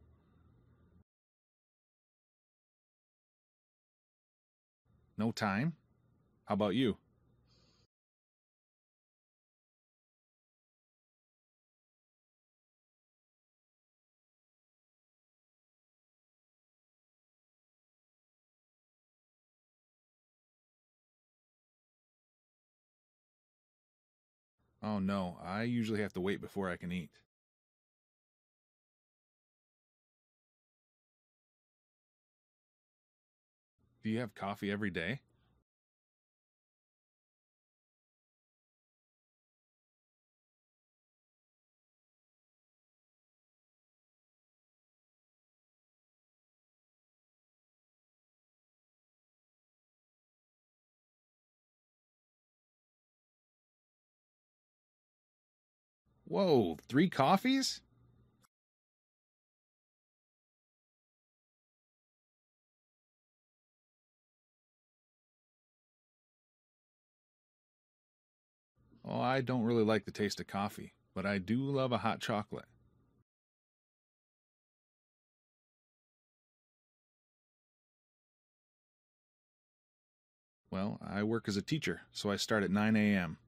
No time? How about you? Oh no, I usually have to wait before I can eat. Do you have coffee every day? Whoa, 3 coffees? Oh, I don't really like the taste of coffee, but I do love a hot chocolate. Well, I work as a teacher, so I start at 9 a.m.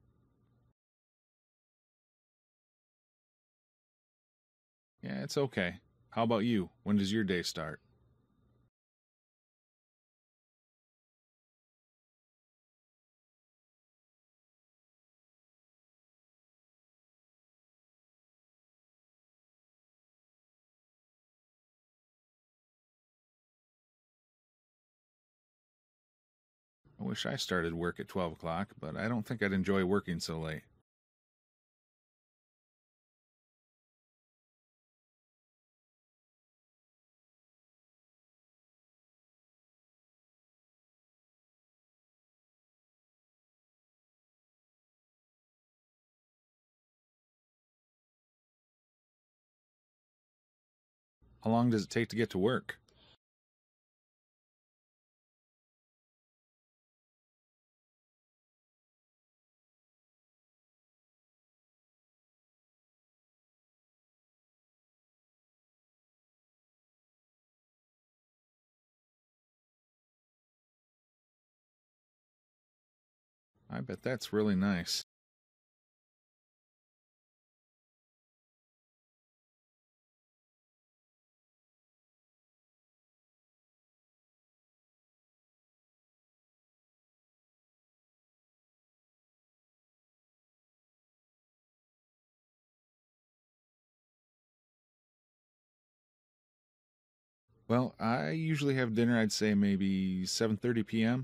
Yeah, it's okay. How about you? When does your day start? I wish I started work at 12 o'clock, but I don't think I'd enjoy working so late. How long does it take to get to work? I bet that's really nice. Well, I usually have dinner, I'd say maybe 7:30 p.m.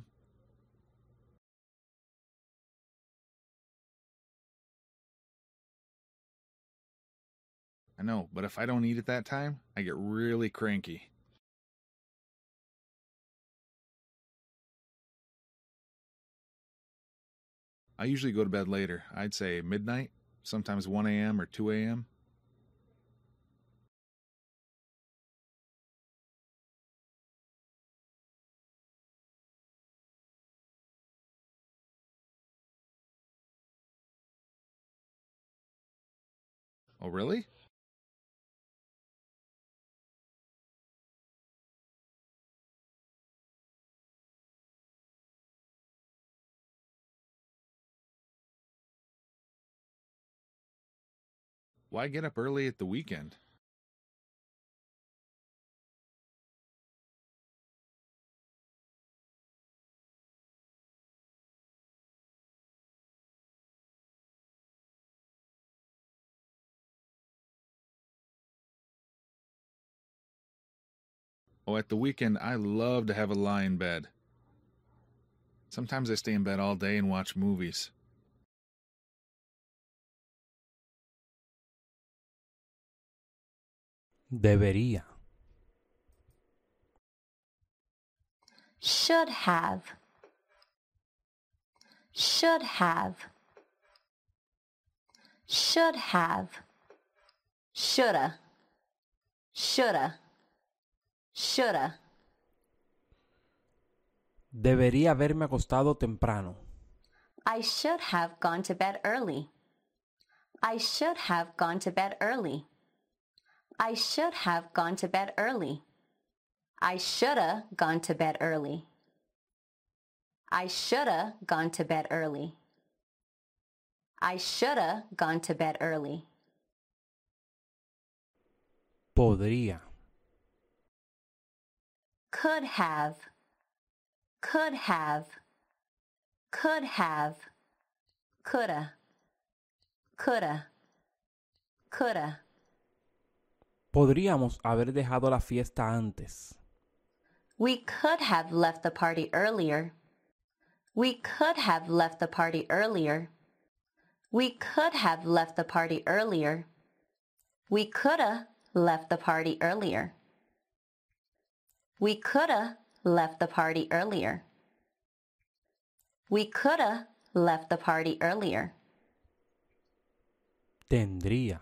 I know, but if I don't eat at that time, I get really cranky. I usually go to bed later. I'd say midnight, sometimes 1 a.m. or 2 a.m. Oh, really? Why get up early at the weekend? Oh, at the weekend, I love to have a lie in bed. Sometimes I stay in bed all day and watch movies. Debería. Should have. Should have. Should have. Shoulda. Shoulda. Shoulda. Debería haberme acostado temprano. I should have gone to bed early. I should have gone to bed early. I should have gone to bed early. I shoulda gone to bed early. I shoulda gone to bed early. I shoulda gone to bed early. Podría. Could have. Could have. Could have. Coulda. Coulda. Coulda. Podríamos haber dejado la fiesta antes. We could have left the party earlier. We could have left the party earlier. We could have left the party earlier. We coulda left the party earlier. We coulda left the party earlier. We coulda left the party earlier. Tendría.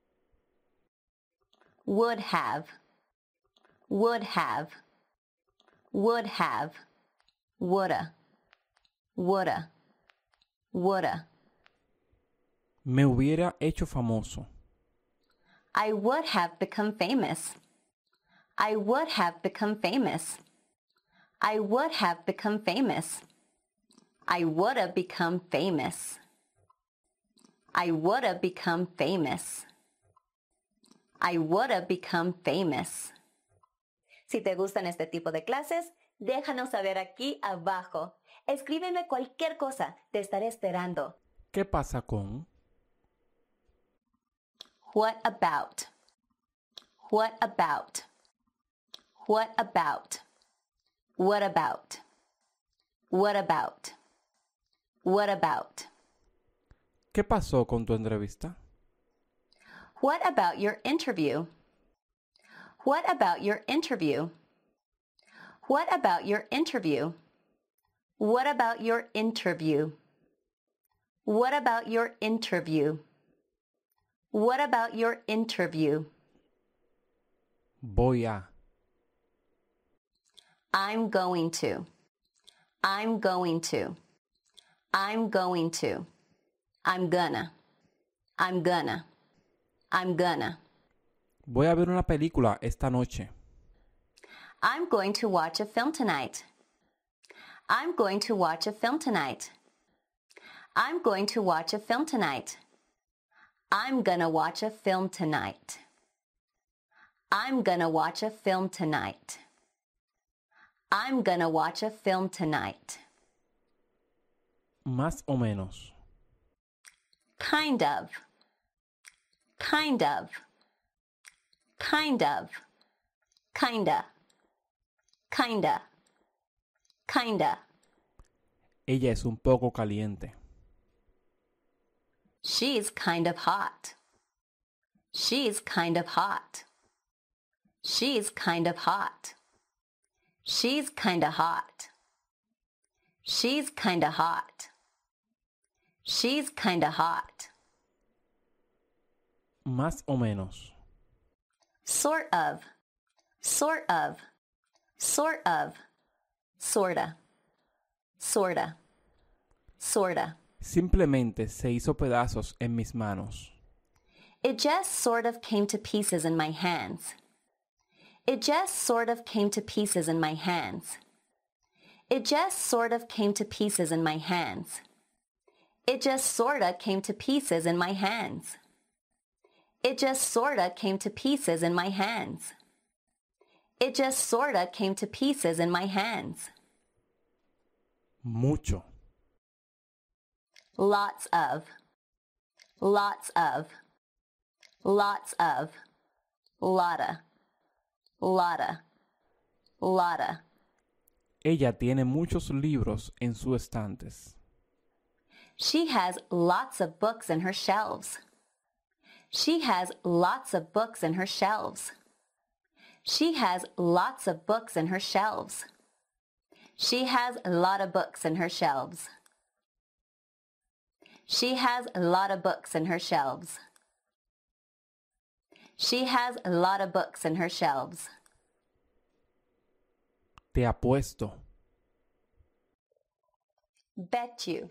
Would have. Would have. Would have. Woulda. Woulda. Woulda. Me hubiera hecho famoso. I would have become famous. I would have become famous. I would have become famous. I woulda become famous. I woulda become famous. I woulda become famous. Si te gustan este tipo de clases, déjanos saber aquí abajo. Escríbeme cualquier cosa, te estaré esperando. ¿Qué pasa con? What about? What about? What about? What about? What about? What about? ¿Qué pasó con tu entrevista? What about your interview? What about your interview? What about your interview? What about your interview? What about your interview? What about your interview? Voy a. I'm going to. I'm going to. I'm going to. I'm gonna. I'm gonna. I'm gonna. Voy a ver una película esta noche. I'm going to watch a film tonight. I'm going to watch a film tonight. I'm going to watch a film tonight. I'm gonna watch a film tonight. I'm gonna watch a film tonight. I'm gonna watch a film tonight. Más o menos. Kind of. Kind of. Kind of. Kinda. Kinda. Kinda. Ella es un poco caliente. She's kind of hot. She's kind of hot. She's kind of hot. She's kind of hot. She's kind of hot. She's kind of hot. Más o menos. Sort of. Sort of. Sort of. Sorta. Sorta. Sorta. Simplemente se hizo pedazos en mis manos. It just sort of came to pieces in my hands. It just sort of came to pieces in my hands. It just sort of came to pieces in my hands. It just sorta came to pieces in my hands. It just sorta came to pieces in my hands. It just sorta came to pieces in my hands. Mucho. Lots of. Lots of. Lots of. Lotta. Lotta. Lotta. Ella tiene muchos libros en sus estantes. She has lots of books in her shelves. She has lots of books in her shelves. She has lots of books in her shelves. She has a lot of books in her shelves. She has a lot of books in her shelves. She has a lot of books in her shelves. Te apuesto. Bet you.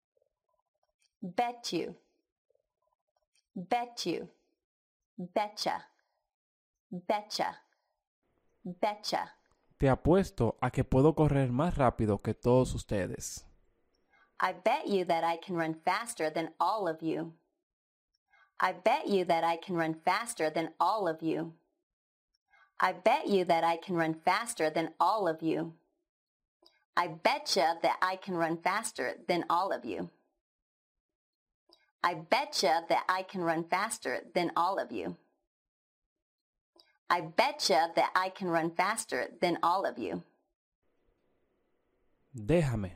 Bet you. Bet you. Betcha. Betcha. Betcha. Te apuesto a que puedo correr más rápido que todos ustedes. I bet you that I can run faster than all of you. I bet you that I can run faster than all of you. I bet you that I can run faster than all of you. I betcha that I can run faster than all of you. I betcha that I can run faster than all of you. I betcha that I can run faster than all of you. Déjame.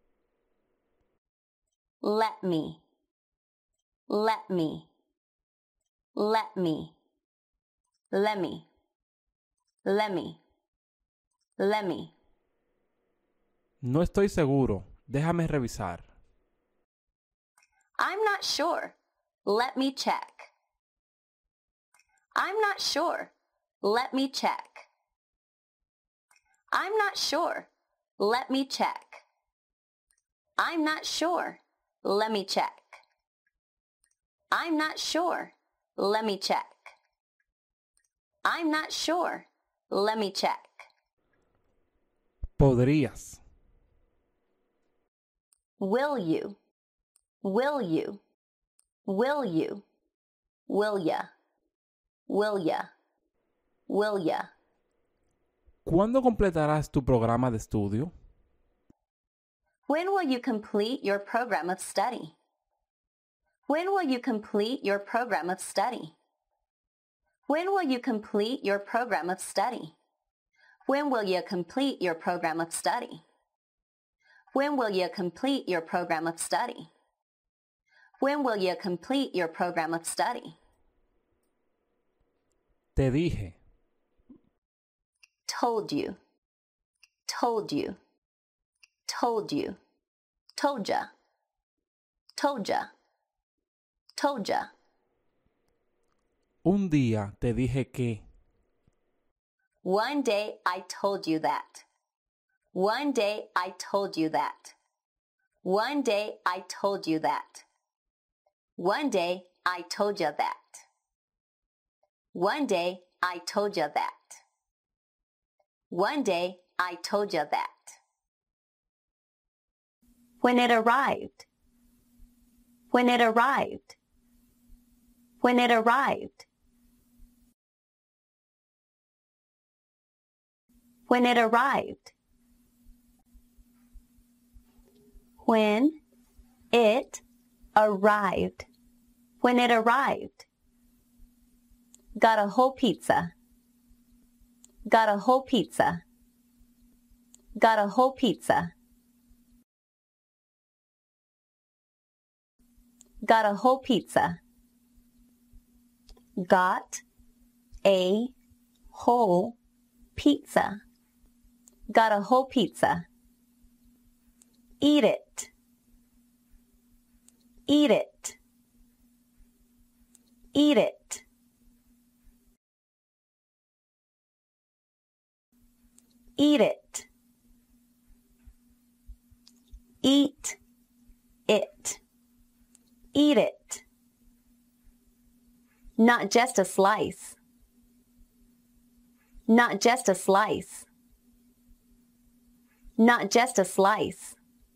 Let me. Let me. Let me. Let me. Let me. Let me. No estoy seguro. Déjame revisar. I'm not sure. Let me check. I'm not sure. Let me check. I'm not sure. Let me check. I'm not sure. Let me check. I'm not sure. Let me check. I'm not sure. Let me check. Podrías. Will you? Will you? Will you? Will ya? Will ya? Will ya? ¿Cuándo completarás tu programa de estudio? When will you complete your program of study? When will you complete your program of study? When will you complete your program of study? When will you complete your program of study? When will you complete your program of study? When will you complete your program of study? Te dije. Told you. Told you. Told you. Told ya. Told ya. Told ya. Un día te dije que. One day I told you that. One day I told you that. One day I told you that. One day I told you that. One day I told you that. One day I told you that. When it arrived. When it arrived. When it arrived. When it arrived. When it arrived. When it arrived. Got a whole pizza. Got a whole pizza. Got a whole pizza. Got a whole pizza. Got a whole pizza. Got a whole pizza. Eat it. Eat it. Eat it. Eat it. Eat it. Eat it. Not just a slice. Not just a slice. Not just a slice.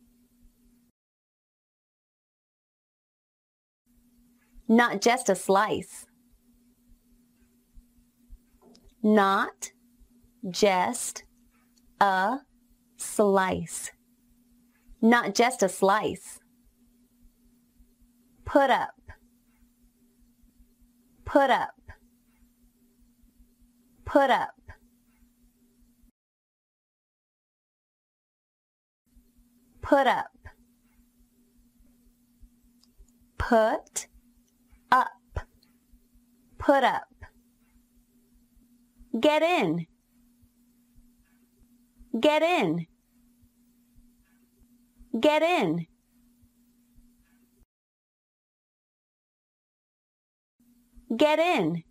Not just a slice. Not just a slice. Not just a slice. Put up. Put up. Put up. Put up. Put up. Put up. Get in. Get in. Get in. Get in.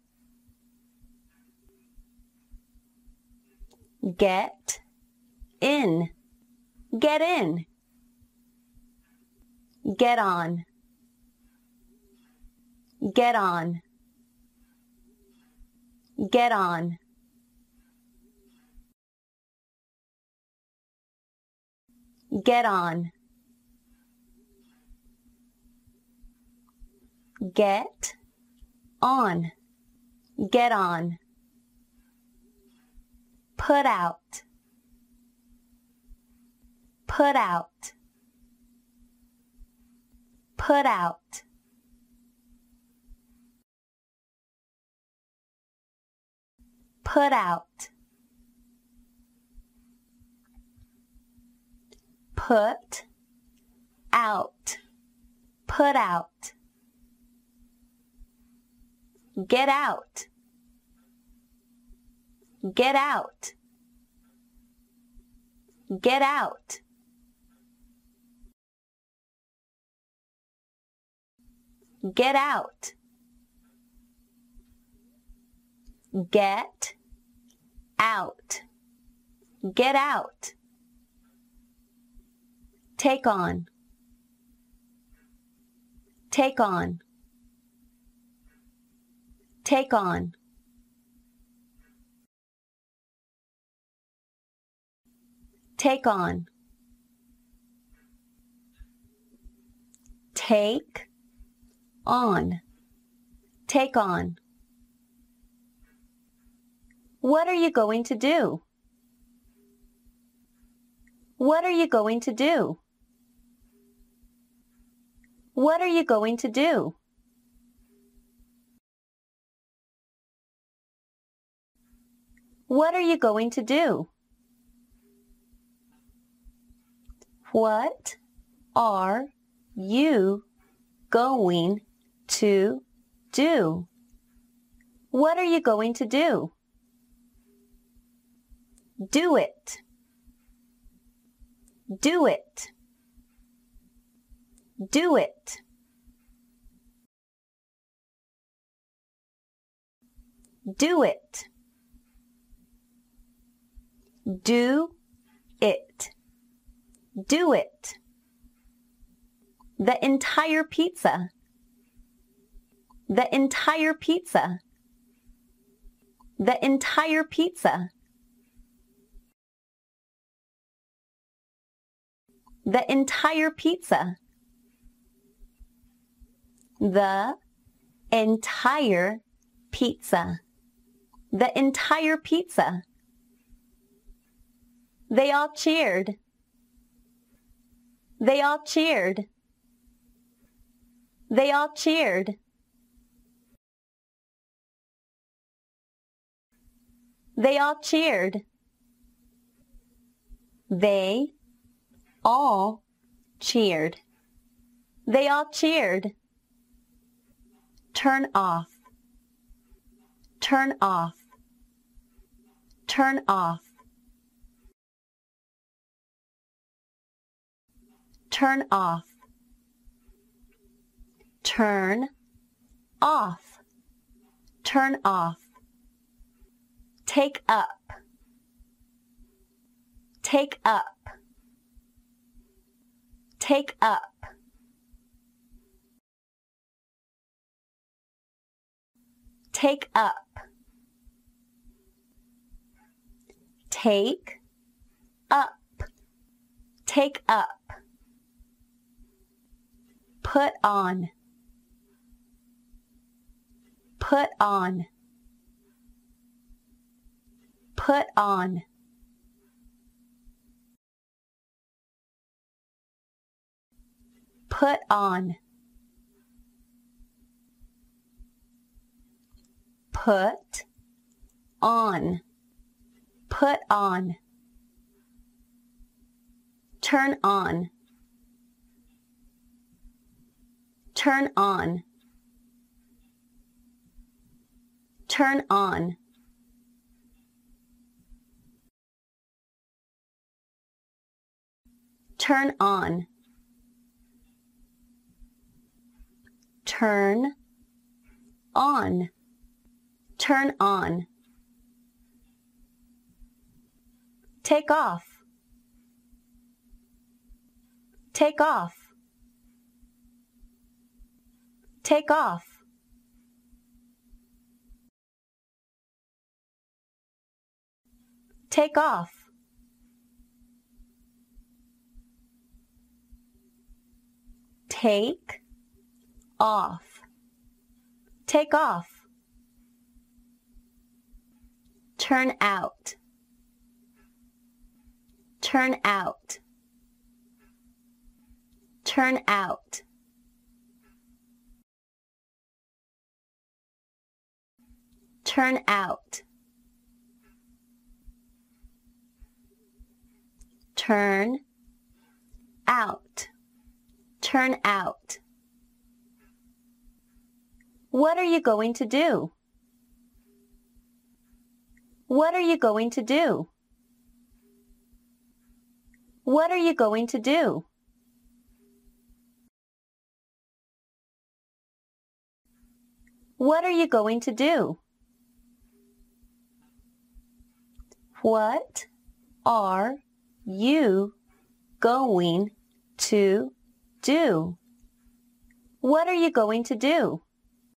Get in. Get in. Get on. Get on. Get on. Get on. Get on. Get on. Put out. Put out. Put out. Put out. Put out. Put out. Get out. Get out. Get out. Get out. Get out. Get out. Take on. Take on. Take on. Take on. Take on. Take on. What are you going to do? What are you going to do? What are you going to do? What are you going to do? What are you going to do? What are you going to do? Do it. Do it. Do it. Do it. Do it. Do it. The entire pizza. The entire pizza. The entire pizza. The entire pizza. The entire pizza. The entire pizza. They all cheered. They all cheered. They all cheered. They all cheered. They all cheered. They all cheered. Turn off. Turn off. Turn off. Turn off. Turn off. Turn off. Take up. Take up. Take up. Take up. Take up. Take up. Put on. Put on. Put on. Put on. Put on. Put on. Turn on. Turn on. Turn on. Turn on. Turn on. Turn on. Take off. Take off. Take off. Take off. Take off. Take off. Turn out. Turn out. Turn out. Turn out. Turn out. Turn out. What are you going to do? What are you going to do? What are you going to do? What are you going to do? What are you going to do? What are you going to do?